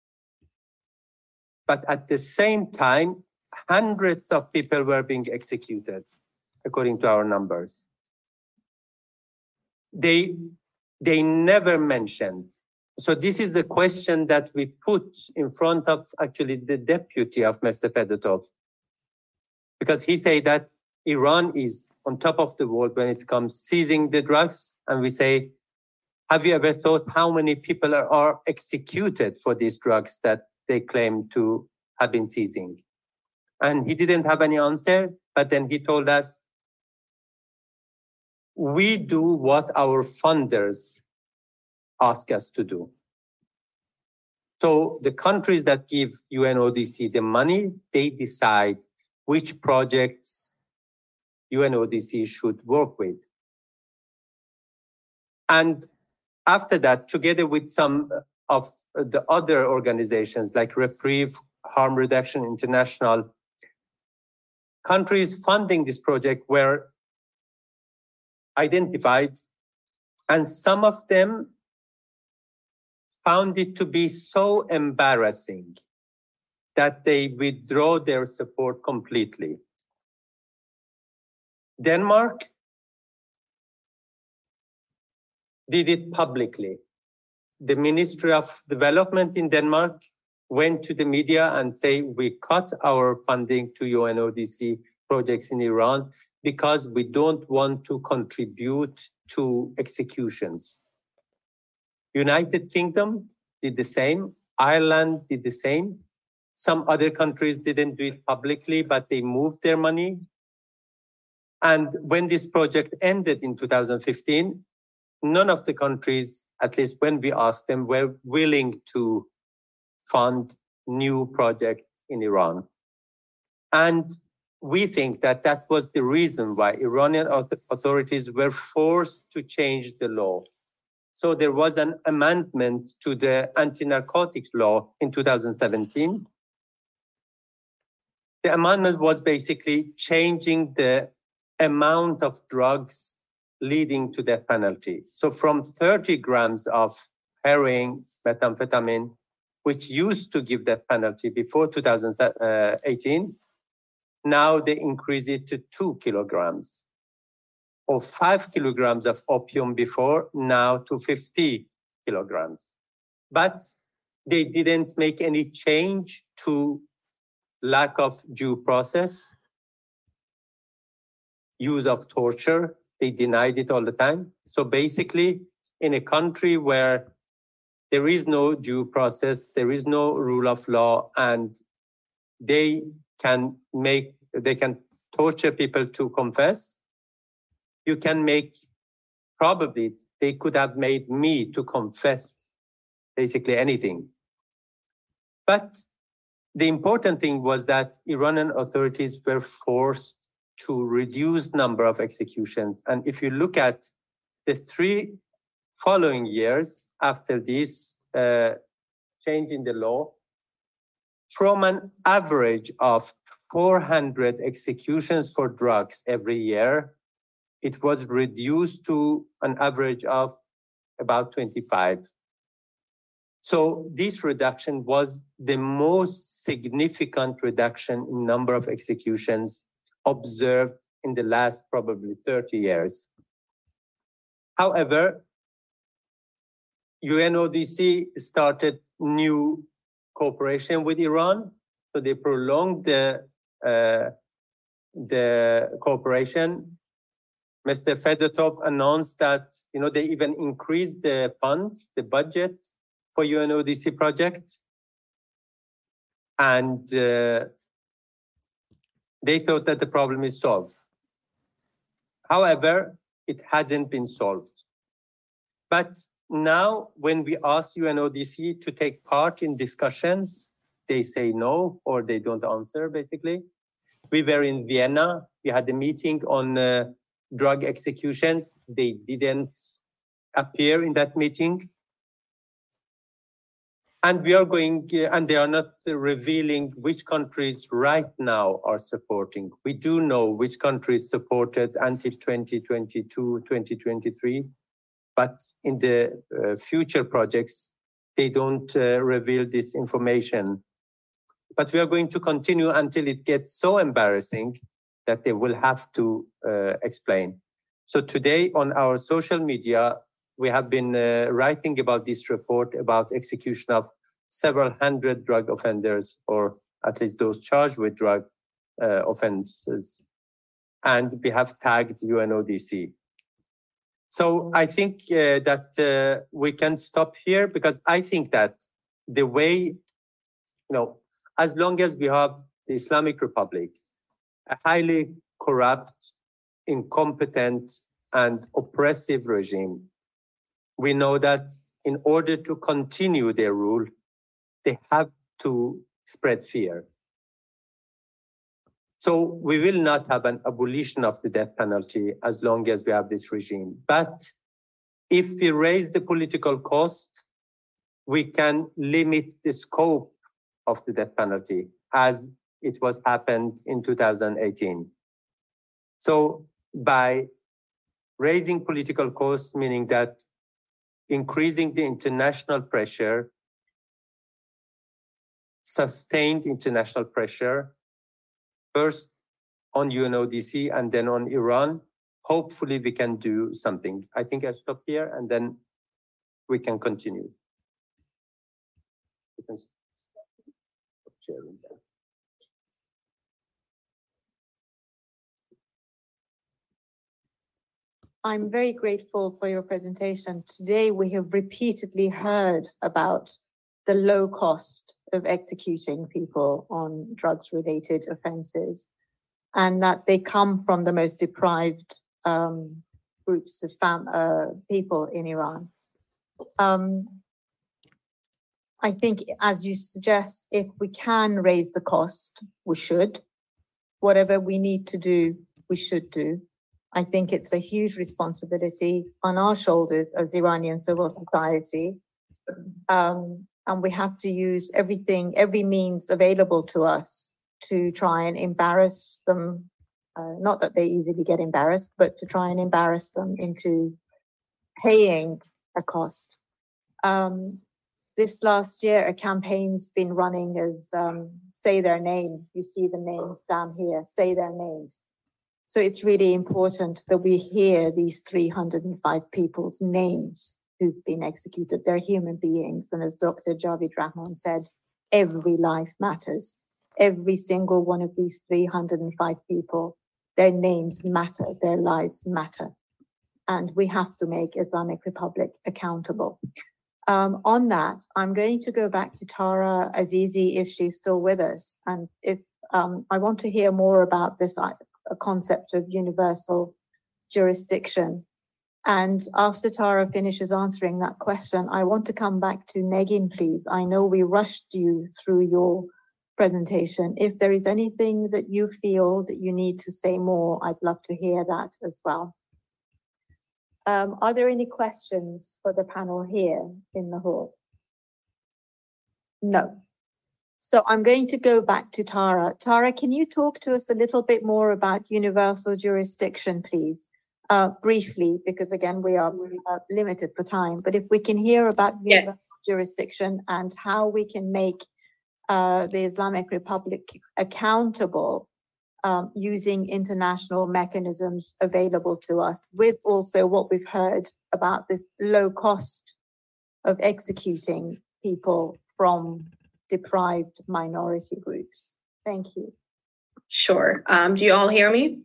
But at the same time, hundreds of people were being executed, according to our numbers. They never mentioned. So this is a question that we put in front of actually the deputy of Mr. Fedotov, because he said that Iran is on top of the world when it comes seizing the drugs. And we say, have you ever thought how many people are executed for these drugs that they claim to have been seizing? And he didn't have any answer, but then he told us, we do what our funders ask us to do. So the countries that give UNODC the money, they decide which projects UNODC should work with. And after that, together with some of the other organizations like Reprieve, Harm Reduction International, countries funding this project were identified, and some of them found it to be so embarrassing that they withdraw their support completely. Denmark did it publicly. The Ministry of Development in Denmark went to the media and say, we cut our funding to UNODC projects in Iran because we don't want to contribute to executions. United Kingdom did the same. Ireland did the same. Some other countries didn't do it publicly, but they moved their money. And when this project ended in 2015, none of the countries, at least when we asked them, were willing to fund new projects in Iran. And we think that that was the reason why Iranian authorities were forced to change the law. So there was an amendment to the anti-narcotics law in 2017. The amendment was basically changing the amount of drugs leading to death penalty. So from 30 grams of heroin, methamphetamine, which used to give death penalty before 2018, now they increase it to 2 kilograms. Or 5 kilograms of opium before, now to 50 kilograms. But they didn't make any change to lack of due process, use of torture. They denied it all the time. So basically, in a country where there is no due process, there is no rule of law, and they can torture people to confess, you can make, probably they could have made me to confess basically anything. But the important thing was that Iranian authorities were forced to reduce number of executions. And if you look at the 3 following years after this change in the law, from an average of 400 executions for drugs every year, it was reduced to an average of about 25. So this reduction was the most significant reduction in number of executions observed in the last probably 30 years. However, UNODC started new cooperation with Iran, so they prolonged the cooperation. Mr. Fedotov announced that they even increased the funds, the budget for UNODC project, and they thought that the problem is solved. However, it hasn't been solved. But now, when we ask UNODC to take part in discussions, they say no, or they don't answer, basically. We were in Vienna. We had a meeting on drug executions. They didn't appear in that meeting. And we are and they are not revealing which countries right now are supporting. We do know which countries supported until 2022, 2023. But in the future projects, they don't reveal this information. But we are going to continue until it gets so embarrassing that they will have to explain. So today on our social media, we have been writing about this report about execution of several hundred drug offenders, or at least those charged with drug offenses. And we have tagged UNODC. So I think that we can stop here, because I think that the way, as long as we have the Islamic Republic, a highly corrupt, incompetent, and oppressive regime, we know that in order to continue their rule, they have to spread fear. So we will not have an abolition of the death penalty as long as we have this regime. But if we raise the political cost, we can limit the scope of the death penalty, as it was happened in 2018. So by raising political costs, meaning that increasing the international pressure, sustained international pressure, first on UNODC and then on Iran. Hopefully we can do something. I think I stop here and then we can continue. You can stop sharing that. I'm very grateful for your presentation. Today, we have repeatedly heard about the low cost of executing people on drugs-related offenses, and that they come from the most deprived groups of people in Iran. I think, as you suggest, if we can raise the cost, we should. Whatever we need to do, we should do. I think it's a huge responsibility on our shoulders as Iranian civil society. And we have to use every means available to us to try and embarrass them. Not that they easily get embarrassed, but to try and embarrass them into paying a cost. This last year, a campaign's been running as say their name. You see the names down here, say their names. So it's really important that we hear these 305 people's names who've been executed. They're human beings. And as Dr. Javid Rahman said, every life matters. Every single one of these 305 people, their names matter, their lives matter. And we have to make Islamic Republic accountable. On that, I'm going to go back to Tara Azizi if she's still with us. And if I want to hear more about this concept of universal jurisdiction. And after Tara finishes answering that question, I want to come back to Negin, please. I know we rushed you through your presentation. If there is anything that you feel that you need to say more, I'd love to hear that as well. Are there any questions for the panel here in the hall? No. So I'm going to go back to Tara. Tara, can you talk to us a little bit more about universal jurisdiction, please? Briefly, because again, we are limited for time, but if we can hear about universal jurisdiction and how we can make the Islamic Republic accountable using international mechanisms available to us, with also what we've heard about this low cost of executing people from deprived minority groups. Thank you. Sure. Do you all hear me?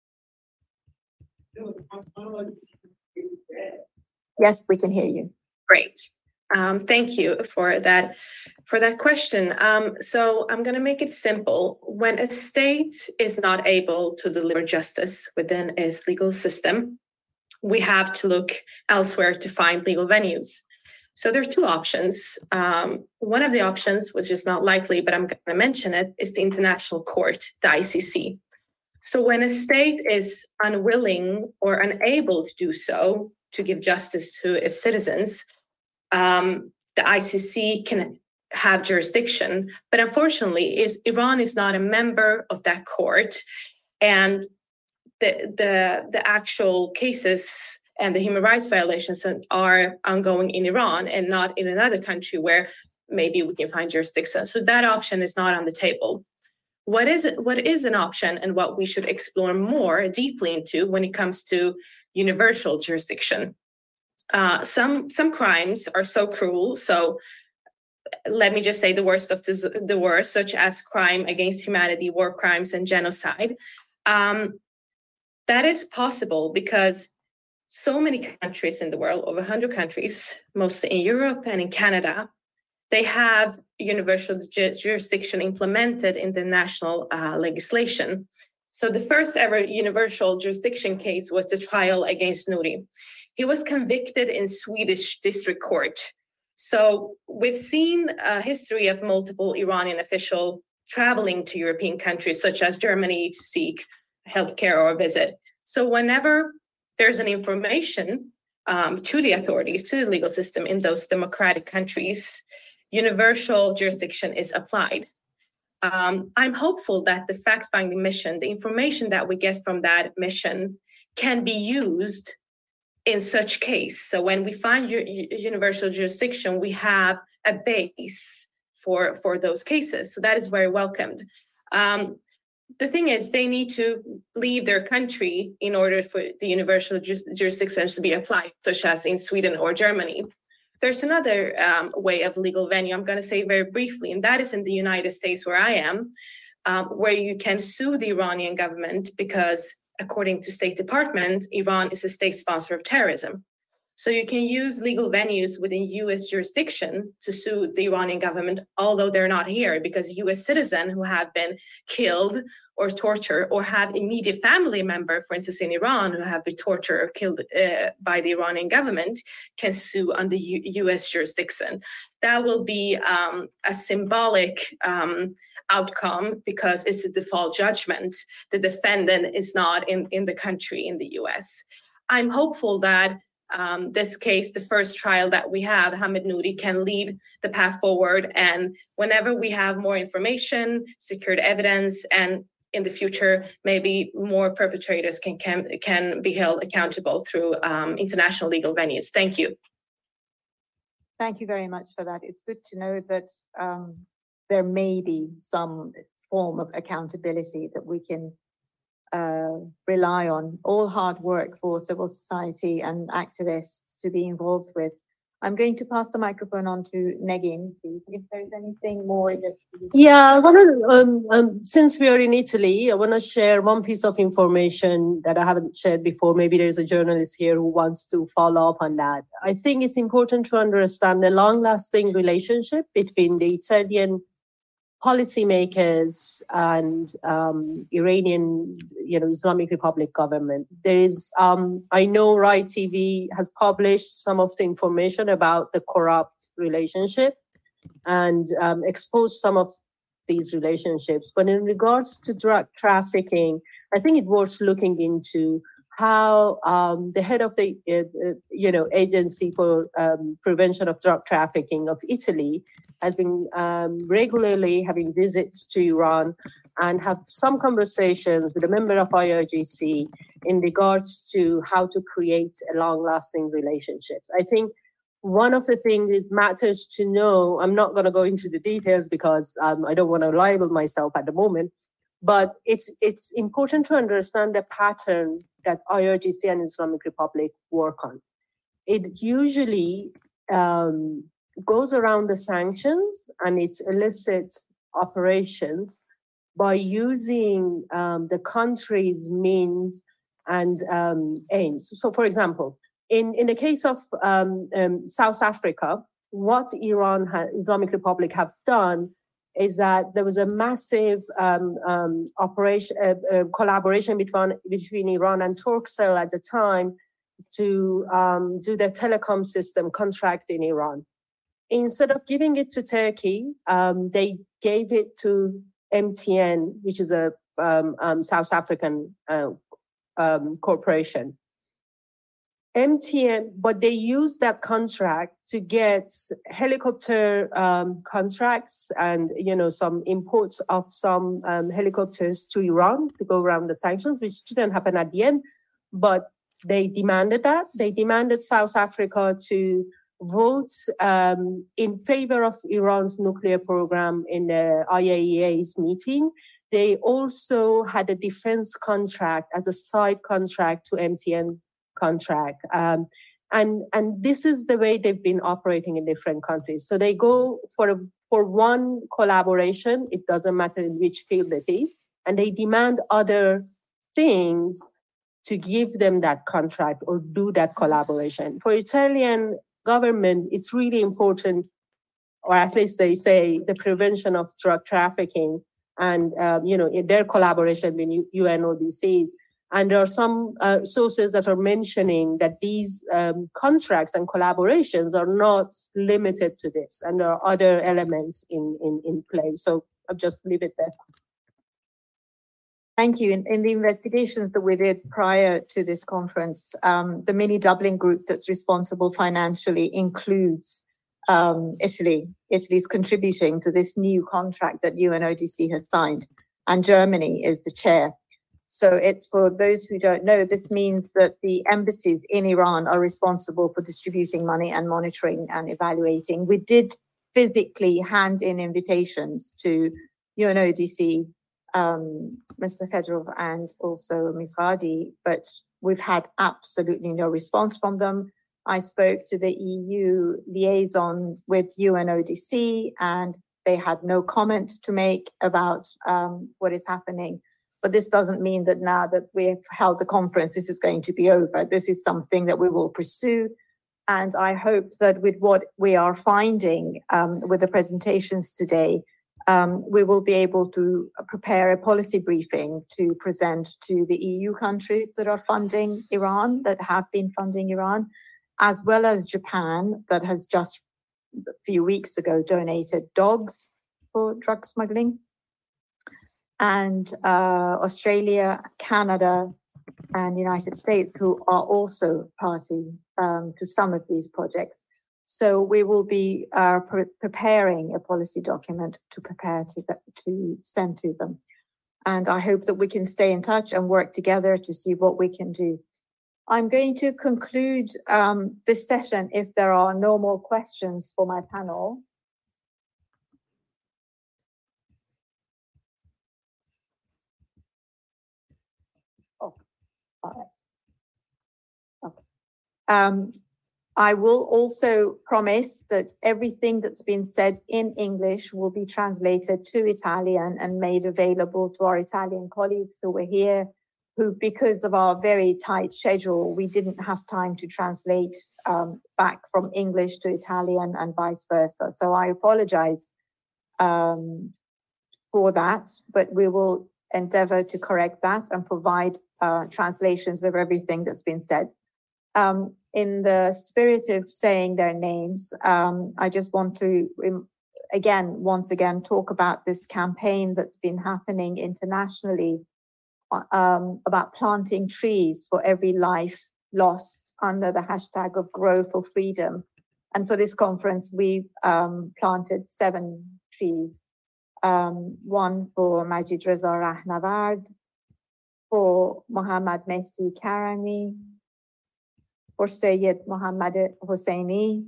Yes, we can hear you. Great. Thank you for that question. So I'm going to make it simple. When a state is not able to deliver justice within its legal system, we have to look elsewhere to find legal venues. So there are two options. One of the options, which is not likely, but I'm going to mention it, is the International Court, the ICC. So when a state is unwilling or unable to do so, to give justice to its citizens, the ICC can have jurisdiction. But unfortunately, Iran is not a member of that court, and the actual cases and the human rights violations are ongoing in Iran and not in another country where maybe we can find jurisdiction. So that option is not on the table. What is an option and what we should explore more deeply into when it comes to universal jurisdiction? Some crimes are so cruel. So let me just say the worst of the worst, such as crime against humanity, war crimes, and genocide. That is possible because so many countries in the world, over 100 countries, mostly in Europe and in Canada, they have universal jurisdiction implemented in the national legislation. So the first ever universal jurisdiction case was the trial against Nouri. He was convicted in Swedish district court. So we've seen a history of multiple Iranian officials traveling to European countries, such as Germany, to seek healthcare or visit. So whenever there's an information to the authorities, to the legal system in those democratic countries, universal jurisdiction is applied. I'm hopeful that the fact-finding mission, the information that we get from that mission, can be used in such case. So when we find universal jurisdiction, we have a base for those cases. So that is very welcomed. the thing is, they need to leave their country in order for the universal jurisdiction to be applied, such as in Sweden or Germany. There's another way of legal venue I'm going to say very briefly, and that is in the United States, where I am, where you can sue the Iranian government because, according to State Department, Iran is a state sponsor of terrorism. So you can use legal venues within U.S. jurisdiction to sue the Iranian government, although they're not here, because U.S. citizens who have been killed or tortured or have immediate family member, for instance, in Iran, who have been tortured or killed by the Iranian government, can sue under U.S. jurisdiction. That will be a symbolic outcome because it's a default judgment. The defendant is not in the country, in the U.S. I'm hopeful that this case, the first trial that we have, Hamid Nouri, can lead the path forward. And whenever we have more information, secured evidence, and in the future, maybe more perpetrators can be held accountable through international legal venues. Thank you. Thank you very much for that. It's good to know that there may be some form of accountability that we can rely on. All hard work for civil society and activists to be involved with. I'm going to pass the microphone on to Negin, please, if there's anything more. Yeah, since we are in Italy, I want to share one piece of information that I haven't shared before. Maybe there's a journalist here who wants to follow up on that. I think it's important to understand the long-lasting relationship between the Italian policymakers and Iranian, Islamic Republic government. There is, I know Rai TV has published some of the information about the corrupt relationship and exposed some of these relationships. But in regards to drug trafficking, I think it worth looking into how the head of the Agency for Prevention of Drug Trafficking of Italy has been regularly having visits to Iran and have some conversations with a member of IRGC in regards to how to create a long-lasting relationships. I think one of the things that matters to know, I'm not going to go into the details because I don't want to libel myself at the moment, but it's important to understand the pattern that IRGC and Islamic Republic work on. It usually goes around the sanctions and its illicit operations by using the country's means and aims. So, for example, in the case of South Africa, what Islamic Republic have done is that there was a massive collaboration between Iran and Turkcell at the time to do the telecom system contract in Iran. Instead of giving it to Turkey, they gave it to MTN, which is a South African corporation. MTN, but they used that contract to get helicopter contracts and some imports of some helicopters to Iran to go around the sanctions, which didn't happen at the end, but they demanded that. They demanded South Africa to vote in favor of Iran's nuclear program in the IAEA's meeting. They also had a defense contract as a side contract to MTN contract. And this is the way they've been operating in different countries. So they go for one collaboration, it doesn't matter in which field it is, and they demand other things to give them that contract or do that collaboration. For Italian government, it's really important, or at least they say, the prevention of drug trafficking and in their collaboration with UNODCs. And there are some sources that are mentioning that these contracts and collaborations are not limited to this, and there are other elements in play. So I'll just leave it there. Thank you. In the investigations that we did prior to this conference, the mini Dublin group that's responsible financially includes Italy. Italy's contributing to this new contract that UNODC has signed, and Germany is the chair. So for those who don't know, this means that the embassies in Iran are responsible for distributing money and monitoring and evaluating. We did physically hand in invitations to UNODC Mr. Fedorov and also Ms. Ghadi, but we've had absolutely no response from them. I spoke to the EU liaison with UNODC, and they had no comment to make about what is happening. But this doesn't mean that now that we've held the conference, this is going to be over. This is something that we will pursue. And I hope that with what we are finding with the presentations today, we will be able to prepare a policy briefing to present to the EU countries that are funding Iran, that have been funding Iran, as well as Japan, that has just a few weeks ago donated dogs for drug smuggling, and Australia, Canada, and the United States, who are also party to some of these projects. So we will be preparing a policy document to prepare to send to them. And I hope that we can stay in touch and work together to see what we can do. I'm going to conclude this session if there are no more questions for my panel. Oh, all right. Okay. I will also promise that everything that's been said in English will be translated to Italian and made available to our Italian colleagues who were here, who, because of our very tight schedule, we didn't have time to translate back from English to Italian and vice versa. So I apologize for that, but we will endeavor to correct that and provide translations of everything that's been said. In the spirit of saying their names, I just want to once again talk about this campaign that's been happening internationally about planting trees for every life lost under the hashtag of Grow for Freedom. And for this conference, we planted 7 trees, one for Majid Reza Rahnavard, for Mohammad Mehdi Karami, for Sayyid Mohammad Hosseini,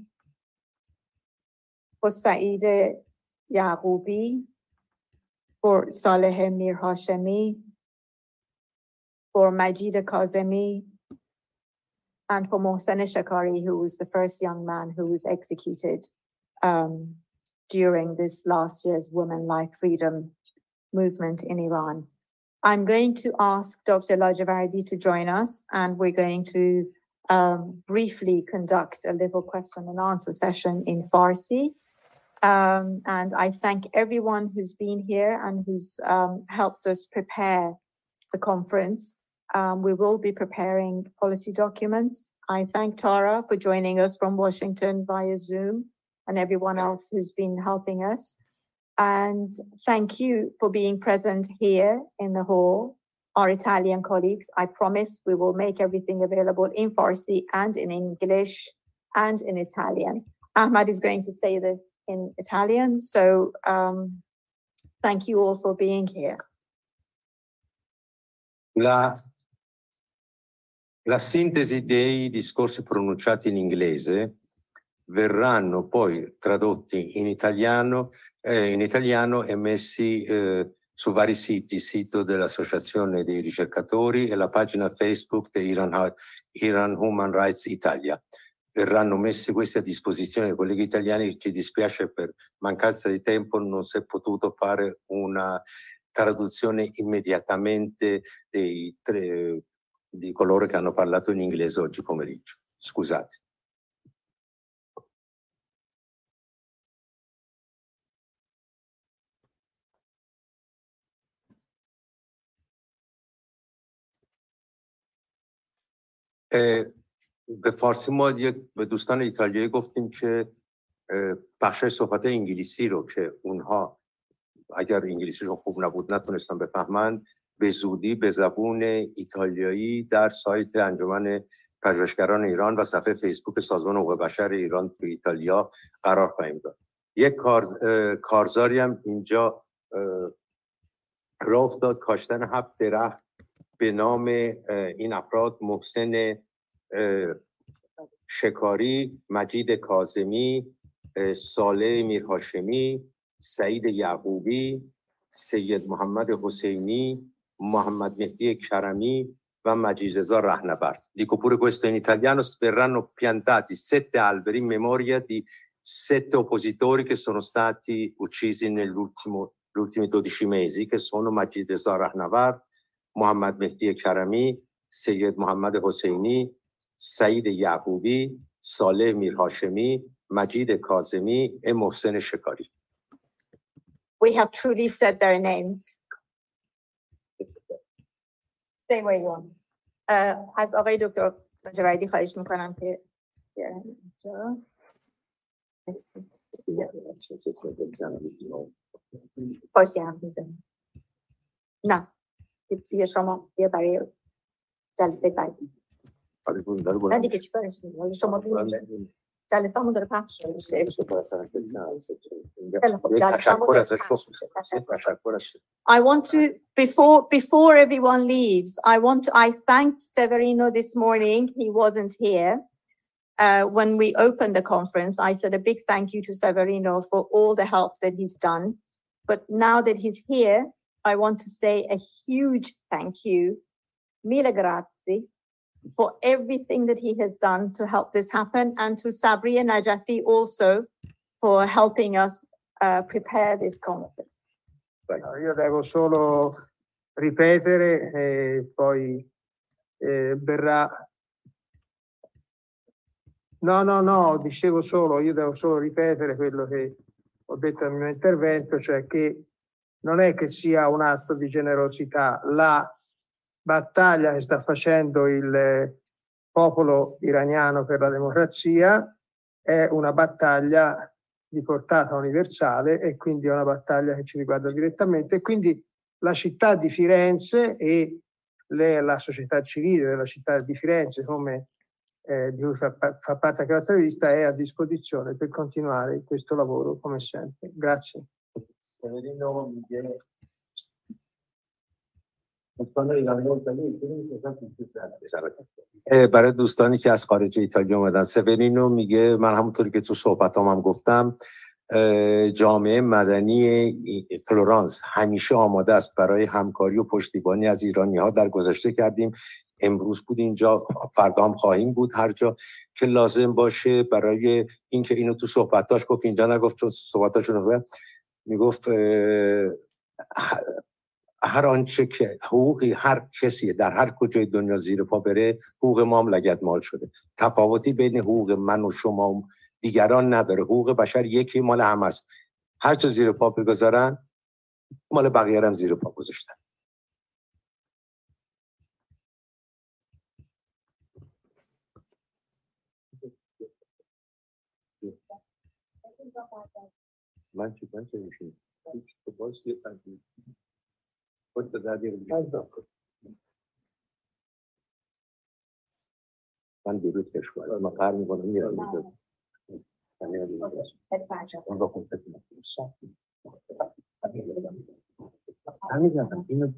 for Saeed Yaqoubi, for Saleh Mir Hashemi, for Majid Kazemi, and for Mohsen Shakari, who was the first young man who was executed during this last year's Women Like Freedom movement in Iran. I'm going to ask Dr. Lajavardi to join us, and we're going to briefly conduct a little question and answer session in Farsi. And I thank everyone who's been here and who's helped us prepare the conference. We will be preparing policy documents. I thank Tara for joining us from Washington via Zoom and everyone else who's been helping us. And thank you for being present here in the hall. Our Italian colleagues, I promise we will make everything available in Farsi and in English and in Italian. Ahmad is going to say this in Italian, so thank you all for being here. La sintesi dei discorsi pronunciati in inglese verranno poi tradotti in italiano e messi su vari siti, il sito dell'Associazione dei ricercatori e la pagina Facebook di Iran Human Rights Italia. Verranno messi questi a disposizione dei colleghi italiani. Ci dispiace, per mancanza di tempo non si è potuto fare una traduzione immediatamente di coloro che hanno parlato in inglese oggi pomeriggio. Scusate. به فارسی ما به دوستان ایتالیایی گفتیم که بخش صحبت انگلیسی رو که اونها اگر انگلیسیشون خوب نبود نتونستن بفهمن، به زودی به زبون ایتالیایی در سایت انجمن پژوهشگران ایران و صفحه فیسبوک سازمان حقوق بشر ایران تو ایتالیا قرار خواهیم داد. یک کارزاری هم اینجا راه افتاد، کاشتن 7 درخت به نام این افراد: محسن شکاری، مجید کاظمی، صالح میرهاشمی، سعید یعقوبی، سید محمد حسینی، محمد مهدی کرمی و Majid Reza Rahnavard. Dico pure questo in italiano: verranno piantati 7 alberi in memoria di 7 oppositori che sono stati uccisi negli ultimi 12 mesi, che sono Majid Reza Rahnavard, Mohammad Mehdi Karami, Sayyid Mohammad Hosseini, Saeed Yaqubi, Saleh Mir Hashemi, Majid Kazemi e Mohsen Shekari. We have truly said their names. Stay where you are. از آقای دکتر لاجوردی خواهش میکنم که باشی هم میزنم. نه بیا شما بیا برای جلسه بعدی. نه دیگه چی کارش میکنم شما جلسه همون داره پخش میشه. I want to before everyone leaves, I thanked Severino this morning. He wasn't here when we opened the conference. I said a big thank you to Severino for all the help that he's done. But now that he's here, I want to say a huge thank you, mille grazie, for everything that he has done to help this happen, and to Sabri and Najafi also for helping us prepare this conference. Io devo solo ripetere e poi verrà. No, dicevo solo, io devo solo ripetere quello che ho detto nel mio intervento, cioè che non è che sia un atto di generosità. La battaglia che sta facendo il popolo iraniano per la democrazia è una battaglia di portata universale e quindi è una battaglia che ci riguarda direttamente, e quindi la città di Firenze e la società civile della città di Firenze, come di cui fa parte anche la rivista, è a disposizione per continuare questo lavoro come sempre. Grazie. برای دوستانی که از خارج ایتالیا اومدن، سورینو میگه من همونطوری که تو صحبتام هم گفتم جامعه مدنی فلورانس همیشه آماده است برای همکاری و پشتیبانی از ایرانی‌ها. در گذشته کردیم، امروز بود اینجا، فردا هم خواهیم بود هر جا که لازم باشه. برای اینکه اینو تو صحبتاش گفت، اینجا نگفت چون صحبتاشو نگفت، میگفت هر آنچه که حقوقی هر کسی در هر کجای دنیا زیر پا بره، حقوق ما هم لگدمال شده. تفاوتی بین حقوق من و شما و دیگران نداره. حقوق بشر یکی، مال همه است. هر چه زیر پا بگذارن مال بقیه هم زیر پا گذاشتن. من چی میشونم؟ تو باز یه تنگی خود در دیگه من دیروز کشور ما قرار میکنم میرم اینجا اون رو کنفت میکنم اینو.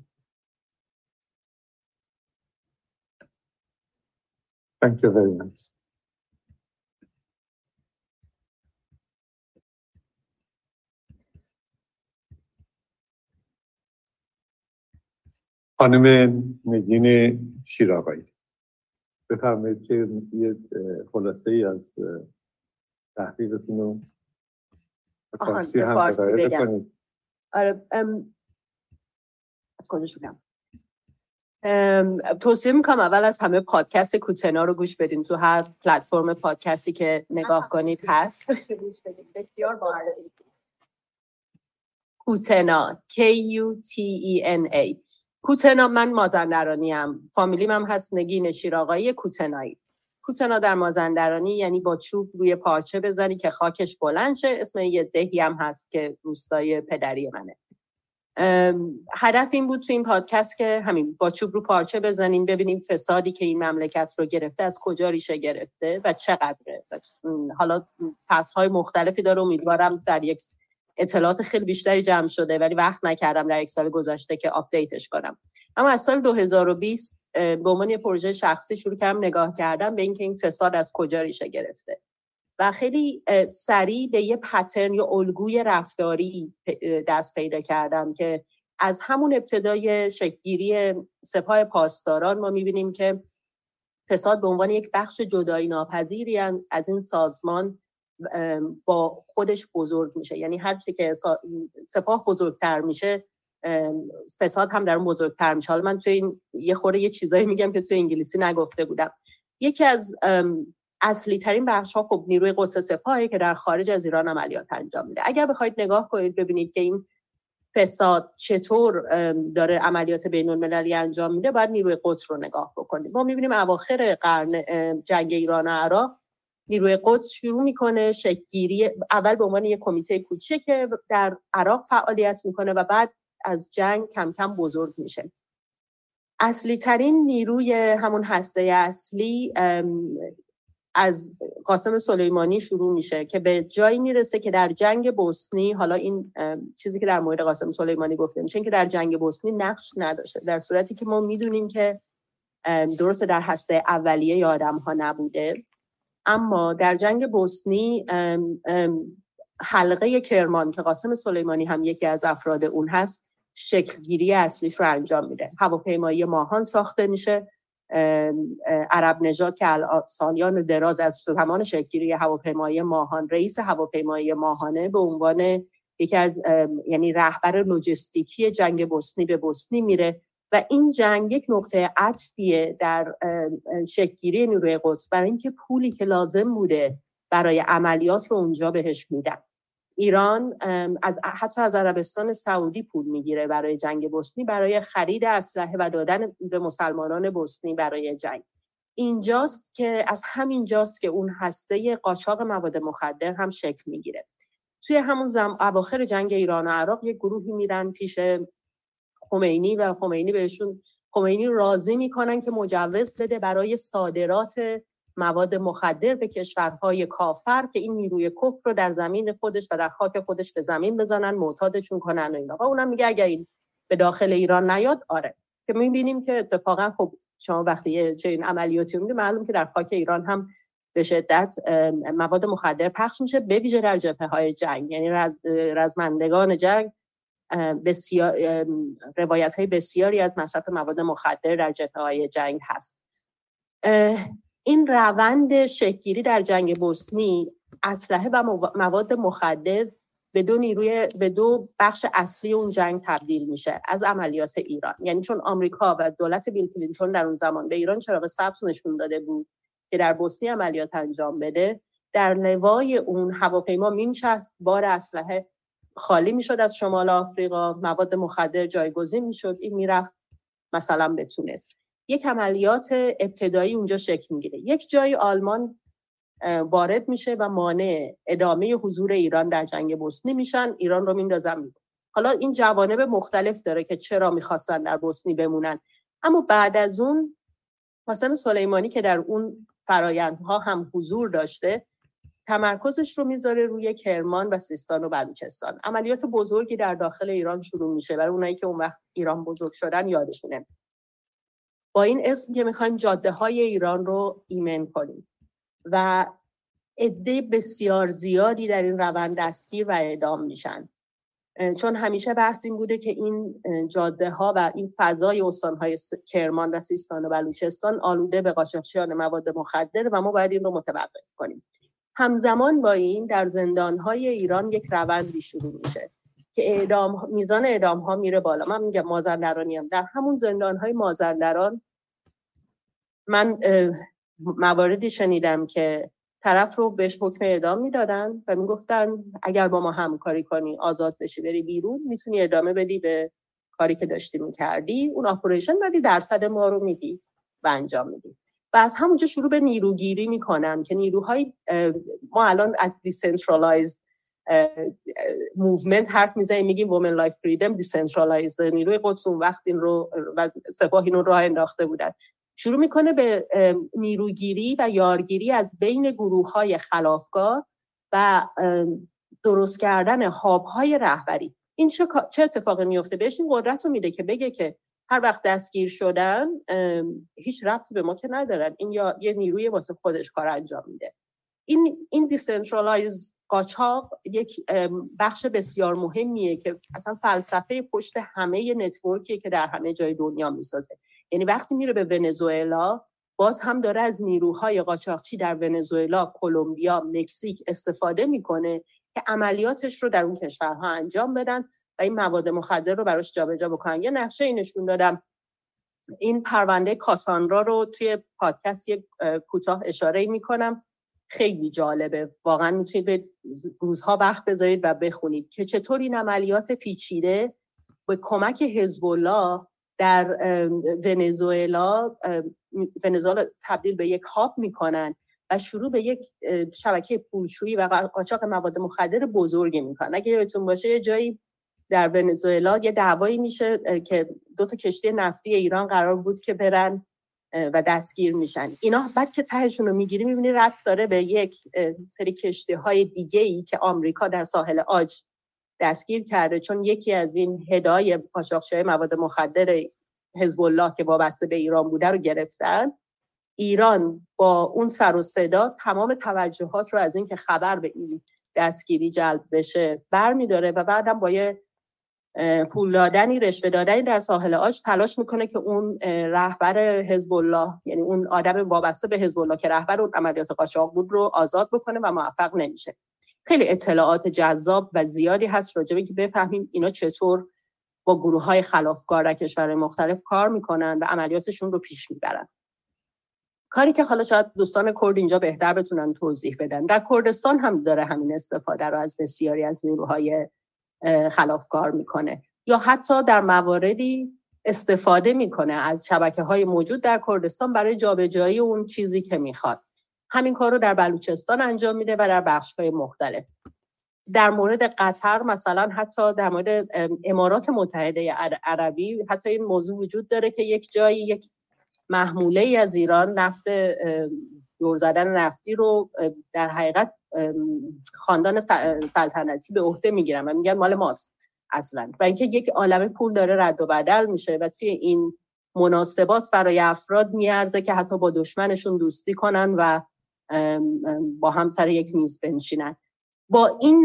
Thank you very much. خانم نگین شیراقایی، بفرمایید که یه خلاصه ای از تحقیقتون رو فارسی هم بکنید. آره، از کجا شروع توصیه میکنم اول از همه پادکست کوتنا رو گوش بدین. تو هر پلتفرم پادکستی که نگاه کنید هست. بسیار باحال. کوتنا KUTENA. کوتنا، من مازندرانی ام، فامیلیم هم هست نگین شیراقایی کوتنایی. کوتنا در مازندرانی یعنی با چوب روی پارچه بزنی که خاکش بلند شه. اسم یه دهی هم هست که روستای پدری منه. هدف این بود تو این پادکست که همین با چوب رو پارچه بزنیم، ببینیم فسادی که این مملکت رو گرفته از کجا ریشه گرفته و چقدره. حالا فصل‌های مختلفی داره، امیدوارم در یک اطلاعات خیلی بیشتری جمع شده، ولی وقت نکردم در یک سال گذشته که آپدیتش کنم. اما از سال 2020 به عنوان یه پروژه شخصی شروع کردم نگاه کردم به اینکه این فساد از کجا ریشه گرفته و خیلی سریع به یه پترن یا الگوی رفتاری دست پیدا کردم که از همون ابتدای شکل‌گیری سپاه پاسداران ما می‌بینیم که فساد به عنوان یک بخش جدایی ناپذیری از این سازمان با خودش بزرگ میشه. یعنی هر چی که سپاه بزرگتر میشه فساد هم در اون بزرگتر میشه. حالا من توی این یه چیزایی میگم که توی انگلیسی نگفته بودم. یکی از اصلی ترین بخش ها خب نیروی قدس سپاهی که در خارج از ایران عملیات انجام میده. اگر بخواید نگاه کنید ببینید که این فساد چطور داره عملیات بین المللی انجام میده، باید نیروی قدس رو نگاه بکنید. ما میبینیم اواخر قرن جنگ ایران و عراق نیروی قدس شروع میکنه شکل‌گیری، اول به عنوان یک کمیته کوچیک که در عراق فعالیت میکنه و بعد از جنگ کم کم بزرگ میشه. اصلی ترین نیروی همون هسته اصلی از قاسم سلیمانی شروع میشه که به جایی میرسه که در جنگ بوسنی، حالا این چیزی که در مورد قاسم سلیمانی گفته میشه، این که در جنگ بوسنی نقش نداشته، در صورتی که ما میدونیم که درسته در هسته اولیه ی آدم ها نبوده، اما در جنگ بوسنی حلقه کرمان که قاسم سلیمانی هم یکی از افراد اون هست شکلگیری اصلیش رو انجام میده. هواپیمایی ماهان ساخته میشه. عرب نژاد که سالیان دراز از زمان شکلگیری هواپیمایی ماهان رئیس هواپیمایی ماهانه به عنوان یکی از یعنی رهبر لوجستیکی جنگ بوسنی به بوسنی میره و این جنگ یک نقطه عطفیه در شکلگیری نیروی قدس برای اینکه پولی که لازم بوده برای عملیات رو اونجا بهش میدن. ایران حتی از عربستان سعودی پول میگیره برای جنگ بوسنی، برای خرید اسلحه و دادن به مسلمانان بوسنی برای جنگ. از همینجاست که اون هسته قاچاق مواد مخدر هم شکل میگیره. توی همون اواخر جنگ ایران و عراق یک گروهی میرن پیش خمینی و خمینی راضی میکنن که مجوز بده برای صادرات مواد مخدر به کشورهای کافر که این نیروی کفر رو در زمین خودش و در خاک خودش به زمین بزنن، معتادشون کنن و اینا. و اونم میگه اگر این به داخل ایران نیاد، آره. که میبینیم که اتفاقا خب شما وقتی چنین عملیاتی میبینید معلوم که در خاک ایران هم به شدت مواد مخدر پخش میشه، به ویژه در جبهه‌های جنگ. یعنی رزمندگان جنگ بسیار روایت‌های بسیاری از مصرف مواد مخدر در جبهه‌های جنگ هست. این روند شکل‌گیری در جنگ بوسنی، اسلحه و مواد مخدر به دو بخش اصلی اون جنگ تبدیل میشه از عملیات ایران. یعنی چون آمریکا و دولت بیل کلینتون در اون زمان به ایران چراغ سبز نشون داده بود که در بوسنی عملیات انجام بده، در لوای اون هواپیما مینشست، بار اسلحه خالی میشد از شمال آفریقا، مواد مخدر جایگزین میشد، این میرفت مثلا به تونس. یک عملیات ابتدایی اونجا شکل میگیره. یک جای آلمان وارد میشه و مانع ادامه حضور ایران در جنگ بوسنی میشن، ایران رو میندازن. حالا این جوانب مختلف داره که چرا میخواستن در بوسنی بمونن، اما بعد از اون قاسم سلیمانی که در اون فرایندها هم حضور داشته، تمرکزش رو میذاره روی کرمان و سیستان و بلوچستان. عملیات بزرگی در داخل ایران شروع میشه. برای اونایی که اون وقت ایران بزرگ شدن یادشونه. با این اسم که میخوایم جاده های ایران رو ایمن کنیم و عده بسیار زیادی در این روند دستگیر و اعدام میشن. چون همیشه بحث این بوده که این جاده ها و این فضای استانهای کرمان و سیستان و بلوچستان آلوده به قاچاقچیان مواد مخدر و ما باید این رو متوقف کنیم. همزمان با این در زندانهای ایران یک روندی شروع میشه که میزان اعدام ها میره بالا. من میگم مازندرانی هم در همون زندانهای مازندران من مواردی شنیدم که طرف رو بهش حکم اعدام میدادن و میگفتن اگر با ما همکاری کنی آزاد بشی بری بیرون، میتونی ادامه بدی به کاری که داشتی میکردی، اون اپریشن ولی درصد ما رو میدی و انجام میدی. و از همونجا شروع به نیروگیری میکنن که نیروهای ما الان از دیسنترالایزد موومنت حرف میزنیم، میگیم وومن لایف فریدم دیسنترالایزد. نیروی قدس اون وقت این رو و سپاه اینو راه انداخته بودن. شروع میکنه به نیروگیری و یارگیری از بین گروه‌های خلافکار و درست کردن هاب‌های رهبری. این چه اتفاقی میفته؟ بهش این قدرت رو میده که بگه که هر وقت دستگیر شدن هیچ ربطی به ما که ندارن، این یا یه نیروی واسه خودش کار انجام میده. این دیسنترالایز قاچاق یک بخش بسیار مهمیه که اصلا فلسفه پشت همه نتورکیه که در همه جای دنیا میسازه. یعنی وقتی میره به ونزوئلا، باز هم داره از نیروهای قاچاقچی در ونزوئلا، کلمبیا، مکزیک استفاده میکنه که عملیاتش رو در اون کشورها انجام بدن و این مواد مخدر رو براش جابجا بکنن. یه نقشه نشون دادم، این پرونده کاساندرا رو توی پادکست یک کوتاه اشاره میکنم، خیلی جالبه، واقعا میتونید به روزها وقت بذارید و بخونید که چطور این عملیات پیچیده به کمک حزب الله در ونزوئلا تبدیل به یک هاب میکنن و شروع به یک شبکه پولشویی و قاچاق مواد مخدر بزرگی میکنن. اگه یادتون باشه یه جایی در ونزوئلا یه دعوایی میشه که 2 کشتی نفتی ایران قرار بود که برن و دستگیر میشن. اینا بعد که تهشون رو میگیری میبینی ربط داره به یک سری کشتی‌های دیگه‌ای که آمریکا در ساحل عاج دستگیر کرده، چون یکی از این هدای قاچاقچی‌های مواد مخدر حزب الله که وابسته به ایران بوده رو گرفتن. ایران با اون سر و صدا تمام توجهات رو از این که خبر به این دستگیری جلب بشه برمی‌داره و بعدم با یه پول دادنی، رشوه دادنی در ساحل عاج تلاش میکنه که اون رهبر حزب الله، یعنی اون آدم وابسته به حزب الله که رهبر اون عملیات قاچاق بود، رو آزاد بکنه و موفق نمیشه. خیلی اطلاعات جذاب و زیادی هست راجع به که بفهمیم اینا چطور با گروه‌های خلافکار در کشورهای مختلف کار میکنن و عملیاتشون رو پیش میبرن. کاری که حالا شاید دوستان کرد اینجا بهتر بتونن توضیح بدن، در کردستان هم داره همین استفاده رو از بسیاری از نیروهای خلافکار میکنه، یا حتی در مواردی استفاده میکنه از شبکه‌های موجود در کردستان برای جابجایی اون چیزی که میخواد. همین کار رو در بلوچستان انجام میده و در بخش‌های مختلف. در مورد قطر مثلا، حتی در مورد امارات متحده عربی، حتی این موضوع وجود داره که یک جایی یک محموله از ایران نفت دور زدن نفتی رو در حقیقت خاندان سلطنتی به عهده میگیرن و میگن مال ماست اصلا، و اینکه یک عالمه پول داره رد و بدل میشه و توی این مناسبات برای افراد میارزه که حتی با دشمنشون دوستی کنن و با هم سر یک میز بنشینن. با این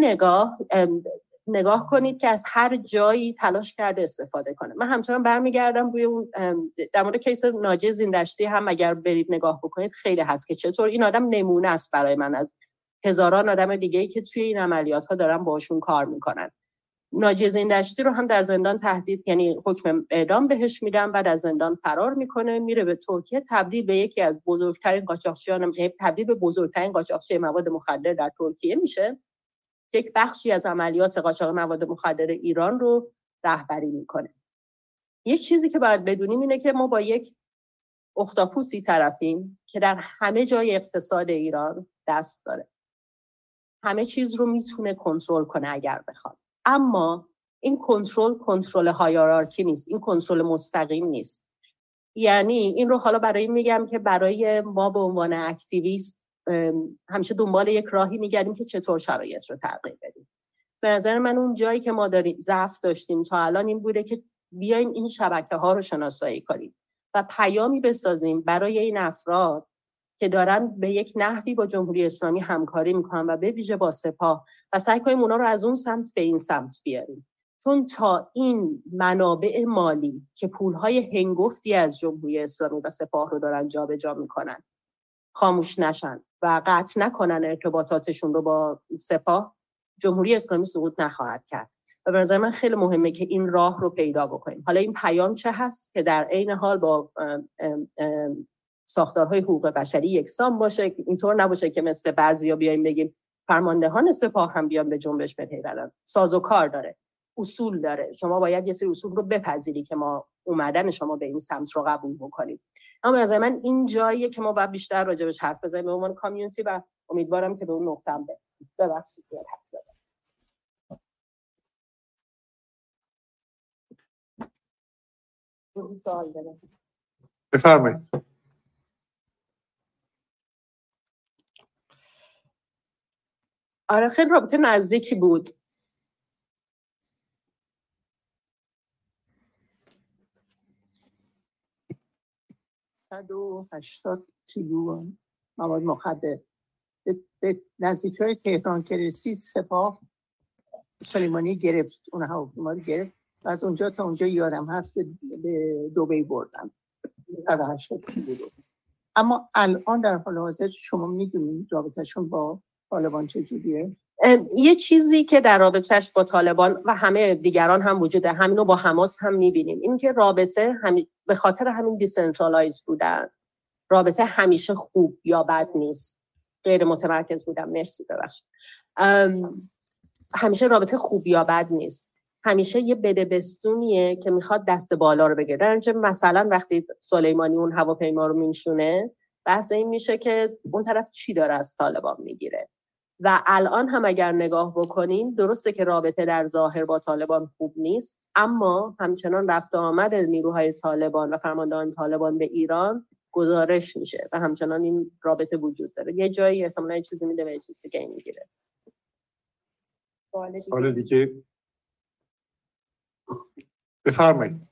نگاه کنید که از هر جایی تلاش کرده استفاده کنه. من همچنان برمیگردم روی اون در مورد کیس ناجی زیندشتی هم اگر برید نگاه بکنید خیلی هست که چطور این آدم نمونه است برای من از هزاران آدم دیگه‌ای که توی این عملیات‌ها دارن باشون کار میکنن. ناجی زیندشتی رو هم در زندان تهدید، یعنی حکم اعدام بهش میدن، بعد از زندان فرار میکنه، میره به ترکیه، تبدیل به یکی از بزرگترین قاچاقچیان، تبدیل به بزرگترین قاچاقچی مواد مخدر در ترکیه میشه. یک بخشی از عملیات قاچاق مواد مخدر ایران رو رهبری میکنه. یک چیزی که باید بدونیم اینه که ما با یک اختاپوسی طرفیم که در همه جای اقتصاد ایران دست داره. همه چیز رو میتونه کنترل کنه اگر بخواد. اما این کنترل هایرارکی نیست. این کنترل مستقیم نیست. یعنی این رو حالا برای میگم که برای ما به عنوان اکتیویست همیشه دنبال یک راهی میگردیم که چطور شرایط رو تغییر بدیم. به نظر من اون جایی که ما ضعف داشتیم تا الان این بوده که بیایم این شبکه‌ها رو شناسایی کنیم و پیامی بسازیم برای این افراد که دارن به یک نحوی با جمهوری اسلامی همکاری میکنن و به ویژه با سپاه، و سعی کنیم اونا رو از اون سمت به این سمت بیاریم. چون تا این منابع مالی که پولهای هنگفتی از جمهوری اسلامی و سپاه رو دارن جابجا میکنن خاموش نشن و قطع نکنن ارتباطاتشون رو با سپاه، جمهوری اسلامی سقوط نخواهد کرد. و به نظر من خیلی مهمه که این راه رو پیدا بکنیم. حالا این پیام چه هست که در عین حال با ساختارهای حقوق بشری یکسان باشه، اینطور نباشه که مثل بعضیا بیایم بگیم فرماندهان سپاه هم بیان به جنبش بپیوندن. سازوکار داره، اصول داره. شما باید یه سری اصول رو بپذیری که ما اومدن شما به این سمت رو قبول بکنیم. اما از من این جاییه که ما باید بیشتر راجبش حرف بزنیم به عنوان کامیونیتی و امیدوارم که به اون نقطه هم برسیم. ببخشید که حرف زدم. سوال دارم. بفرمایید. آره خیلی رابطه نزدیکی بود. $180 کیلو مواد مخدر به نزدیک‌های تهران که رسید سپاه سلیمانی گرفت، اون هواپیما رو گرفت و از اونجا تا اونجا یادم هست به دبی بردن. اما الان در حال حاضر شما میدونید رابطهشون با طالبان چجوریه؟ یه چیزی که در رابطهش با طالبان و همه دیگران هم وجوده، همینو با حماس هم میبینیم، این که رابطه به خاطر همین دیسنترالایز بودن، رابطه همیشه خوب یا بد نیست. غیر متمرکز بودم، مرسی ببخشید. همیشه رابطه خوب یا بد نیست، همیشه یه بدبستونیه که میخواد دست بالا رو بگیره. درنچه مثلا وقتی سلیمانی اون هواپیما رو میشونه، بحث این میشه که اون طرف چی داره از طالبان میگیره. و الان هم اگر نگاه بکنیم، درسته که رابطه در ظاهر با طالبان خوب نیست، اما همچنان رفت و آمد نیروهای طالبان و فرماندهان طالبان به ایران گزارش میشه و همچنان این رابطه وجود داره. یه جایی احتمالاً چیزی میده و یه چیزی که میگیره. سوال دیگه بفرمایید.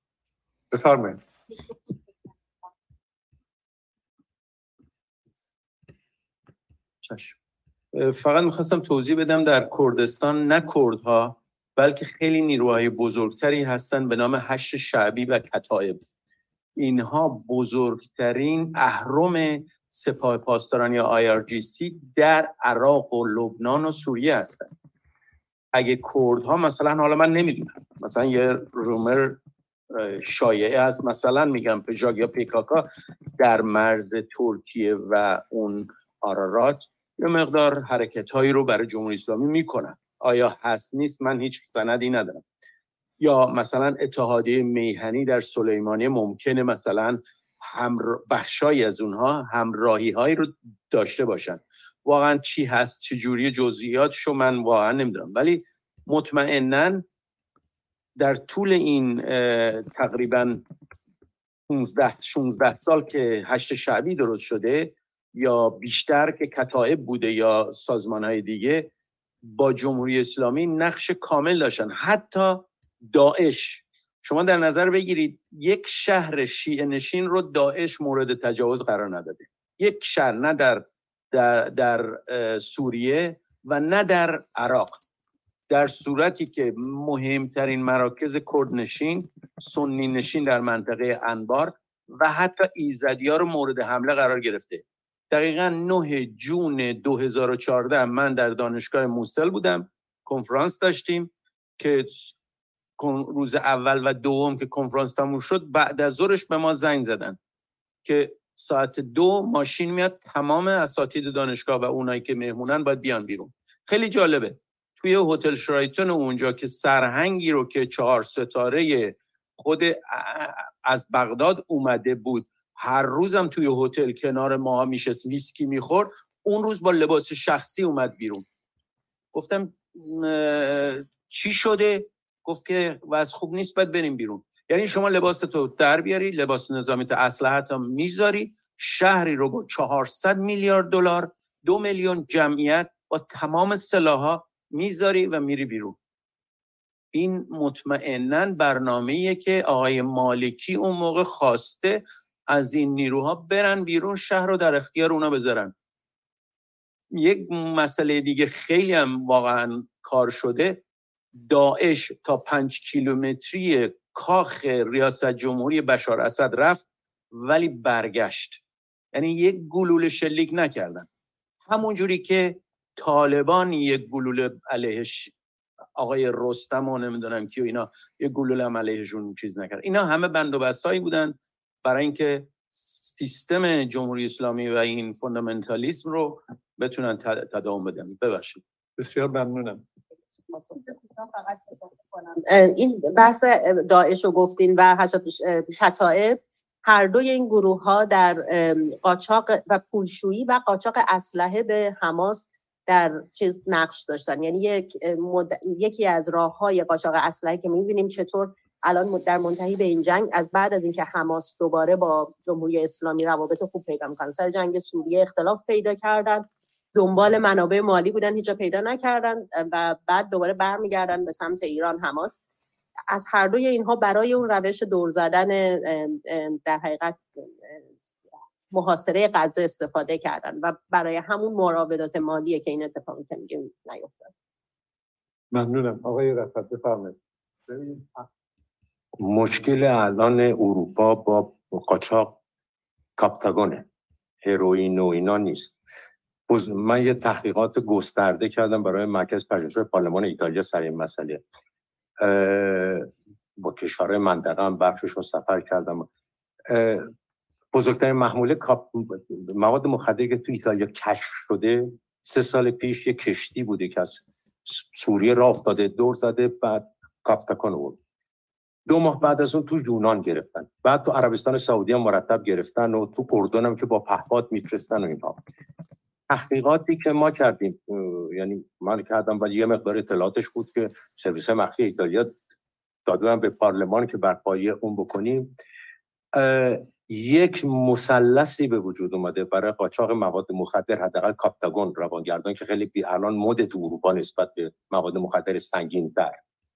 چشم. فقط میخواستم توضیح بدم در کردستان نه کردها بلکه خیلی نیروهای بزرگتری هستن به نام حشر شعبی و کتایب. اینها بزرگترین اهرم سپاه پاسداران یا IRGC در عراق و لبنان و سوریه هستن. اگه کردها مثلا، حالا من نمیدونم، مثلا یه رومر شایعه است، مثلا میگم پژاگ یا پیکاکا در مرز ترکیه و اون آرارات یه مقدار حرکت‌هایی رو برای جمهوری اسلامی میکنن. آیا هست نیست؟ من هیچ سندی ندارم. یا مثلا اتحادیه میهنی در سلیمانیه ممکنه مثلا بخشایی از اونها همراهی‌هایی رو داشته باشن. واقعا چی هست، چه جوری جزئیاتشو من واقعا نمیدونم، ولی مطمئناً در طول این تقریباً 16 سال که حشر شعبی درست شده یا بیشتر که کتایب بوده یا سازمان‌های دیگه، با جمهوری اسلامی نقش کامل داشتن. حتی داعش، شما در نظر بگیرید یک شهر شیعه نشین رو داعش مورد تجاوز قرار نداده. یک شهر، نه در سوریه و نه در عراق، در صورتی که مهمترین مراکز کردنشین، سنی نشین در منطقه انبار و حتی ایزدی‌ها رو مورد حمله قرار گرفته. دقیقاً 9 جون 2014 من در دانشگاه موسل بودم، کنفرانس داشتیم که روز اول و دوم که کنفرانس تموم شد، بعد از ظهرش به ما زنگ زدن که ساعت 2 ماشین میاد، تمام اساتید دانشگاه و اونایی که مهمونن باید بیان بیرون. خیلی جالبه. توی هتل شرایتون اونجا که سرهنگی رو که 4 ستاره خود از بغداد اومده بود، هر روزم توی هتل کنار ما میشست ویسکی میخورد، اون روز با لباس شخصی اومد بیرون. گفتم چی شده؟ گفت که وضع خوب نیست، باید بریم بیرون. یعنی شما لباستو در بیاری، لباس نظامی تو اسلحه‌ت میذاری، شهری رو با 400 میلیارد دلار، 2 میلیون جمعیت با تمام سلاح‌ها میذاری و میری بیرون. این مطمئناً برنامه‌ایه که آقای مالکی اون موقع خواسته از این نیروها برن بیرون، شهر رو در اختیار اونا بذارن. یک مسئله دیگه خیلی هم واقعاً کار شده، داعش تا 5 کیلومتری کاخ ریاست جمهوری بشار اسد رفت ولی برگشت. یعنی یک گلوله شلیک نکردن. همون جوری که طالبان یک گلوله علیهش آقای رستم و نمیدونم کی و اینا یک گلوله هم علیهشون چیز نکرد. اینا همه بندوبستایی بودن برای اینکه سیستم جمهوری اسلامی و این فوندامنتالیسم رو بتونن تداوم بدن. ببخشید. بسیار ممنونم. این بحث داعش رو گفتین و کتائب، هر دوی این گروه ها در قاچاق و پولشویی و قاچاق اسلحه به حماس در چیز نقش داشتن. یعنی یکی از راه‌های قاچاق اسلحه که می‌بینیم چطور الان در منتهی به این جنگ، از بعد از اینکه حماس دوباره با جمهوری اسلامی روابط خوب پیدا می‌کنه، سر جنگ سوریه اختلاف پیدا کردن، دنبال منابع مالی بودن، هیچ جا پیدا نکردن و بعد دوباره برمیگردن به سمت ایران. حماس از هر دوی اینها برای اون روش دور زدن در حقیقت محاصره غزه استفاده کردن و برای همون مراودات مالیه که این اتفاقی که میگیم نیفتاد. ممنونم. آقای رفعت بفرمایید. مشکل الان اروپا با قاچاق کاپتاگونه، هروئین و اینا نیست. من یه تحقیقات گسترده کردم برای مرکز پژوهش‌های پارلمان ایتالیا سر این مسئله. با کشورهای منطقه هم بخششون سفر کردم. بزرگترین محموله مواد مخدری که تو ایتالیا کشف شده 3 سال پیش یک کشتی بوده که از سوریه راه افتاده، دور زده، بعد کاپتاگون بود. 2 ماه بعد از اون تو یونان گرفتن، بعد تو عربستان سعودی هم مرتب گرفتن و تو اردن هم که با پهپاد میفرستن و اینها. تحقیقاتی که ما کردیم، یعنی من کردم ولی یه مقدار اطلاعاتش بود که سرویس مخفی ایتالیا دادن به پارلمان که بر پایه اون بکنیم، یک مثلثی به وجود اومده برای قاچاق مواد مخدر، حداقل کاپتاگون روانگردان که خیلی الان مد تو اروپا نسبت به مواد مخدر سنگین‌تر.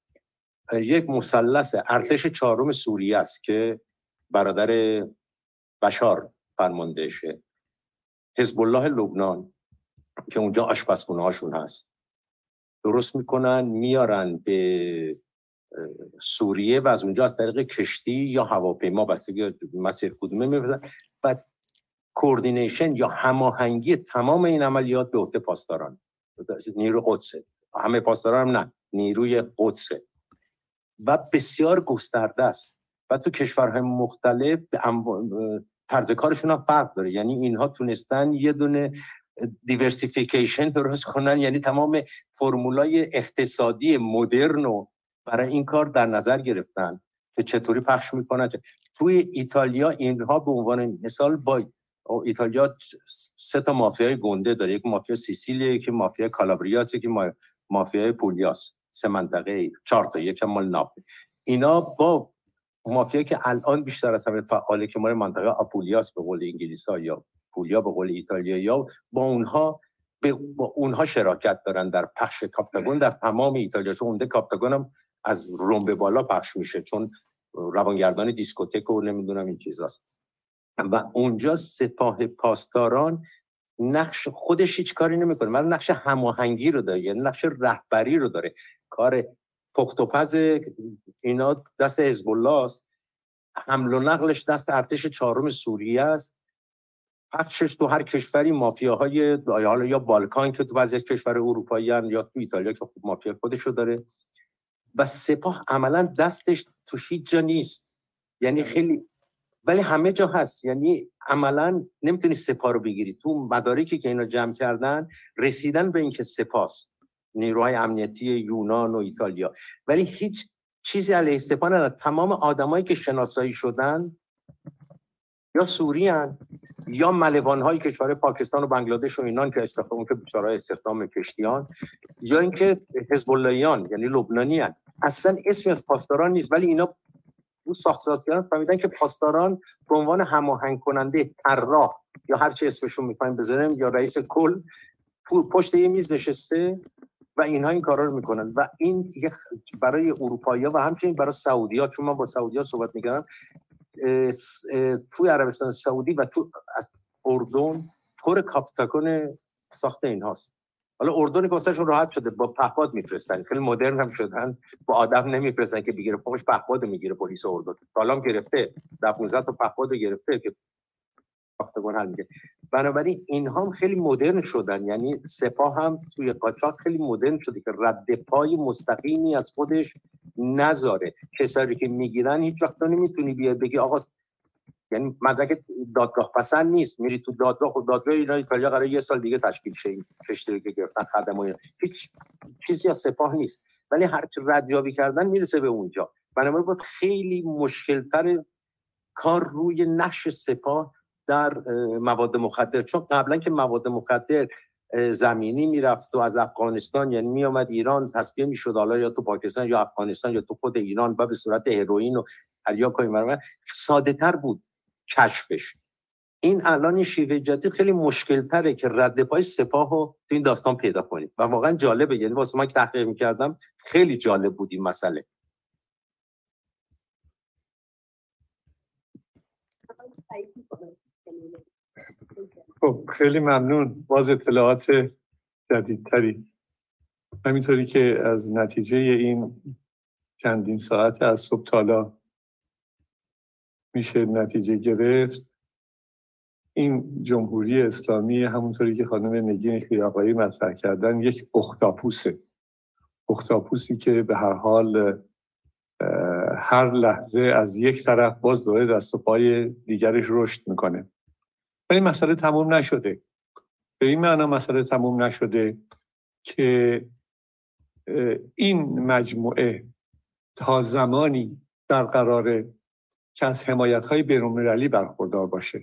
یک مثلث ارتش 4 سوریه است که برادر بشار فرماندهشه، حزب الله لبنان که اونجا آشپزخونه هاشون هست، درست میکنن میارن به سوریه و از اونجا از طریق کشتی یا هواپیما بستگی مسیر کدومه میبرن و کوردینیشن یا هماهنگی تمام این عملیات به عهده پاسداران، نیرو قدسه. همه پاسداران هم نه، نیروی قدسه و بسیار گسترده است و تو کشورهای مختلف طرز کارشون هم فرق داره. یعنی اینها تونستن یه دونه دیورسیفیکیشن درست کنن، یعنی تمام فرمولای اقتصادی مدرن رو برای این کار در نظر گرفتن که چطوری پخش میکنن. توی ایتالیا اینها به عنوان مثال با ایتالیا 3 تا مافیای گنده داره، یک مافیا سیسیلیه، یک مافیا کالابریاس، یک مافیا پولیاس، 3 منطقه، 4 تا، یک مال ناپولی. اینا با مافیا که الان بیشتر از همه فعاله که مال منطقه آپولیاس به قول انگلیس‌ها یا پولیا به قول ایتالیایی‌ها، با اونها شراکت دارن در پخش کاپتاگون در تمام ایتالیا. چون اونده کاپتاگون هم از روم به بالا پخش میشه چون روانگردان دیسکوتک و نمیدونم این چیزاست. و اونجا سپاه پاسداران نقش خودش هیچ کاری نمیکنه، من نقش هماهنگی رو داره، یعنی نقش رهبری رو داره. کار پخت و پز اینا دست حزب الله است، حمل و نقلش دست ارتش 4 سوریه است، پخشش تو هر کشوری مافیاهای حالا یا بالکان که تو بعضی از کشور اروپایی هستن یا تو ایتالیا که مافیا خودشو داره و سپاه عملا دستش تو هیچ جا نیست، یعنی خیلی ولی همه جا هست. یعنی عملا نمیتونی سپاه رو بگیری. تو مدارکی که اینا جمع کردن رسیدن به اینکه سپاس نیروهای امنیتی یونان و ایتالیا، ولی هیچ چیزی علیه سپاه نداره. تمام آدمایی که شناسایی شدن یا سوریان یا ملوان‌های کشور پاکستان و بنگلادش و اینان که استخدام که بیچاره‌های استخدام کشتیان، یا اینکه حزب اللهیان یعنی لبنانیان، اصلا اسمی از پاسداران نیست. ولی اینا اون ساخت‌سازگران فهمیدن که پاسداران به عنوان هماهنگ کننده، طراح یا هر چی اسمشون می‌خوایم بذاریم یا رئیس کل پشت یه میز نشسته و اینها این کارا رو میکنن. و این برای اروپایی‌ها و همچنین برای سعودی‌ها، چون من با سعودی‌ها صحبت می‌کردم، توی عربستان سعودی و تو از اردن پر کاپتاگون ساخت اینهاست. حالا اردن که واسهشون راحت شده، با پهپاد میفرستن، خیلی مدرن هم شدن، با آدم نمیفرستن که بگیره پاش پهپاد میگیره. پلیس اردن سالام گرفته 15 تا پهپاد گرفته که کاپتاگون حل میگه. بنابراین اینها هم خیلی مدرن شدن، یعنی سپاه هم توی قاچاق خیلی مدرن شده که رد پای مستقیمی از خودش نذاره. کسایی که میگیرن هیچ وقت نمیتونی بیای بگی آقا، یعنی مدرک دادگاه پسند نیست، میری تو دادگاه و دادگاه ایتالیا قراره 1 سال دیگه تشکیل شه، کشتی که گرفتن خدمات هیچ چیزی از سپاه نیست، ولی هر چه ردیابی کردن میرسه به اونجا. بنابراین بود خیلی مشکل‌تر کار روی نقش سپاه در مواد مخدر، چون قبلا که مواد مخدر زمینی میرفت و از افغانستان یعنی میامد ایران تصفیه میشد، حالا یا تو پاکستان یا افغانستان یا تو خود ایران و به صورت هروئین و تریاک و این ساده تر بود کشفش. این الان این شیوه جدید خیلی مشکل تره که رد پای سپاه رو تو این داستان پیدا کنید و واقعا جالبه. یعنی واسه من که تحقیق میکردم خیلی جالب بود این مسئله. خب خیلی ممنون. باز اطلاعات جدیدتری. همینطوری که از نتیجه این چندین ساعت از صبح تا حالا میشه نتیجه گرفت، این جمهوری اسلامی همونطوری که خانم نگین خیرآقایی مطرح کردن یک اختاپوسه. اختاپوسی که به هر حال هر لحظه از یک طرف باز دوره دست و پای دیگرش رشد میکنه. این مسئله تموم نشده. به این معنا مسئله تموم نشده که این مجموعه تا زمانی برقراره که از حمایت‌های بین‌المللی برخوردار باشه.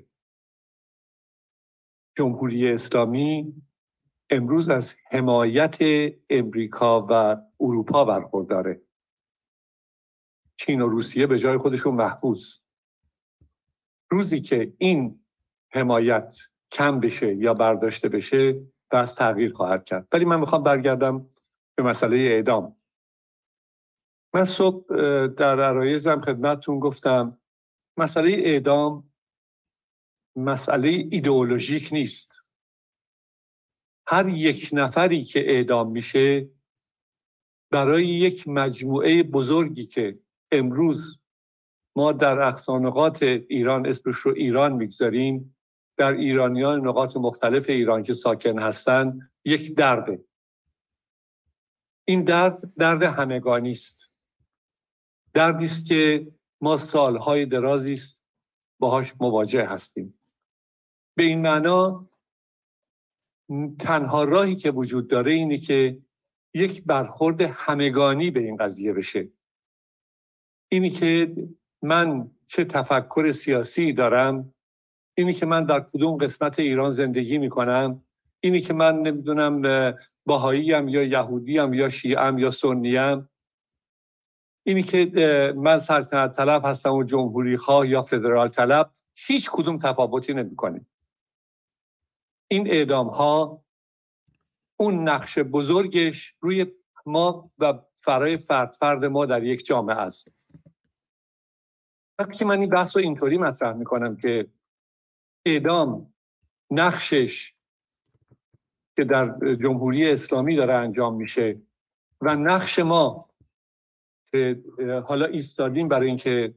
جمهوری اسلامی امروز از حمایت امریکا و اروپا برخورداره. چین و روسیه به جای خودشون محفوظ. روزی که این حمایت کم بشه یا برداشته بشه بس تغییر خواهد کرد. ولی من میخوام برگردم به مسئله اعدام. من صبح در عرایزم خدمتتون گفتم مسئله اعدام مسئله ایدئولوژیک نیست. هر یک نفری که اعدام میشه برای یک مجموعه بزرگی که امروز ما در اقصانقاط ایران اسمش رو ایران میگذاریم، در ایرانیان نقاط مختلف ایران که ساکن هستند، یک درده. این درد همگانی است. دردی است که ما سالهای درازی است باهاش مواجه هستیم. به این معنا تنها راهی که وجود داره اینه که یک برخورد همگانی به این قضیه بشه. اینی که من چه تفکر سیاسی دارم، اینی که من در کدوم قسمت ایران زندگی میکنم، اینی که من نمیدونم بهاییم یا یهودیم یا شیعم یا سنیم، اینی که من سلطنت طلب هستم و جمهوری خواه یا فدرال طلب، هیچ کدوم تفاوتی نمیکنه. این اعدام ها اون نقش بزرگش روی ما و فرای فرد ما در یک جامعه است. وقتی که من این بحث رو اینطوری مطرح میکنم که اعدام نقشش که در جمهوری اسلامی داره انجام میشه و نقش ما که حالا ایستادیم برای اینکه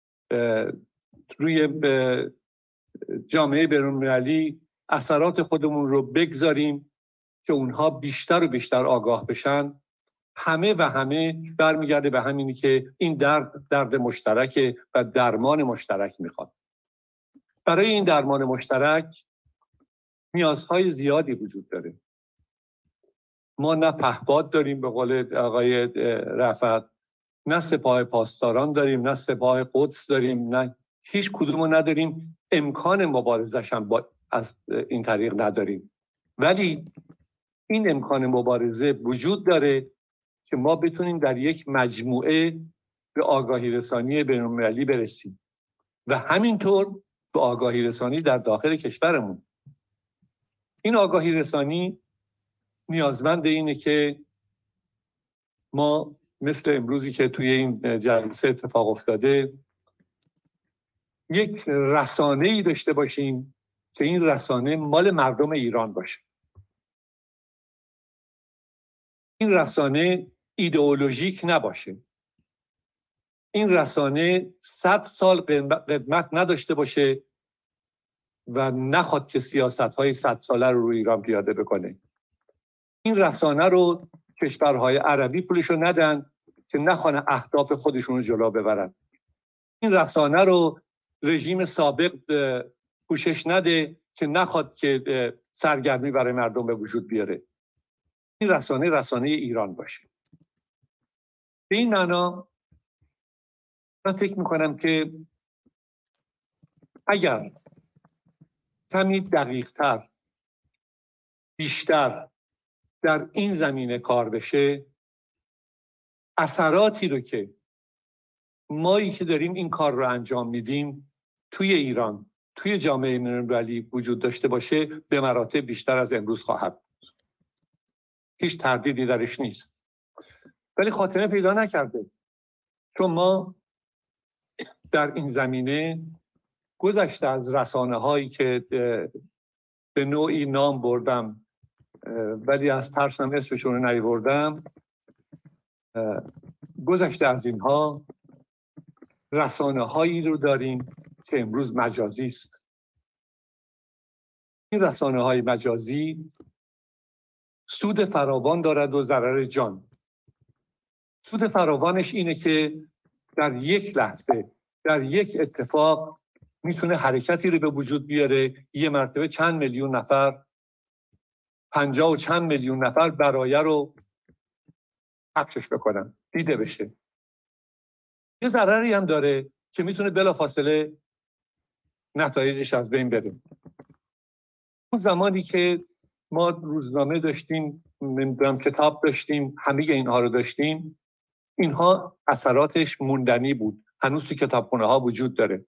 روی جامعه بین‌المللی اثرات خودمون رو بگذاریم که اونها بیشتر و بیشتر آگاه بشن، همه و همه برمیگرده به همینی که این درد مشترک و درمان مشترک میخواد. برای این درمان مشترک نیازهای زیادی وجود داره. ما نه پهپاد داریم به قول آقای رفعت، نه سپاه پاسداران داریم، نه سپاه قدس داریم، نه هیچ کدومو نداریم. امکان مبارزش هم از این طریق نداریم. ولی این امکان مبارزه وجود داره که ما بتونیم در یک مجموعه به آگاهی رسانی بین‌المللی برسیم و همینطور به آگاهی رسانی در داخل کشورمون. این آگاهی رسانی نیازمند اینه که ما مثل امروزی که توی این جلسه اتفاق افتاده یک رسانه‌ای داشته باشیم که این رسانه مال مردم ایران باشه. این رسانه ایدئولوژیک نباشه. این رسانه 100 سال قدمت نداشته باشه و نخواد که سیاست‌های 100 ساله رو روی ایران پیاده بکنه. این رسانه رو کشورهای عربی پولشو ندن که نخوان اهداف خودشون رو جلو ببرن. این رسانه رو رژیم سابق پوشش نده که نخواد که سرگرمی برای مردم به وجود بیاره. این رسانه ایران باشه. به این معنا من فکر میکنم که اگر کمی دقیق‌تر بیشتر در این زمینه کار بشه، اثراتی رو که مایی که داریم این کار رو انجام میدیم توی ایران، توی جامعه بین‌المللی وجود داشته باشه، به مراتب بیشتر از امروز خواهد بود. هیچ تردیدی درش نیست. ولی خاتمه پیدا نکرده. چون ما در این زمینه گذشته از رسانه هایی که به نوعی نام بردم ولی از ترسم اسمشون رو نیاوردم، گذشته از اینها رسانه هایی رو داریم که امروز مجازی است. این رسانه های مجازی سود فراوان دارد و ضرر جان. سود فراوانش اینه که در یک لحظه، در یک اتفاق میتونه حرکتی رو به وجود بیاره، یه مرتبه چند میلیون نفر، 50 و چند میلیون نفر برایه رو پخشش بکنن، دیده بشه. یه ضرری هم داره که میتونه بلافاصله نتایجش از بین بره. اون زمانی که ما روزنامه داشتیم، نمیدونم کتاب داشتیم، همه اینها رو داشتیم، اینها اثراتش موندنی بود، هنوز تو کتابخونه ها وجود داره.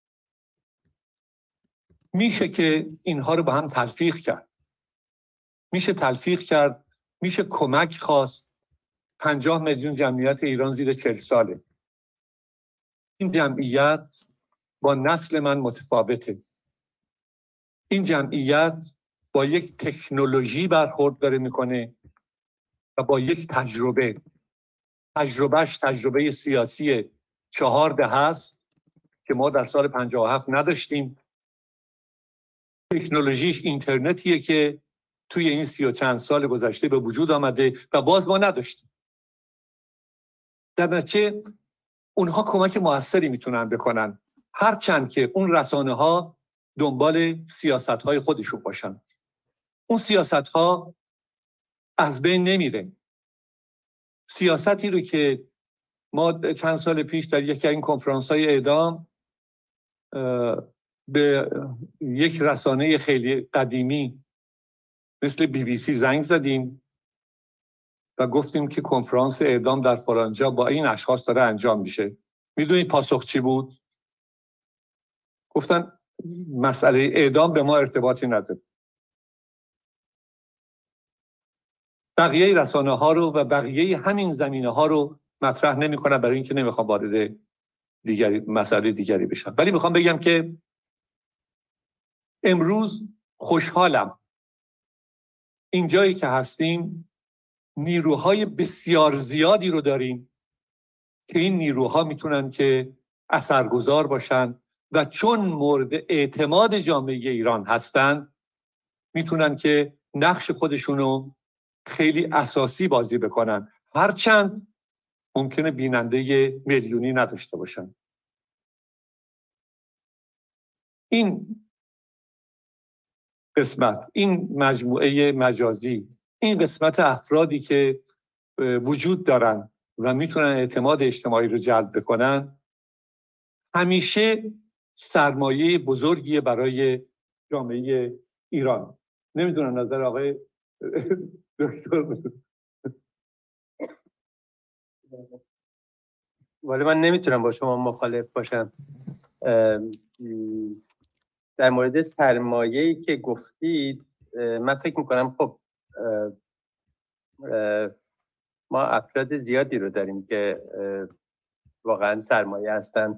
میشه که اینها رو با هم تلفیق کرد، میشه تلفیق کرد، میشه کمک خواست. 50 میلیون جمعیت ایران زیر 40 ساله. این جمعیت با نسل من متفاوته. این جمعیت با یک تکنولوژی برخورد داره میکنه و با یک تجربهش تجربه سیاسی 4 دهه است که ما در سال 57 نداشتیم. تکنولوژیش اینترنتیه که توی این 30 و چند سال گذشته به وجود آمده و باز ما نداشتیم. در نتیجه اونها کمک موثری میتونن بکنن، هرچند که اون رسانه ها دنبال سیاست های خودشون باشن. اون سیاست ها از بین نمیره. سیاستی رو که ما چند سال پیش در یکی از این کنفرانس های اعدام به یک رسانه خیلی قدیمی مثل BBC زنگ زدیم و گفتیم که کنفرانس اعدام در فلانجا با این اشخاص داره انجام میشه. میدونید پاسخ چی بود؟ گفتن مسئله اعدام به ما ارتباطی نداره. بقیه رسانه ها رو و بقیه همین زمینه ها رو مطرح نمی کنن، برای اینکه نمیخوام وارد مسئله دیگری بشم. ولی میخوام بگم که امروز خوشحالم اینجایی که هستیم نیروهای بسیار زیادی رو داریم که این نیروها میتونن که اثرگذار باشن و چون مورد اعتماد جامعه ایران هستن میتونن که نقش خودشونو خیلی اساسی بازی بکنن، هرچند ممکنه بیننده میلیونی نداشته باشن. این قسمت، این مجموعه مجازی، این قسمت افرادی که وجود دارن و میتونن اعتماد اجتماعی رو جلب بکنن، همیشه سرمایه بزرگی برای جامعه ایران. نمیدونم نظر آقای دکتر. ولی من نمیتونم با شما مخالف باشم. در مورد سرمایه‌ای که گفتید من فکر میکنم خب ما افراد زیادی رو داریم که واقعا سرمایه هستن.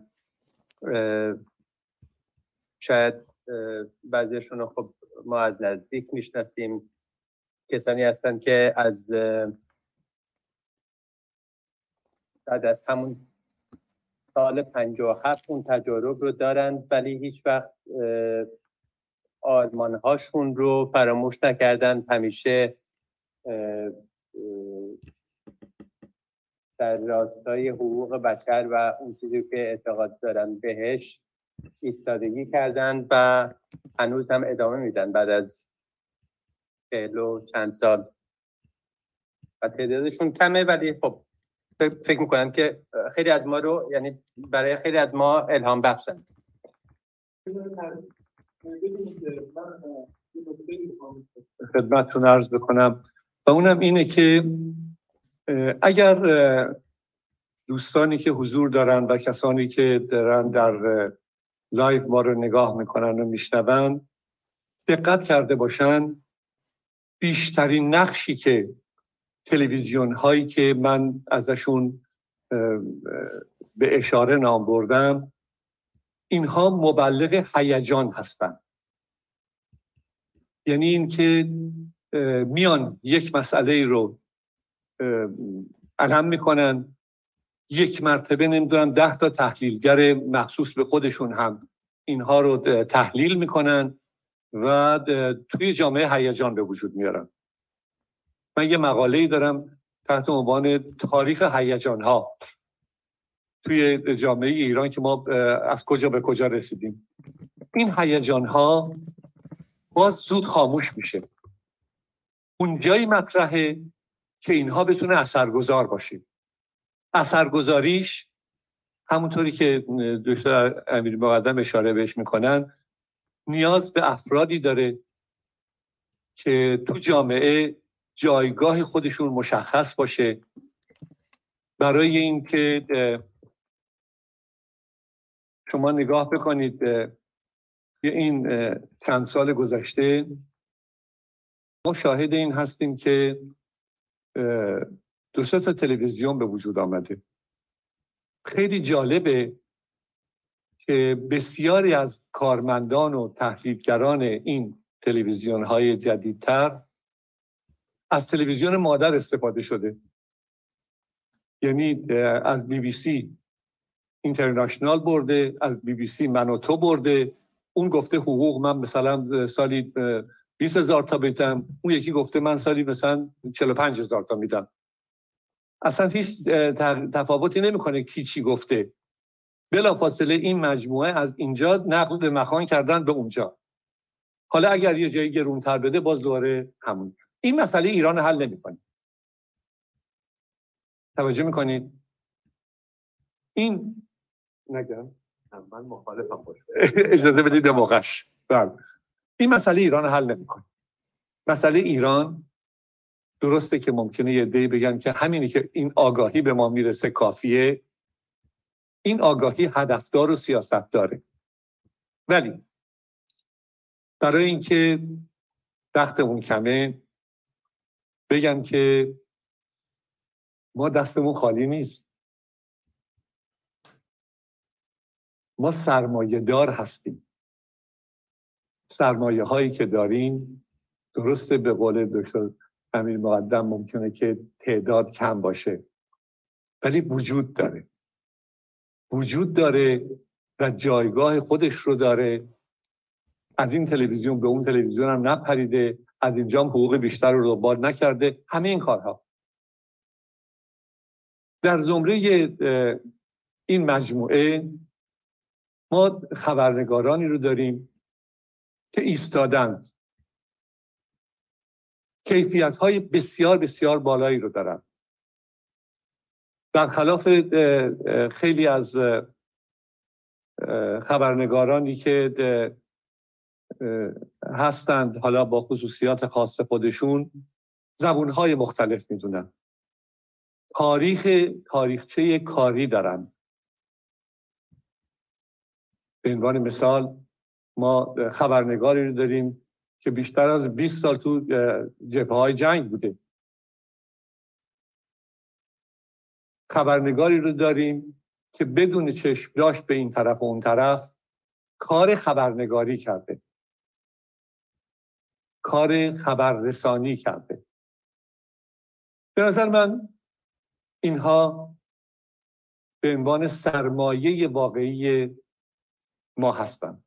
شاید بعضیشون رو خب ما از نزدیک میشناسیم، کسانی هستن که از بعد از همون سال 57 اون تجارب رو دارن ولی هیچ وقت آرمان‌هاشون رو فراموش نکردن، همیشه در راستای حقوق بشر و اون چیزی که اعتقاد دارن بهش ایستادگی کردن و هنوز هم ادامه میدن بعد از 40 و چند سال و تعدادشون کمه ولی خب فکر میکنم که خیلی از ما رو، یعنی برای خیلی از ما الهام بخشن. خدمتتون عرض بکنم و اونم اینه که اگر دوستانی که حضور دارن و کسانی که دارن در لایو ما رو نگاه میکنن و میشنون دقت کرده باشن، بیشترین نقشی که تلویزیون هایی که من ازشون به اشاره نام بردم اینها مبلغ هیجان هستند. یعنی این که میان یک مسئله رو علم میکنن، یک مرتبه نمیدونم 10 تا تحلیلگر مخصوص به خودشون هم اینها رو تحلیل میکنن و توی جامعه هیجان به وجود میارن. من یه مقاله‌ای دارم تحت عنوان تاریخ هیجان ها توی جامعه ایران که ما از کجا به کجا رسیدیم. این هیجان ها باز زود خاموش میشه. اونجایی مطرحه که اینها بتونه اثرگذار باشه. اثرگذاریش همونطوری که دکتر امیری مقدم اشاره بهش میکنن، نیاز به افرادی داره که تو جامعه جایگاه خودشون مشخص باشه. برای اینکه شما نگاه بکنید این چند سال گذشته ما شاهد این هستیم که 2 تا تلویزیون به وجود آمده. خیلی جالبه که بسیاری از کارمندان و تحلیلگران این تلویزیون‌های جدیدتر از تلویزیون مادر استفاده شده. یعنی از BBC اینترنشنال برده، از BBC من و تو برده. اون گفته حقوق من مثلا سالی 20,000 تا میدم، اون یکی گفته من سالی مثلا 45,000 تا میدم. اصلا هیچ تفاوتی نمیکنه کی چی گفته. بلافاصله این مجموعه از اینجا نقل به مکان کردن به اونجا. حالا اگر یه جایی گرونتر بده باز دوباره همون. این مسئله ایران حل نمیکنه. توجه میکنید؟ این نگم من مخالفم باشه. اجازه بدید موقعش. این مسئله ایران حل نمیکنه. مسئله ایران درسته که ممکنه یه عده‌ای بگن که همینی که این آگاهی به ما میرسه کافیه. این آگاهی هدفدار و سیاست داره. ولی برای اینکه وقتمون کمه بگم که ما دستمون خالی نیست. ما سرمایه دار هستیم. سرمایه هایی که داریم درسته به قول دکتر امیر مقدم ممکنه که تعداد کم باشه، ولی وجود داره. وجود داره و جایگاه خودش رو داره. از این تلویزیون به اون تلویزیون هم نپریده، از اینجا هم حقوق بیشتر رو دنبال نکرده. همه این کارها در زمره این مجموعه ما خبرنگارانی رو داریم که ایستادند، کیفیت‌های بسیار بسیار بالایی رو دارن. برخلاف خیلی از خبرنگارانی که هستند حالا با خصوصیات خاص خودشون، زبون‌های مختلف میدونن، تاریخچه کاری دارن. به عنوان مثال ما خبرنگاری رو داریم که بیشتر از 20 سال تو جبهه‌های جنگ بوده. خبرنگاری رو داریم که بدون چشم داشت به این طرف و اون طرف کار خبرنگاری کرده، کار خبررسانی کرده. به نظر من اینها به عنوان سرمایه واقعی ما هستند.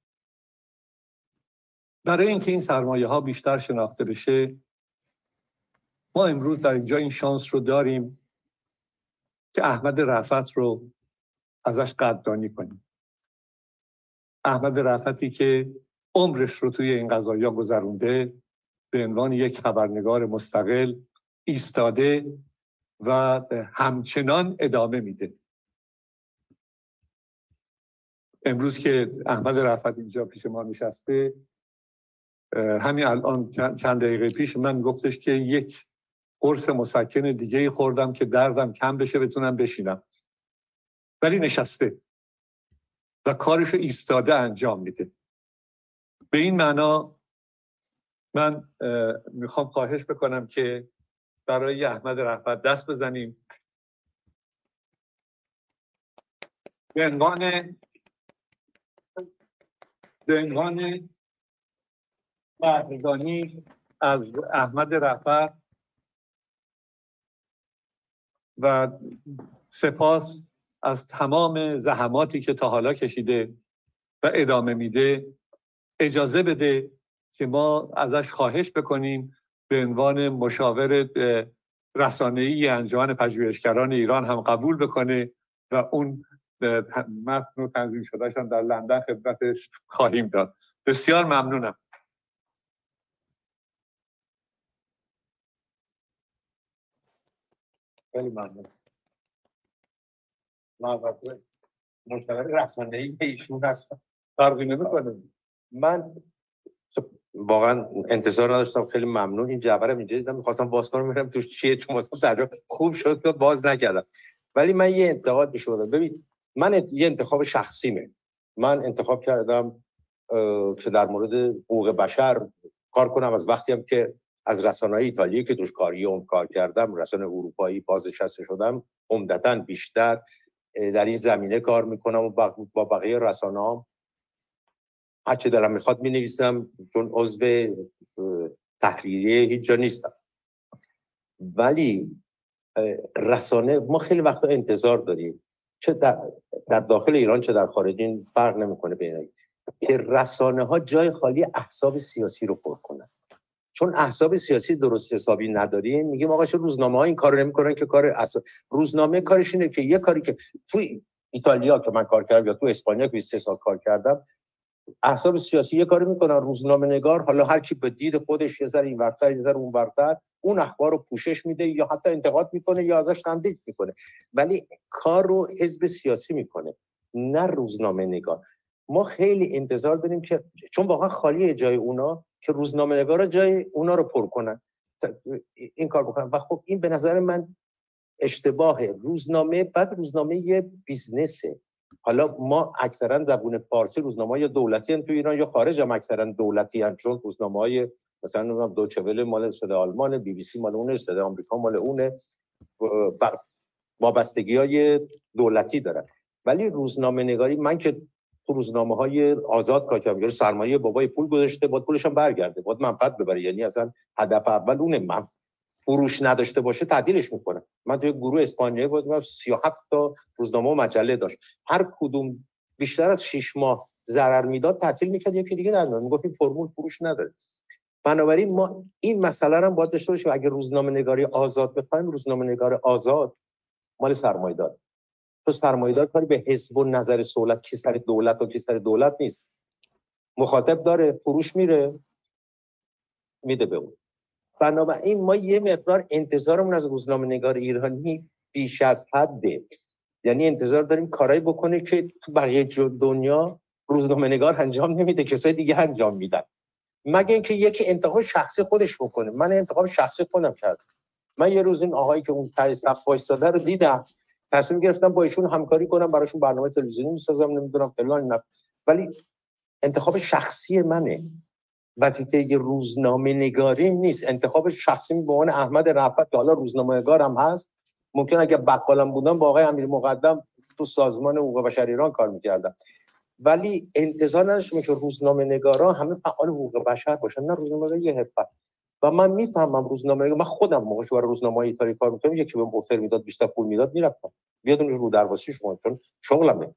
برای اینکه این سرمایه ها بیشتر شناخته بشه، ما امروز در اینجا این شانس رو داریم که احمد رفعت رو ازش قدردانی کنیم. احمد رفعتی که عمرش رو توی این قضایا گذرونده، به عنوان یک خبرنگار مستقل ایستاده و همچنان ادامه میده. امروز که احمد رفعت اینجا پیش ما نشسته، همین الان چند دقیقه پیش من گفتش که یک قرص مسکن دیگه خوردم که دردم کم بشه بتونم بشینم، ولی نشسته و کارشو ایستاده انجام میده. به این معنا من میخوام خواهش بکنم که برای احمد رفعت دست بزنیم. به عنوان به عنوان قدردانی از احمد رفعت و سپاس از تمام زحماتی که تا حالا کشیده و ادامه میده، اجازه بده که ما ازش خواهش بکنیم به عنوان مشاور رسانه‌ای انجمن پژوهشگران ایران هم قبول بکنه و اون متن و تنظیم شدهشان در لندن خدمتش خواهیم داد. بسیار ممنونم. خیلی ممنون. مشاور رسانه‌ای ایشون هستم. فرقی نمی‌کنه. من واقعا انتظار نداشتم. خیلی ممنون. این جعبه رو اینجا دیدم می‌خواستم باز کنم ببینم توش چیه، چون مثلا در خوب شد که باز نکردم. ولی من یه انتقاد می‌شدم. ببین من یه انتخاب شخصیمه. من انتخاب کردم که در مورد حقوق بشر کار کنم از وقتی هم که از رسانه‌های ایتالیایی که توش کار کردم، رسانه اروپایی بازنشسته شدم، عمدتاً بیشتر در این زمینه کار میکنم و با بقیه رسانه‌ها هر چه دلم میخواد مینویسم، چون عضو تحریریه هیچ جا نیستم. ولی رسانه ما خیلی وقتا انتظار داریم، چه در داخل ایران چه در خارج، این فرق نمیکنه بین، که رسانه ها جای خالی احزاب سیاسی رو پر کنن. چون احزاب سیاسی درست حسابی نداریم، میگیم آقا چه روزنامه ها این کارو نمیکنن که کار روزنامه کارش اینه که یه کاری که تو ایتالیا که من کار کردم یا تو اسپانیا که 23 سال کار کردم، احزاب سیاسی یه کاری میکنن، روزنامه نگار حالا هر کی به دید خودش یه ذره این ورتر یه ذره اون ورتر اون اخبار رو پوشش میده یا حتی انتقاد میکنه یا ازش تندید میکنه، ولی کار رو حزب سیاسی میکنه نه روزنامه نگار. ما خیلی انتظار داریم که چون واقعا خالیه جای اونا که روزنامه نگارا جای اونا رو پر کنن، این کار بکنن. و خب این به نظر من اشتباهه. روزنامه یه بیزنسه. حالا ما اکثرا زبون فارسی روزنامه‌های دولتی ان تو ایران یا خارج هم اکثرا دولتی ان، چون روزنامه‌های مثلا دوچه ول مال صدای آلمان، بی بی سی مال اونه، صدای آمریکا مال اونه، وابستگی‌های دولتی دارن. ولی روزنامه نگاری، من که تو روزنامه‌های آزاد کار کردم، سرمایه بابای پول گذاشته، بعد پولش هم برگرده، بعد منفعت ببره، یعنی اصلا هدف اول اونه. من فروش نداشته باشه تعطیلش میکنه. من توی گروه اسپانیایی بودم 37 تا روزنامه و مجله داشت، هر کدوم بیشتر از 6 ماه ضرر میداد تعطیل میکرد، یکی دیگه در میاد میگفت این فرمول فروش نداره. بنابراین ما این مسئله رو هم باید داشته باشیم. اگه روزنامه نگاری آزاد بخوایم، روزنامه نگار آزاد مال سرمایه‌دار. تو سرمایه‌دار کاری به حزب و نظر دولت کی سر دولت و کی سر دولت نیست. مخاطب داره، فروش میده به اون. بنابراین ما یه مقدار انتظارمون از روزنامه نگار ایرانی بیش از حده. یعنی انتظار داریم کارایی بکنه که تو بقیه دنیا روزنامه نگار انجام نمیده، کسای دیگه انجام میدن، مگه اینکه یکی انتخاب شخصی خودش بکنه. من انتخاب شخصی خودم کردم. من یه روز این آقایی که اون ته صف وایساده رو دیدم، تصمیم گرفتم با ایشون همکاری کنم، براشون برنامه تلویزیونی میسازم، نمیدونم فلان اینا. ولی انتخاب شخصی منه، وظیفه روزنامه نگاری نیست. انتخاب شخصی به عنوان احمد رفعت که حالا روزنامه نگار هم هست، ممکن اگه بقالم بودم با آقای امیر مقدم تو سازمان حقوق بشر ایران کار میکردم. ولی انتظار نداشتم که روزنامه نگارا همه فعال حقوق بشر باشن، نه، روزنامه نگار یه حرفه. و من میفهمم روزنامه نگار، من خودم موقعی برای روزنامه‌های ایتالیایی کار می‌کردم، یکی بهم اوفر میداد بیشتر پول میداد میرفتم، بیاد اون رو درواسی شما، چون شغلمه.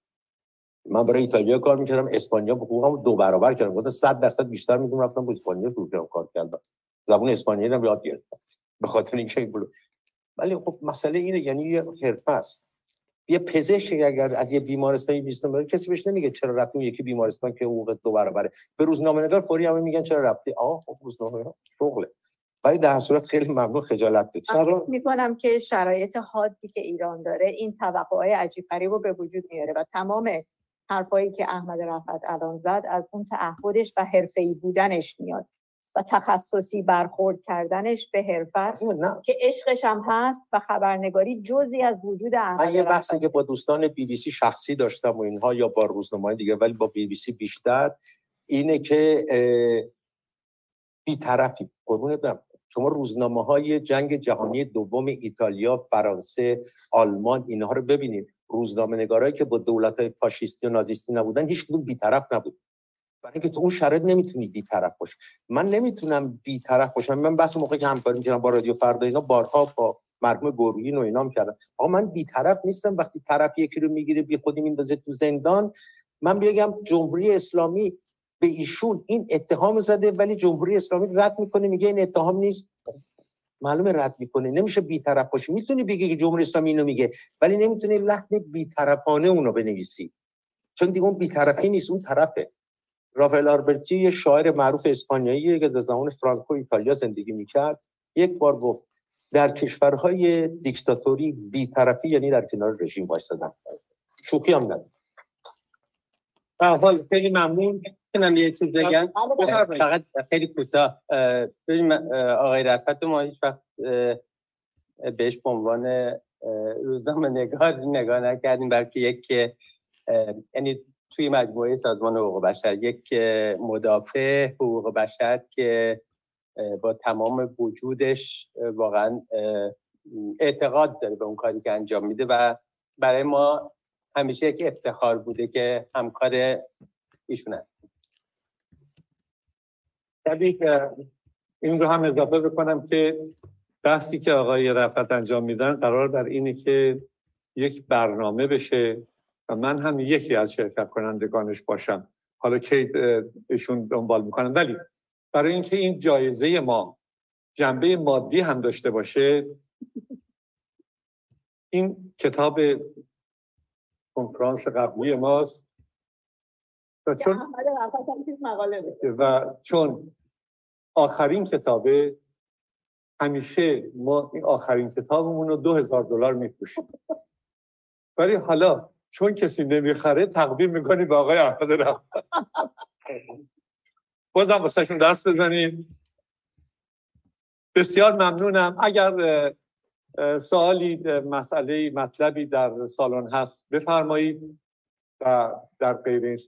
من برای ایتالیا کار می‌کردم، اسپانیا حقوقم 2 برابر کردم، گفتم 100% بیشتر میدونم، رفتم با اسپانیا شروع کردم کار کردن، زبان اسپانیایی رو یاد گرفتم به خاطر اینکه این بود. ولی خب مسئله اینه، یعنی یه حرفه است. یه پزشک اگر از یه بیمارستانی بیستون بره، کسی بهش نمیگه چرا رفتی اون یکی بیمارستان که حقوق 2 برابره. به روزنامه نگار فوری هم میگن چرا رفتی. خب روزنامه نگار شغله. ولی در صورت خیلی ممنون، خجالت بکشید. می‌کنم که شرایط حادی که ایران داره این توقعات عجیب غریب رو به وجود میاره و تمام حرفایی که احمد رفعت الان زد از اون تعهدش و حرفه‌ای بودنش میاد و تخصصی برخورد کردنش به حرفت که عشقش هم هست و خبرنگاری جزئی از وجود احمد رفعت. من یه بحثی که با دوستان بی بی سی شخصی داشتم و اینها، یا با روزنامه‌های دیگه، ولی با بی بی سی بیشتر، اینه که بی‌طرفی. قربونت برم، شما روزنامه‌های جنگ جهانی دوم ایتالیا، فرانسه، آلمان، اینها رو ببینید. روزنامه‌نگارایی که با دولت‌های فاشیستی و نازیستی نبودن، هیچ کدوم بی‌طرف نبود. برای اینکه تو اون شرایط نمیتونی بی‌طرف باشی. من نمیتونم بی‌طرف باشم. من بس موقعی که همکاری می‌کردم با رادیو فردا اینا بارها با مرحوم گرویی و اینا می‌کردم، آقا من بی‌طرف نیستم. وقتی طرف یکی رو میگیره بی خودی میندازه تو زندان، من بگم جمهوری اسلامی به ایشون این اتهام زده ولی جمهوری اسلامی رد میکنه، میگه این اتهام نیست. معلومه رد میکنه. نمیشه بی‌طرف باشی. میتونی بگی که جمهوری اسلامی اینو میگه ولی نمیتونی لحن بی‌طرفانه اونو بنویسی، چون دیگه اون بی‌طرفی نیست، اون طرفه. رافائل آلبرتی یه شاعر معروف اسپانیاییه که در زمان فرانکو ایتالیا زندگی میکرد، یک بار گفت در کشورهای دیکتاتوری بی‌طرفی یعنی در کنار رژیم وایسادن. شوخی هم نداره. به هر حال خیلی ممنون. کنم یه چیز بگم فقط خیلی کوتاه. ببین آقای رفعت ما هیچ وقت بهش به عنوان روزنامه نگاه نکردیم، بلکه یک یعنی توی مجموعه سازمان حقوق بشر یک مدافع حقوق بشر که با تمام وجودش واقعا اعتقاد داره به اون کاری که انجام میده و برای ما همیشه یک افتخار بوده که همکار ایشون هست. طبیعی این رو هم اضافه بکنم که بحثی که آقای رفعت انجام میدن قرار بر اینه که یک برنامه بشه و من هم یکی از شرکت کنندگانش باشم. حالا که ایشون دنبال میکنم، ولی برای اینکه این جایزه ما جنبه مادی هم داشته باشه، این کتاب کنفرانس قبلی ماست و چون آخرین کتابه، همیشه ما این آخرین کتابمون رو $2000 میفروشیم، ولی حالا چون کسی نمیخره تقدیم میکنیم به آقای احمد رفعت. بازم واسه شون دست بزنیم. بسیار ممنونم. اگر سوالی، مسئله، مطلبی در سالن هست بفرمایید و در غیر این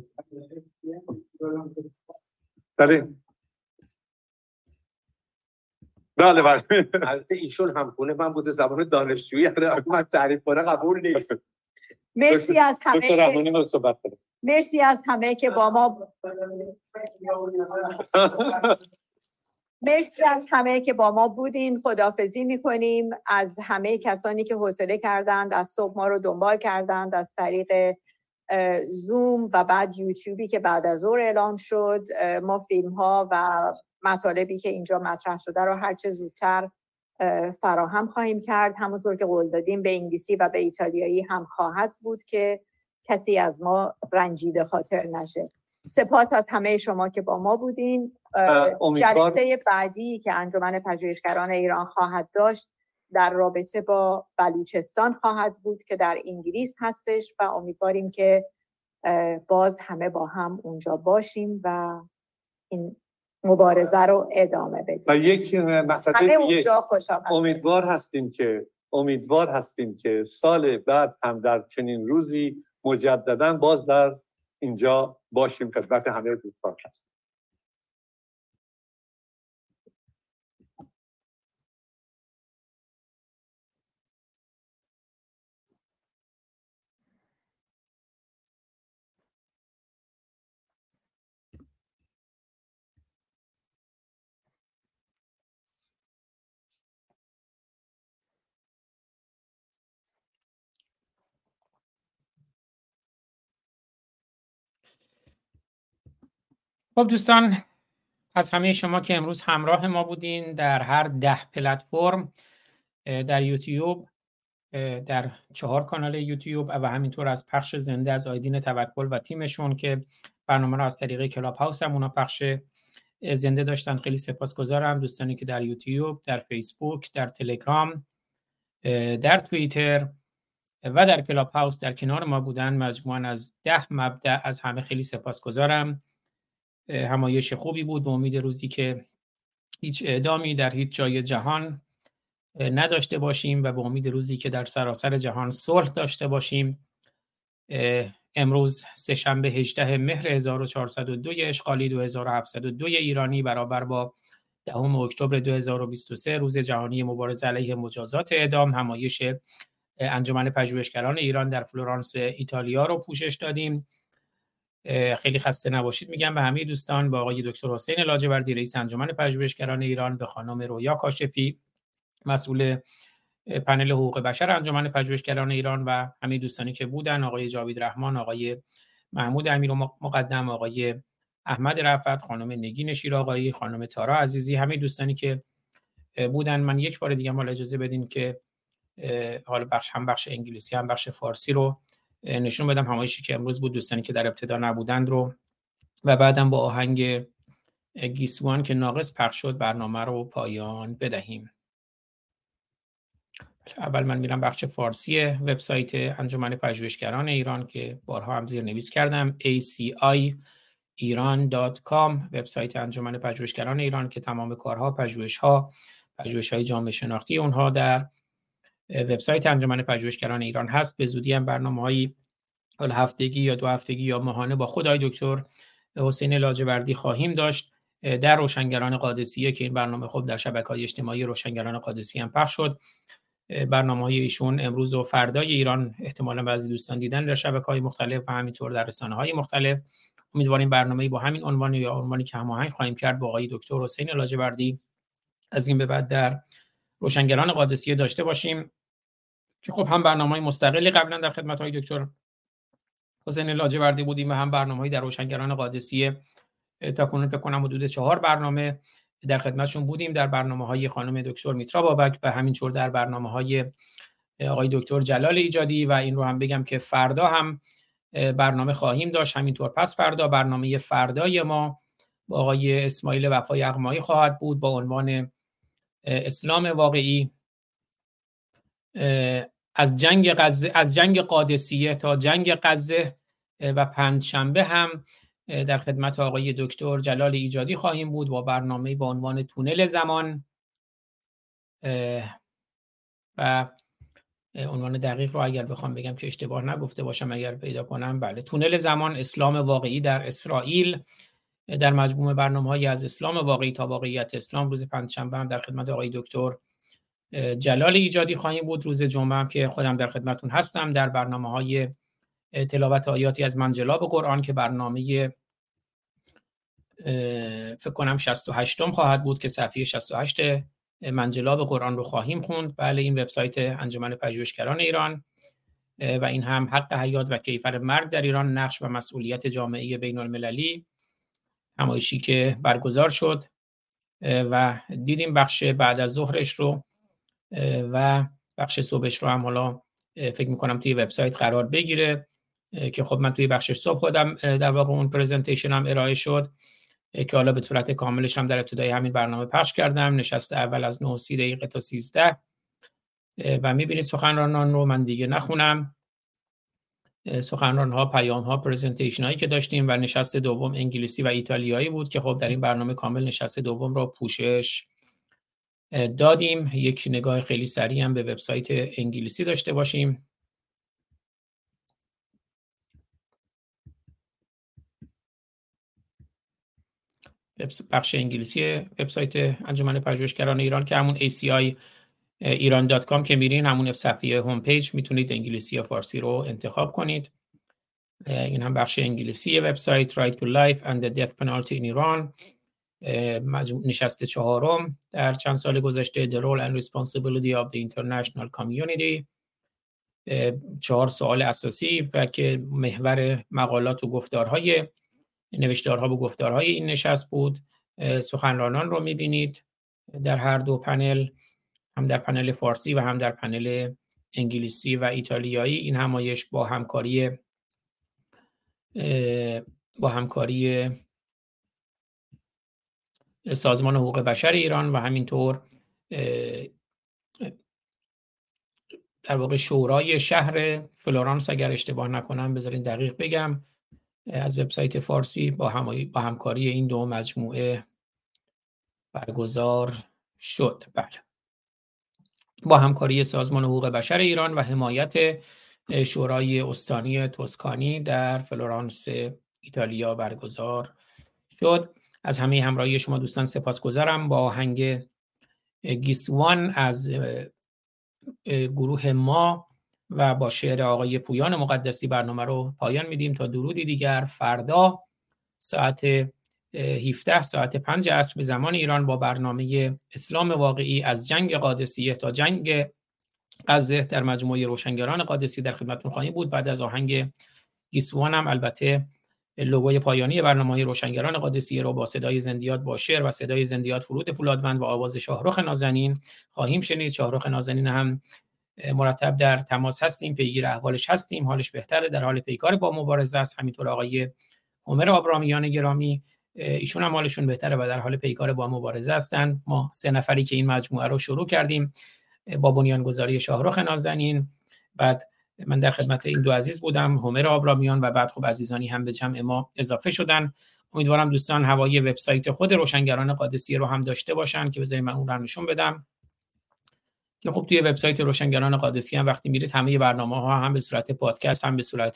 بله البته ایشون همخونه من بوده، زبان دانشجویی من تعریف کنه قبول نیست. مرسی از همه که با ما مرسی از همه که با ما بودین. خداحافظی میکنیم از همه کسانی که حوصله کردند، از صبح ما رو دنبال کردند از طریق زوم و بعد یوتیوبی که بعد از ظهر اعلام شد. ما فیلم ها و مطالبی که اینجا مطرح شده رو هرچه زودتر فراهم خواهیم کرد. همونطور که قول دادیم به انگلیسی و به ایتالیایی هم خواهد بود که کسی از ما رنجیده خاطر نشه. سپاس از همه شما که با ما بودین. جلسه بعدی که انجمن پژوهشگران ایران خواهد داشت در رابطه با بلوچستان خواهد بود که در انگلیس هستش و امیدواریم که باز همه با هم اونجا باشیم و این مبارزه رو ادامه بدیم. و یک مسئله امیدوار هستیم که سال بعد هم در چنین روزی مجددا باز در اینجا باشیم خدمت همه دوستان. خب دوستان، از همه شما که امروز همراه ما بودین در هر 10 پلتفرم، در یوتیوب، در 4 کانال یوتیوب و همینطور از پخش زنده از آیدین توکل و تیمشون که برنامه رو از طریق کلاب هاوس هم اونا پخش زنده داشتن. خیلی سپاسگزارم. دوستانی که در یوتیوب، در فیسبوک، در تلگرام، در توییتر و در کلاب هاوس در کنار ما بودن، مجموعاً از 10 مبدأ، از همه خیلی سپاسگزارم. همایش خوبی بود. به امید روزی که هیچ اعدامی در هیچ جای جهان نداشته باشیم و به امید روزی که در سراسر جهان صلح داشته باشیم. امروز سه‌شنبه 18 مهر 1402 اشغالی 2702 ایرانی برابر با 10 اکتبر 2023 روز جهانی مبارزه علیه مجازات اعدام، همایش انجمن پژوهشگران ایران در فلورانس ایتالیا رو پوشش دادیم. خیلی خسته نباشید میگم به همه دوستان، به آقای دکتر حسین لاجوردی رئیس انجمن پژوهشگران ایران، به خانم رویا کاشفی مسئول پنل حقوق بشر انجمن پژوهشگران ایران و همه دوستانی که بودن، آقای جاوید رحمان، آقای محمود امیر مقدم، آقای احمد رفعت، خانم نگین شیرآقایی، خانم تارا عزیزی، همه دوستانی که بودن. من یک بار دیگه حالا اجازه بدین که حالا بخش انگلیسی هم بخش فارسی رو نشون بدم، همایشی که امروز بود، دوستانی که در ابتدا نبودند رو، و بعدم با آهنگ گیسوان که ناقص پخش شد برنامه رو پایان بدهیم. اول من میرم بخش فارسی وبسایت انجمن پژوهشگران ایران که بارها هم زیرنویس کردم، aci-iran.com، وبسایت انجمن پژوهشگران ایران که تمام کارها، پژوهش‌های جامعه شناختی اونها در وبسایت انجمن پژوهشگران ایران هست. به زودی هم برنامه‌های هفتگی یا 2 هفتگی یا ماهانه با خدای دکتر حسین لاجوردی خواهیم داشت در روشنگران قادسیه که این برنامه خب در شبکه‌های اجتماعی روشنگران قادسیه هم پخش شد. برنامه‌های ایشون امروز و فردای ایران احتمالاً بعضی دوستان دیدن در شبکه‌های مختلف و همینطور در رسانه‌های مختلف. امیدواریم برنامه‌ای با همین عنوان یا عنوانی که هماهنگ خواهیم کرد با آقای دکتر حسین لاجوردی از این به بعد در روشنگران قادسیه داشته باشیم که خب هم برنامه‌های مستقلی قبلا در خدمت های دکتر حسین لاجوردی بودیم و هم برنامه‌ای در روشنگران قادسیه. تا کنون فکر کنم حدود 4 برنامه در خدمتشون بودیم، در برنامه‌های خانم دکتر میترا بابک و همینطور در برنامه‌های آقای دکتر جلال ایجادی، و این رو هم بگم که فردا هم برنامه خواهیم داشت، همینطور پس فردا برنامه فردای ما با آقای اسماعیل وفای اقمایی خواهد بود با عنوان اسلام واقعی، از جنگ قادسیه تا جنگ غزه، و پنجشنبه هم در خدمت آقای دکتر جلال ایجادی خواهیم بود با برنامه با عنوان تونل زمان، و عنوان دقیق رو اگر بخوام بگم که اشتباه نگفته باشم اگر پیدا کنم، بله، تونل زمان، اسلام واقعی در اسرائیل، در مجموعه برنامه‌های از اسلام واقعی تا واقعیت اسلام. روز پنجشنبه هم در خدمت آقای دکتر جلال ایجادی خواهیم بود. روز جمعه هم که خودم در خدمتون هستم در برنامه‌های تلاوت آیاتی از منجلاب قرآن که برنامه فکر کنم 68م خواهد بود که صفحه 68 منجلاب قرآن رو خواهیم خوند. بله، این وبسایت انجمن پژوهشگران ایران و این هم حق حیات و کیفر مرگ در ایران، نقش و مسئولیت جامعه بین المللی، همایشی که برگزار شد و دیدیم بخش بعد از ظهرش رو و بخش صبحش رو هم حالا فکر میکنم توی وبسایت قرار بگیره که خب من توی بخش صبح خودم در واقع اون پرزنتیشن هم ارائه شد که حالا به صورت کاملش هم در ابتدای همین برنامه پخش کردم. نشست اول از 9:30 تا 13 و میبینید سخنرانان رو من دیگه نخونم، سخنران‌ها، پیام‌ها، پرزنتیشن‌هایی که داشتیم، و نشست دوم انگلیسی و ایتالیایی بود که خب در این برنامه کامل نشست دوم رو پوشش دادیم. یک نگاه خیلی سریع هم به وبسایت انگلیسی داشته باشیم. بخش انگلیسی وبسایت انجمن پژوهشگران ایران که همون aci-iran.com که میرین، همون صفحه هوم پیج، میتونید انگلیسی یا فارسی رو انتخاب کنید. این هم بخش انگلیسی وبسایت Right to Life and the Death Penalty in Iran، نشست 4م در چند سال گذشته، The Role and Responsibility of the International Community. 4 سوال اساسی و که محور مقالات و گفتارهای نوشتارها و گفتارهای این نشست بود. سخنرانان رو میبینید در هر دو پنل، هم در پنل فارسی و هم در پنل انگلیسی و ایتالیایی. این همایش با همکاری سازمان حقوق بشر ایران و همینطور در واقع شورای شهر فلورانس، اگر اشتباه نکنم بذارین دقیق بگم، از وبسایت فارسی با همکاری این دو مجموعه برگزار شد. بله، با همکاری سازمان حقوق بشر ایران و حمایت شورای استانی توسکانی در فلورانس ایتالیا برگزار شد. از همه همراهی شما دوستان سپاسگزارم. با آهنگ گیسوان از گروه ما و با شعر آقای پویان مقدسی برنامه رو پایان میدیم تا درودی دیگر. فردا ساعت 17 ساعت 5 عصر به زمان ایران با برنامه اسلام واقعی از جنگ قادسیه تا جنگ غزه در مجموعه روشنگران قادسی در خدمتتون خواهیم بود. بعد از آهنگ گیسوان هم البته لوگوی پایانی برنامه روشنگران قادسیه رو با صدای زندیات با شعر و صدای زندیات فرود فولادوند و آواز شاهرخ نازنین خواهیم شنید. شاهرخ نازنین هم مرتب در تماس هستیم، پیگیر احوالش هستیم، حالش بهتره، در حال پیکار با مبارزه است. همینطور آقای عمر آبرامیان گرامی، ایشون هم حالشون بهتره و در حال پیکار با مبارزه هستند. ما 3 نفری که این مجموعه رو شروع کردیم با بنیانگذاری شاهرخ نازنین، بعد من در خدمت این دو عزیز بودم، عمر آبرامیان، و بعد خب عزیزانی هم به جمع ما اضافه شدن. امیدوارم دوستان هوای وبسایت خود روشنگران قادسیه رو هم داشته باشن که بذارید من اون رو نشون بدم که خب توی وبسایت روشنگران قادسیه هم وقتی میرید همه برنامه‌ها هم به صورت پادکست هم به صورت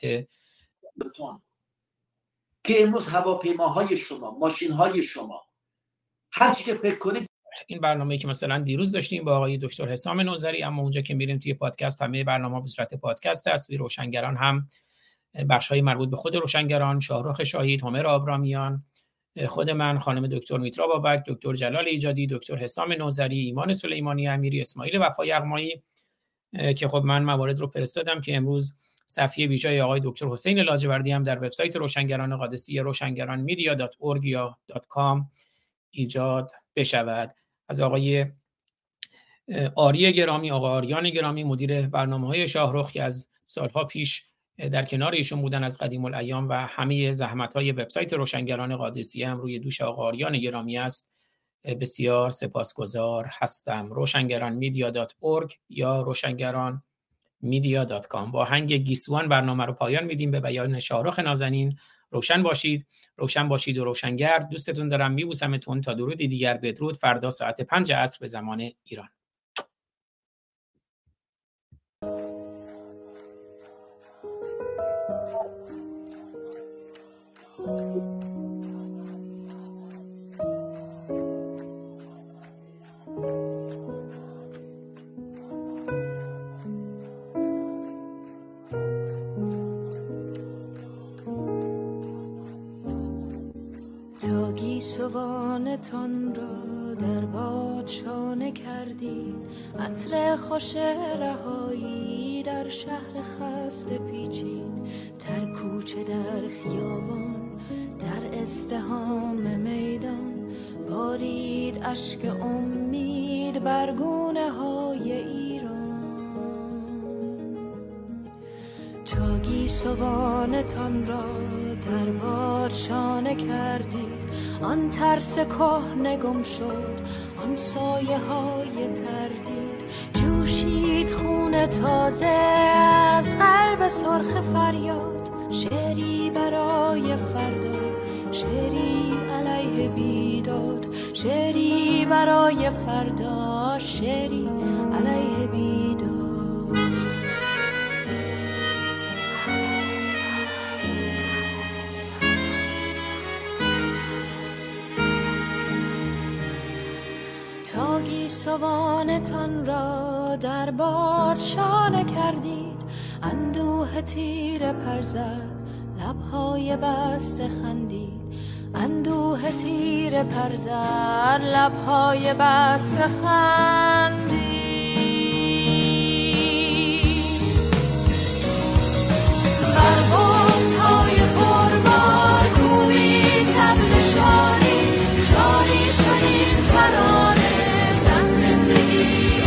که امروز هواپیماهای شما، ماشین‌های شما، هر چی که فکر کنید. این برنامه‌ای که مثلا دیروز داشتیم با آقای دکتر حسام نوذری، اما اونجا که میریم توی پادکست همه برنامه‌ها به صورت پادکست هست. توی روشنگران هم بخش‌های مربوط به خود روشنگران، شاهرخ شاهید، عمر آبرامیان، خود من، خانم دکتر میترا بابک، دکتر جلال ایجادی، دکتر حسام نوذری، ایمان سلیمانی امیری، اسماعیل وفای یغمایی که خب من موارد رو فرستادم که امروز صفحه ویژه آقای دکتر حسین لاجوردی هم در وبسایت روشنگران قادسیه roshangaranmedia.org یا .com ایجاد بشود. از آقای آری گرامی، آقا آریان گرامی، مدیر برنامه‌های شاهرخ که از سالها پیش در کنار ایشون بودن از قدیم الایام و همه زحمت‌های وبسایت روشنگران قادسیه هم روی دوش آقا آریان گرامی است، بسیار سپاسگزار هستم. roshangaranmedia.org یا roshangaranmedia.com. با آهنگ گیسوان برنامه رو پایان میدیم به بیان شاهرخ نازنین. روشن باشید، روشن باشید و روشنگر. دوستتون دارم، میبوسمتون. تا درودی دیگر، بدرود. فردا ساعت 5 عصر به زمان ایران. تا گیسوانتان را در باد شانه کردیم، عطر خوش رهایی در شهر خسته پیچید، در کوچه در خیابان در ازدحام میدان، بارید اشک امید بر گونه های ایران. تا گیسوانتان را در باد شانه کردید، آن ترس کهنه گم شد، آن سایه های تردید، جوشید خون تازه از قلب سرخ فریاد. شعری برای فردا، شعری علیه بیداد، شعری برای فردا، شعری علیه بیداد. تا گیسوانتان را در باد شانه کردید، اندوه تیر پر زد، لبهای بسته خندید، اندوه تیر پر زد، لبهای بسته خندید. بربازهای پربار کوبید طبل شادی، جاری شدیم ترانه، زن زندگی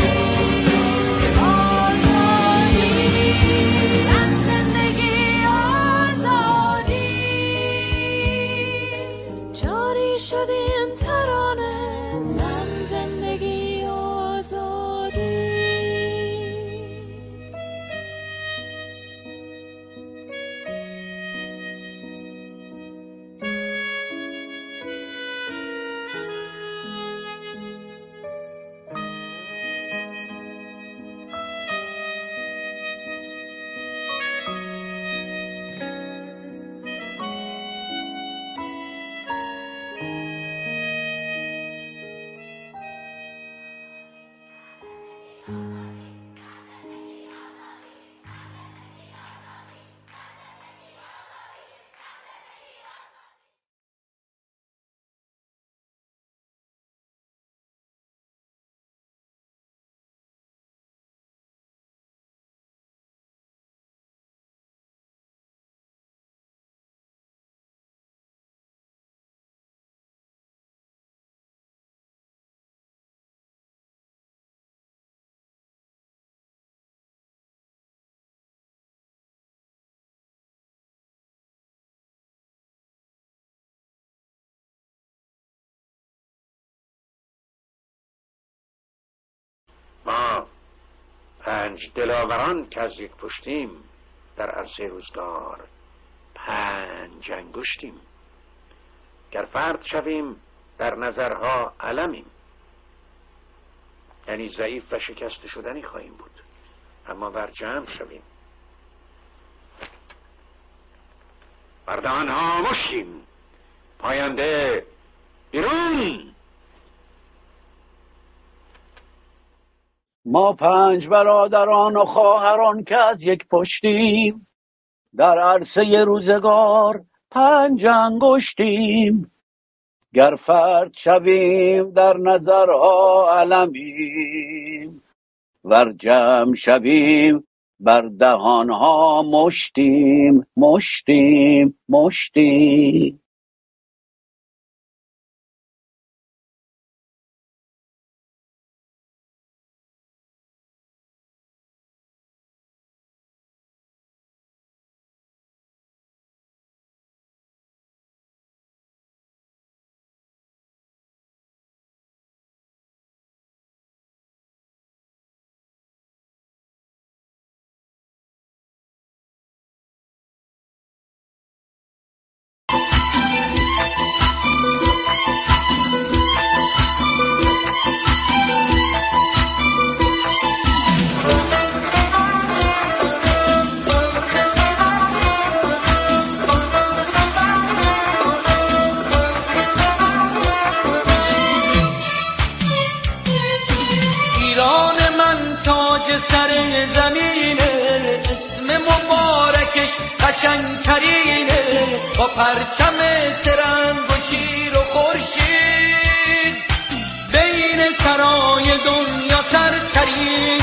آزادی، زن زندگی آزادی، جاری شدیم ترانه، زن زندگی آزادی. ما 5 دلاوران که از یک پشتیم، در عرصه روزگار 5 انگشتیم. گر فرد شویم در نظرها علمیم، یعنی ضعیف و شکست شدنی خواهیم بود، اما بر جمع شویم بردهان ها مشتیم. پاینده بیرون. ما 5 برادران و خواهران که از یک پشتیم، در عرصه روزگار 5 انگشتیم. گر فرد شویم در نظرها علمیم، ور جمع شویم بر دهانها مشتیم مشتیم مشتیم. سر زمینه، اسم مبارکش قشنگترینه، با پرچم سرنگ و شیر و خورشید، بین سرای دنیا سرترین